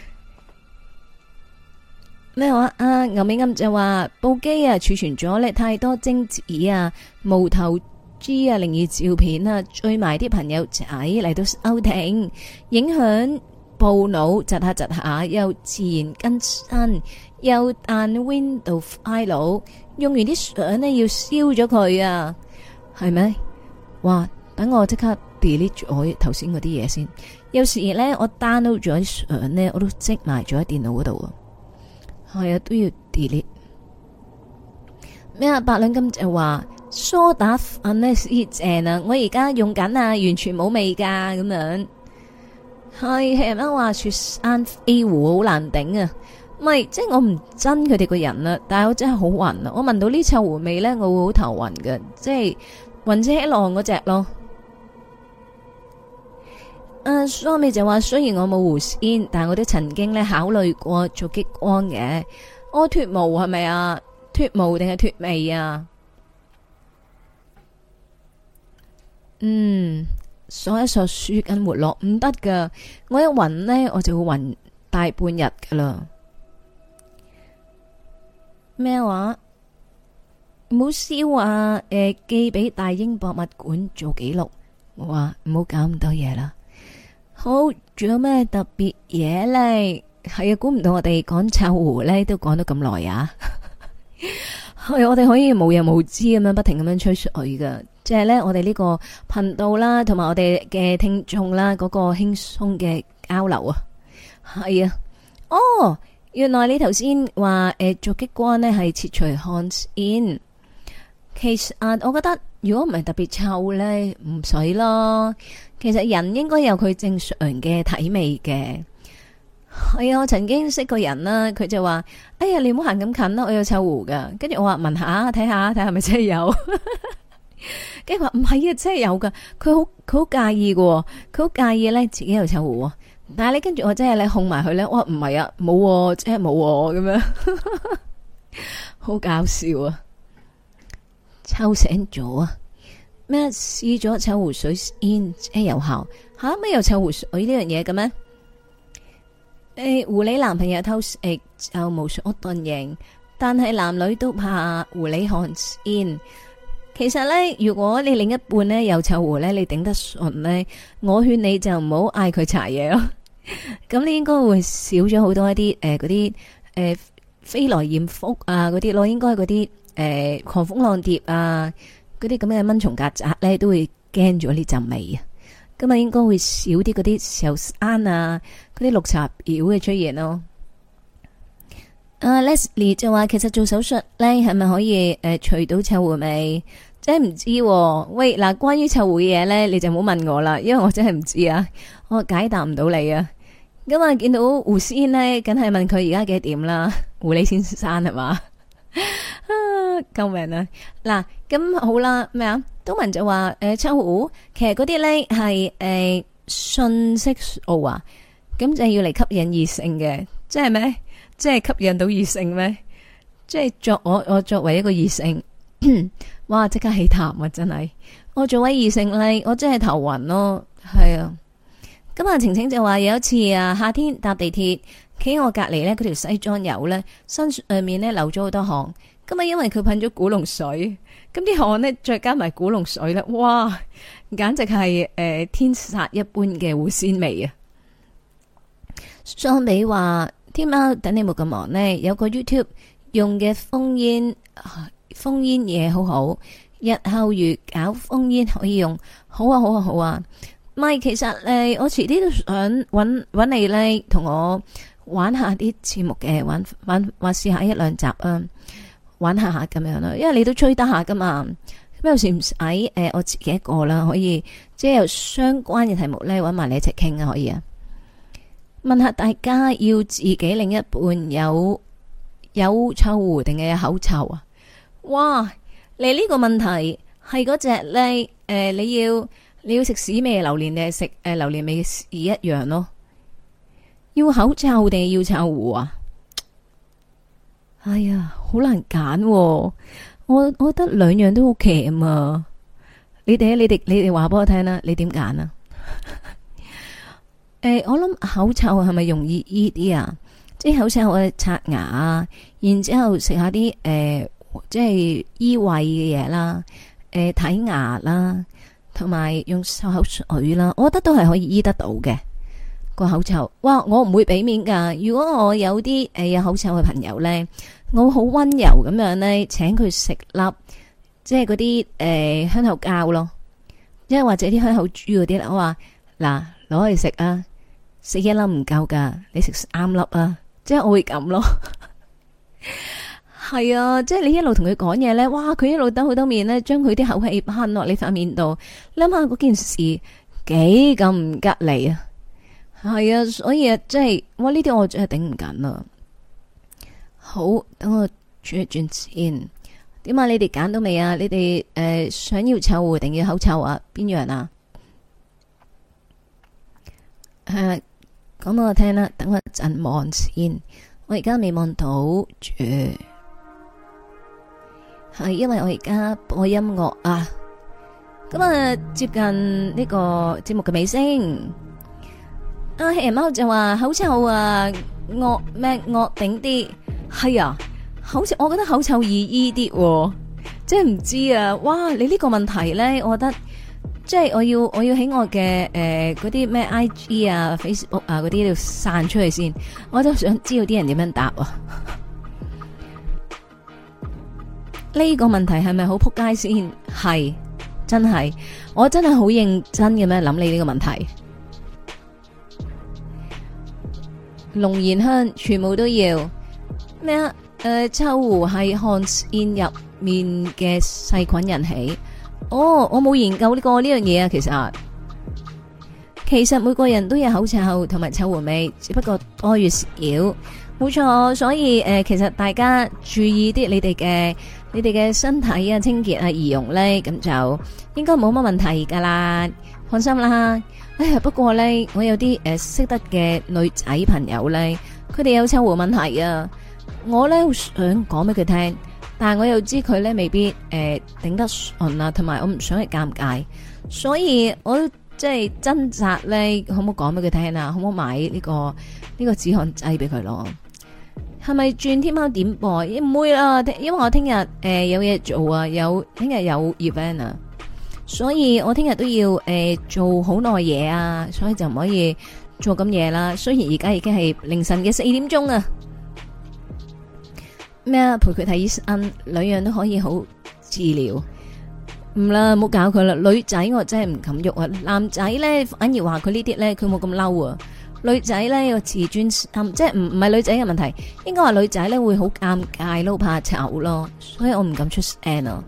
咩話啊？牛尾暗就話部機啊儲存咗咧太多精子啊、無頭 G 啊、靈異照片啊，追埋啲朋友仔嚟到收聽，影響部腦窒下窒下，又自然更新，又彈 Windows file， 用完啲相呢要燒咗佢啊，係咪？哇！等我即刻 delete 咗頭先嗰啲嘢先。有時咧我 download 咗啲相呢，我都積埋咗喺電腦嗰度啊。係啊，都要 delete。咩啊？八兩金就話梳打粉呢先正啊！我而家用緊啊，完全冇味噶咁樣。係係咪話雪山飛狐好難頂啊？唔係，即係我唔憎佢哋個人啊，但係我真係好暈啊！我聞到呢臭狐味咧，我會好頭暈嘅，即係暈車浪嗰隻咯。蘇美就話雖然我冇狐仙，但係我都曾經咧考慮過做激光嘅。我脫毛係咪啊？脫毛定係脫味啊？索一索舒筋活絡唔得噶，我一暈呢，我就會暈大半日噶啦。咩話？唔好燒啊！寄俾大英博物館做記錄。我話唔好搞咁多嘢啦。好， 仲有咩特別嘢咧？係啊，估唔到我哋講臭狐咧都講咗咁耐啊！係我哋可以無日無知咁樣不停咁樣吹水噶，即係咧我哋呢個頻道啦，同埋我哋嘅聽眾啦，嗰個輕鬆嘅交流啊，係啊，哦，原來你頭先話做激光咧係切除汗腺，其實我覺得如果唔係特別臭咧，唔使咯。其實人應該有佢正常嘅體味嘅。係啊，我曾經識個人啦，佢就話：哎呀，你唔好行咁近啦，我有臭狐噶。跟住我話聞下，睇下係咪真係有。跟住話唔係啊，真係有噶。佢好介意嘅，佢好介意咧自己有臭狐。但係你跟住我真係咧控埋佢咧，我話唔係啊，冇，真係冇咁樣，好搞笑啊！臭醒咗啊！咩試咗臭狐水先即係有效吓？咩有臭狐水呢樣嘢嘅咩？狐狸男朋友偷食就無所遁形，但係男女都怕狐狸汗腺。其實呢，如果你另一半呢有臭狐呢，你頂得順呢，我勸你就唔好嗌佢搽嘢咯。咁你應該會少咗好多一啲嗰啲飛來艷福啊嗰啲咯，應該嗰啲狂蜂浪蝶啊嗰啲咁嘅蚊蟲曱甴呢，都會驚咗呢陣味啊。咁啊，應該會少啲嗰啲石油山啊，嗰啲綠茶婊嘅出現咯。Leslie 就話，其實做手術咧係咪可以除到臭狐味？真係唔知喎。喂，嗱，關於臭狐嘅嘢咧，你就唔好問我啦，因為我真係唔知啊，我解答唔到你啊。咁啊，見到狐仙咧，梗係問佢而家幾點啦？狐狸先生係嘛？救命啊！嗱，咁好啦，咩啊？東文就話臭狐其實嗰啲咧係信息素啊，咁就要嚟吸引異性嘅，即係咩？即係吸引到異性咩？即係我作為一個異性，哇！即刻起痰啊！真係，我作為異性咧，我真係頭暈咯，係啊。咁啊，晴晴就話有一次啊，夏天搭地鐵，企我隔籬咧，嗰條西裝友咧身上面咧流咗好多汗。咁啊，因為佢噴咗古龍水，咁啲汗呢，再加埋古龍水咧，哇，簡直係天殺一般嘅狐仙味啊！相比話，天喵等你冇咁忙呢，有個 YouTube 用嘅封煙嘢好好，日後如搞封煙可以用，好啊好啊好啊！咪其實我遲啲都想搵你咧，同我玩下啲節目嘅，玩試下一兩集啊！玩下咁樣啦，因為你都吹得下噶嘛，咁有時唔使我自己一個啦，可以即係有相關嘅題目咧，搵埋你一齊傾啊，可以啊。問下大家要自己另一半有臭狐定係有口臭啊？哇！你呢個問題係嗰隻咧你要食屎味榴蓮定係食榴蓮味嘅屎一樣咯？要口臭定係要臭狐啊？哎呀，好難揀喎，我覺得兩樣都好奇啊！你哋話俾我聽啦，你點揀啊？我諗口臭係咪容易醫啲啊？即係口臭我刷牙啊，然之後食下啲即係醫胃嘅嘢啦，睇牙啦，同埋用漱口水啦，我覺得都係可以醫得到嘅。個口臭，哇！我唔會俾面噶。如果我有啲有口臭嘅朋友呢，我好溫柔咁樣呢，請佢食粒即係嗰啲香口膠咯，即係或者啲香口珠嗰啲啦。我話嗱，攞去食啊，食一粒唔夠噶，你食3粒啊，即係我會咁咯。係啊，即係你一路同佢講嘢呢，哇！佢一路兜好多面呢，將佢啲口氣噴落你塊面度，諗下嗰件事幾咁唔吉利啊！係啊，所以啊，即係哇呢啲我真係頂唔緊啊！好，等我轉一轉先。點啊？你哋揀到未啊？你哋想要臭狐定要口臭啊？邊樣啊？講俾我聽啦。等我一陣望先。我而家未望到住，係因為我而家播音樂啊。咁啊，接近呢個節目嘅尾聲。阿黑人貓就話口臭啊，惡頂啲，係啊，我覺得口臭易醫啲，即係唔知啊，哇！你呢個問題咧，我覺得即係我要喺我嘅嗰啲咩 IG 啊 Facebook 啊嗰啲度散出去先，我都想知道啲人點樣答啊。呢個問題係咪好撲街先？係真係，我真係好認真咁樣諗你呢個問題。龍涎香全部都要咩啊？臭狐係汗腺入面嘅細菌引起。哦，我冇研究過呢樣嘢啊。其實每個人都有口臭同埋臭狐味，只不過多與少。冇錯，所以其實大家注意啲你哋嘅身體啊、清潔啊、儀容咧，咁就應該冇乜問題噶啦，放心啦。哎呀，不過咧，我有啲識得嘅女仔朋友咧，佢哋有臭狐問題啊。我咧好想講俾佢聽，但係我又知佢咧未必頂得順啊，同埋我唔想係尷尬，所以我都即係掙扎咧，可唔可以講俾佢聽啊？可唔可以買呢個止汗劑俾佢咯？係咪轉天貓點播？唔會啦，因為我聽日有嘢做啊，聽日有 event 啊，所以我聽日都要做好耐嘢啊，所以就唔可以做咁夜啦。雖然而家已經係凌晨嘅4點鐘啊。咩啊？陪佢睇醫生，兩樣都可以好治療。唔啦，唔好搞佢啦。女仔我真係唔敢喐啊。男仔咧反而話佢呢啲咧，佢冇咁嬲啊。女仔咧有自尊心，即係唔係女仔嘅問題，應該話女仔咧會好尷尬咯，怕醜咯，所以我唔敢出聲啊。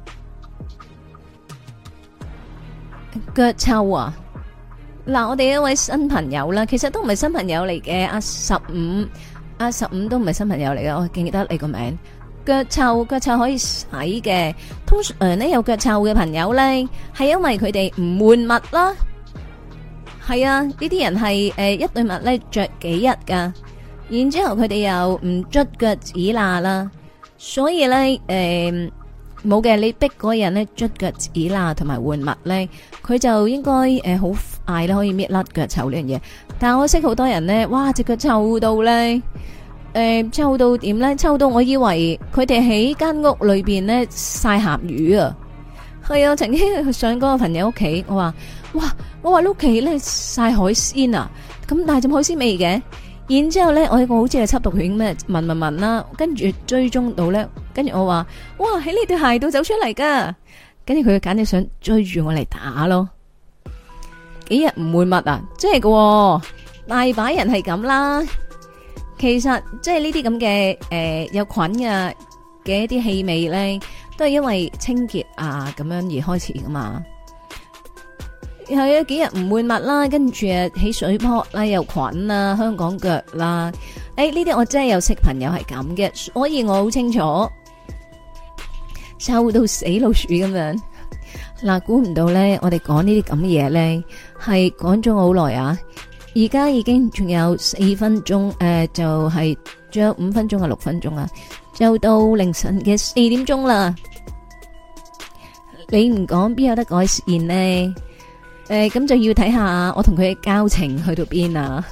腳臭啊！嗱，我哋一位新朋友啦，其實都唔係新朋友嚟嘅，阿15都唔係新朋友嚟嘅，我記得你個名。腳臭可以洗嘅，通常咧有腳臭嘅朋友咧，係因為佢哋唔換襪啦。係啊，呢啲人係一對襪咧着幾日噶，然之後佢哋又唔捽腳趾罅啦，所以咧冇嘅，你逼嗰個人咧捽腳趾罅同埋換襪咧，佢就應該好快咧可以搣甩腳臭呢樣嘢。但係我識好多人咧，哇隻腳臭到咧，臭到點咧？臭到我以為佢哋喺間屋裏邊咧曬鹹魚啊！係啊，曾經上嗰個朋友屋企，我話你屋企咧曬海鮮啊，咁但係隻海鮮味嘅。然之後咧，我一個好似係緝毒犬咩聞啦，跟住追蹤到咧，跟住我話哇喺呢對鞋度走出嚟噶，跟住佢簡直想追住我嚟打咯。幾日唔換襪啊？即係個大把人係咁啦。其實即係呢啲咁嘅有菌嘅一啲氣味咧，都係因為清潔啊咁樣而開始噶嘛。係啊，幾日唔換襪啦，跟住起水泡啦，又菌啦，香港腳啦，呢啲我真係有識朋友係咁嘅，所以我好清楚，臭到死老鼠咁樣。嗱，估唔到咧，我哋講呢啲咁嘅嘢咧，係講咗好耐啊！而家已經仲有4分鐘，就係仲有5分鐘啊，6分鐘啊，就到凌晨嘅4點鐘啦。你唔講邊有得改善呢？咁就要睇下我同佢嘅交情去到邊啊！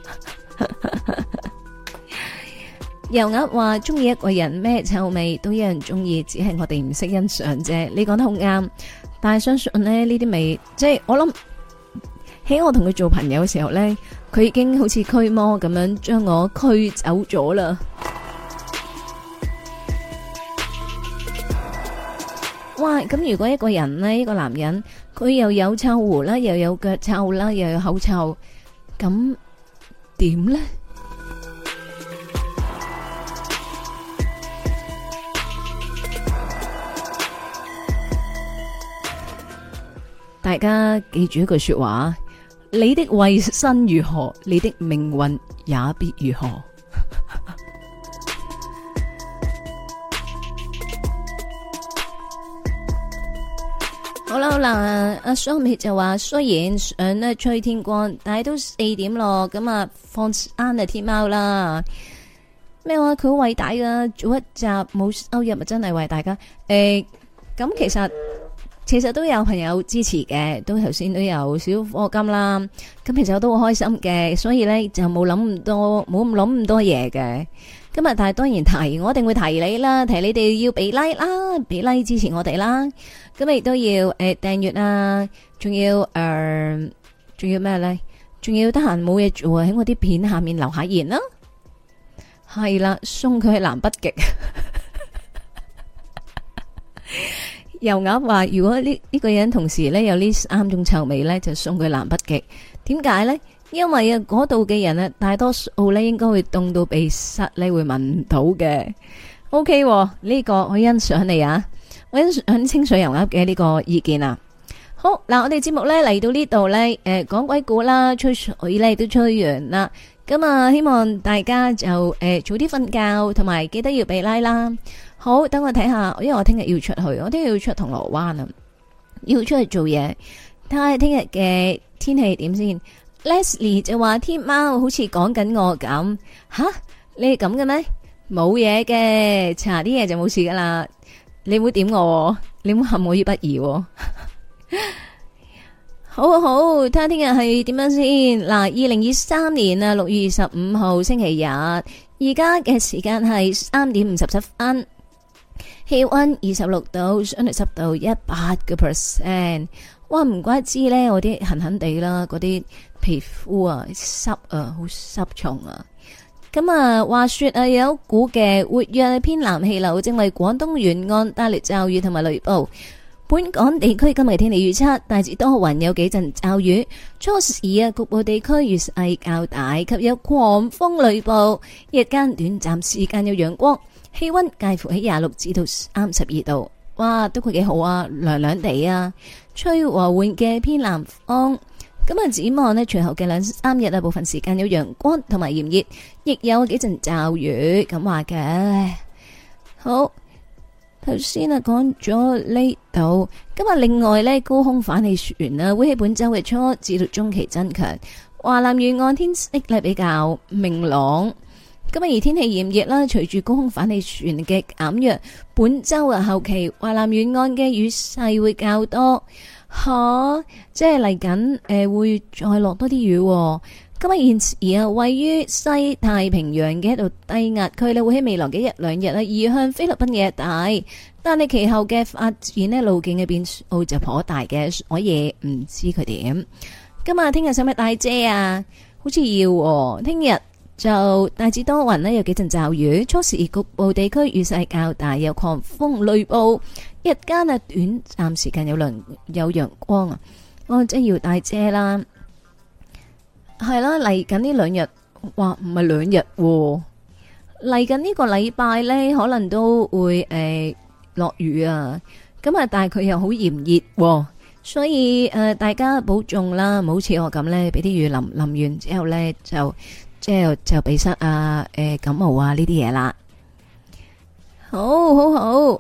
油鴨話中意一個人咩臭味都有人中意，只係我哋唔識欣賞啫。你講得好啱，但係相信呢啲味，即係我諗喺我同佢做朋友嘅時候呢，佢已經好似驅魔咁樣將我驅走咗啦。哇！咁如果一個人呢，一個男人，佢又有臭狐啦，又有腳臭啦，又有口臭，咁點呢？大家記住一句說話：你的衛生如何，你的命運也必如何。好啦好啦，阿 Sammy 就話雖然想咧吹天光，但係都4點咯，咁啊放啱啊天貓啦。咩話佢好偉大噶，做一集冇收入咪真係為大家。咁其實其實都有朋友支持嘅，都頭先都有少課金啦。咁其實我都好開心嘅，所以咧就冇諗咁多，冇諗咁多嘢嘅。今日但係當然提，我一定會提你啦，提你哋要俾 like 啦，俾 like 支持我哋啦。咁亦都要訂閱啊，仲要仲要咩咧？仲要得閒冇嘢做啊，喺我啲片下面留下言啦。係啦，送佢去南北極。油鴨話：如果呢個人同時咧有呢3種臭味咧，就送佢南北極。點解咧？因為啊，嗰度嘅人啊，大多數咧應該會凍到鼻塞咧，會聞唔到嘅。OK，呢個我欣賞你啊，我欣賞清水油鴨嘅呢個意見啊。好嗱，我哋節目咧嚟到呢度咧，講鬼故啦，吹水咧都吹完啦。咁啊，希望大家就早啲瞓覺，同埋記得要俾 like 啦。好，等我睇下，因為我聽日要出去，我聽日要出銅鑼灣啊，要出去做嘢。睇下聽日嘅天氣點先。Leslie 就話天貓好似講緊我咁，吓你係咁嘅咩？冇嘢嘅，搽啲嘢就冇事噶啦。你唔好點我，你唔好陷我於不義。好好，睇下聽日係點樣先。嗱，2023年啊6月25號星期日，而家嘅時間係3點57分，氣溫26度，相對濕度100%。哇，唔怪之咧，我啲痕痕地啦，嗰啲皮膚啊濕啊，好濕重啊。咁啊，話說啊，有一股嘅活躍偏南氣流正為廣東沿岸帶嚟驟雨同埋雷暴。本港地區今日天氣預測大致多雲，有幾陣驟雨。初時啊，局部地區雨勢較大，及有狂風雷暴。日間短暫時間有陽光，氣溫介乎喺26至到32度。哇，都幾好啊，涼涼地啊，吹和緩嘅偏南風。咁啊，展望呢，隨後嘅2-3日啊，部分時間有陽光同埋炎熱，亦有幾陣驟雨。咁話嘅好。頭先啊講咗呢度，今日另外呢，高空反氣旋啊會喺本周嘅初至到中期增強，華南沿岸天色呢比較明朗。今日而天氣炎熱啦，隨住高空反氣旋嘅減弱，本周啊後期華南沿岸嘅雨勢會較多，即係嚟緊會再落多啲雨。今日現時啊，位於西太平洋嘅一道低壓區咧，會喺未來嘅1-2日咧移向菲律賓嘅一帶，但係其後嘅發展咧路徑嘅變數就頗大嘅，所以唔知佢點。今日聽日使唔使帶遮啊？好似要。聽日就大致多雲咧，有幾陣驟雨，初時局部地區雨勢較大，有狂風雷暴。日間啊，短暫時間有陽光啊，我真係要帶遮啦。係啦，嚟緊呢2日，哇，唔係2日，嚟緊呢個禮拜呢，可能都會落雨啊。咁啊，但係佢又好炎熱，所以大家保重啦，唔好似我咁呢，俾啲雨淋完之後呢，就鼻塞啊，感冒啊呢啲嘢啦。好好好，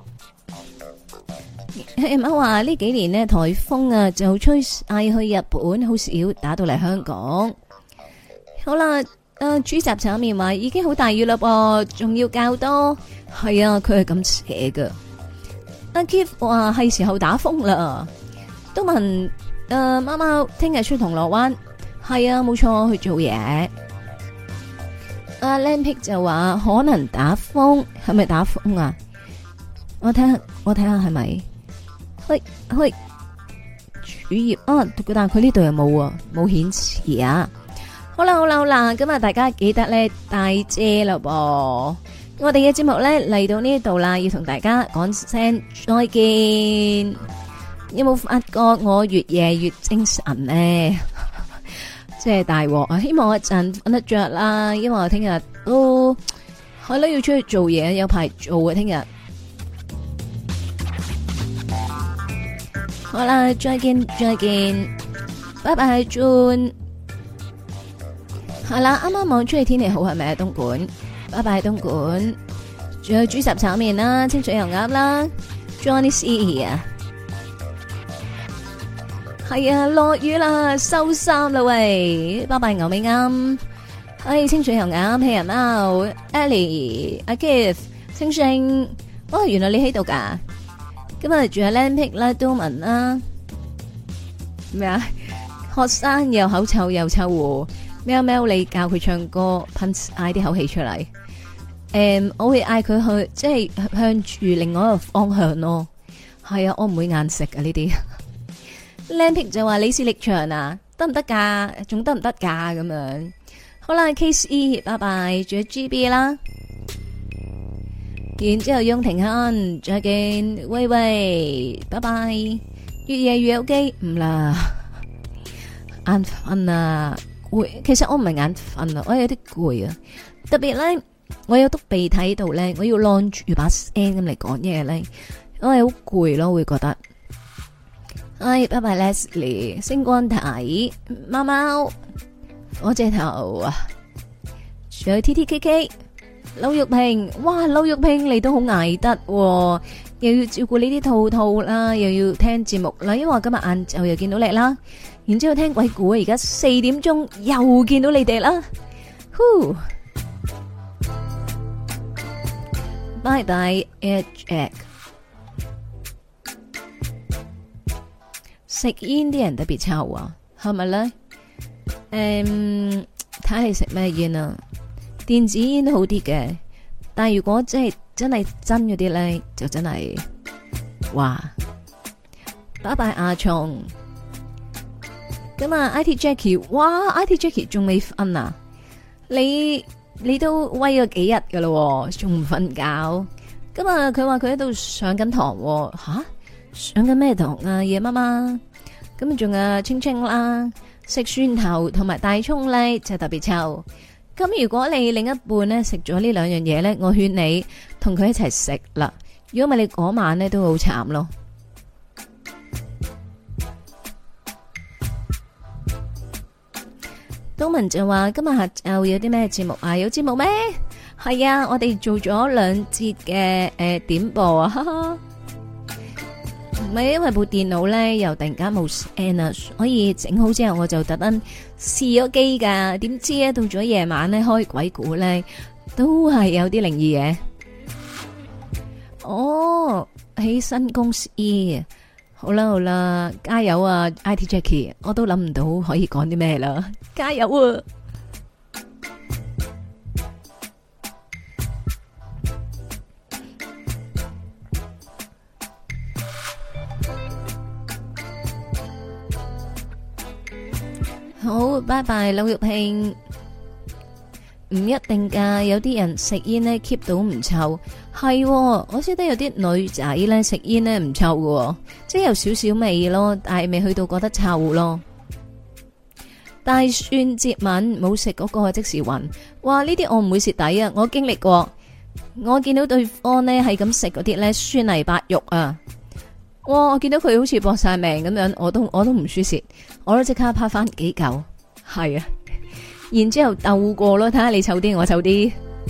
媽話呢幾年呢，颱風啊就吹晒去日本，好少打到嚟香港。好啦，豬雜炒麵話已經好大雨啦噃，仲要較多。係啊，佢係咁寫噶。阿 Keith 話係時候打風啦。都問貓貓聽日出銅鑼灣。係啊，冇錯，去做嘢。阿 Lampick 就話可能打風，係咪打風啊？我睇下係咪？去主頁啊，但係佢呢度又冇啊，冇顯示啊。好啦，咁啊，大家記得咧帶遮啦噃。我哋嘅節目咧嚟到呢度啦，要同大家講聲再見。有冇發覺我越夜越精神呢？即係大鑊啊！希望我一陣瞓得着啦，因為我聽日都係咯要出去做嘢，有排做啊！聽日好啦，再見，拜拜，June。係啦，啱啱望出去天氣好係咪啊？東莞，拜拜東莞，仲有豬雜炒麵啦，清水油鴨啦 ，Johnny C 啊，係啊，落雨啦，收衫啦喂，拜拜牛尾啱，清水油鴨，黑人貓 ，Ellie，阿 Keith，星星，哦，原來你喺度噶， 今日仲有靚皮啦，都文啦，咩啊？學生又口臭又臭狐，喵喵你教佢唱歌，噴嗌啲口氣出嚟。我會嗌佢去，即係向住另外一個方向咯。係啊，我唔會硬食啊呢啲。靚皮就話李氏力場啊，得唔得噶？仲得唔得噶？咁樣好啦 ，Case E， 拜拜，仲有 GB 啦。然之後雍庭亨，再見，喂喂，拜拜。越夜越有機，唔啦，眼瞓啊，攰。其實我唔係眼瞓啊，我有啲攰啊。特別咧，我有督鼻涕喺度咧，我要晾住把聲咁嚟講嘢咧，我係好攰咯，會覺得。哎，拜拜 Leslie， 星光體，貓貓，火車頭啊，仲有 TTKK。劉玉萍，哇！劉玉萍你都好捱得，又要照顧呢啲兔兔啦，又要聽節目啦。因為我今日晏晝又見到你啦，然之後聽鬼故，而家4點鐘又見到你哋啦。呼，拜拜 Jack。食煙啲人特別臭啊，係咪咧？睇你食咩煙啊？電子煙好啲嘅，但係如果真係真嗰啲咧，就真係哇！拜拜阿松，咁啊 IT Jackie， 哇 IT Jackie 仲未瞓啊？你都威咗幾日噶咯，仲唔瞓覺？咁啊佢話佢喺度上緊堂，吓上緊咩堂啊？夜媽媽，咁啊仲有青青啦，食蒜頭同埋大蔥咧就特別臭。咁如果你另一半咧食咗呢兩樣嘢咧，我勸你同佢一齊食啦。如果唔係你嗰晚咧都好慘咯。東文就話今日下晝有啲咩節目啊？有節目咩？係啊，我哋做咗2節嘅點播啊，哈哈。唔係因為部電腦咧又突然間冇聲啊，所以整好之後我就特登試咗機噶，點知咧到咗夜晚咧開鬼故咧都係有啲靈異嘢。哦，喺新公司，好啦好啦，加油啊 IT Jackie， 我都諗唔到可以講啲咩啦，加油啊！好，拜拜，劉玉慶。唔一定噶，有啲人食煙咧 keep 到唔臭，係，我識得有啲女仔咧食煙咧唔臭喎，即係有少少味咯，但係未去到覺得臭咯。大蒜接吻冇食嗰個即時暈，哇！呢啲我唔會蝕底啊，我經歷過，我見到對方咧係咁食嗰啲咧酸泥白肉啊。哇！我見到佢好似搏晒命咁樣，我都唔輸蝕，我都即刻拍翻幾嚿，係啊，然之後鬥過咯，睇下你臭啲，我臭啲。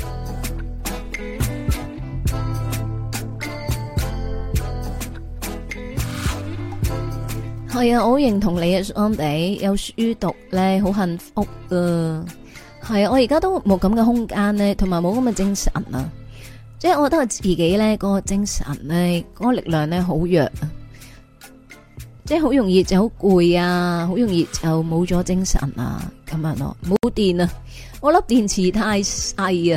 係啊，我好認同你啊，安比有書讀咧，好幸福啊。係啊，我而家都冇咁嘅空間咧，同埋冇咁嘅精神啊。即係我覺得我自己咧，嗰個精神咧，嗰個力量咧好弱啊，即係好容易就好攰啊，好容易就冇咗精神啊，咁樣咯，冇電啊，我粒電池太細啊。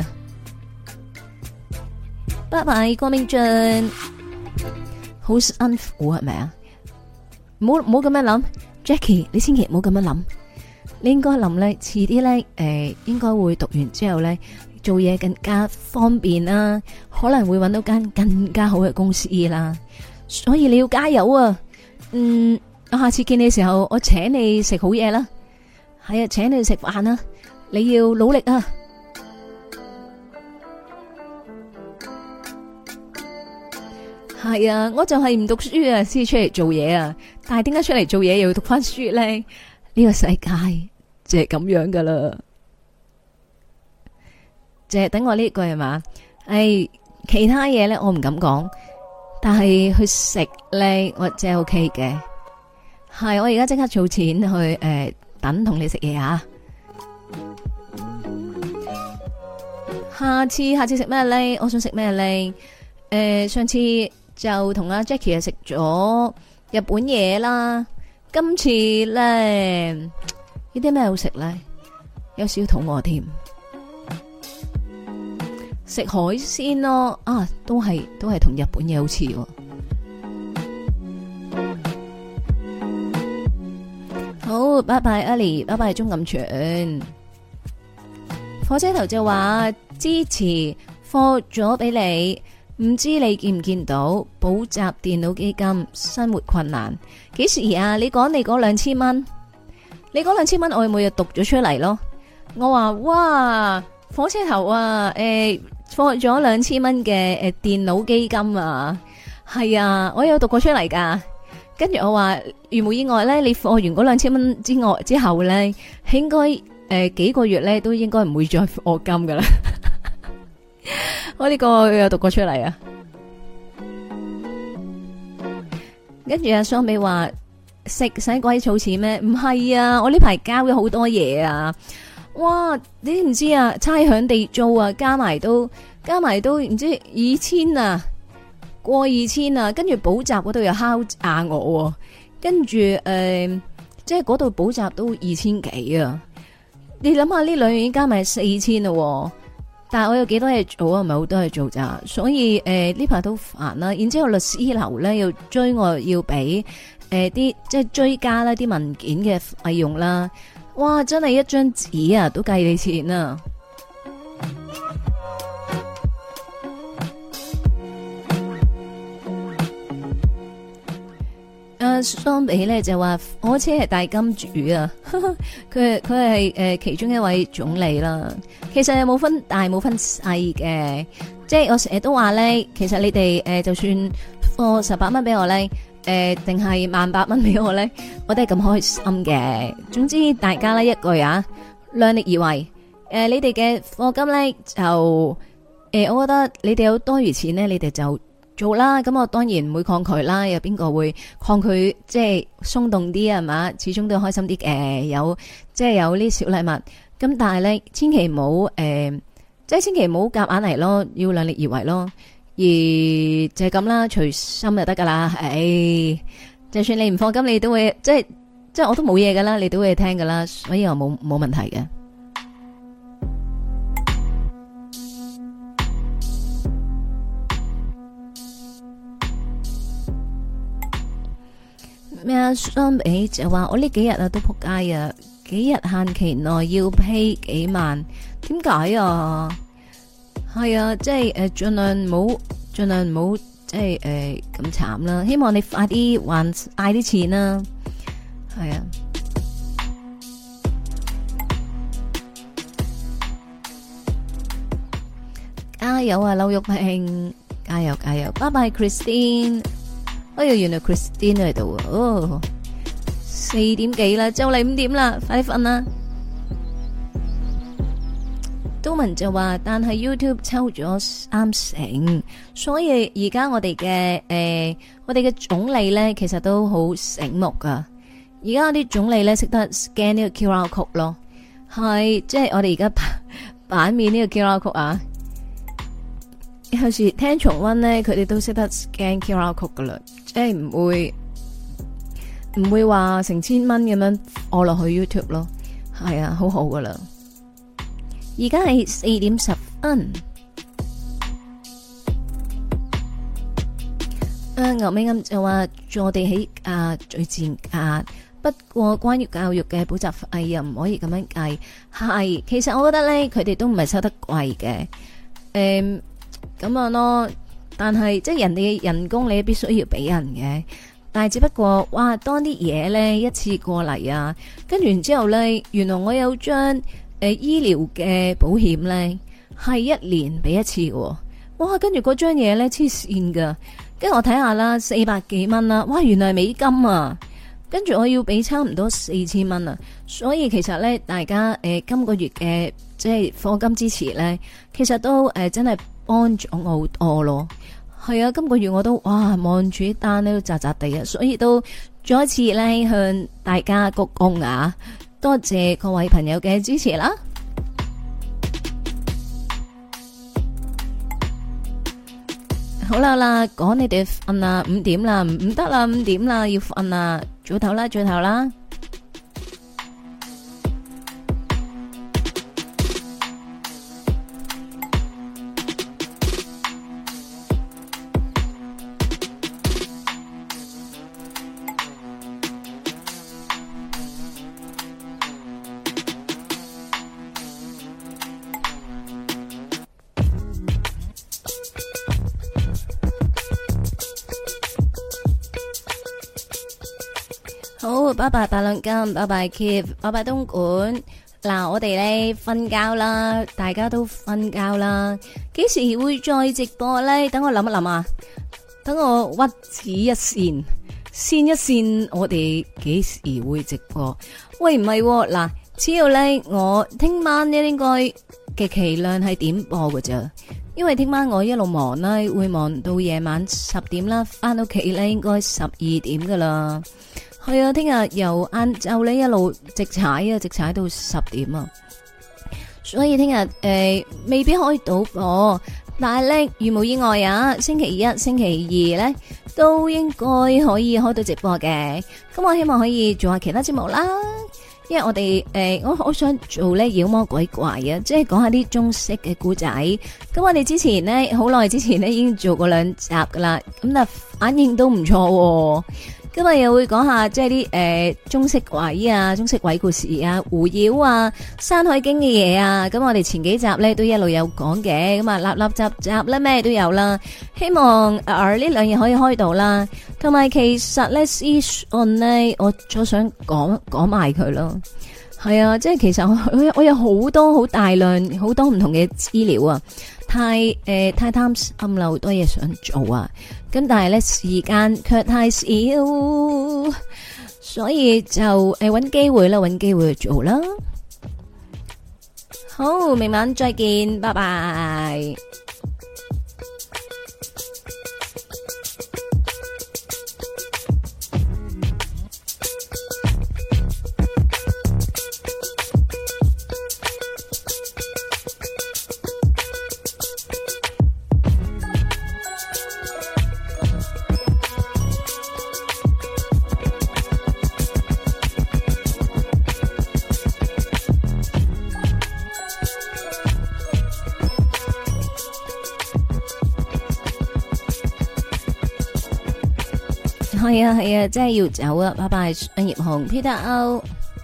拜拜，郭明俊，好辛苦係咪啊？唔好咁樣諗 ，Jackie， 你千祈唔好咁樣諗，你應該諗咧，遲啲咧，應該會讀完之後咧。做嘢更加方便啦，可能會揾到間更加好嘅公司啦，所以你要加油啊！我下次見你嘅時候，我請你食好嘢啦，係啊，請你食飯啦，你要努力啊！係啊，我就係唔讀書啊，先出嚟做嘢啊，但係點解出嚟做嘢又要讀翻書咧？呢個世界就係咁樣噶啦。就係等我呢句係嘛，其他嘢咧我唔敢講，但係去食咧我真係 OK 嘅。係我而家即刻儲錢去等同你食嘢啊！下次食咩咧？我想食咩咧？上次就同阿 Jackie 食咗日本嘢啦。今次咧呢啲咩好食咧？有少少肚餓添，食海鮮咯。啊，都係同日本嘢好似喎。好，拜拜阿里，拜拜鍾錦全。火車頭就話支持貨咗俾你，唔知你見唔見到補習電腦基金生活困難？幾時啊？你講你嗰2000蚊，你嗰2000蚊我每日讀咗出嚟咯。我話哇，火車頭啊，貨咗2000蚊嘅電腦基金啊，係啊，我有讀過出嚟噶。跟住我話，如無意外咧，你貨完嗰2000蚊之後咧，應該幾個月咧都應該唔會再課金噶啦。我呢個有讀過出嚟啊。跟住阿雙美話食使鬼儲錢咩？唔係啊，我呢排交咗好多嘢啊。哇，你知唔知啊？差餉地租啊，加埋都唔知2000啊。過2000啊，跟住補習嗰度又敲詐我，跟住即係嗰度補習都2000幾啊！你諗下呢兩樣已經加埋4000咯，但係我有幾多嘢做啊？唔係好多嘢做咋，所以呢排都煩啦。然之後律師樓咧又追我要俾啲即係追加啦啲文件嘅費用啦，哇！真係一張紙啊都計你錢啊！相比咧就話火車係大金主啊，佢係其中一位總理啦。其實又冇分大冇分細嘅，即係我成日都話咧，其實你哋就算貨18蚊俾我咧，定係18000蚊俾我咧，我都係咁開心嘅。總之大家咧一句啊，量力而為。你哋嘅貨金咧就我覺得你哋有多餘錢咧，你哋就做啦，咁我當然唔會抗拒啦。有邊個會抗拒？即係鬆動啲係嘛？始終都開心啲嘅，有即係有啲小禮物。咁但係咧，千祈唔好即係千祈唔好夾硬嚟咯，要量力而為咯。而就係咁啦，隨心就得噶啦。就算你唔放金，你都會即係我都冇嘢噶啦，你都會聽噶啦，所以我冇問題嘅。咩啊？相比就話我呢幾日啊都仆街啊，幾日限期內要 pay 幾萬，點解啊？係啊，即係盡量唔好即係咁慘啦。希望你快啲還嗌啲錢啦。係啊，加油啊，劉玉萍，加油加油！拜拜 Christine。哎呀，原來 Christine 喺度啊！哦，4點幾啦，就嚟5點啦，快啲瞓啦！都文就話，但係 YouTube 抽咗30%，所以而家我哋嘅總理咧，其實都好醒目噶。而家啲總理咧識得 scan 呢個 QR code 咯，係即係我哋而家版面呢個 QR code 啊。有時聽重溫咧，佢哋都識得 scan QR code 噶啦，即係唔會話成千蚊咁樣按落去 YouTube 咯，係啊，好好噶啦。而家係4點10分。牛尾暗就話坐地起價最賤價，不過關於教育嘅補習費又唔可以咁樣計。係，其實我覺得咧，佢哋都唔係收得貴嘅，咁樣咯。但係即係人哋嘅人工你必須要俾人嘅，但係只不過哇，當啲嘢咧一次過嚟啊，跟住然之後咧，原來我有張醫療嘅保險咧係1年俾一次嘅，哇！跟住嗰張嘢咧黐線噶，跟住我睇下啦，400幾蚊啦，哇！原來係美金啊，跟住我要俾差唔多4000蚊啊，所以其實咧大家今個月嘅即係課金支持咧，其實都真係幫咗我好多咯。係啊，今個月我都哇望住啲單咧都扎扎地啊，所以都再一次咧向大家鞠躬啊，多謝各位朋友嘅支持啦。 好啦啦，講你哋瞓啦，5點啦，唔得啦，5點啦，要瞓啦，早唞啦，早唞啦。好，拜拜八兩金，拜拜 Keep， 拜拜東莞。嗱，我哋咧瞓覺啦，大家都瞓覺啦。幾時會再直播咧？等我諗一諗啊，等我屈指一線，線一線，我哋幾時會直播？喂，唔係嗱，只要咧我聽晚咧應該嘅期量係點播㗎咋？因為聽晚我一路忙啦，會忙到夜晚10點啦，翻到屋企咧應該12點噶啦。係啊，聽日由晏晝咧一路直踩啊，直踩到10點啊，所以聽日未必開到播，但係咧如無意外啊，星期一、星期二咧都應該可以開到直播嘅。咁我希望可以做下其他節目啦，因為我哋我好想做咧妖魔鬼怪啊，即係講下啲中式嘅故仔。咁我哋之前咧好耐之前咧已經做過2集噶啦，咁啊反應都唔錯。今日又會講下即係啲中式鬼啊、中式鬼故事啊、狐妖啊、山海經嘅嘢啊。咁我哋前幾集咧都一路有講嘅，咁啊立立集集咧咩都有啦。希望呢2日可以開到啦。同埋其實咧私信咧，我咗想講埋佢咯。係啊，即係其實我有好多好大量好多唔同嘅資料啊，太貪心啦，好多嘢想做啊。咁但係咧時間卻太少，所以就搵機會啦，搵機會去做啦。好，明晚再見，拜拜。係啊，真係要走啊！拜拜，葉紅 Peter O。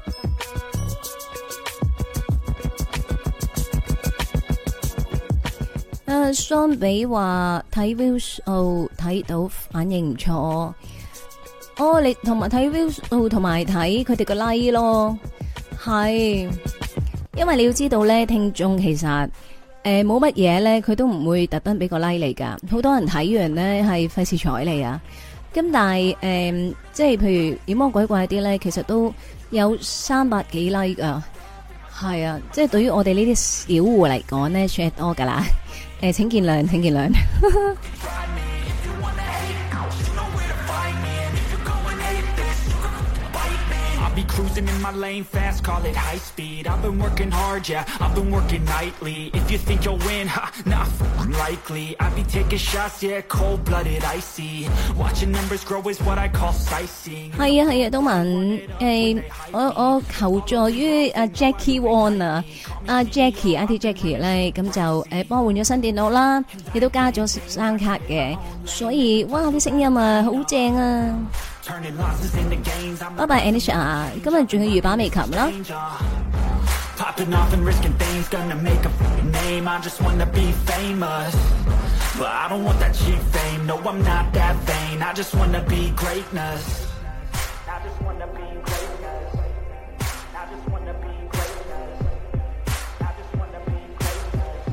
相比話睇 view 數睇到反應唔錯，哦，你同埋睇 view 數同埋睇佢哋個 like 咯，係，因為你要知道咧，聽眾其實冇乜嘢咧，佢都唔會特登俾個 like 你噶，好多人睇完咧係費事睬你啊。咁但係即係譬如妖魔鬼怪啲咧，其實都有300幾 like 噶，係啊，即係對於我哋呢啲小戶嚟講咧，算係多噶啦。請見諒，請見諒。 Be cruising in my lane fast, call it high speed. I've been working hard, yeah, I've been working nightly. If you think you'll win, ha, nah, unlikely. I be taking shots, yeah, cold-blooded, icy. Watching numbers grow is what I call sightseeing. 係啊，東文，我求助於阿 Jackie Won 啊，阿 Jackie 咧，咁就幫我換咗新電腦啦，亦都加咗聲卡嘅，所以哇啲聲音啊好正啊！拜拜 Anisha， 今日仲要預把美琴啦。Popping off and risking things, gonna make a name. I just wanna be famous, but I don't want that cheap fame. No, I'm not that vain. I just wanna be greatness. I just wanna be greatness. I just wanna be greatness. I just wanna be greatness.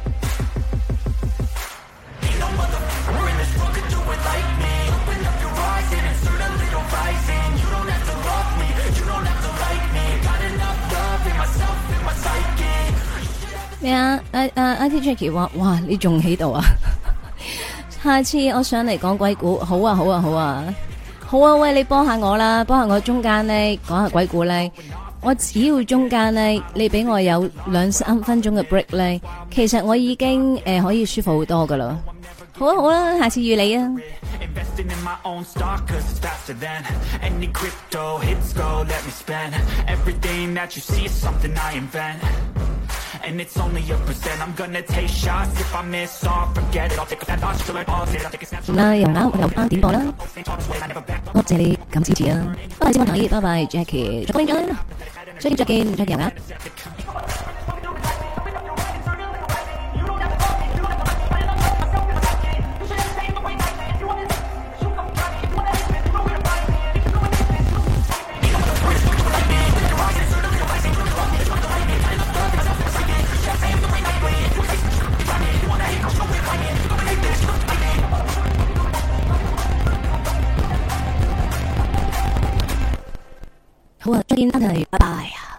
Ain't no motherfucker in this world could do it like me. Open up your eyes and insert a little rising. You don't have to love me, you don't have to like me. Got enough love in myself, in my psyche. 咩啊？Auntie Jackie 話：哇，你仲喺度啊？下次我上嚟講鬼故，好啊，好啊，好啊，好啊！喂，你幫下我啦，幫下我中間咧講下鬼故咧。我只要中間咧，你俾我有2-3分鐘嘅 break 咧，其實我已經可以舒服好多噶啦。 好啊好啦，下次預你啊。 Investing in my own stock, cause it's faster than any crypto hits go, let me spend everything that you see is something I invent. And it's only a percent. I'm gonna take shots. If I miss all, forget it. I'll take a snap shot till I pause it. I'll take a snap shot. 啦，又啱又啱點播啦，多謝你咁支持啊！多謝先我睇，拜拜 Jackie，再見再見再見啊！好啊，再見，拜拜。